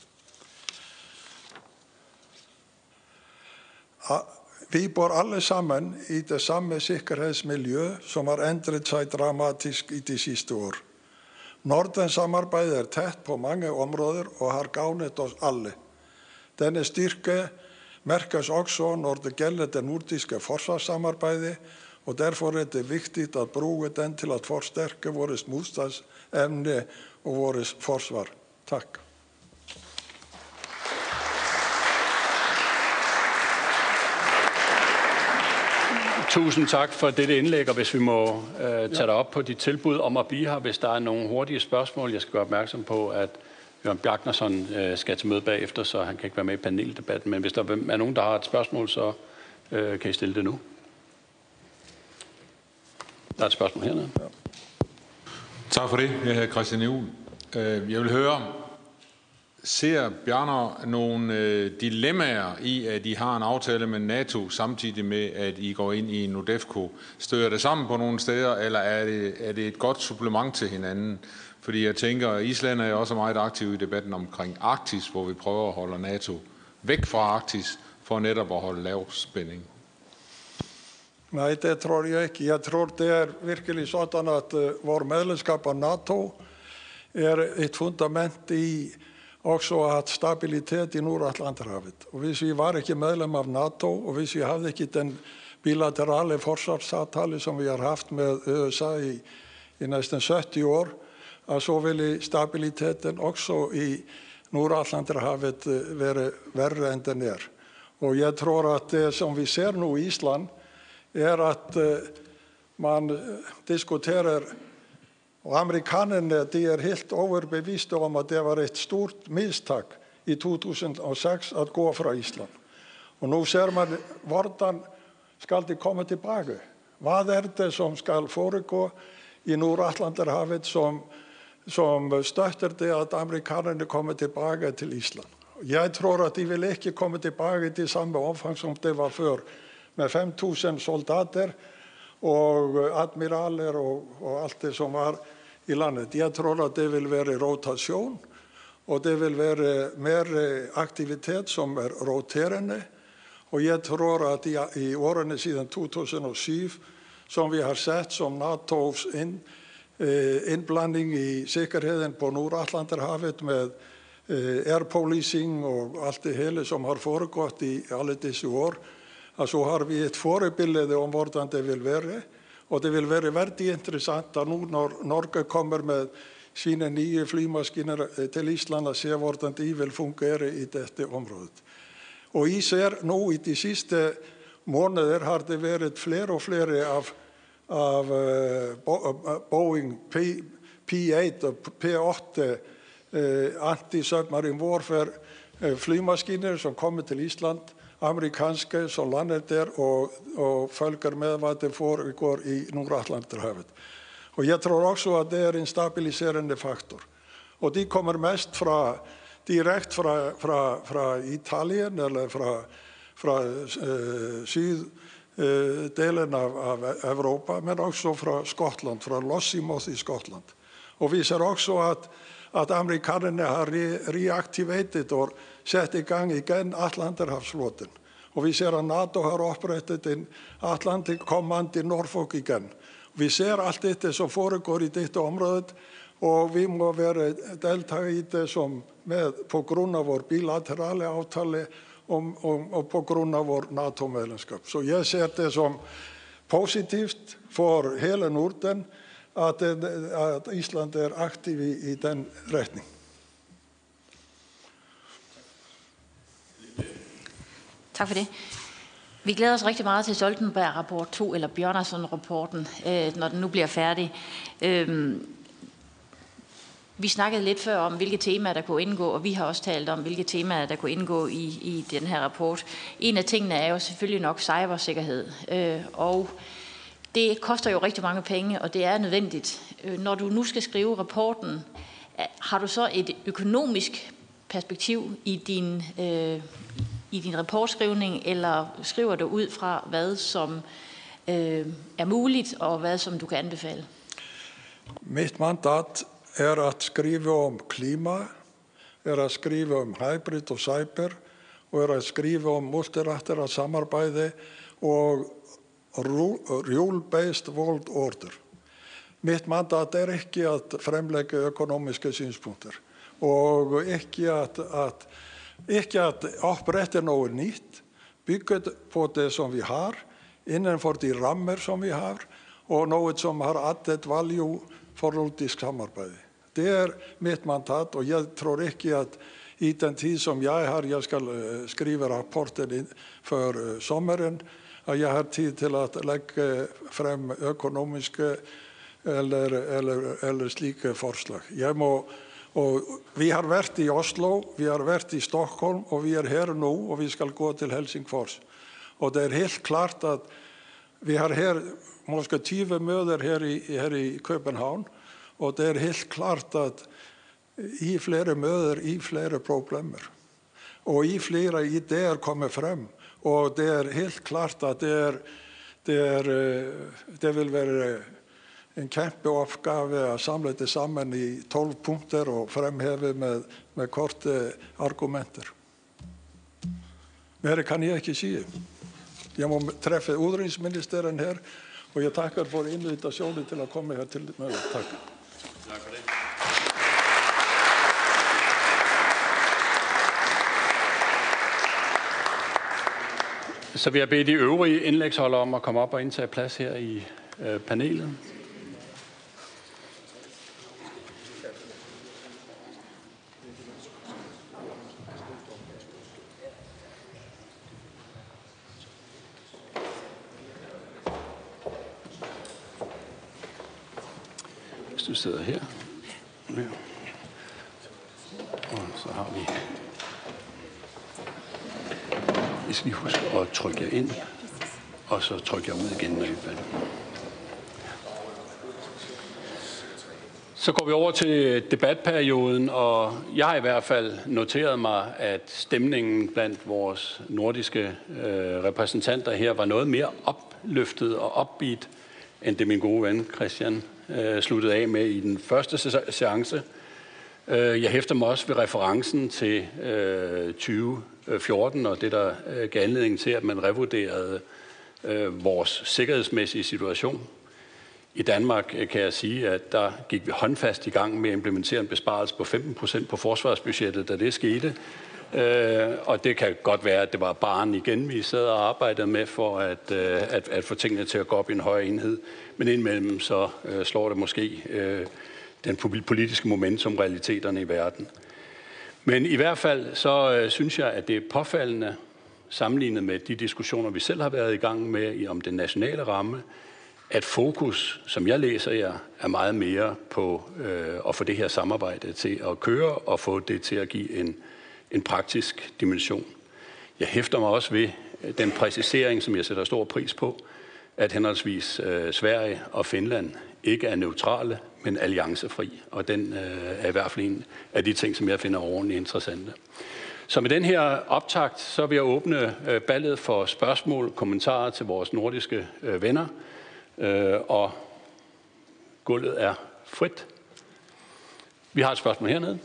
Vi bor alle sammen i det samme sikkerhedsmiljø, som har ændret sig dramatisk i de sidste år. Nordens samarbejde er tæt på mange områder og har gavnet os alle. Denne styrke mærkes også, når det gælder det nordiske forsvarssamarbejde, og derfor er det vigtigt at bruge den til at forstærke vores modstandsevne og vores forsvar. Tak. Tusind tak for dette indlæg, og hvis vi må øh, tage dig op på dit tilbud om at blive her, hvis der er nogle hurtige spørgsmål. Jeg skal gøre opmærksom på, at Jørgen Bjartnerson øh, skal til møde bagefter, så han kan ikke være med i paneldebatten. Men hvis der er nogen, der har et spørgsmål, så øh, kan I stille det nu. Der er et spørgsmål hernede. Ja. Tak for det. Jeg hedder Christian Juhl. Jeg vil høre, ser Bjarner nogle øh, dilemmaer i, at I har en aftale med NATO, samtidig med, at I går ind i NordEFCO? Støder det sammen på nogle steder, eller er det, er det et godt supplement til hinanden? Fordi jeg tænker, at Island er også meget aktiv i debatten omkring Arktis, hvor vi prøver at holde NATO væk fra Arktis for netop at holde lav spænding. Nej, det tror jeg ikke. Jeg tror, det er virkelig sådan, at uh, vores medlemskab af NATO er et fundament i også at stabilitet i Nordatlanterhavet. Og hvis vi var ikke medlem af NATO, og hvis vi havde ikke den bilaterale forsvarsaftale, som vi har haft med U S A i, i næsten sytti år, så ville stabiliteten også i Nordatlanterhavet være værre end den er. Og jeg tror, at det, som vi ser nu i Island, er, at uh, man diskuterer, og amerikanerne de er helt overbeviste om, at det var et stort mistak i to tusind og seks at gå fra Island. Og nu ser man, hvordan skal de komme tilbage? Hvad er det, som skal foregå i Nordatlanterhavet, som, som støtter det, at amerikanerne kommer tilbage til Island? Jeg tror, at de vil ikke komme tilbage til samme omfang, som det var før, med fem tusind soldater og admiraler og, og alt det, som var i landet. Jeg tror, at det vil være rotation, og det vil være mere aktivitet, som er roterende. Og jeg tror, at i, i årene siden to tusind og syv, som vi har sett som NATO's ind, eh, indblanding i sikkerheden på Nordatlanterhavet med eh, air policing og alt det hele, som har foregået i alle disse år, så har vi et forbillede om hvordan det vil være. Og det vil være veldig interessant at nu, når Norge kommer med sine nye flymaskiner til Island, og ser hvordan de vil fungere i dette område. Og I ser nu i de sidste måneder har det været flere og flere af, af uh, Boeing P otte og P otte uh, anti-submarine warfare uh, flymaskiner, som kommer til Island, amerikanske, som lander der og, og følger med, hvad det foregår i Nordatlanterhavet. Og jeg tror også, at det er en stabiliserende faktor. Og de kommer mest fra, direkt fra, fra, fra Italien, eller fra, fra øh, syddelen af, af Europa, men også fra Skotland, fra Lossiemouth i Skotland. Og vi ser også, at, at amerikanerne har re reaktiveret og sat i gang igen Atlanterhavsflåten. Og vi ser, at NATO har oprettet en Atlantic Command i Norfolk igen. Vi ser alt dette, som foregår i dette område, og vi må være deltage i det som med, på grund af vores bilaterale aftale og, og, og på grund af vores NATO-medlemskab. Så jeg ser det som positivt for hele Norden, at, at Island er aktiv i, i den retning. Tak for det. Vi glæder os rigtig meget til Stoltenberg-rapport to, eller Bjørnason-rapporten, øh, når den nu bliver færdig. Øh, vi snakkede lidt før om, hvilke temaer der kunne indgå, og vi har også talt om, hvilke temaer der kunne indgå i, i den her rapport. En af tingene er jo selvfølgelig nok cybersikkerhed, øh, og det koster jo rigtig mange penge, og det er nødvendigt. Øh, når du nu skal skrive rapporten, har du så et økonomisk perspektiv i din øh, i din rapportskrivning, eller skriver du ud fra, hvad som øh, er muligt, og hvad som du kan anbefale? Mitt mandat er at skrive om klima, er at skrive om hybrid og cyber, og er at skrive om multilateralt samarbejde og rule-based world order. Mitt mandat er ikke at fremlægge økonomiske synspunkter, og ikke at, at Ikke at opprette noget nyt, bygget på det, som vi har, inden for de rammer, som vi har, og noget, som har added value for nordisk samarbejde. Det er mitt mandat, og jeg tror ikke, at i den tid, som jeg har, jeg skal skrive rapporten for sommeren, at jeg har tid til at lægge frem økonomiske eller, eller, eller slike forslag. Jeg må Og vi har været i Oslo, vi har været i Stockholm, og vi er her nu, og vi skal gå til Helsingfors. Og det er helt klart at vi har her måske tyve møder her i, her i København, og det er helt klart at i flere møder, i flere problemer, og i flere idéer kommer frem. Og det er helt klart at det, er, det, er, det vil være en kjempeoppgave å samle det sammen i tolv punkter og fremheve med, med korte argumenter. Mer kan jeg ikke si. Jeg må treffe utenriksministeren her, og jeg takker for invitasjonen til å komme her til møtet. Takk. Takk for det. Så vil jeg bede de øvrige indlægsholdere om at komme op og indtage plads her i øh, panelet. Hvis du sidder her. Ja. Og så har vi... Jeg skal lige huske at trykke jer ind, og så trykke jer ud igen, når I er færdige. Så går vi over til debatperioden, og jeg har i hvert fald noteret mig, at stemningen blandt vores nordiske øh, repræsentanter her var noget mere opløftet og upbeat, end det min gode ven Christian øh, sluttede af med i den første seance. Jeg hæfter mig også ved referencen til øh, tyve fjorten, og det der øh, gav anledning til, at man revurderede øh, vores sikkerhedsmæssige situation. I Danmark øh, kan jeg sige, at der gik vi håndfast i gang med at implementere en besparelse på femten procent på forsvarsbudgettet, da det skete. Øh, og det kan godt være, at det var barn igen, vi sad og arbejdede med for at, øh, at, at få tingene til at gå op i en højere enhed. Men indimellem så øh, slår det måske... Øh, den politiske momentum, realiteterne i verden. Men i hvert fald så øh, synes jeg, at det er påfaldende, sammenlignet med de diskussioner, vi selv har været i gang med om den nationale ramme, at fokus, som jeg læser jer, er meget mere på øh, at få det her samarbejde til at køre og få det til at give en, en praktisk dimension. Jeg hæfter mig også ved den præcisering, som jeg sætter stor pris på, at henholdsvis øh, Sverige og Finland ikke er neutrale, men alliancefri. Og den øh, er i hvert fald en af de ting, som jeg finder ordentligt interessante. Så med den her optakt, så vil jeg åbne øh, ballet for spørgsmål, kommentarer til vores nordiske øh, venner. Øh, og gulvet er frit. Vi har et spørgsmål hernede.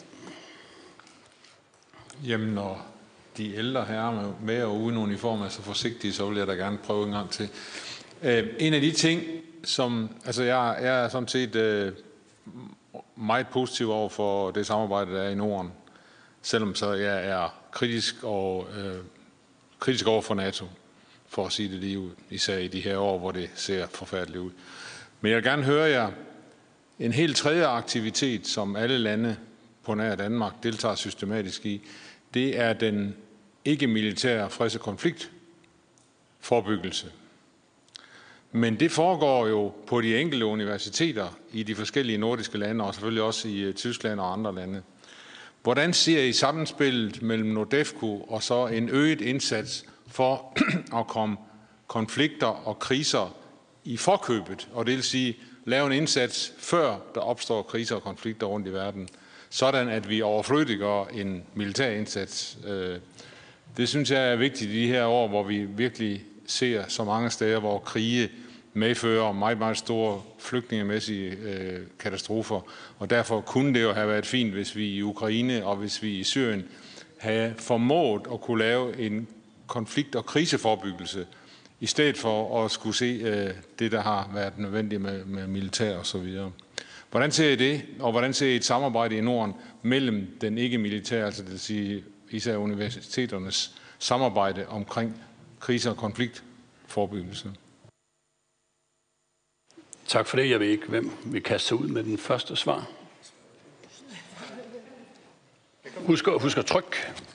Jamen, når de ældre herrer med og uden uniform er så forsigtige, så vil jeg da gerne prøve en gang til. Øh, en af de ting, som, altså jeg, jeg er sådan set øh, meget positiv over for det samarbejde, der er i Norden, selvom så jeg er kritisk, og, øh, kritisk over for NATO, for at sige det lige ud, især i de her år, hvor det ser forfærdeligt ud. Men jeg vil gerne høre jer, en helt tredje aktivitet, som alle lande på nær Danmark deltager systematisk i, det er den ikke-militære freds- og konfliktforebyggelse. Men det foregår jo på de enkelte universiteter i de forskellige nordiske lande, og selvfølgelig også i Tyskland og andre lande. Hvordan ser I sammenspillet mellem NORDEFCO og så en øget indsats for at komme konflikter og kriser i forkøbet, og det vil sige lave en indsats før der opstår kriser og konflikter rundt i verden, sådan at vi overflødiggør en militær indsats. Det synes jeg er vigtigt i de her år, hvor vi virkelig ser så mange steder, hvor krige medfører meget, meget store flygtningemæssige øh, katastrofer. Og derfor kunne det jo have været fint, hvis vi i Ukraine og hvis vi i Syrien havde formået at kunne lave en konflikt- og kriseforebyggelse, i stedet for at skulle se øh, det, der har været nødvendigt med, med militær og så videre. Hvordan ser I det, og hvordan ser I et samarbejde i Norden mellem den ikke-militære, altså det vil sige især universiteternes samarbejde omkring krise- og konfliktforebyggelse? Tak for det. Jeg ved ikke, hvem vil kaste sig ud med den første svar. Husk, husk at trykke.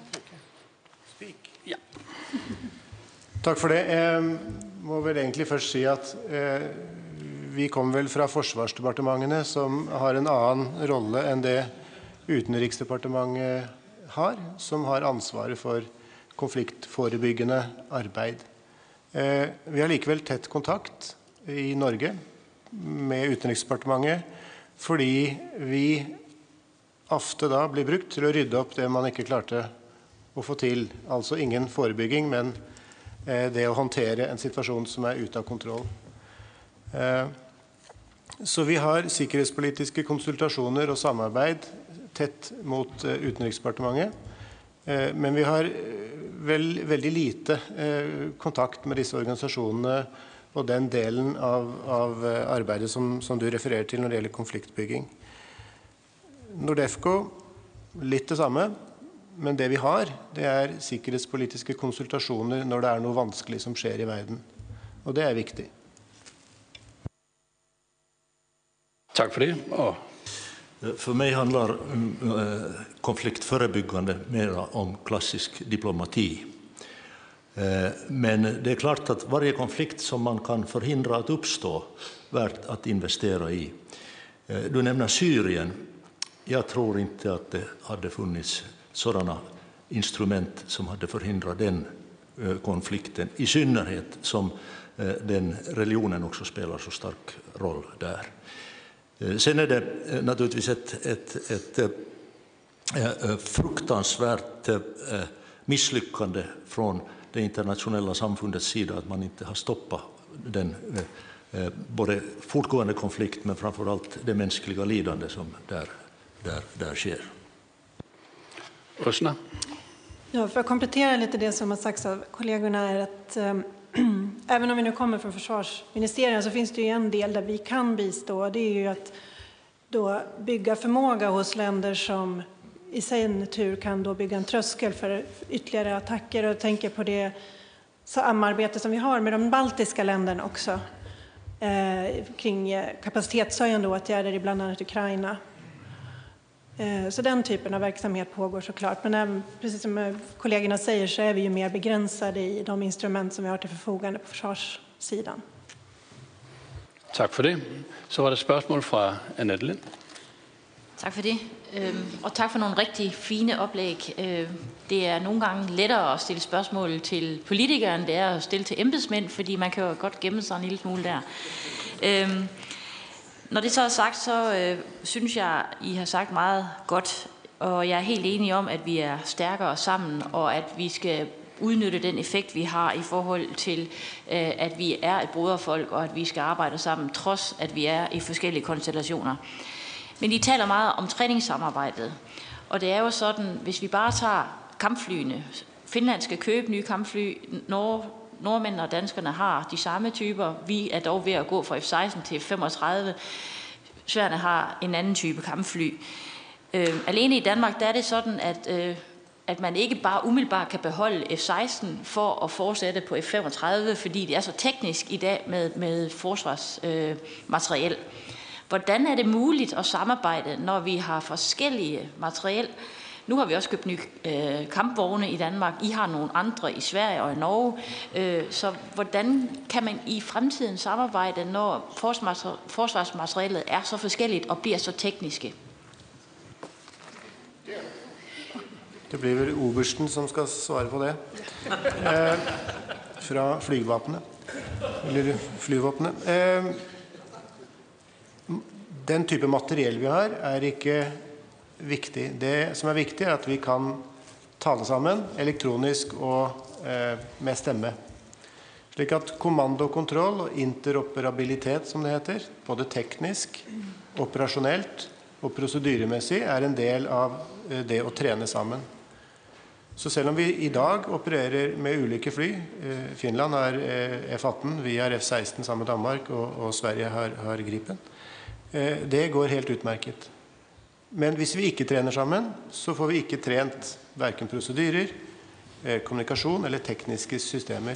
Ja. Tak for det. Jeg må vel egentlig først si at eh, vi kommer vel fra Forsvarsdepartementene, som har en annen rolle enn det Utenriksdepartementet har, som har ansvaret for konfliktforebyggende arbeid. Eh, vi har likevel tett kontakt i Norge med Utenriksdepartementet, fordi vi ofte da blir brukt til å rydde opp det man ikke klarte å få til. Altså ingen forebygging, men det å håndtere en situasjon som er ute av kontroll. Så vi har sikkerhetspolitiske konsultasjoner og samarbeid tett mot uh, Utenriksdepartementet. Uh, men vi har vel, veldig lite uh, kontakt med disse organisasjonene og den delen av, av arbeidet som, som du refererer til når det gjelder konfliktbygging. Nordefco, litt det samme, men det vi har, det er sikkerhetspolitiske konsultasjoner når det er noe vanskelig som skjer i verden. Og det er viktig. Takk for det. Og For mig handlar uh, konfliktförebyggande mer om klassisk diplomati. Uh, men det är klart att varje konflikt som man kan förhindra att uppstå värt att investera i. Uh, du nämner Syrien. Jag tror inte att det hade funnits sådana instrument som hade förhindrat den uh, konflikten. I synnerhet som uh, den religionen också spelar så stark roll där. Sen är det naturligtvis ett, ett, ett, ett fruktansvärt misslyckande från det internationella samfundets sida att man inte har stoppat den både fortgående konflikt men framförallt det mänskliga lidande som där, där, där sker. Rösna. Ja, för att komplettera lite det som har sagts av kollegorna är att um, även om vi nu kommer från försvarsministeriet så finns det ju en del där vi kan bistå. Det är ju att då bygga förmåga hos länder som i sin tur kan då bygga en tröskel för ytterligare attacker. Och tänker på det samarbete som vi har med de baltiska länderna också eh, kring kapacitetshöjande åtgärder i bland annat Ukraina. Eh, så den typen av verksamhet pågår såklart. Men även, precis som kollegorna säger så är vi ju mer begränsade i de instrument som vi har till förfogande på försvarssidan. Tak for det. Så var der spørgsmål fra Annette Lind. Tak for det. Og tak for nogle rigtig fine oplæg. Det er nogle gange lettere at stille spørgsmål til politikere, end det er at stille til embedsmænd, fordi man kan jo godt gemme sig en lille smule der. Når det så er sagt, så synes jeg, I har sagt meget godt, og jeg er helt enig om, at vi er stærkere sammen, og at vi skal udnytte den effekt, vi har i forhold til, at vi er et broderfolk, og at vi skal arbejde sammen, trods at vi er i forskellige konstellationer. Men I taler meget om træningssamarbejdet, og det er jo sådan, hvis vi bare tager kampflyene, Finland skal købe nye kampfly, Norge, nordmændene og danskerne har de samme typer, vi er dog ved at gå fra F seksten til F femogtredive, Sverige har en anden type kampfly. Øh, alene i Danmark, der er det sådan, at øh, at man ikke bare umiddelbart kan beholde F seksten for at fortsætte på F femogtredive, fordi det er så teknisk i dag med, med forsvarsmateriel. Øh, Hvordan er det muligt at samarbejde, når vi har forskellige materiel? Nu har vi også købt nye øh, kampvogne i Danmark. I har nogle andre i Sverige og i Norge. Øh, så hvordan kan man i fremtiden samarbejde, når forsvarsmaterialet er så forskelligt og bliver så tekniske? Det blir vel Obersten som skal svare på det. Eh, fra flygvapnet. Eller flyvåpnet. Eh, den type materiell vi har er ikke viktig. Det som er viktig er at vi kan tale sammen elektronisk og eh, med stemme. Slik at kommando, kontroll og interoperabilitet, som det heter, både teknisk, operasjonelt og prosedyremessig, er en del av det å trene sammen. Så selv om vi i dag opererer med ulike fly, Finland har F atten, vi har F seksten sammen med Danmark, og, og Sverige har, har Gripen, det går helt utmerket. Men hvis vi ikke trener sammen, så får vi ikke trent hverken prosedyrer, kommunikasjon eller tekniske systemer.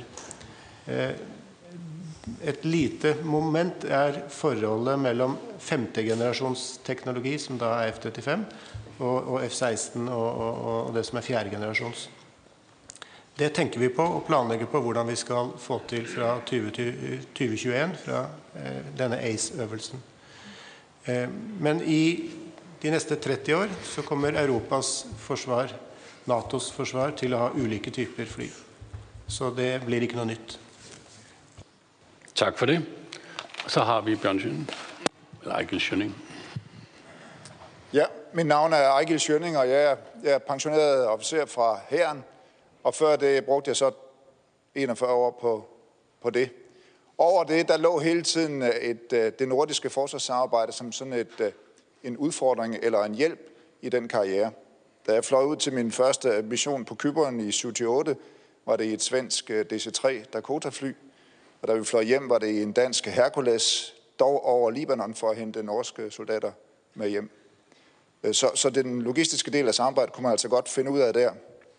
Et lite moment er forholdet mellom femte generasjons teknologi, som da er F trettifem, og, og F seksten og, og, og det som er fjerde generasjons. Det tenker vi på og planlegger på hvordan vi skal få til fra tjue tjueen, fra eh, denne A C E-øvelsen. Eh, men i de neste tretti år så kommer Europas forsvar, NATOs forsvar, til å ha ulike typer fly. Så det blir ikke noe nytt. Tak for det. Så har vi Bjørn Schønning. Eller Ejgil Schønning. Ja, mit navn er Ejgil Schønning, og jeg er, jeg er pensioneret officer fra hæren. Og før det brugte jeg så enogfyrre år på, på det. over det, der lå hele tiden et, det nordiske forsvarssamarbejde som sådan et, en udfordring eller en hjælp i den karriere. Da jeg fløj ud til min første mission på Cypern i syvogtyve, var det i et svensk D C tre Dakota-fly. Og da vi fløj hjem, var det i en dansk Hercules, dog over Libanon, for at hente norske soldater med hjem. Så, så den logistiske del af samarbejdet kunne man altså godt finde ud af der.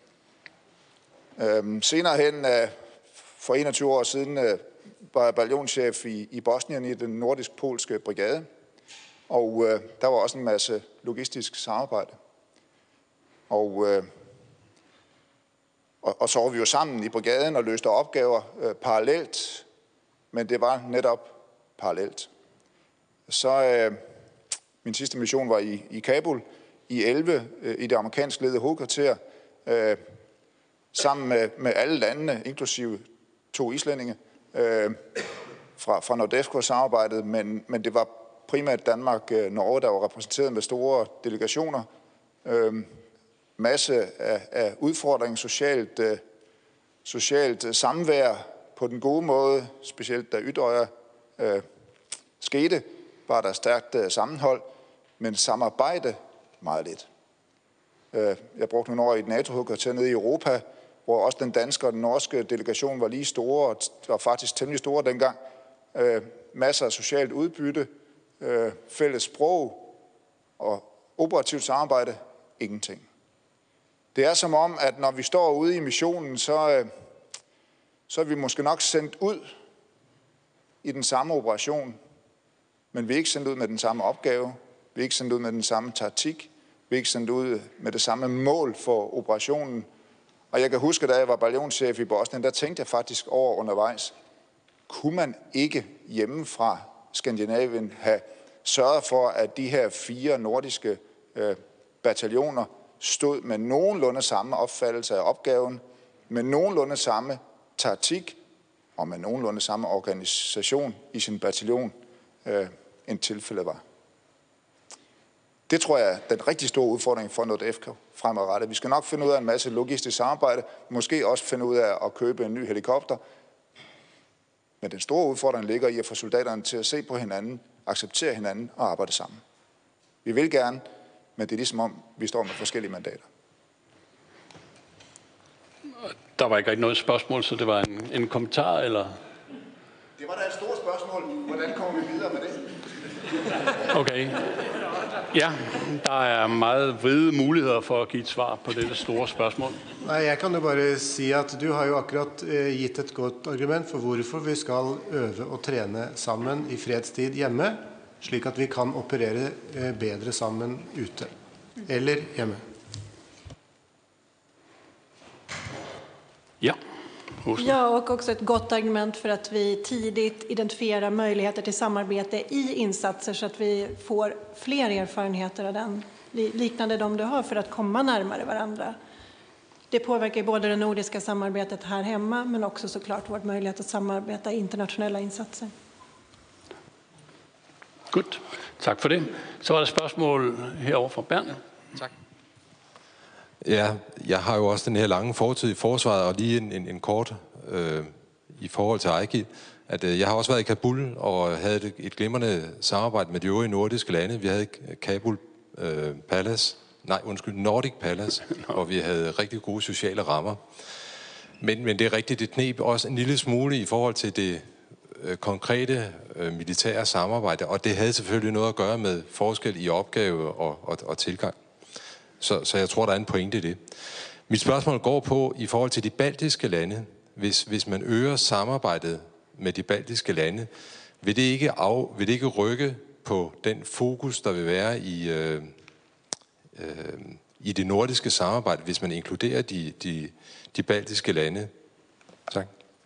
Øhm, senere hen, for enogtyve år siden, var jeg bataljonschef i, i Bosnien i den nordisk-polske brigade. Og øh, der var også en masse logistisk samarbejde. Og, øh, og, og så var vi jo sammen i brigaden og løste opgaver øh, parallelt, men det var netop parallelt. Så øh, min sidste mission var i, i Kabul i elleve øh, i det amerikansk ledede hovedkvarter, øh, sammen med, med alle landene, inklusive to islændinge, øh, fra, fra NORDEFCO-samarbejdet, men, men det var primært Danmark, øh, Norge, der var repræsenteret med store delegationer. Øh, masse af, af udfordringer, socialt, øh, socialt øh, samvær på den gode måde, specielt da Utøya øh, skete, var der stærkt øh, sammenhold, men samarbejde meget lidt. Øh, jeg brugte nogle år i et NATO-hovedkvarter nede i Europa, hvor også den danske og den norske delegation var lige store, og var faktisk temmelig store dengang. Øh, masser af socialt udbytte, øh, fælles sprog og operativt samarbejde, ingenting. Det er som om, at når vi står ude i missionen, så, øh, så er vi måske nok sendt ud i den samme operation, men vi er ikke sendt ud med den samme opgave, vi er ikke sendt ud med den samme taktik, vi er ikke sendt ud med det samme mål for operationen. Og jeg kan huske, da jeg var bataljonschef i Bosnien, der tænkte jeg faktisk over undervejs, kunne man ikke hjemme fra Skandinavien have sørget for, at de her fire nordiske øh, bataljoner stod med nogenlunde samme opfattelse af opgaven, med nogenlunde samme taktik og med nogenlunde samme organisation i sin bataljon, øh, end tilfældet var. Det tror jeg er den rigtig store udfordring for NORDEFCO fremadrettet. Vi skal nok finde ud af en masse logistisk samarbejde, måske også finde ud af at købe en ny helikopter. Men den store udfordring ligger i at få soldaterne til at se på hinanden, acceptere hinanden og arbejde sammen. Vi vil gerne, men det er ligesom om, vi står med forskellige mandater. Der var ikke rigtig noget spørgsmål, så det var en, en kommentar, eller? Det var da et stort spørgsmål. Hvordan kommer vi videre med det? Okay. Ja, der er meget vide muligheder for at give et svar på dette store spørgsmål. Nej, jeg kan jo bare sige, at du har jo akkurat uh, givet et godt argument for hvorfor vi skal øve og træne sammen i fredstid hjemme, slik at vi kan operere uh, bedre sammen ute, eller hjemme. Ja. Ja, och också ett gott argument för att vi tidigt identifierar möjligheter till samarbete i insatser så att vi får fler erfarenheter av den, liknande de du har, för att komma närmare varandra. Det påverkar både det nordiska samarbetet här hemma, men också såklart vår möjlighet att samarbeta i internationella insatser. Godt. Tak for det. Så var der spørgsmål herovre fra Bernd. Tak. Ja, jeg har jo også den her lange fortid i forsvaret, og lige en, en, en kort øh, i forhold til Eiki, at øh, jeg har også været i Kabul og havde et, et glimrende samarbejde med de øvrige nordiske lande. Vi havde Kabul øh, Palace, nej undskyld, Nordic Palace, hvor vi havde rigtig gode sociale rammer. Men, men det er rigtigt, det kneb også en lille smule i forhold til det øh, konkrete øh, militære samarbejde, og det havde selvfølgelig noget at gøre med forskel i opgave og, og, og tilgang. Så, så jeg tror, der er en pointe i det. Mit spørgsmål går på, i forhold til de baltiske lande, hvis, hvis man øger samarbejdet med de baltiske lande, vil det ikke, af, vil det ikke rykke på den fokus, der vil være i, øh, øh, i det nordiske samarbejde, hvis man inkluderer de, de, de baltiske lande? Tak.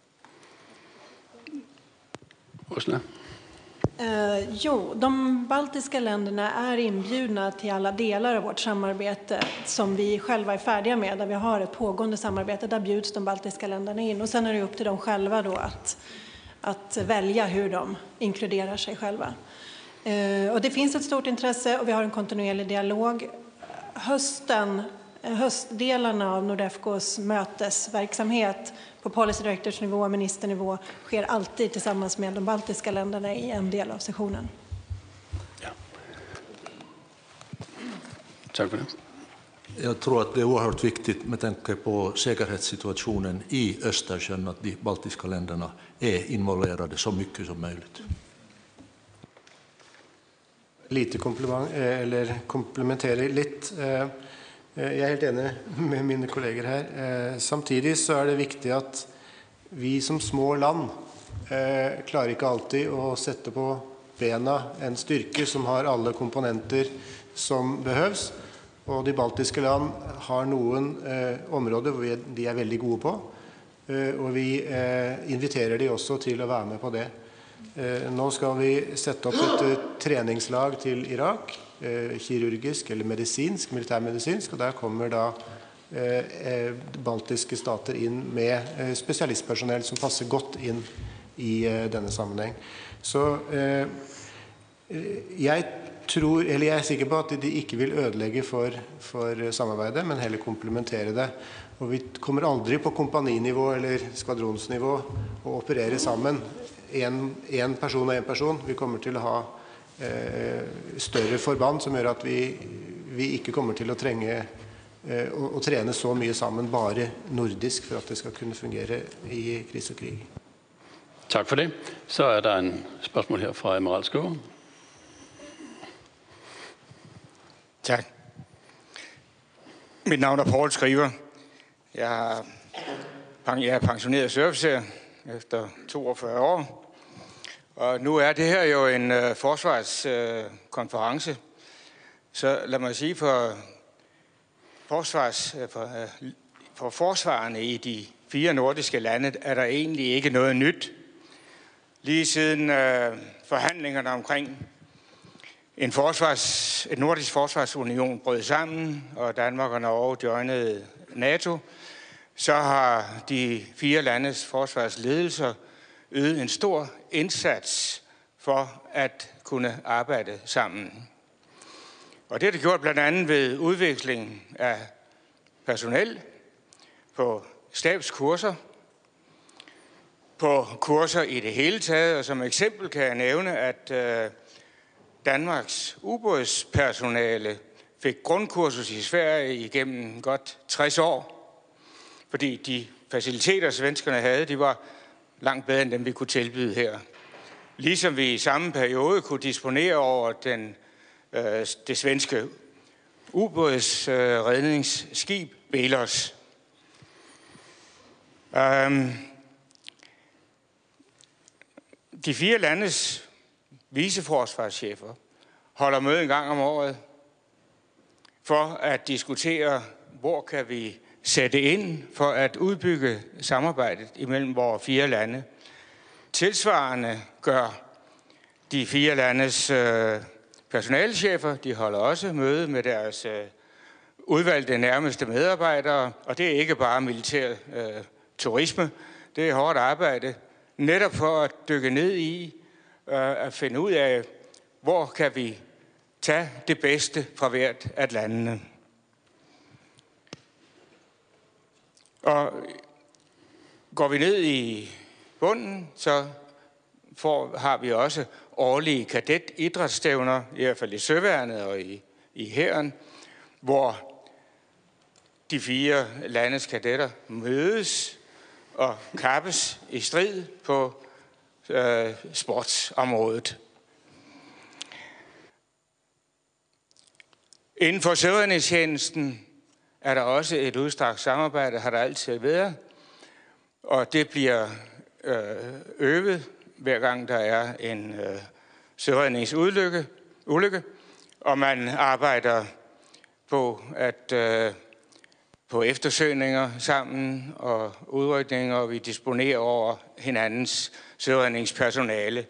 Ursula? Eh, jo, de baltiska länderna är inbjudna till alla delar av vårt samarbete som vi själva är färdiga med, där vi har ett pågående samarbete. Där bjuds de baltiska länderna in, och sen är det upp till dem själva då att, att välja hur de inkluderar sig själva. Eh, och det finns ett stort intresse och vi har en kontinuerlig dialog. Hösten höstdelarna av Nordefcos mötesverksamhet på policy directors-nivå och ministernivå sker alltid tillsammans med de baltiska länderna i en del av sessionen. Ja. Tack för det. Jag tror att det är oerhört viktigt med tanke på säkerhetssituationen i Östersjön att de baltiska länderna är involverade så mycket som möjligt. Lite komplement, eller komplementerar lite. Jag är helt enig med mina kollegor här. Samtidigt så är det viktigt att vi som små land klarar inte alltid att sätta på bena en styrka som har alla komponenter som behövs. Og de baltiske land har noen eh, områder hvor vi, de er veldig gode på, eh, og vi eh, inviterer de også til å være med på det. Eh, nå skal vi sette opp et uh, treningslag til Irak, eh, kirurgisk eller medisinsk, militærmedisinsk, og der kommer da eh, baltiske stater inn med eh, spesialistpersonell som passer godt inn i eh, denne sammenheng. Så eh, jeg tror, eller jeg er sikker på at de ikke vil ødelegge for, for samarbeidet, men heller komplementere det. Og vi kommer aldri på kompaninivå eller skvadronsnivå å operere sammen. En, en person og en person. Vi kommer til å ha eh, større forband som gjør at vi, vi ikke kommer til å trenge eh, å, å trene så mye sammen bare nordisk for at det skal kunne fungere i kris og krig. Tak for det. Så er der en spørgsmål her fra Admiral Skov. Tak. Mit navn er Paul Skriver. Jeg er, jeg er pensioneret surofficer efter toogfyrre år. Og nu er det her jo en uh, forsvarskonference. Uh, Så lad mig sige, for, forsvars, uh, for, uh, for forsvarerne i de fire nordiske lande er der egentlig ikke noget nyt. Lige siden uh, forhandlingerne omkring En, forsvars, en nordisk forsvarsunion brød sammen, og Danmark og Norge joinede NATO, så har de fire landes forsvarsledelser ydet en stor indsats for at kunne arbejde sammen. Og det er det gjort blandt andet ved udvikling af personel på stabskurser, på kurser i det hele taget, og som eksempel kan jeg nævne, at øh, Danmarks ubådspersonale fik grundkursus i Sverige igennem godt tres år, fordi de faciliteter, svenskerne havde, de var langt bedre end dem, vi kunne tilbyde her. Ligesom vi i samme periode kunne disponere over den, øh, det svenske ubådsredningsskib øh, Belos. Um, de fire landes viceforsvarschefer holder møde en gang om året for at diskutere, hvor kan vi sætte ind for at udbygge samarbejdet imellem vores fire lande. Tilsvarende gør de fire landes øh, personalechefer, de holder også møde med deres øh, udvalgte nærmeste medarbejdere, og det er ikke bare militær øh, turisme, det er hårdt arbejde, netop for at dykke ned i at finde ud af, hvor kan vi tage det bedste fra hvert af landene. Og går vi ned i bunden, så får, har vi også årlige kadetidrætsstævner, i hvert fald i søværnet og i, i hæren, hvor de fire landes kadetter mødes og kappes i strid på øh, sportsområdet. Inden for søværnestjenesten er der også et udstrakt samarbejde, har der altid været, og det bliver øh, øvet, hver gang der er en øh, søværningsulykke, ulykke, og man arbejder på at øh, på eftersøgninger sammen og udrykninger, og vi disponerer over hinandens søværningspersonale.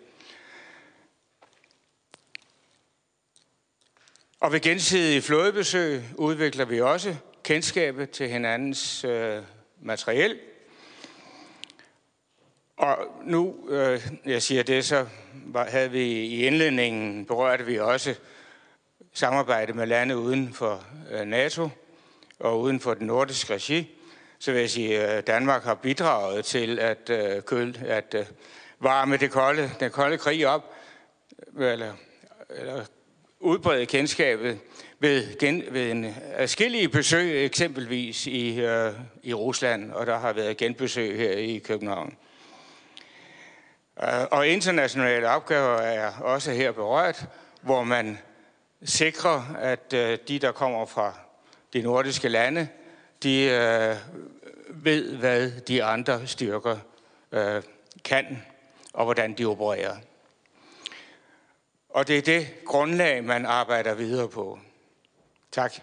Og ved gensidige flådebesøg udvikler vi også kendskabet til hinandens øh, materiel. Og nu, øh, jeg siger det, så var, havde vi i indledningen berørte vi også samarbejde med lande uden for øh, NATO. og uden for den nordiske regi, så vil jeg sige, at Danmark har bidraget til at, køl, at varme det kolde, den kolde krig op, eller, eller udbrede kendskabet ved, gen, ved en adskillige besøg, eksempelvis i, øh, i Rusland, og der har været genbesøg her i København. Og internationale opgaver er også her berørt, hvor man sikrer, at de, der kommer fra de nordiske lande, de øh, ved, hvad de andre styrker øh, kan, og hvordan de opererer. Og det er det grundlag, man arbejder videre på. Tak.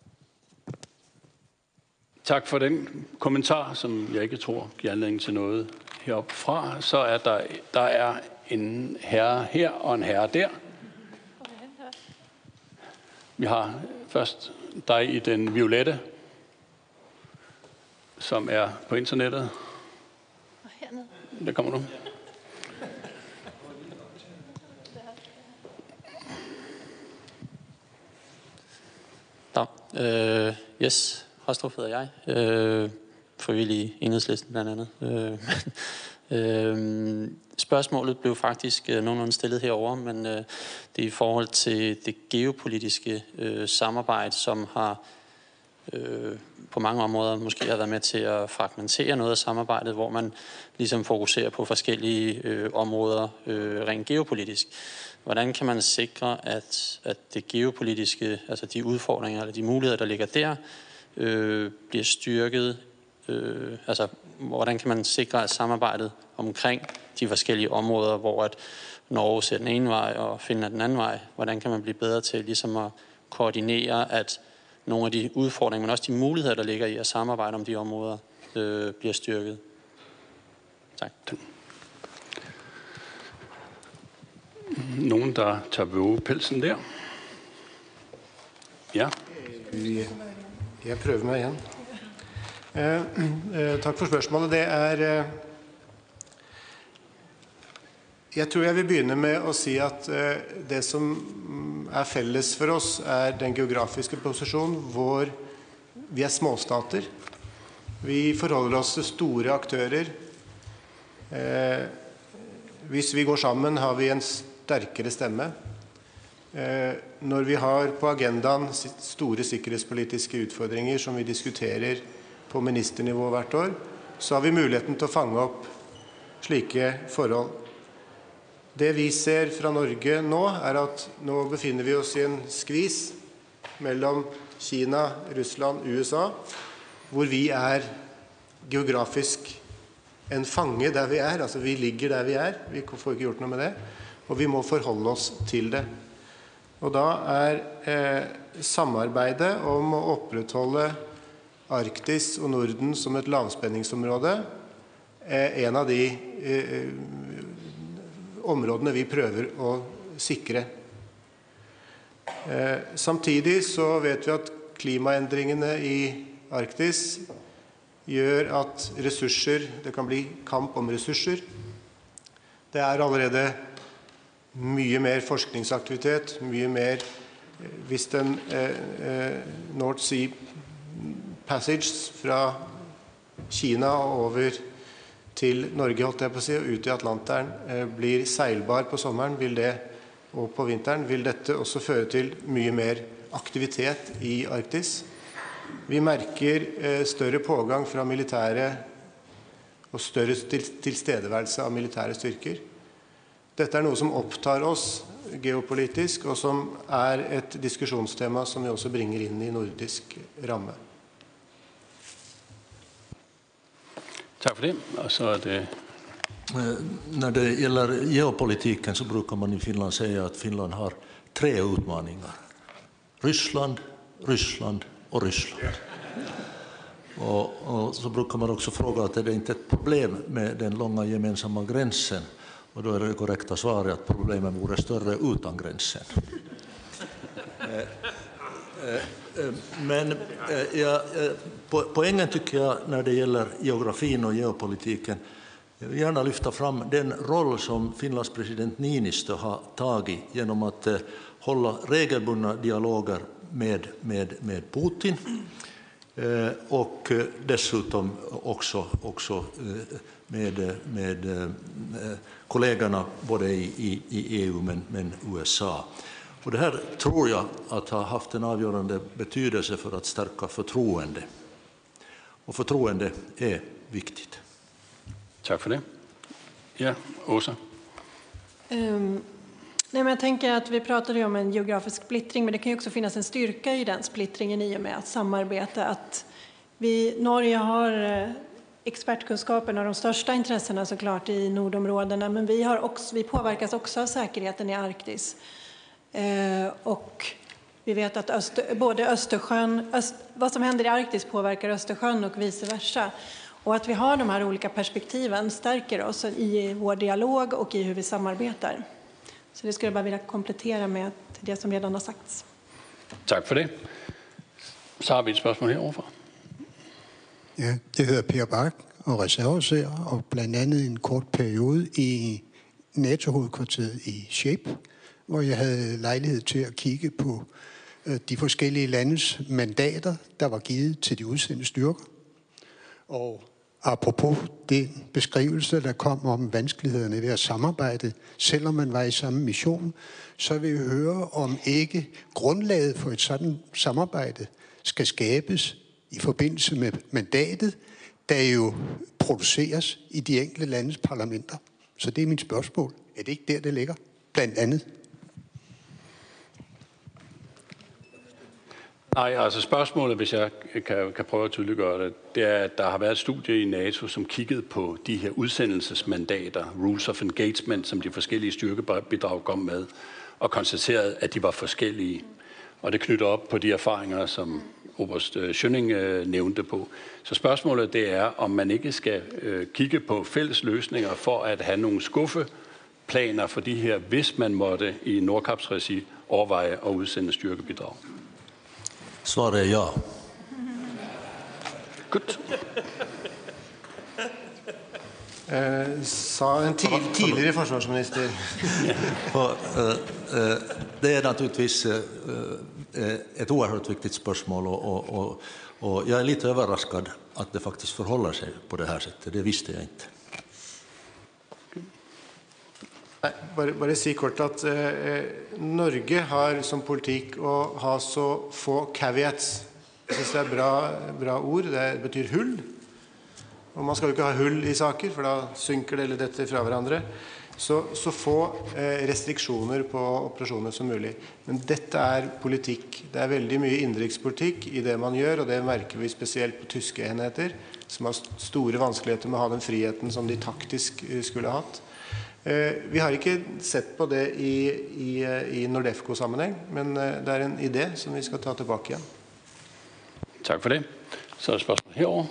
Tak for den kommentar, som jeg ikke tror giver anledning til noget heroppe fra. Så er der, der er en herre her og en herre der. Vi har først dig i den violette, som er på internettet. Og hernede. Der kommer du. Da. Øh, yes, Hostrup hedder jeg. Øh, frivillig i Enhedslisten blandt andet. Øh, øh, spørgsmålet blev faktisk øh, nogenlunde stillet herover, men øh, det er i forhold til det geopolitiske øh, samarbejde, som har øh, på mange områder måske har været med til at fragmentere noget af samarbejdet, hvor man ligesom fokuserer på forskellige øh, områder øh, rent geopolitisk. Hvordan kan man sikre, at, at det geopolitiske, altså de udfordringer eller de muligheder, der ligger der, øh, bliver styrket? Øh, altså, hvordan kan man sikre, at samarbejdet omkring de forskellige områder, hvor at Norge ser den ene vej og Finland den anden vej, hvordan kan man blive bedre til ligesom at koordinere, at nogle af de udfordringer, men også de muligheder, der ligger i at samarbejde om de områder, øh, bliver styrket? Tak. Nogen, der tager vågepelsen der? Ja. Jeg prøver meg igjen. Eh, eh, takk for spørsmålet. Det er eh, Jeg tror jeg vil begynne med å si at eh, det som er felles for oss er den geografiske posisjonen hvor vi er småstater. Vi forholder oss til store aktører. Eh, hvis vi går sammen har vi en sterkere stemme. Eh, når vi har på agendaen store sikkerhetspolitiske utfordringer som vi diskuterer på ministernivå hvert år, så har vi muligheten til å fange opp slike forhold. Det vi ser fra Norge nå er at nå befinner vi oss i en skvis mellom Kina, Russland, U S A, hvor vi er geografisk en fange der vi er, altså vi ligger der vi er, vi får ikke gjort noe med det, og vi må forholde oss til det. Og da er eh, samarbeidet om å opprettholde Arktis og Norden som et lavspenningsområde eh, en av de eh, områdene vi prøver å sikre. Eh, samtidig så vet vi at klimaendringene i Arktis gjør at ressurser, det kan bli kamp om ressurser. Det er allerede mye mer forskningsaktivitet, mye mer, hvis den eh, North Sea Passage fra Kina over til Norge, holdt jeg på å si, og ut i Atlanteren, eh, blir seilbar på sommeren, vil det, og på vinteren, vil dette også føre til mye mer aktivitet i Arktis. Vi merker eh, større pågang fra militære og større til, tilstedeværelse av militære styrker. Dette er noe som opptar oss geopolitisk, og som er et diskusjonstema som vi også bringer inn i nordisk ramme. Tak for det. Og så er det... När det gäller geopolitiken så brukar man i Finland säga att Finland har tre utmaningar. Ryssland, Ryssland och Ryssland. Och, och så brukar man också fråga att är det inte ett problem med den långa gemensamma gränsen. Och då är det korrekta svaret att problemen vore större utan gränsen. Men ja, poängen tycker jag när det gäller geografin och geopolitiken, jag vill gärna lyfta fram den roll som Finlands president Niinistö har tagit genom att hålla regelbundna dialoger med, med, med Putin, och dessutom också, också med, med kollegorna både i, i E U men, men U S A. Och det här tror jag att har haft en avgörande betydelse för att stärka förtroende. Och förtroende är viktigt. Tack för det. Ja, Åsa. Um, nej, men jag tänker att vi pratade ju om en geografisk splittring, men det kan ju också finnas en styrka i den splittringen i och med att samarbeta. Att vi, Norge har expertkunskapen och de största intressena såklart i nordområdena, men vi, har också, vi påverkas också av säkerheten i Arktis. Uh, och vi vet att Öster, både Östersjön, öst, vad som händer i Arktis påverkar Östersjön och vice versa. Och att vi har de här olika perspektiven stärker oss i vår dialog och i hur vi samarbetar. Så det skulle jag bara vilja komplettera med det som redan har sagts. Tack för det. Så har vi ett spørgsmål heroverfra. Ja, det hedder Per Bak og reserveofficer, og blandt andet en kort periode i NATO-hovedkvarteret i Shape, hvor jeg havde lejlighed til at kigge på de forskellige landes mandater, der var givet til de udsendte styrker. Og apropos den beskrivelse, der kom om vanskelighederne ved at samarbejde, selvom man var i samme mission, så vil vi høre, om ikke grundlaget for et sådan samarbejde skal skabes i forbindelse med mandatet, der jo produceres i de enkelte landes parlamenter. Så det er mit spørgsmål. Er det ikke der, det ligger? Blandt andet. Nej, altså spørgsmålet, hvis jeg kan, kan prøve at tydeliggøre det, det er, at der har været et studie i NATO, som kiggede på de her udsendelsesmandater, rules of engagement, som de forskellige styrkebidrag kom med, og konstaterede, at de var forskellige. Og det knytter op på de erfaringer, som oberst Schønning øh, nævnte på. Så spørgsmålet det er, om man ikke skal øh, kigge på fælles løsninger for at have nogle skuffeplaner for de her, hvis man måtte i Nordkaps-regi overveje at udsende styrkebidrag. Svaret är ja. Godt. Eh, sa en tid, tidligere forsvarsminister. Och, eh, eh, det är naturligtvis eh, ett oerhört viktigt spörsmål och, och, och, och jag är lite överraskad att det faktiskt förhåller sig på det här sättet. Det visste jag inte. Nej, bare, bare si kort at eh, Norge har som politikk å ha så få caveats. Jeg synes det er bra, bra ord, det betyr hull. Og man skal jo ikke ha hull i saker, for da synker det eller dette fra hverandre. Så, så få eh, restriksjoner på operasjoner som mulig. Men dette er politikk. Det er veldig mye innenrikspolitikk i det man gjør, og det merker vi spesielt på tyske enheter, som har store vanskeligheter med å ha den friheten som de taktisk skulle ha hatt. Vi har ikke sett på det i, i, i Nordefco-sammenheng, men det er en idé som vi skal ta tilbake igjen. Tak for det. Så er det spørgsmål herovre.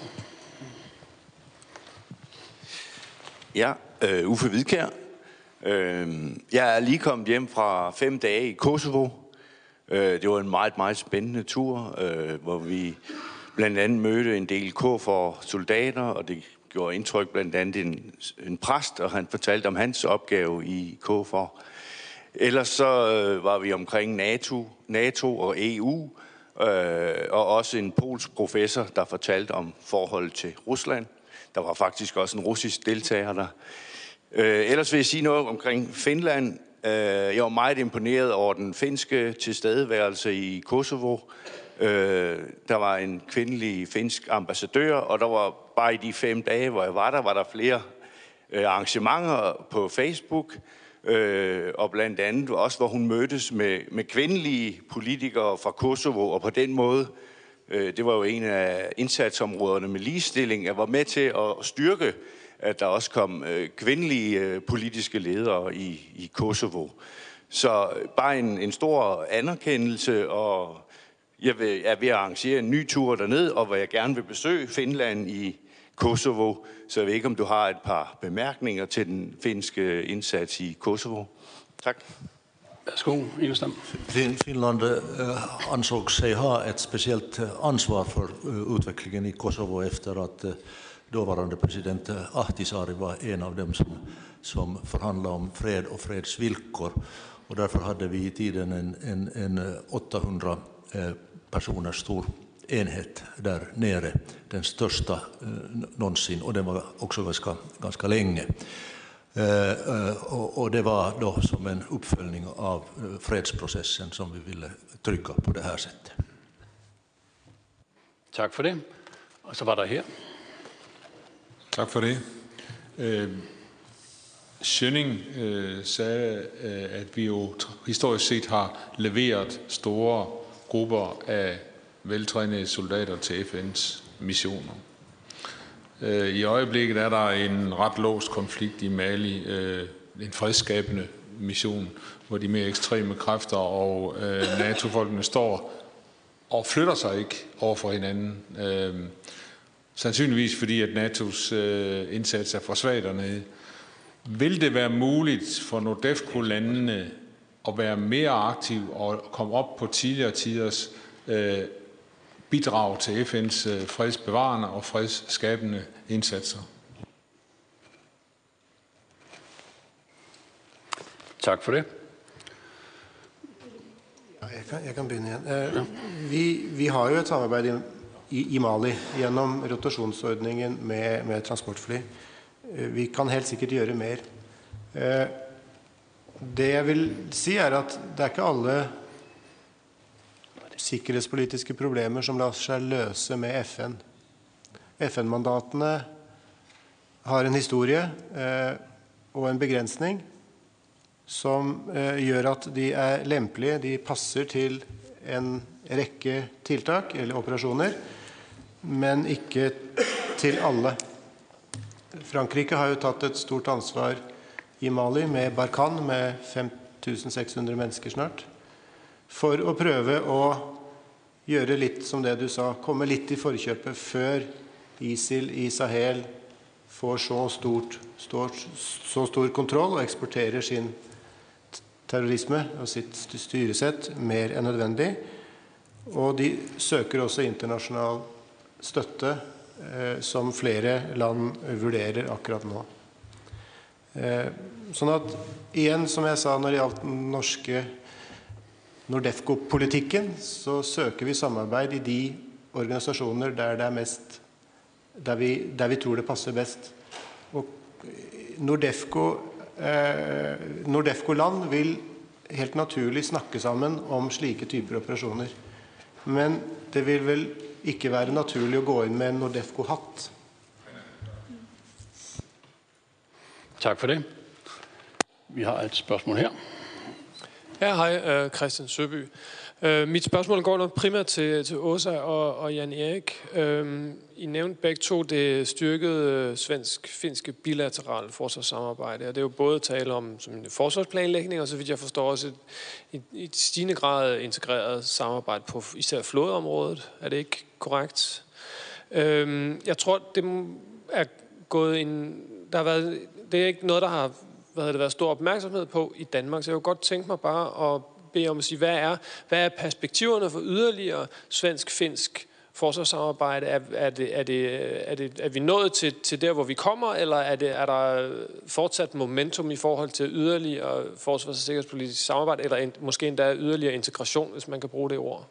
Ja, uh, Uffe Hvidkjær. Uh, jeg er lige kommet hjem fra fem dage i Kosovo. Uh, det var en meget, meget spændende tur, uh, hvor vi blandt andet mødte en del K F O R-soldater, og det gjorde indtryk blandt andet en, en præst, og han fortalte om hans opgave i K F O R. Ellers så øh, var vi omkring NATO, NATO og E U, øh, og også en polsk professor, der fortalte om forholdet til Rusland. Der var faktisk også en russisk deltager der. Øh, ellers vil jeg sige noget omkring Finland. Øh, jeg var meget imponeret over den finske tilstedeværelse i Kosovo. Øh, der var en kvindelig finsk ambassadør, og der var bare i de fem dage, hvor jeg var der, var der flere øh, arrangementer på Facebook, øh, og blandt andet også, hvor hun mødtes med, med kvindelige politikere fra Kosovo, og på den måde, øh, det var jo en af indsatsområderne med ligestilling, jeg var med til at styrke, at der også kom øh, kvindelige øh, politiske ledere i, i Kosovo. Så bare en, en stor anerkendelse, og jeg vil, er ved at arrangere en ny tur derned, og hvor jeg gerne vil besøge Finland i Kosovo. Så jeg ved ikke, om du har et par bemærkninger til den finske indsats i Kosovo. Tak. Værsgo, Enestam. Finland eh, ansåg sig ha ett speciellt ansvar för eh, utvecklingen i Kosovo efter att eh, dåvarande president Ahtisaari var en av dem som, som förhandlade om fred och fredsvillkor. Och därför hade vi i tiden en, en, en åttahundra eh, personer stor enhet där nere, den största eh, någonsin, och den var också ganska, ganska länge. Eh, och, och det var då som en uppföljning av eh, fredsprocessen som vi ville trycka på det här sättet. Tack för det. Och så var der her. Tak for det. Øh, Schønning øh, sagde, øh, at vi jo historisk set har leveret store grupper af veltrænede soldater til F N's missioner. Øh, I øjeblikket er der en ret låst konflikt i Mali, øh, en fredsskabende mission, hvor de mere ekstreme kræfter og øh, NATO-folkene står og flytter sig ikke over for hinanden. Øh, sandsynligvis fordi, at NATO's øh, indsats er for svag dernede. Vil det være muligt for NORDEFCO-landene at være mere aktiv og komme op på tidligere tiders øh, bidrag til F N's øh, fredsbevarende og fredsskabende indsatser? Tak for det. Ja, jeg, kan, jeg kan begynne igjen. Eh, vi, vi har jo et samarbeid i, i, i Mali gjennom rotasjonsordningen med, med transportfly. Eh, vi kan helt sikkert gjøre mer. Eh, det jeg vil si er at det er ikke alle sikkerhetspolitiske problemer som lar seg løse med F N. F N-mandatene har en historie eh, og en begrensning som eh, gjør at de er lempelige, de passer til en rekke tiltak eller operasjoner, men ikke til alle. Frankrike har jo tatt et stort ansvar i Mali med Barkhane, med fem tusen seks hundre mennesker snart, for å prøve å gjøre litt som det du sa, komme litt i forkjøpet før ISIL i Sahel får så, stort, stort, så stor kontroll og eksporterer sin terrorisme og sitt styresett mer enn nødvendig. Og de søker også internasjonal støtte eh, som flere land vurderer akkurat nå. Eh, sånn at igjen, som jeg sa når det gjaldt den norske NORDEFCO-politikken, så søker vi samarbeid i de organisasjoner der det er mest, der vi, der vi tror det passer best. Og NORDEFCO eh, NORDEFCO-land vil helt naturlig snakke sammen om slike typer operasjoner. Men det vil vel ikke være naturlig å gå inn med en NORDEFCO-hatt. Tak for det. Vi har et spørgsmål her. Ja, hej, Christian Søby. Mit spørgsmål går nok primært til, til Åsa og, og Jan Erik. I nævnte begge to det styrkede svensk-finske bilaterale forsvarssamarbejde, og det er jo både tale om som en forsvarsplanlægning, og så vidt jeg forstår også et, et, et stigende grad integreret samarbejde på især flådeområdet. Er det ikke korrekt? Jeg tror, det er gået en... Der har været, det er ikke noget, der har hvad det været stor opmærksomhed på i Danmark, så jeg kunne godt tænke mig bare at bede om at sige, hvad er, hvad er perspektiverne for yderligere svensk-finsk forsvarssamarbejde? Er, er, det, er, det, er, det, er vi nået til, til der, hvor vi kommer, eller er, det, er der fortsat momentum i forhold til yderligere forsvars- og sikkerhedspolitisk samarbejde, eller en, måske endda yderligere integration, hvis man kan bruge det ord?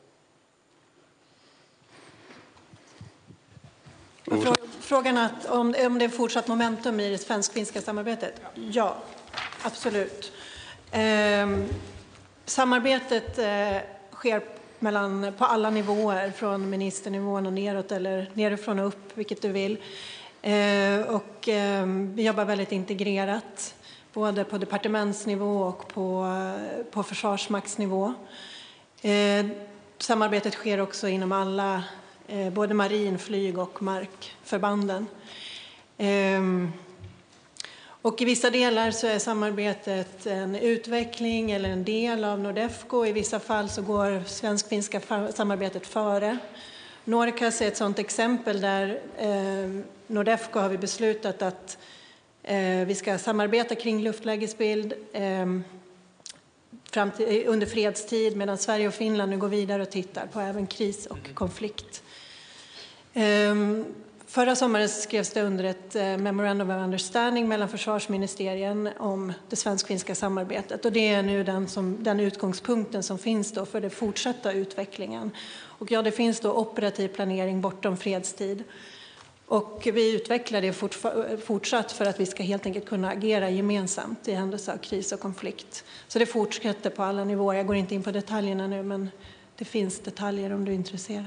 Frågan att om, om det är fortsatt momentum i det svensk-finska samarbetet? Ja, absolut. Eh, samarbetet eh, sker mellan, på alla nivåer, från ministernivån och neråt eller nerifrån och upp, vilket du vill. Eh, och eh, vi jobbar väldigt integrerat, både på departementsnivå och på, på försvarsmaktsnivå. Eh, samarbetet sker också inom alla både marin, flyg och markförbanden. Ehm, och i vissa delar så är samarbetet en utveckling eller en del av NORDEFCO. I vissa fall så går svensk-finska samarbetet före. Norcas är ett sådant exempel där eh, NORDEFCO har vi beslutat att eh, vi ska samarbeta kring luftlägesbild eh, fram till, under fredstid, medan Sverige och Finland nu går vidare och tittar på även kris och konflikt. Förra sommaren skrevs det under ett memorandum of understanding mellan försvarsministerien om det svensk-finska samarbetet. Och det är nu den, som, den utgångspunkten som finns då för den fortsatta utvecklingen. Och ja, det finns då operativ planering bortom fredstid. Och vi utvecklar det fortsatt för att vi ska helt enkelt kunna agera gemensamt i händelse av kris och konflikt. Så det fortsätter på alla nivåer. Jag går inte in på detaljerna nu, men det finns detaljer om du är intresserad.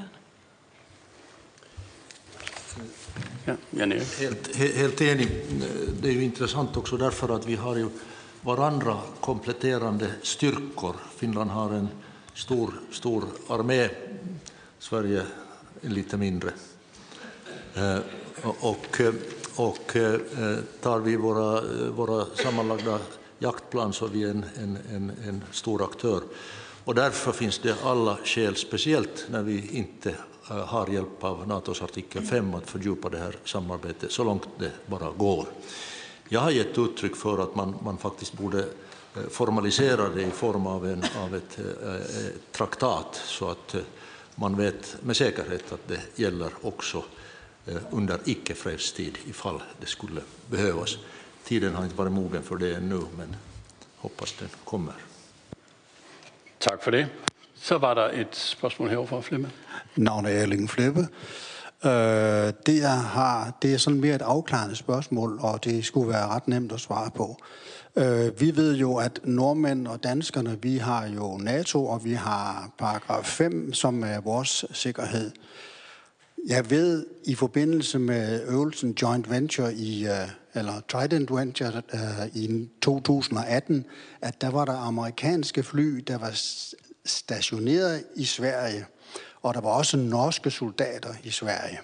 Ja, helt, helt enig. Det är ju intressant också därför att vi har ju varandra kompletterande styrkor. Finland har en stor, stor armé, Sverige är lite mindre. Eh, och, och eh, tar vi våra, våra sammanlagda jaktplan så är vi en, en, en, en stor aktör. Och därför finns det alla skäl, speciellt när vi inte har hjälp av NATOs artikel fem att fördjupa det här samarbetet så långt det bara går. Jag har gett uttryck för att man, man faktiskt borde formalisera det i form av, en, av ett eh, traktat så att eh, man vet med säkerhet att det gäller också eh, under icke-fredstid ifall det skulle behövas. Tiden har inte varit mogen för det ännu, men hoppas den kommer. Tack för det. Så var der et spørgsmål herovre fra Flemme. Navnet er Erling Flemme. Øh, det, er, har, det er sådan mere et afklarende spørgsmål, og det skulle være ret nemt at svare på. Øh, vi ved jo, at nordmænd og danskerne, vi har jo NATO, og vi har paragraf fem, som er vores sikkerhed. Jeg ved, i forbindelse med øvelsen Joint Venture i, eller Trident Venture i to tusind og atten, at der var der amerikanske fly, der var stationeret i Sverige, og der var også norske soldater i Sverige.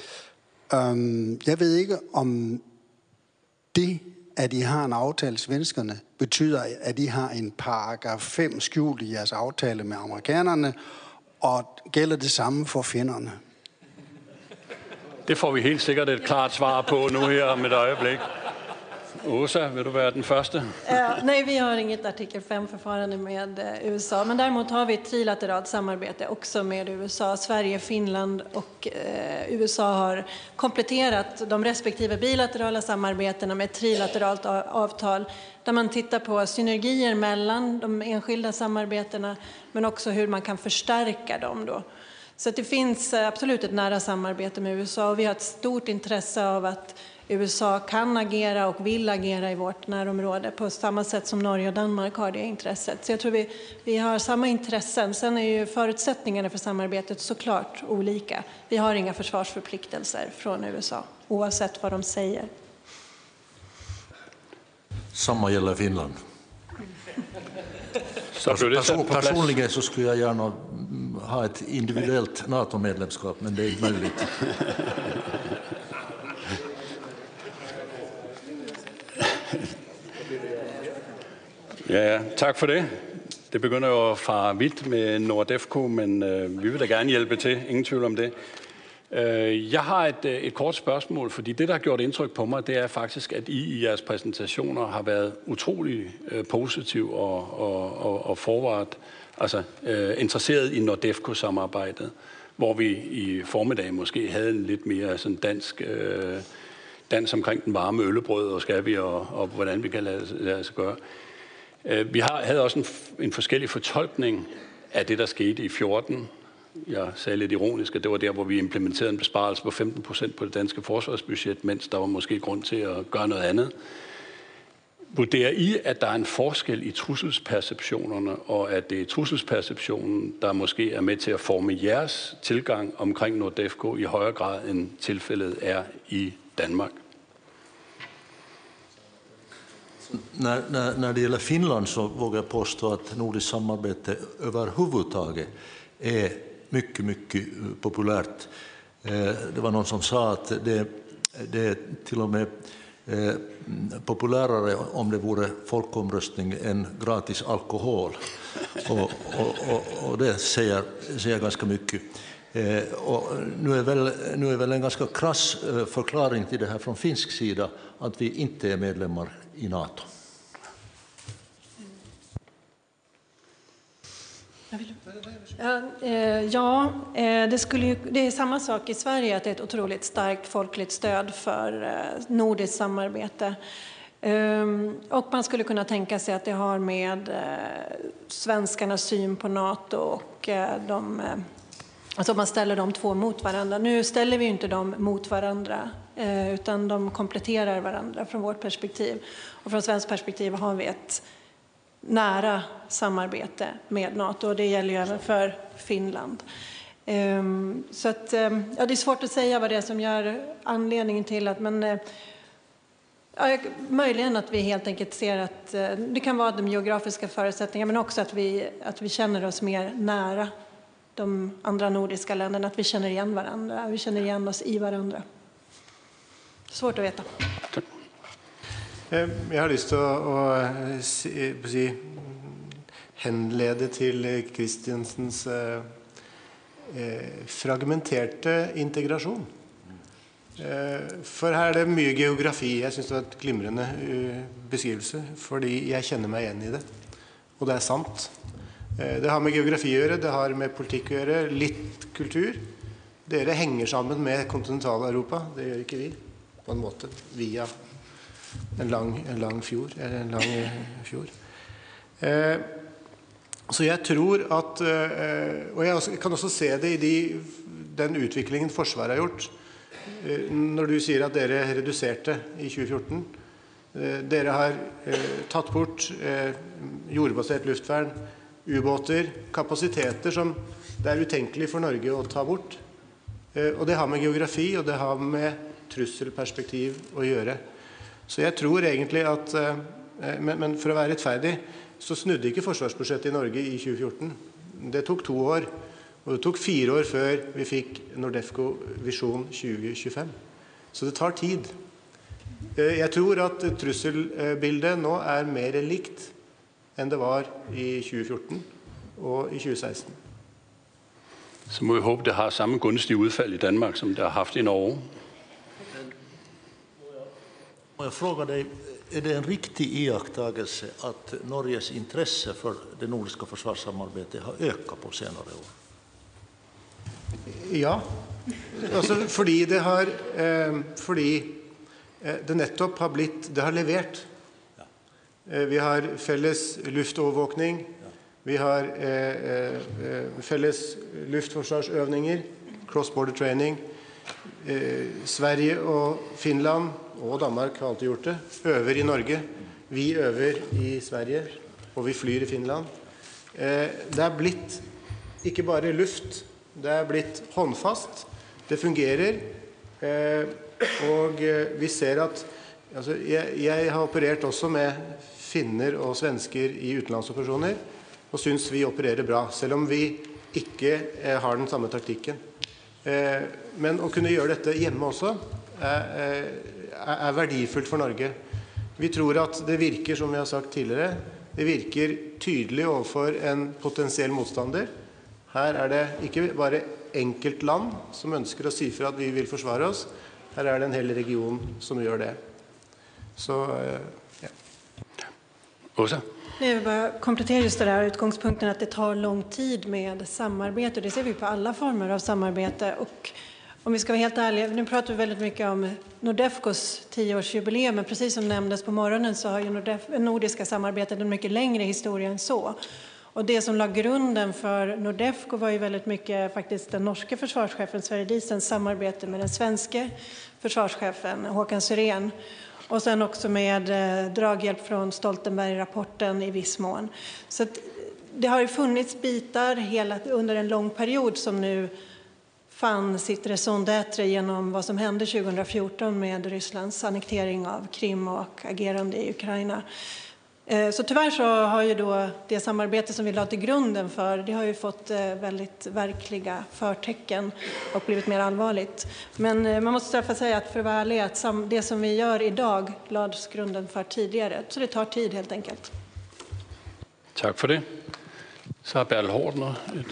Um, jeg ved ikke, om det, at I har en aftale, svenskerne, betyder, at I har en paragraf fem skjult i jeres aftale med amerikanerne, og gælder det samme for finnerne? Det får vi helt sikkert et klart svar på nu her om et øjeblik. Åsa, vil du være den første? Uh, nej, vi har inget artikel fem-förfarande med uh, U S A, men däremot har vi ett trilateralt samarbete också med U S A. Sverige, Finland och uh, U S A har kompletterat de respektive bilaterala samarbetena med ett trilateralt avtal där man tittar på synergier mellan de enskilda samarbetena men också hur man kan förstärka dem då. Så det finns absolut ett nära samarbete med U S A och vi har ett stort intresse av att U S A kan agera och vill agera i vårt närområde på samma sätt som Norge och Danmark har det intresset. Så jag tror vi, vi har samma intressen. Sen är ju förutsättningarna för samarbetet såklart olika. Vi har inga försvarsförpliktelser från U S A oavsett vad de säger. Samma gäller Finland. Person, personligen så skulle jag gärna ha ett individuellt NATO-medlemskap, men det är inte möjligt. Ja, tak for det. Det begynder jo at fare vidt med NORDEFCO, men øh, vi vil da gerne hjælpe til. Ingen tvivl om det. Øh, jeg har et, et kort spørgsmål, fordi det, der har gjort indtryk på mig, det er faktisk, at I i jeres præsentationer har været utrolig øh, positiv og, og, og, og forward, altså øh, interesseret i NORDEFCO-samarbejdet, hvor vi i formiddag måske havde en lidt mere sådan dansk øh, dans omkring den varme øllebrød, og skal vi, og, og hvordan vi kan lade, lade os gøre. Vi har, havde også en, en forskellig fortolkning af det, der skete i fjorten. Jeg sagde lidt ironisk, at det var der, hvor vi implementerede en besparelse på femten procent på det danske forsvarsbudget, mens der var måske grund til at gøre noget andet. Vurderer I, at der er en forskel i trusselsperceptionerne, og at det er trusselsperceptionen, der måske er med til at forme jeres tilgang omkring NORDEFCO i højere grad, end tilfældet er i Danmark? När, när, när det gäller Finland så vågar jag påstå att nordiskt samarbete överhuvudtaget är mycket, mycket populärt. Det var någon som sa att det, det är till och med populärare om det vore folkomröstning än gratis alkohol. Och, och, och, och det säger, säger ganska mycket. Och nu, är väl, nu är väl en ganska krass förklaring till det här från finsk sida att vi inte är medlemmar i NATO. Ja, eh, ja eh, det, skulle ju, det är samma sak i Sverige, att det är ett otroligt starkt folkligt stöd för eh, nordiskt samarbete. Um, och man skulle kunna tänka sig att det har med eh, svenskarnas syn på NATO och eh, de, eh, alltså man ställer de två mot varandra. Nu ställer vi ju inte dem mot varandra, eh, utan de kompletterar varandra från vårt perspektiv. Och från svenskt perspektiv har vi ett nära samarbete med NATO, och det gäller ju även för Finland. Um, så att, um, ja, det är svårt att säga vad det är som gör anledningen till att man... Uh, ja, möjligen att vi helt enkelt ser att uh, det kan vara de geografiska förutsättningarna, men också att vi, att vi känner oss mer nära de andra nordiska länderna, att vi känner igen varandra, vi känner igen oss i varandra. Svårt att veta. Jeg har lyst til å, å si, si, henlede til Christiansens eh, fragmenterte integrasjon. Eh, for her er det mye geografi. Jeg synes det var et glimrende uh, beskrivelse, fordi jeg kjenner meg igjen i det. Og det er sant. Eh, det har med geografi å gjøre, det har med politikk å gjøre, litt kultur. Dere henger sammen med kontinental-Europa, det gjør ikke vi, på en måte, via en lang, en lang fjord, eller en lang fjord. Eh, så jeg tror at, eh, og jeg også, kan også se det i de, den utviklingen Forsvaret har gjort, eh, når du sier at dere reduserte i tjue fjorten, eh, dere har eh, tatt bort eh, jordbasert luftvern, ubåter, kapasiteter som det er utenkelig for Norge å ta bort. Eh, og det har med geografi, og det har med trusselperspektiv å gjøre. Så jeg tror egentlig at, men, men for å være rettferdig, så snudde ikke forsvarsbudsjettet i Norge i tjue fjorten. Det tok to år, og det tok fire år før vi fikk Nordefco Visjon tjue tjuefem. Så det tar tid. Jeg tror at trusselbildet nå er mer likt enn det var i tjue fjorten og i tjue seksten. Så må vi håbe, det har samme gunstige udfald i Danmark, som det har haft i Norge. Jag frågar dig, är det en riktig iakttagelse att Norges intresse för det nordiska försvarssamarbetet har ökat på senare år? Ja, altså fordi det har, eh, fordi det nettopp har blitt, det har levert. Eh, vi har felles luftovervåkning, vi har eh, eh, felles luftforsvarsøvninger, cross-border training. Eh, Sverige og Finland og Danmark har alltid gjort det, øver i Norge, vi øver i Sverige, og vi flyr i Finland. Eh, det er blitt ikke bare luft, det er blitt håndfast, det fungerer, eh, og vi ser at, altså, jeg, jeg har operert også med finner og svensker i utenlandsoperasjoner, og synes vi opererer bra, selv om vi ikke eh, har den samme taktikken. Eh, men å kunne gjøre dette hjemme også er, er verdifullt for Norge. Vi tror at det virker, som vi har sagt tidligere, det virker tydelig overfor en potensiell motstander. Her er det ikke bare enkelt land som ønsker å si fra at vi vil forsvare oss. Her er det en hel region som gjør det. Så, ja. Åsa? Jag vill bara komplettera just det där utgångspunkten att det tar lång tid med samarbete. Det ser vi på alla former av samarbete. Och om vi ska vara helt ärliga, nu pratar vi väldigt mycket om Nordefcos tioårsjubileum, men precis som nämndes på morgonen så har ju Nordef, nordiska samarbetet en mycket längre historia än så. Och det som la grunden för Nordefco var ju väldigt mycket faktiskt den norske försvarschefen Sverre Diesens samarbete med den svenska försvarschefen Håkan Syrén. Och sen också med eh, draghjälp från Stoltenberg-rapporten i viss mån. Så att det har ju funnits bitar hela, under en lång period som nu fann sitt raison d'être genom vad som hände tjugo fjorton med Rysslands annektering av Krim och agerande i Ukraina. Eh, så tyvärr så har ju då det samarbete som vi la till grunden för, det har ju fått eh, väldigt verkliga förtecken och blivit mer allvarligt. Men eh, man måste därför säga att för att vara ärlig, att sam- det som vi gör idag lades grunden för tidigare. Så det tar tid helt enkelt. Tack för det. Så har Bertel Haarder et...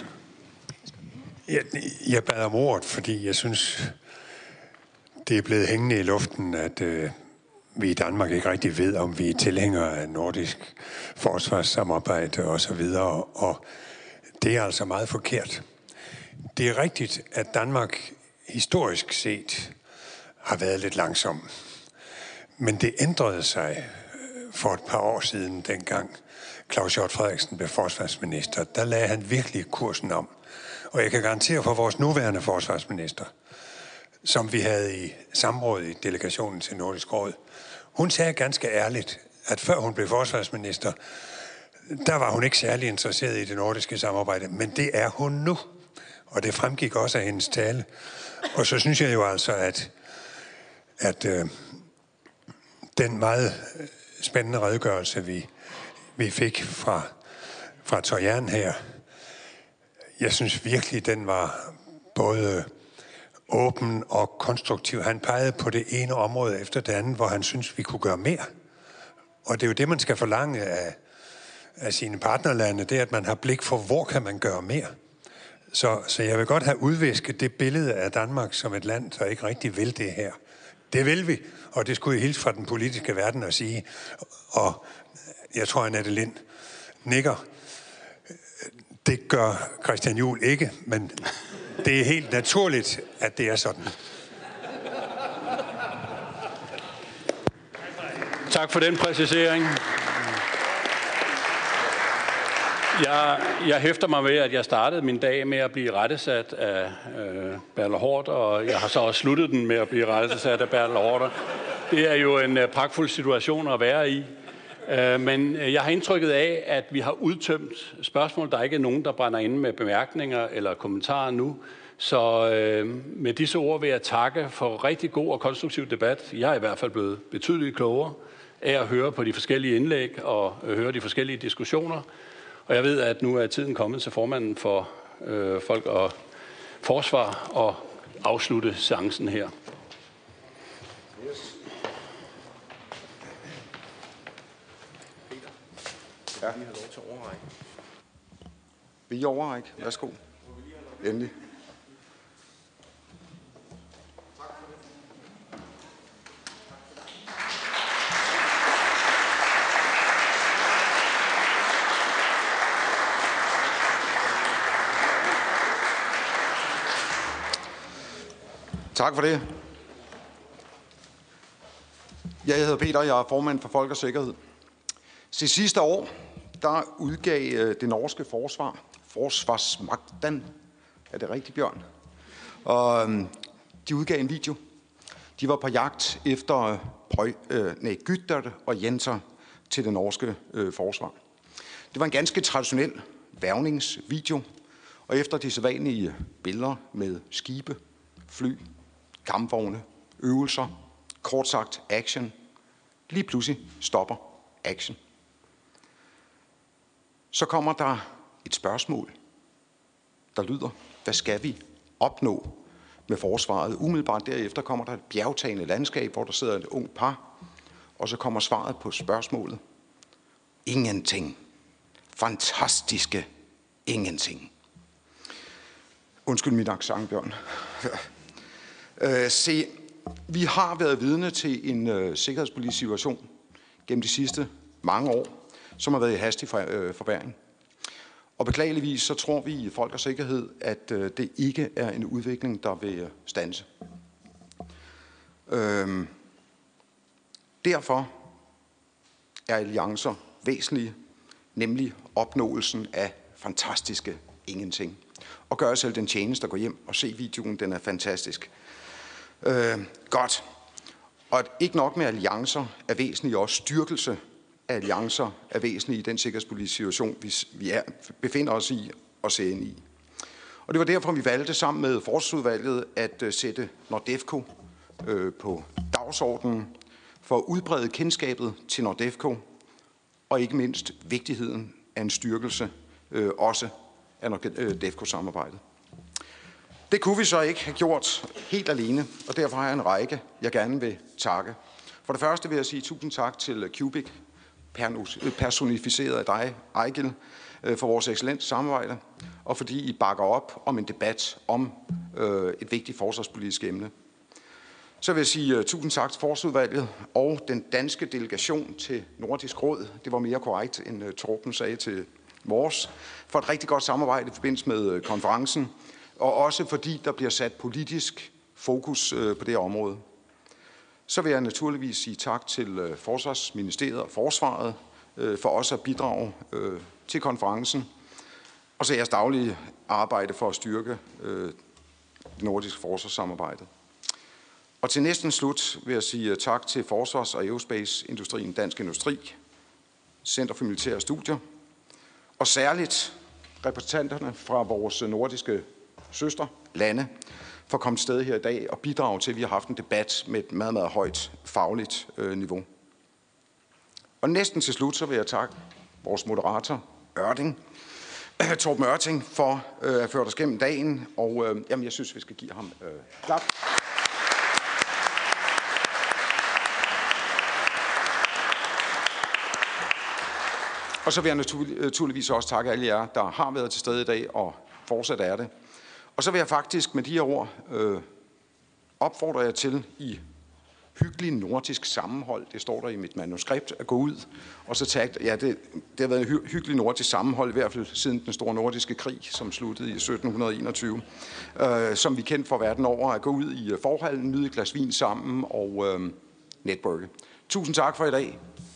Jeg, jeg bad om ordet, fordi jeg synes, det er blevet hængende i luften, at øh, vi i Danmark ikke rigtig ved, om vi er tilhængere af nordisk forsvarssamarbejde osv. Og Det er altså meget forkert. Det er rigtigt, at Danmark historisk set har været lidt langsom. Men det ændrede sig for et par år siden, dengang Claus Hjort Frederiksen blev forsvarsminister. Der lagde han virkelig kursen om. Og jeg kan garantere for vores nuværende forsvarsminister, som vi havde i samråd i delegationen til Nordisk Råd. Hun sagde ganske ærligt, at før hun blev forsvarsminister, der var hun ikke særlig interesseret i det nordiske samarbejde, men det er hun nu. Og det fremgik også af hendes tale. Og så synes jeg jo altså, at, at øh, den meget spændende redegørelse, vi, vi fik fra, fra Tøjern her, jeg synes virkelig, den var både åben og konstruktiv. Han pegede på det ene område efter det andet, hvor han synes, vi kunne gøre mere. Og det er jo det, man skal forlange af, af sine partnerlande, det er, at man har blik for, hvor kan man gøre mere. Så, så jeg vil godt have udvisket det billede af Danmark som et land, der ikke rigtig vil det her. Det vil vi, og det skulle jeg hilse fra den politiske verden at sige. Og jeg tror, at Annette Lind nikker. Det gør Christian Juhl ikke, men det er helt naturligt, at det er sådan. Tak for den præcisering. Jeg, jeg hæfter mig ved, at jeg startede min dag med at blive rettesat af øh, Bertel Haarder, og jeg har så også sluttet den med at blive rettesat af Bertel Haarder. Det er jo en øh, pragtfuld situation at være i. Øh, men jeg har indtrykket af, at vi har udtømt spørgsmål. Der er ikke nogen, der brænder inde med bemærkninger eller kommentarer nu. Så øh, med disse ord vil jeg takke for rigtig god og konstruktiv debat. Jeg er i hvert fald blevet betydeligt klogere af at høre på de forskellige indlæg og øh, høre de forskellige diskussioner. Og jeg ved, at nu er tiden kommet til formanden for øh, Folk og Forsvar og afslutte seancen her. Ja. Vi har lov til at overrække. Vil I overrække? Værsgo. Endelig. Tak for det. Jeg hedder Peter, og jeg er formand for Folk og Sikkerhed. Så sidste år, der udgav det norske forsvar, Forsvarsmakten, er det rigtigt, Bjørn? Og de udgav en video. De var på jagt efter Prøj, øh, nej, Gytter og Jenser til det norske øh, forsvar. Det var en ganske traditionel værvningsvideo, og efter de sædvanlige billeder med skibe, fly, kampvogne, øvelser, kort sagt action, lige pludselig stopper action. Så kommer der et spørgsmål, der lyder, hvad skal vi opnå med forsvaret? Umiddelbart derefter kommer der et bjergtagende landskab, hvor der sidder et ung par, og så kommer svaret på spørgsmålet. Ingenting. Fantastiske ingenting. Undskyld mit accent, Bjørn. øh, se, vi har været vidne til en øh, sikkerhedspolitisk situation gennem de sidste mange år, som har været i hastig for, øh, forværring. Og beklageligvis så tror vi i Folk og Sikkerhed, at øh, det ikke er en udvikling, der vil standse. Øhm, derfor er alliancer væsentlige, nemlig opnåelsen af fantastiske ingenting. Og gør selv den tjeneste at gå hjem og se videoen, den er fantastisk. Øh, godt. Og at ikke nok med alliancer er væsentlige, også styrkelse af alliancer er væsentlige i den sikkerhedspolitiske situation, vi, vi er, befinder os i og ser ind i. Og det var derfor, vi valgte sammen med Forsvarsudvalget at uh, sætte NORDEFCO øh, på dagsordenen for at udbrede kendskabet til NORDEFCO og ikke mindst vigtigheden af en styrkelse øh, også af NORDEFCO-samarbejdet. Det kunne vi så ikke have gjort helt alene, og derfor har jeg en række, jeg gerne vil takke. For det første vil jeg sige tusind tak til Cubic, personificeret af dig, Ejgil, for vores excellente samarbejde, og fordi I bakker op om en debat om øh, et vigtigt forsvarspolitisk emne. Så vil jeg sige uh, tusind tak til Forsvarsudvalget og den danske delegation til Nordisk Råd. Det var mere korrekt, end uh, Torben sagde til vores, for et rigtig godt samarbejde i forbindelse med konferencen, og også fordi der bliver sat politisk fokus på det område. Så vil jeg naturligvis sige tak til Forsvarsministeriet og Forsvaret for også at bidrage til konferencen, og så jeres daglige arbejde for at styrke det nordiske forsvarssamarbejde. Og til næsten slut vil jeg sige tak til Forsvars- og Aerospace-industrien, Dansk Industri, Center for Militære Studier, og særligt repræsentanterne fra vores nordiske søsterlande for at komme til stede her i dag og bidrage til, at vi har haft en debat med et meget, meget højt fagligt øh, niveau. Og næsten til slut, så vil jeg takke vores moderator, Ørting, Torben Ørting, for øh, at have ført os gennem dagen, og øh, jamen, jeg synes, vi skal give ham øh, klap. Og så vil jeg naturligvis også takke alle jer, der har været til stede i dag og fortsat er det. Og så vil jeg faktisk med de her ord øh, opfordre jer til i hyggelig nordisk sammenhold, det står der i mit manuskript, at gå ud og så tage, ja, det, det har været en hy- hyggelig nordisk sammenhold, i hvert fald siden den store nordiske krig, som sluttede i sytten enogtyve, øh, som vi kendte for verden over, at gå ud i forhallen, nyde et glas vin sammen og øh, networke. Tusind tak for i dag.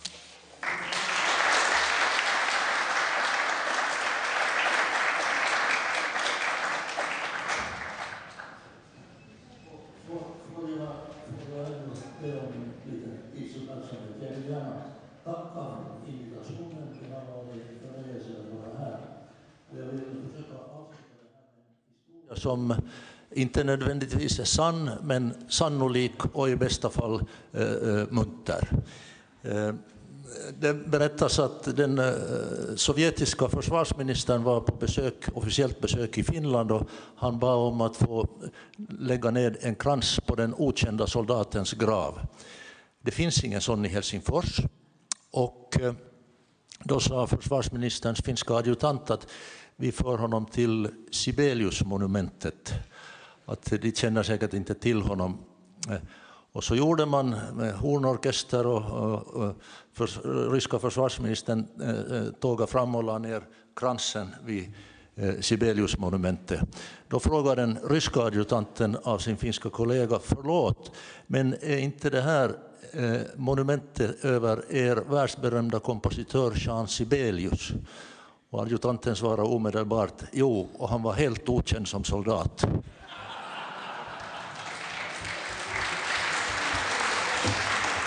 Som inte nödvändigtvis är sann, men sannolik och i bästa fall eh, munter. Eh, det berättas att den eh, sovjetiska försvarsministern var på besök, officiellt besök i Finland, och han bad om att få lägga ned en krans på den okända soldatens grav. Det finns ingen sån i Helsingfors, och eh, då sa försvarsministerns finska adjutant att vi för honom till Sibelius-monumentet. Att de känner säkert inte till honom. Och så gjorde man med hornorkester, och, och, och för, ryska försvarsministern eh, tågade fram och la ner kransen vid eh, Sibelius-monumentet. Då frågade den ryska adjutanten av sin finska kollega: förlåt, men är inte det här eh, monumentet över er världsberömda kompositör Jean Sibelius? Och adjutanten svarade omedelbart: jo, och han var helt okänd som soldat.